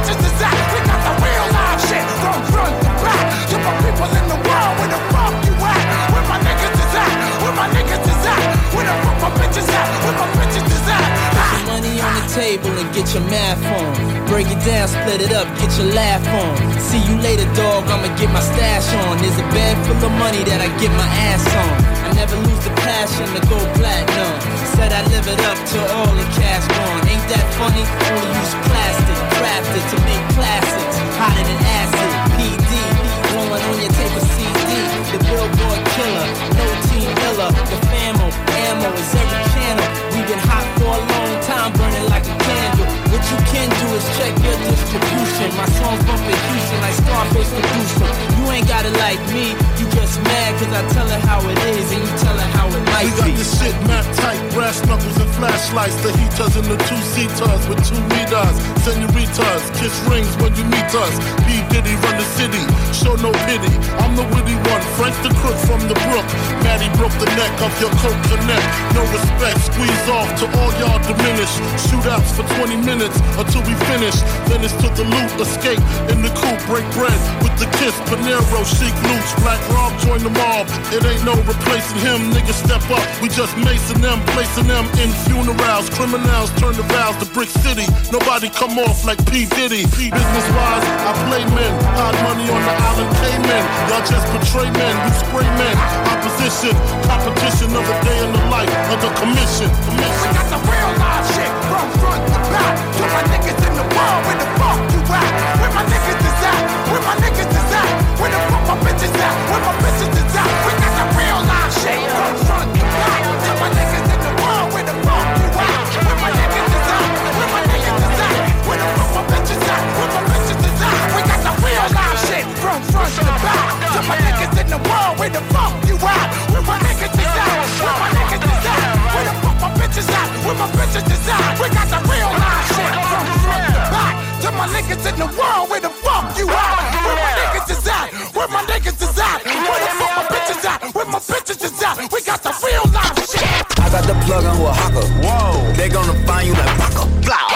math on. Break it down, split it up, get your laugh on. See you later, dog, I'ma get my stash on. There's a bag full of money that I get my ass on. I never lose the passion to go platinum. Said I live it up till all the cash gone. Ain't that funny? Only use plastic, crafted to make classics. Hotter than acid, P D, blowing on your tape of C D. The Billboard killer, no team killer. The famo, ammo is every channel. We've been hot for a long time, burning like a candle. What you can do is check your distribution. My songs bump in Houston like Scarface producer. You ain't got it like me, you just mad cause I tell her how it is and you tell her how it might be. We got this shit mad tight, brass knuckles and flashlights. The heaters and the two-seaters with two meters. Senoritas, kiss rings when you meet us. P. Diddy run the city, show no pity. I'm the witty one, Frank the crook from the brook. Maddie broke the neck of your coat connect. No respect, squeeze off to all y'all diminish. Shootouts for twenty minutes until we finish. Then it's to the loot, escape in the coupe, break bread with the kiss. Panero, chic loots, Black Rob join the mob. It ain't no replacing him, niggas step up. We just macing them, placing them in funerals. Criminals turn the vows to Brick City. Nobody come off like P. Diddy. Business wise, I play men. Hard money on the island Cayman. Y'all just betray men, you spray men. Opposition, competition of a day in the life of the commission. commission. We got the real live shit from front to back. To my niggas in the world, where the fuck you at? Where my niggas is at? Where my niggas is at? Where the fuck my bitches at? Where my bitches is at? We got the real live shit from front to back. To my niggas in the world, where the fuck you at? Where my niggas is at? Where my niggas is at? Where the fuck my bitches at? Where my bitches is at? We got the real live shit from front to back. To my niggas in the world, where the fuck you at? Where my niggas is at? Where my niggas is at? Where the fuck my bitches at? Where my bitches is at? We got the real live shit from front to back. To my niggas in the world, where the fuck you at? Where my niggas is at? Where my niggas is at? Where the fuck my bitches at? Where my bitches is at? We got the real live shit. I got the plug on who a hawker. Whoa. They gonna find you like Paco. Blah.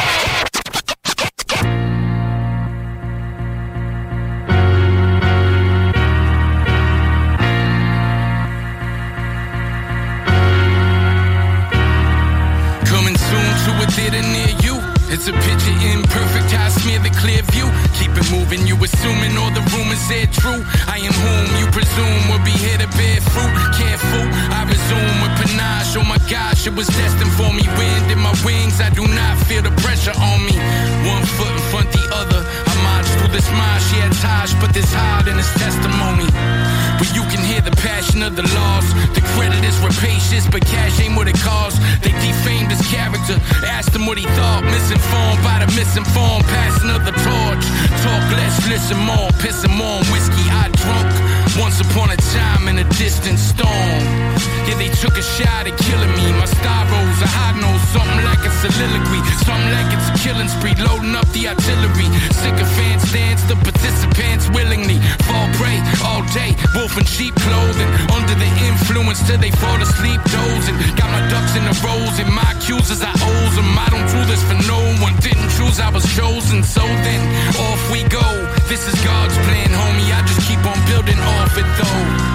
Theater near you. It's a picture in perfect high smear the clear view. Keep it moving, you assuming all the rumors are true. I am whom you presume will be here to bear fruit. Careful, I resume with panache. Oh my gosh, it was destined for me. Wind in my wings, I do not feel the pressure on me. One foot in front the other, I march through this marsh. Yeah, Taj, but this hard in his testimony. But you can hear the passion of the loss. The credit is rapacious, but cash ain't what it costs. They defamed his character, asked him what he thought. Misinformed by the misinformed, passing of the torch. Talk less, listen more, pissing more on whiskey I drunk. Once upon a time in a distant storm. Yeah, they took a shot at killing me. My star rose, a high nose, something like a soliloquy. Something like it's a killing spree, loading up the artillery. Sycophants dance, the participants willingly fall prey all day. Wolf in sheep clothing, under the influence till they fall asleep dozing. Got my ducks in a rows and my accusers I owe them. I don't do this for no one, didn't choose, I was chosen. So then, off we go. This is God's plan, homie. I just keep on building off it though.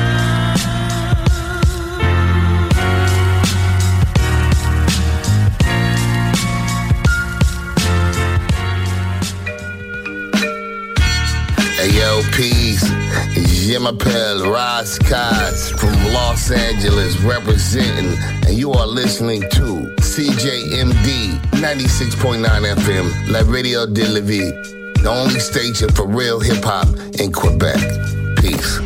Hey yo, peace. Je m'appelle Raz Kaz from Los Angeles representing, and you are listening to C J M D ninety-six point nine F M, La Radio de la Vie, the only station for real hip hop in Quebec. Peace.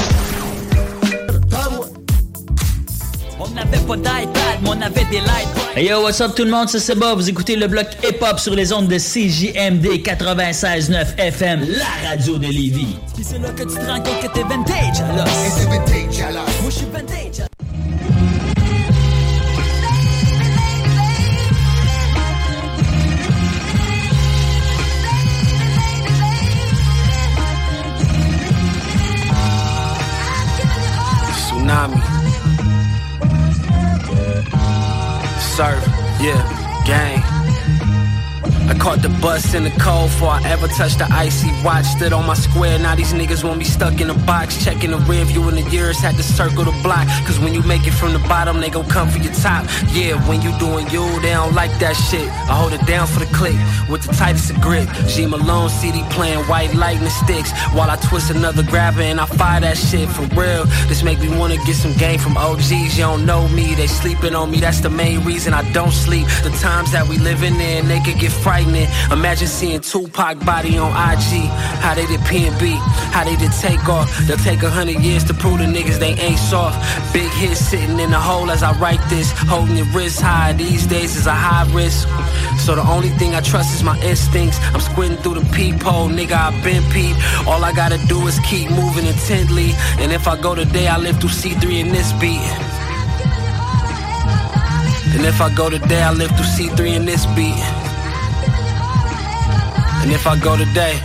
On n'avait pas d'iPad, mais on avait des lights. Hey yo, what's up tout le monde, c'est Seba. Vous écoutez le bloc hip-hop sur les ondes de C J M D quatre-vingt-seize neuf F M, la radio de Lévis. Pis c'est là que tu te rends compte que t'es vintage, alors. Et t'es vintage, alors. Moi je suis vintage. Tsunami. Surf, yeah, gang. I caught the bus in the cold before I ever touched the icy watch. Stood on my square, now these niggas want me stuck in a box. Checking the rear view in the years, had to circle the block. Cause when you make it from the bottom, they gon' come for your top. Yeah, when you doing you, they don't like that shit. I hold it down for the click, with the tightest of grip. G Malone C D playing white lightning sticks, while I twist another grabber and I fire that shit for real. This make me wanna get some game from O Gs. You don't know me, they sleeping on me, that's the main reason I don't sleep. The times that we living in, they could get frightening. Imagine seeing Tupac body on I G. How they did P and B, how they did Takeoff. They'll take a hundred years to prove the niggas they ain't soft. Big hit sitting in the hole as I write this. Holding your wrist high these days is a high risk. So the only thing I trust is my instincts. I'm squinting through the peephole, nigga, I been peep. All I gotta do is keep moving intently. And if I go today, I live through C three in this beat. And if I go today, I live through C three in this beat. And if I go today,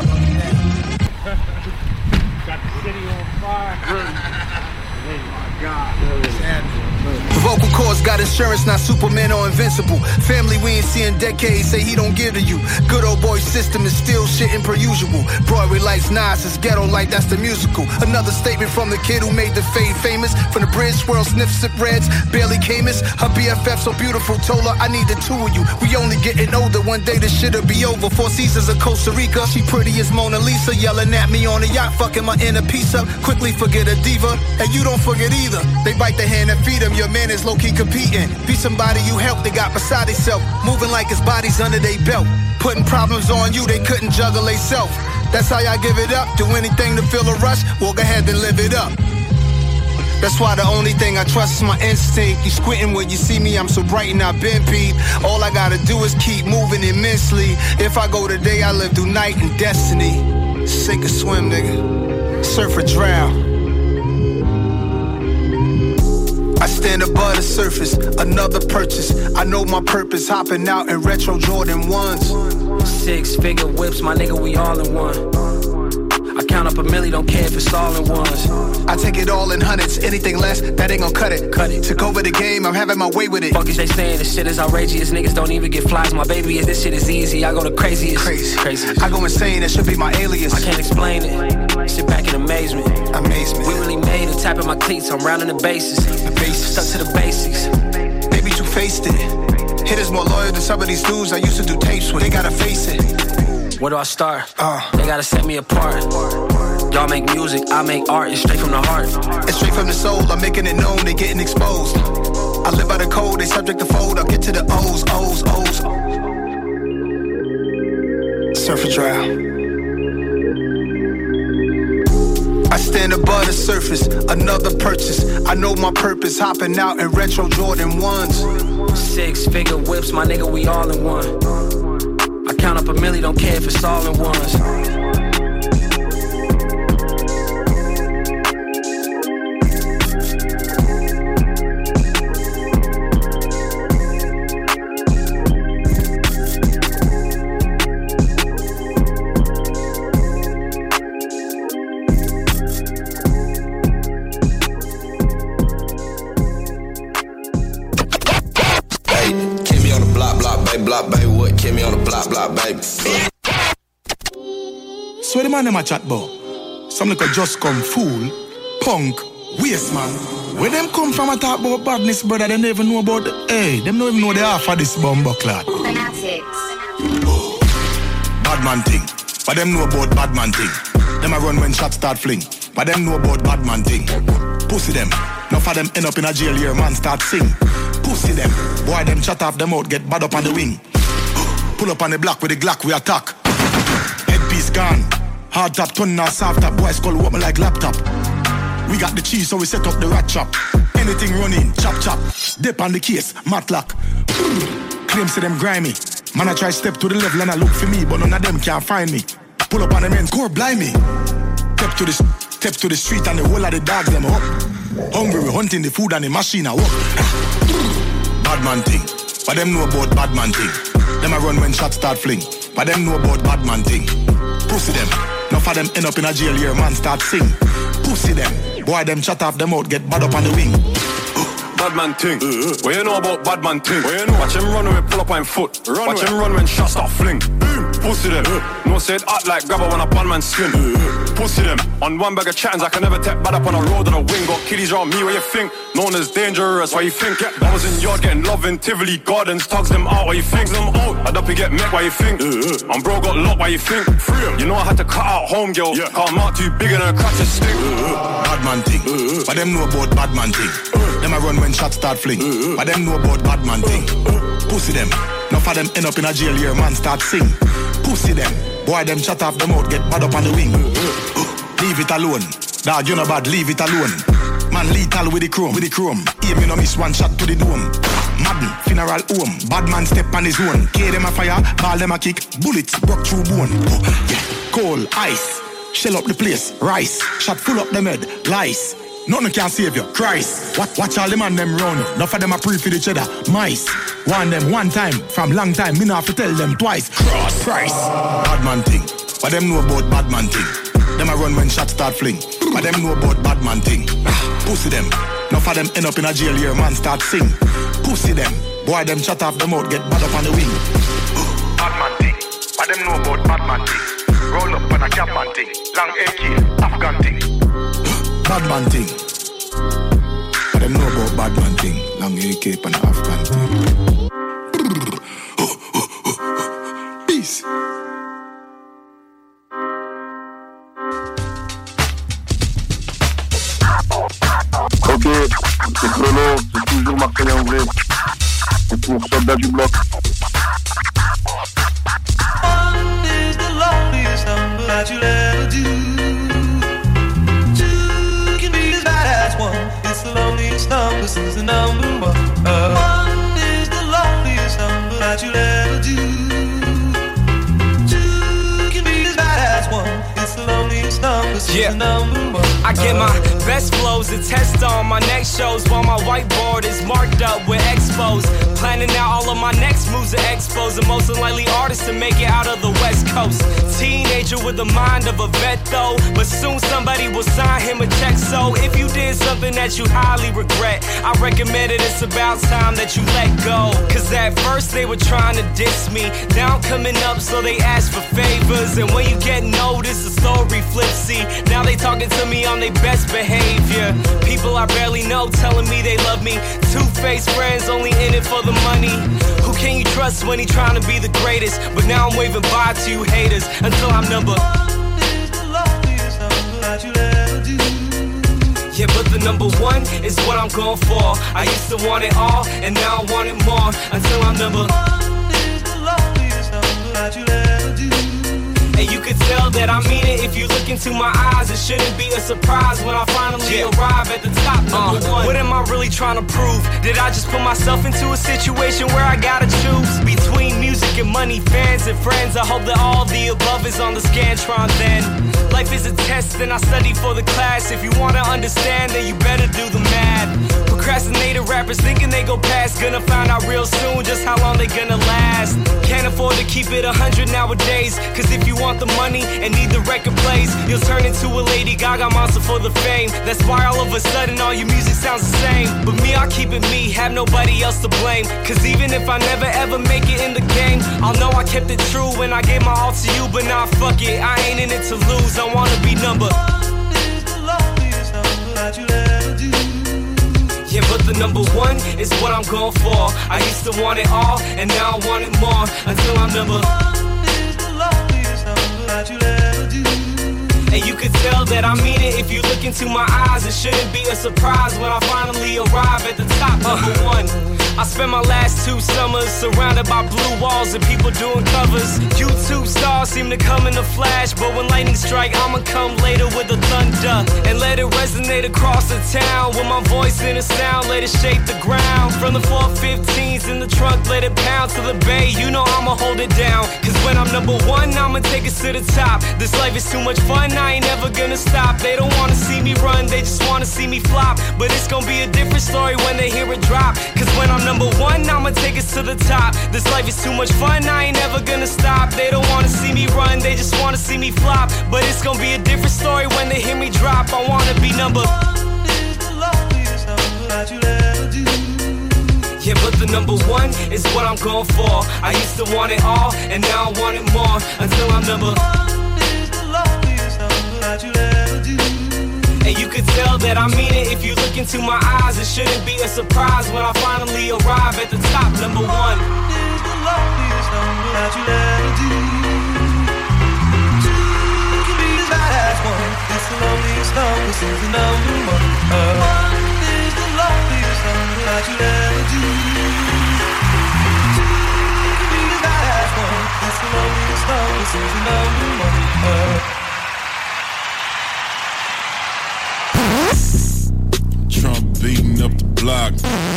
got the city on fire. Oh my God. The vocal cords got insurance, not Superman or invincible. Family we ain't seen decades, say he don't give to you. Good old boy system is still shitting per usual. Broadway lights, Nas is ghetto like that's the musical. Another statement from the kid who made the fade famous. From the bridge, swirl, sniff, sip reds, barely Camus. Her B F F so beautiful, told her I need the two of you. We only getting older, one day this shit'll be over. Four Seasons of Costa Rica, she pretty as Mona Lisa. Yelling at me on the yacht, fucking my inner piece up. Quickly forget a diva, and you don't forget either. They bite the hand and feed them, your man is low-key competing. Be somebody you help, they got beside themselves. Moving like his body's under their belt. Putting problems on you, they couldn't juggle they self. That's how y'all give it up. Do anything to feel a rush, well go ahead and live it up. That's why the only thing I trust is my instinct. You squinting when you see me, I'm so bright and I've been peep. All I gotta do is keep moving immensely. If I go today, I live through night and destiny. Sink or swim, nigga. Surf or drown. I stand above the surface, another purchase. I know my purpose, hopping out in retro Jordan ones. Six figure whips, my nigga, we all in one. I count up a milli, don't care if it's all in ones. I take it all in hundreds, anything less, that ain't gon' cut it. Cut it. Took over the game, I'm having my way with it. Fuck is they saying, this shit is outrageous. Niggas don't even get flies, my baby is, this shit is easy. I go the craziest. Crazy. Craziest. I go insane, that should be my alias. I can't explain it. Sit back in amazement. Amazement. We really made it, tapping my cleats, I'm rounding the bases. The bases. Stuck to the basics. Baby, you faced it. Hitters more loyal than some of these dudes I used to do tapes with. They gotta face it. Where do I start? Uh. They gotta set me apart. Y'all make music, I make art, it's straight from the heart. It's straight from the soul, I'm making it known, they getting exposed. I live by the code, they subject to fold, I'll get to the O's, O's, O's. Surf or drown. I stand above the surface, another purchase. I know my purpose, hopping out in retro Jordan ones. Six figure whips, my nigga, we all in one. I count up a milli, don't care if it's all in ones. Block, baby, what kept me on the block, block, baby. So the man them a chat about? Some little just come fool, punk, waste man. Where them come from a talk about badness, brother? They never know about the, hey, them don't even know the half of this bumbo clot. Bad man thing, but them know about bad man thing. Them a run when shots start fling, but them know about bad man thing. Pussy them, enough of them end up in a jail here, man start sing. Pussy them, boy them chat off them out, get bad up on the wing. Pull up on the block with the Glock, we attack. Headpiece gone, hard top, turn now soft top. Boys call what me like laptop. We got the cheese, so we set up the rat trap. Anything running, chop chop. Dip on the case, matlock. Claim say them grimy. Man I try step to the level and I look for me, but none of them can find me. Pull up on the men, core blind me. Step to the, step to the street and the whole of the dogs them up. Hungry, we hunting the food and the machine I walk. Bad man thing, but them know about bad man thing. Them a run when shots start fling, but them know about bad man thing. Pussy them, enough of them end up in a jail here, man start sing. Pussy them, boy them chat off them out, get bad up on the wing. bad man ting. What you know about bad man ting? Watch him run when we pull up on foot. Watch him run when shots start fling. Pussy them. No say it act like grabber when a bad man skin. Pussy them. On one bag of chattings, I can never take bad up on a road on a wing. Got kiddies around me, what you think? Known as dangerous, why you think? I was in yard getting love in Tivoli Gardens, tugs them out, why you think? Them out, I'd up to get met, why you think? I'm bro got locked, why you think? You know I had to cut out home girl, yeah. Cause I'm out too big and a crack to stick. Bad man thing, but them know about bad man thing. Them I run when shots start fling, but them know about bad man thing. Pussy them, enough of them end up in a jail here, man start sing. Pussy them, boy them shut off them out, get bad up on the wing. Leave it alone, dog you know bad, leave it alone. Man lethal with the chrome, with the chrome. Aim you no miss one shot to the dome. Madden, funeral home. Bad man step on his own. K them a fire, ball them a kick. Bullets broke through bone. Oh, yeah. Coal, ice, shell up the place. Rice, shot full up them head. Lice, nothing can save you. Christ, watch, watch all them and them round. Enough of them a pre for each other. Mice, one them one time from long time. Me not have to tell them twice. Cross, Christ. Bad man thing, but them know about bad man thing. Them a run when shots start fling. But them know about bad man thing. Pussy them. Enough of them end up in a jail here, man start sing. Pussy them. Boy them shut off them out, get bad up on the wing. Bad man thing. But them know about bad man thing. Roll up on a cap man thing. Long A K, Afghan thing. Bad man thing. But them know about bad man thing. Long A K and Afghan thing. Peace. Ok, c'est Chrono, c'est toujours Marseillais en vrai. C'est pour Soldat du Bloc. One is the loneliest number that you'll ever do. Two can be as bad as one. It's the loneliest number since the number one. Uh, one is the loneliest number that you'll ever do. Two can be as bad as one. It's the loneliest number since Yeah. the number one. I get my best flows and test on my next shows while my whiteboard is marked up with expos. Planning out all of my next moves to expos the most unlikely artist to make it out of the West Coast. Teenager with the mind of a vet though, but soon somebody will sign him a check. So if you did something that you highly regret, I recommend it, it's about time that you let go. Cause at first they were trying to diss me, now I'm coming up so they ask for favors. And when you get noticed the story flips, see, now they talking to me on their best behavior. People I barely know telling me they love me. Two-faced friends only in it for the money. Who can you trust when he trying to be the greatest? But now I'm waving bye to you haters until I'm number One is the loneliest number that you'll ever do. Yeah, but the number one is what I'm going for. I used to want it all, and now I want it more. Until I'm number One is the loneliest number that you'll ever do. And you can tell that I mean it if you look into my eyes. It shouldn't be a surprise when I finally yeah. arrive at the top, number uh, one. What am I really trying to prove? Did I just put myself into a situation where I gotta choose between music and money, fans and friends? I hope that all the above is on the Scantron then. Life is a test and I study for the class. If you wanna understand, then you better do the math. Procrastinated rappers thinking they go past, gonna find out real soon just how long they gonna last. Can't afford to keep it a hundred nowadays, cause if you want the money and need the record plays, you'll turn into a Lady Gaga monster for the fame. That's why all of a sudden all your music sounds the same. But me, I'll keep it me, have nobody else to blame. Cause even if I never ever make it in the game, I'll know I kept it true when I gave my all to you. But nah, fuck it, I ain't in it to lose, I wanna be number One is the loneliest number that you'll ever do. Yeah, but the number one is what I'm going for. I used to want it all, and now I want it more. Until I'm number One is the loneliest number that you'll ever do. And you can tell that I mean it if you look into my eyes. It shouldn't be a surprise when I finally arrive at the top, number uh. one. I spent my last two summers surrounded by blue walls and people doing covers. YouTube stars seem to come in a flash, but when lightning strike, I'ma come later with the thunder and let it resonate across the town. With my voice in a sound, let it shake the ground. From the four fifteens in the trunk, let it pound to the bay. You know I'ma hold it down, cause when I'm number one, I'ma take it to the top. This life is too much fun, I ain't never gonna stop. They don't wanna see me run, they just wanna see me flop. But it's gonna be a different story when they hear it drop. Cause when I'm number one, I'ma take it to the top. This life is too much fun, I ain't never gonna stop. They don't wanna see me run, they just wanna see me flop. But it's gonna be a different story when they hear me drop. I wanna be number One is the loneliest number that you'll ever do. number one is what I'm going for. I used to want it all, and now I want it more. Until I'm number one is the loneliest thing that you'll ever do. And you could tell that I mean it if you look into my eyes. It shouldn't be a surprise when I finally arrive at the top. Number one is the loneliest thing that you'll ever do. Two can be as bad as one. That's the loneliest thing. This is the number one. Uh, one is the loneliest thing that you'll ever do. Two can be as bad as one. That's the loneliest thing. This is the number one. Uh, Trump beating up the block.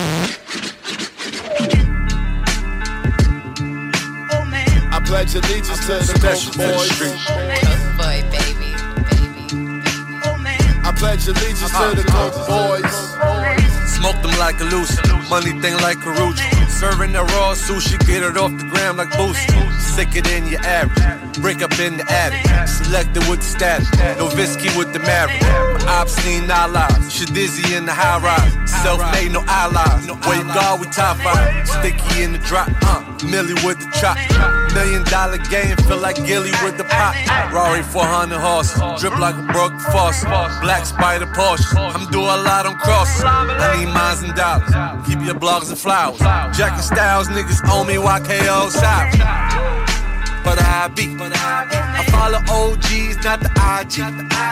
I pledge allegiance to the Coke Boys. Boy, baby, baby, baby. I pledge allegiance to the Coke Boys. Smoke them like a loose, money thing like Karuchi. Serving the raw sushi, get it off the gram like Boosie. Sicker than your average, break up in the attic. Selected with the static, no Visky with the marriage. My obscene allies, Shadizzy in the high rise. Self-made, no allies. Where you go, we top five. Sticky in the drop, uh, Millie with the chop. Million dollar game, feel like Gilly with the pop. Rari four hundred horses, drip like a broken faucet. Black Spider Porsche, I'm doing a lot on crosses. I need mines and dollars, keep your blogs and flowers. Jack and Styles, niggas owe me Y K O side. But I be, I follow O Gs, not the I G.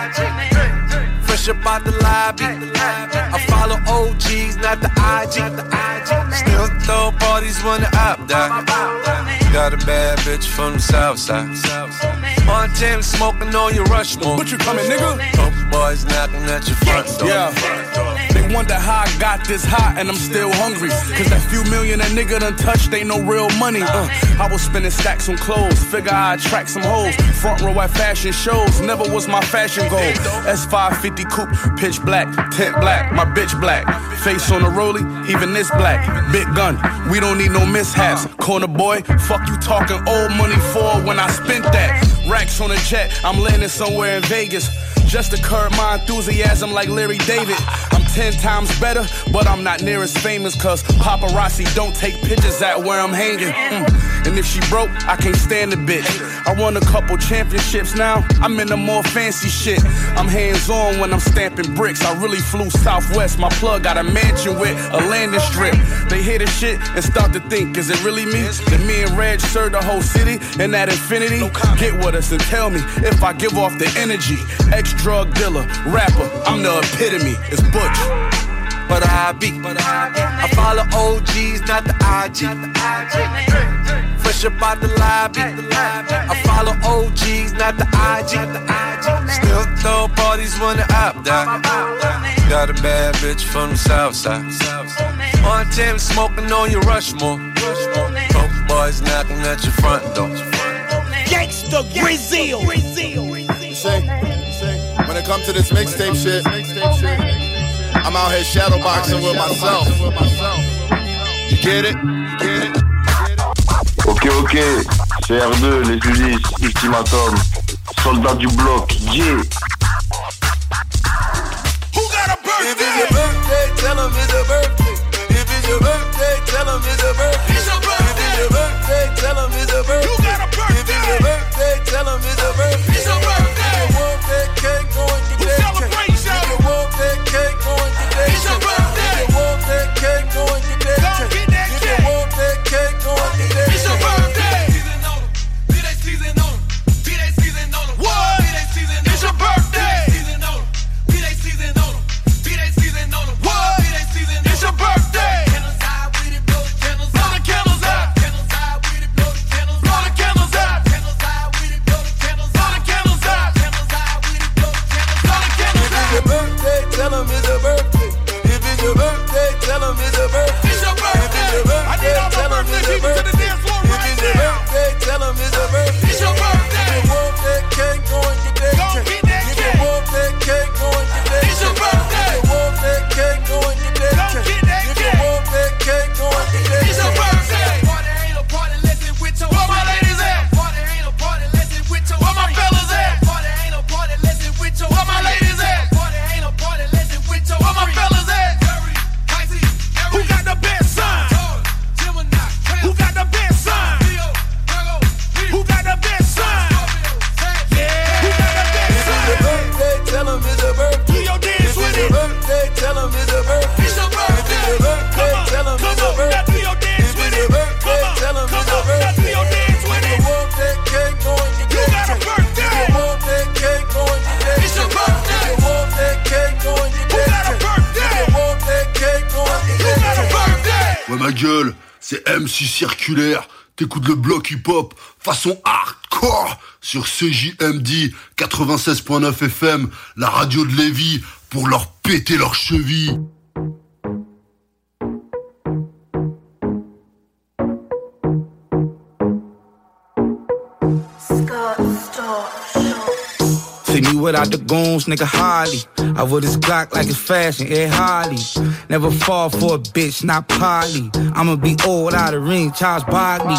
Fresh up out the lobby, I follow O Gs, not the I G. Still throw parties when the op die. Got a bad bitch from the south side. Montana smoking on your Rushmore. But you coming, nigga? Coke boys knocking at your front door. Yeah. They wonder how I got this hot and I'm still hungry. Cause that few million that nigga done touched ain't no real money. Uh, I was spending stacks on clothes, figure I'd attract some hoes. Front row at fashion shows, never was my fashion goal. S five fifty coupe, pitch black, tint black, my bitch black. Face on the rollie, even this black. Big gun, we don't need no mishaps. Corner boy, fuck you talking old money for when I spent that. Racks on a jet, I'm landing somewhere in Vegas. Just to curb my enthusiasm like Larry David. I'm ten times better, but I'm not near as famous. Cause paparazzi don't take pictures at where I'm hanging. Mm. And if she broke, I can't stand the bitch. I won a couple championships now, I'm in the more fancy shit. I'm hands-on when I'm stamping bricks. I really flew Southwest, my plug got a mansion with a landing strip. They hear the shit and start to think, is it really me? That me and Reg serve the whole city in that infinity? Get with us and tell me if I give off the energy. Ex-drug dealer, rapper, I'm the epitome, it's Butch. But I be, I follow O Gs, not the I G. Fresh up out the lobby, I follow O Gs, not the I G. Still throw parties when the op die. Got a bad bitch from the south side. Montana smoking on your Rushmore. Coke boys knocking at your front door. Gangsta Brazil. You see, when it comes to this mixtape shit, I'm out here shadowboxing with myself. You get it? You get it? Ok, ok, c'est R deux, les Ulysses, Ultimatum, soldats du bloc, yeah. Who got a birthday? If it's your birthday, tell him it's a birthday. If it's your birthday, tell him it's a birthday. It's your birthday. If it's your birthday, tell him it's a birthday. You got a birthday. If it's your birthday, tell him it's a birthday. It's your birthday. If you want that cake, go and get that cake. If you want that cake, go and get that cake. It's your birthday. If you want that cake, go and get that cake. If you want that cake, go and get that cake. It's your birthday. What? It's your birthday. Ouais ma gueule, c'est M C Circulaire. T'écoutes le bloc hip-hop façon hardcore sur C J M D quatre-vingt-seize point neuf F M, la radio de Lévis, pour leur péter leurs chevilles. See me without the goons, nigga, hardly. I wear this Glock like it's fashion, Ed Harley. Never fall for a bitch, not Polly. I'ma be old without a ring, Charles Barkley.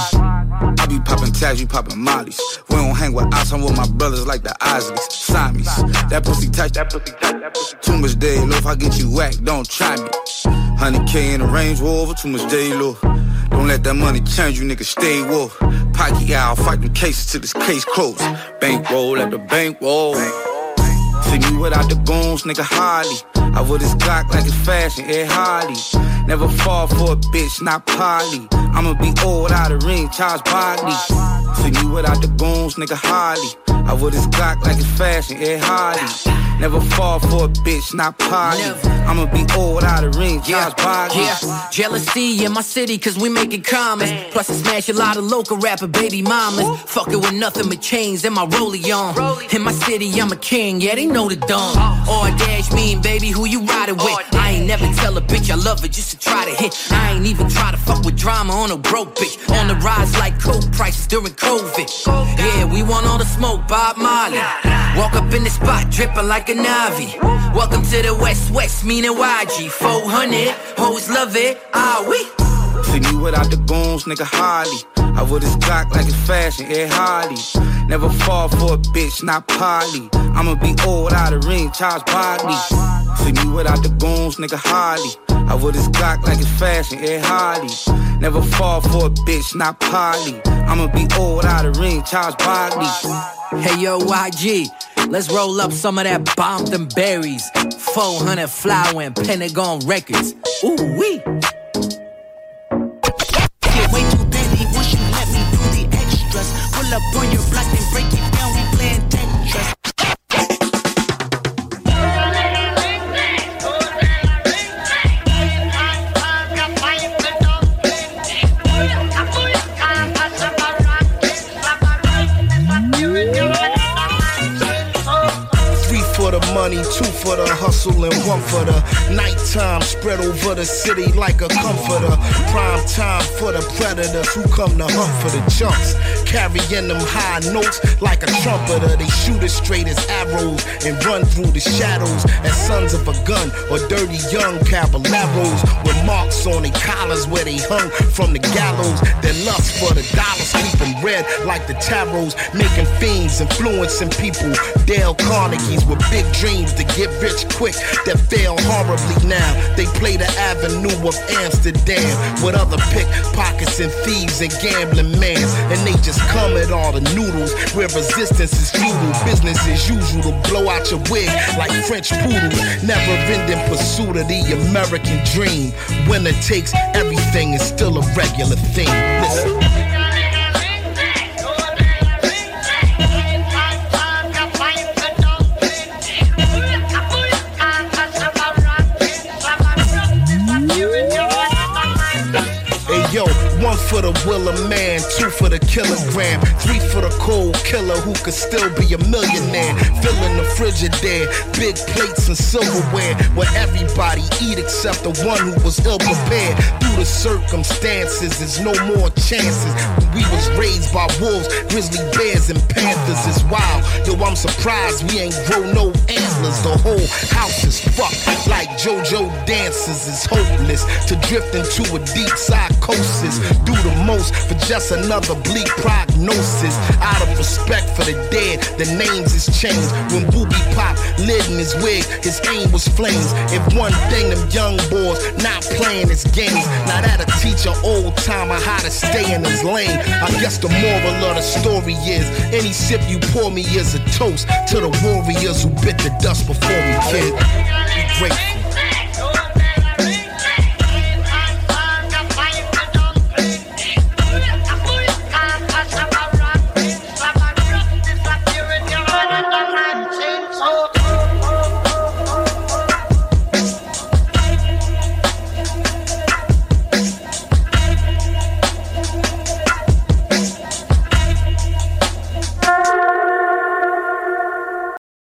I be poppin' tags, you poppin' mollies. We don't hang with us, I'm with my brothers like the Isleys. Siamese, that pussy tight, that pussy tight, that pussy tight. Too much day low, if I get you whacked, don't try me. one hundred K in the Range Rover, too much day low. Don't let that money change you, nigga, stay woke. Pocky out, fight them cases till this case closed. Bankroll at the bankroll. See me without the goons, nigga, hardly. I wear this Glock like it's fashion, Ed Harley. Never fall for a bitch, not Polly. I'ma be old without a ring, Charles Barkley. See me without the goons, nigga, hardly. I wear this Glock like it's fashion, Ed Harley. Never fall for a bitch, not Polly. I'ma be old without a ring, Charles Barkley. Yeah, jealousy in my city, cause we make it common. Plus I smash a lot of local rapper baby mamas. Fuckin' with nothing but chains and my rollie on. In my city, I'm a king, yeah, they know the dumb. Or dash mean, baby, who you riding with? I ain't never tell a bitch I love her just to try to hit. I ain't even try to fuck with drama on a broke bitch. On the rise like coke prices during COVID. Yeah, we want all the smoke, Bob Marley. Walk up in the spot, drippin' like a Navi. Welcome to the West West, meaning Y G. four hundred, hoes love it, ah we. See me without the goons, nigga, hardly. I wear this Glock like it's fashion, Ed Harley. Never fall for a bitch, not Polly. I'ma be old without a ring, Charles Barkley. See me without the goons, nigga, hardly. I wear this Glock like it's fashion, Ed Harley. Never fall for a bitch, not Polly. I'ma be old without a ring, Charles Barkley. Hey yo, Y G, let's roll up some of that bombed and berries. four hundred flower and Pentagon Records. Ooh wee. Get way too deadly once you let me do the extras. Pull up on your block and break it down, we playing Tetris. For the money, two for the hustle, and one for the nighttime. Spread over the city like a comforter. Prime time for the predators who come to hunt for the chunks. Carrying them high notes like a trumpeter. They shoot as straight as arrows and run through the shadows as sons of a gun or dirty young caballeros with marks on their collars where they hung from the gallows. Their lust for the dollars keep them red like the tarots, making fiends, influencing people. Dale Carnegie's with big dreams to get rich quick that fail horribly now. They play the avenue of Amsterdam with other pickpockets and thieves and gambling mans, and they just come at all the noodles where resistance is futile. Business as usual to blow out your wig like French poodles. Never ending pursuit of the American dream. Winner takes everything is still a regular thing. Listen. Yo, one for the will of man, two for the kilogram, three for the cold killer who could still be a millionaire. Filling the Frigidaire, big plates and silverware, where everybody eat except the one who was ill prepared. Through the circumstances, there's no more chances. We was raised by wolves, grizzly bears, and panthers. It's wild, yo, I'm surprised we ain't grow no antlers. The whole house is fucked like JoJo dances. It's hopeless to drift into a deep psychosis. Do the most for just another bleak prognosis. Out of respect for the dead, the names is changed. When Booby Pop lit in his wig, his aim was flames. If one thing them young boys not playing his games, now that'll teach an old timer how to stay in his lane. I guess the moral of the story is any sip you pour me is a toast to the warriors who bit the dust before me, kid. Be grateful.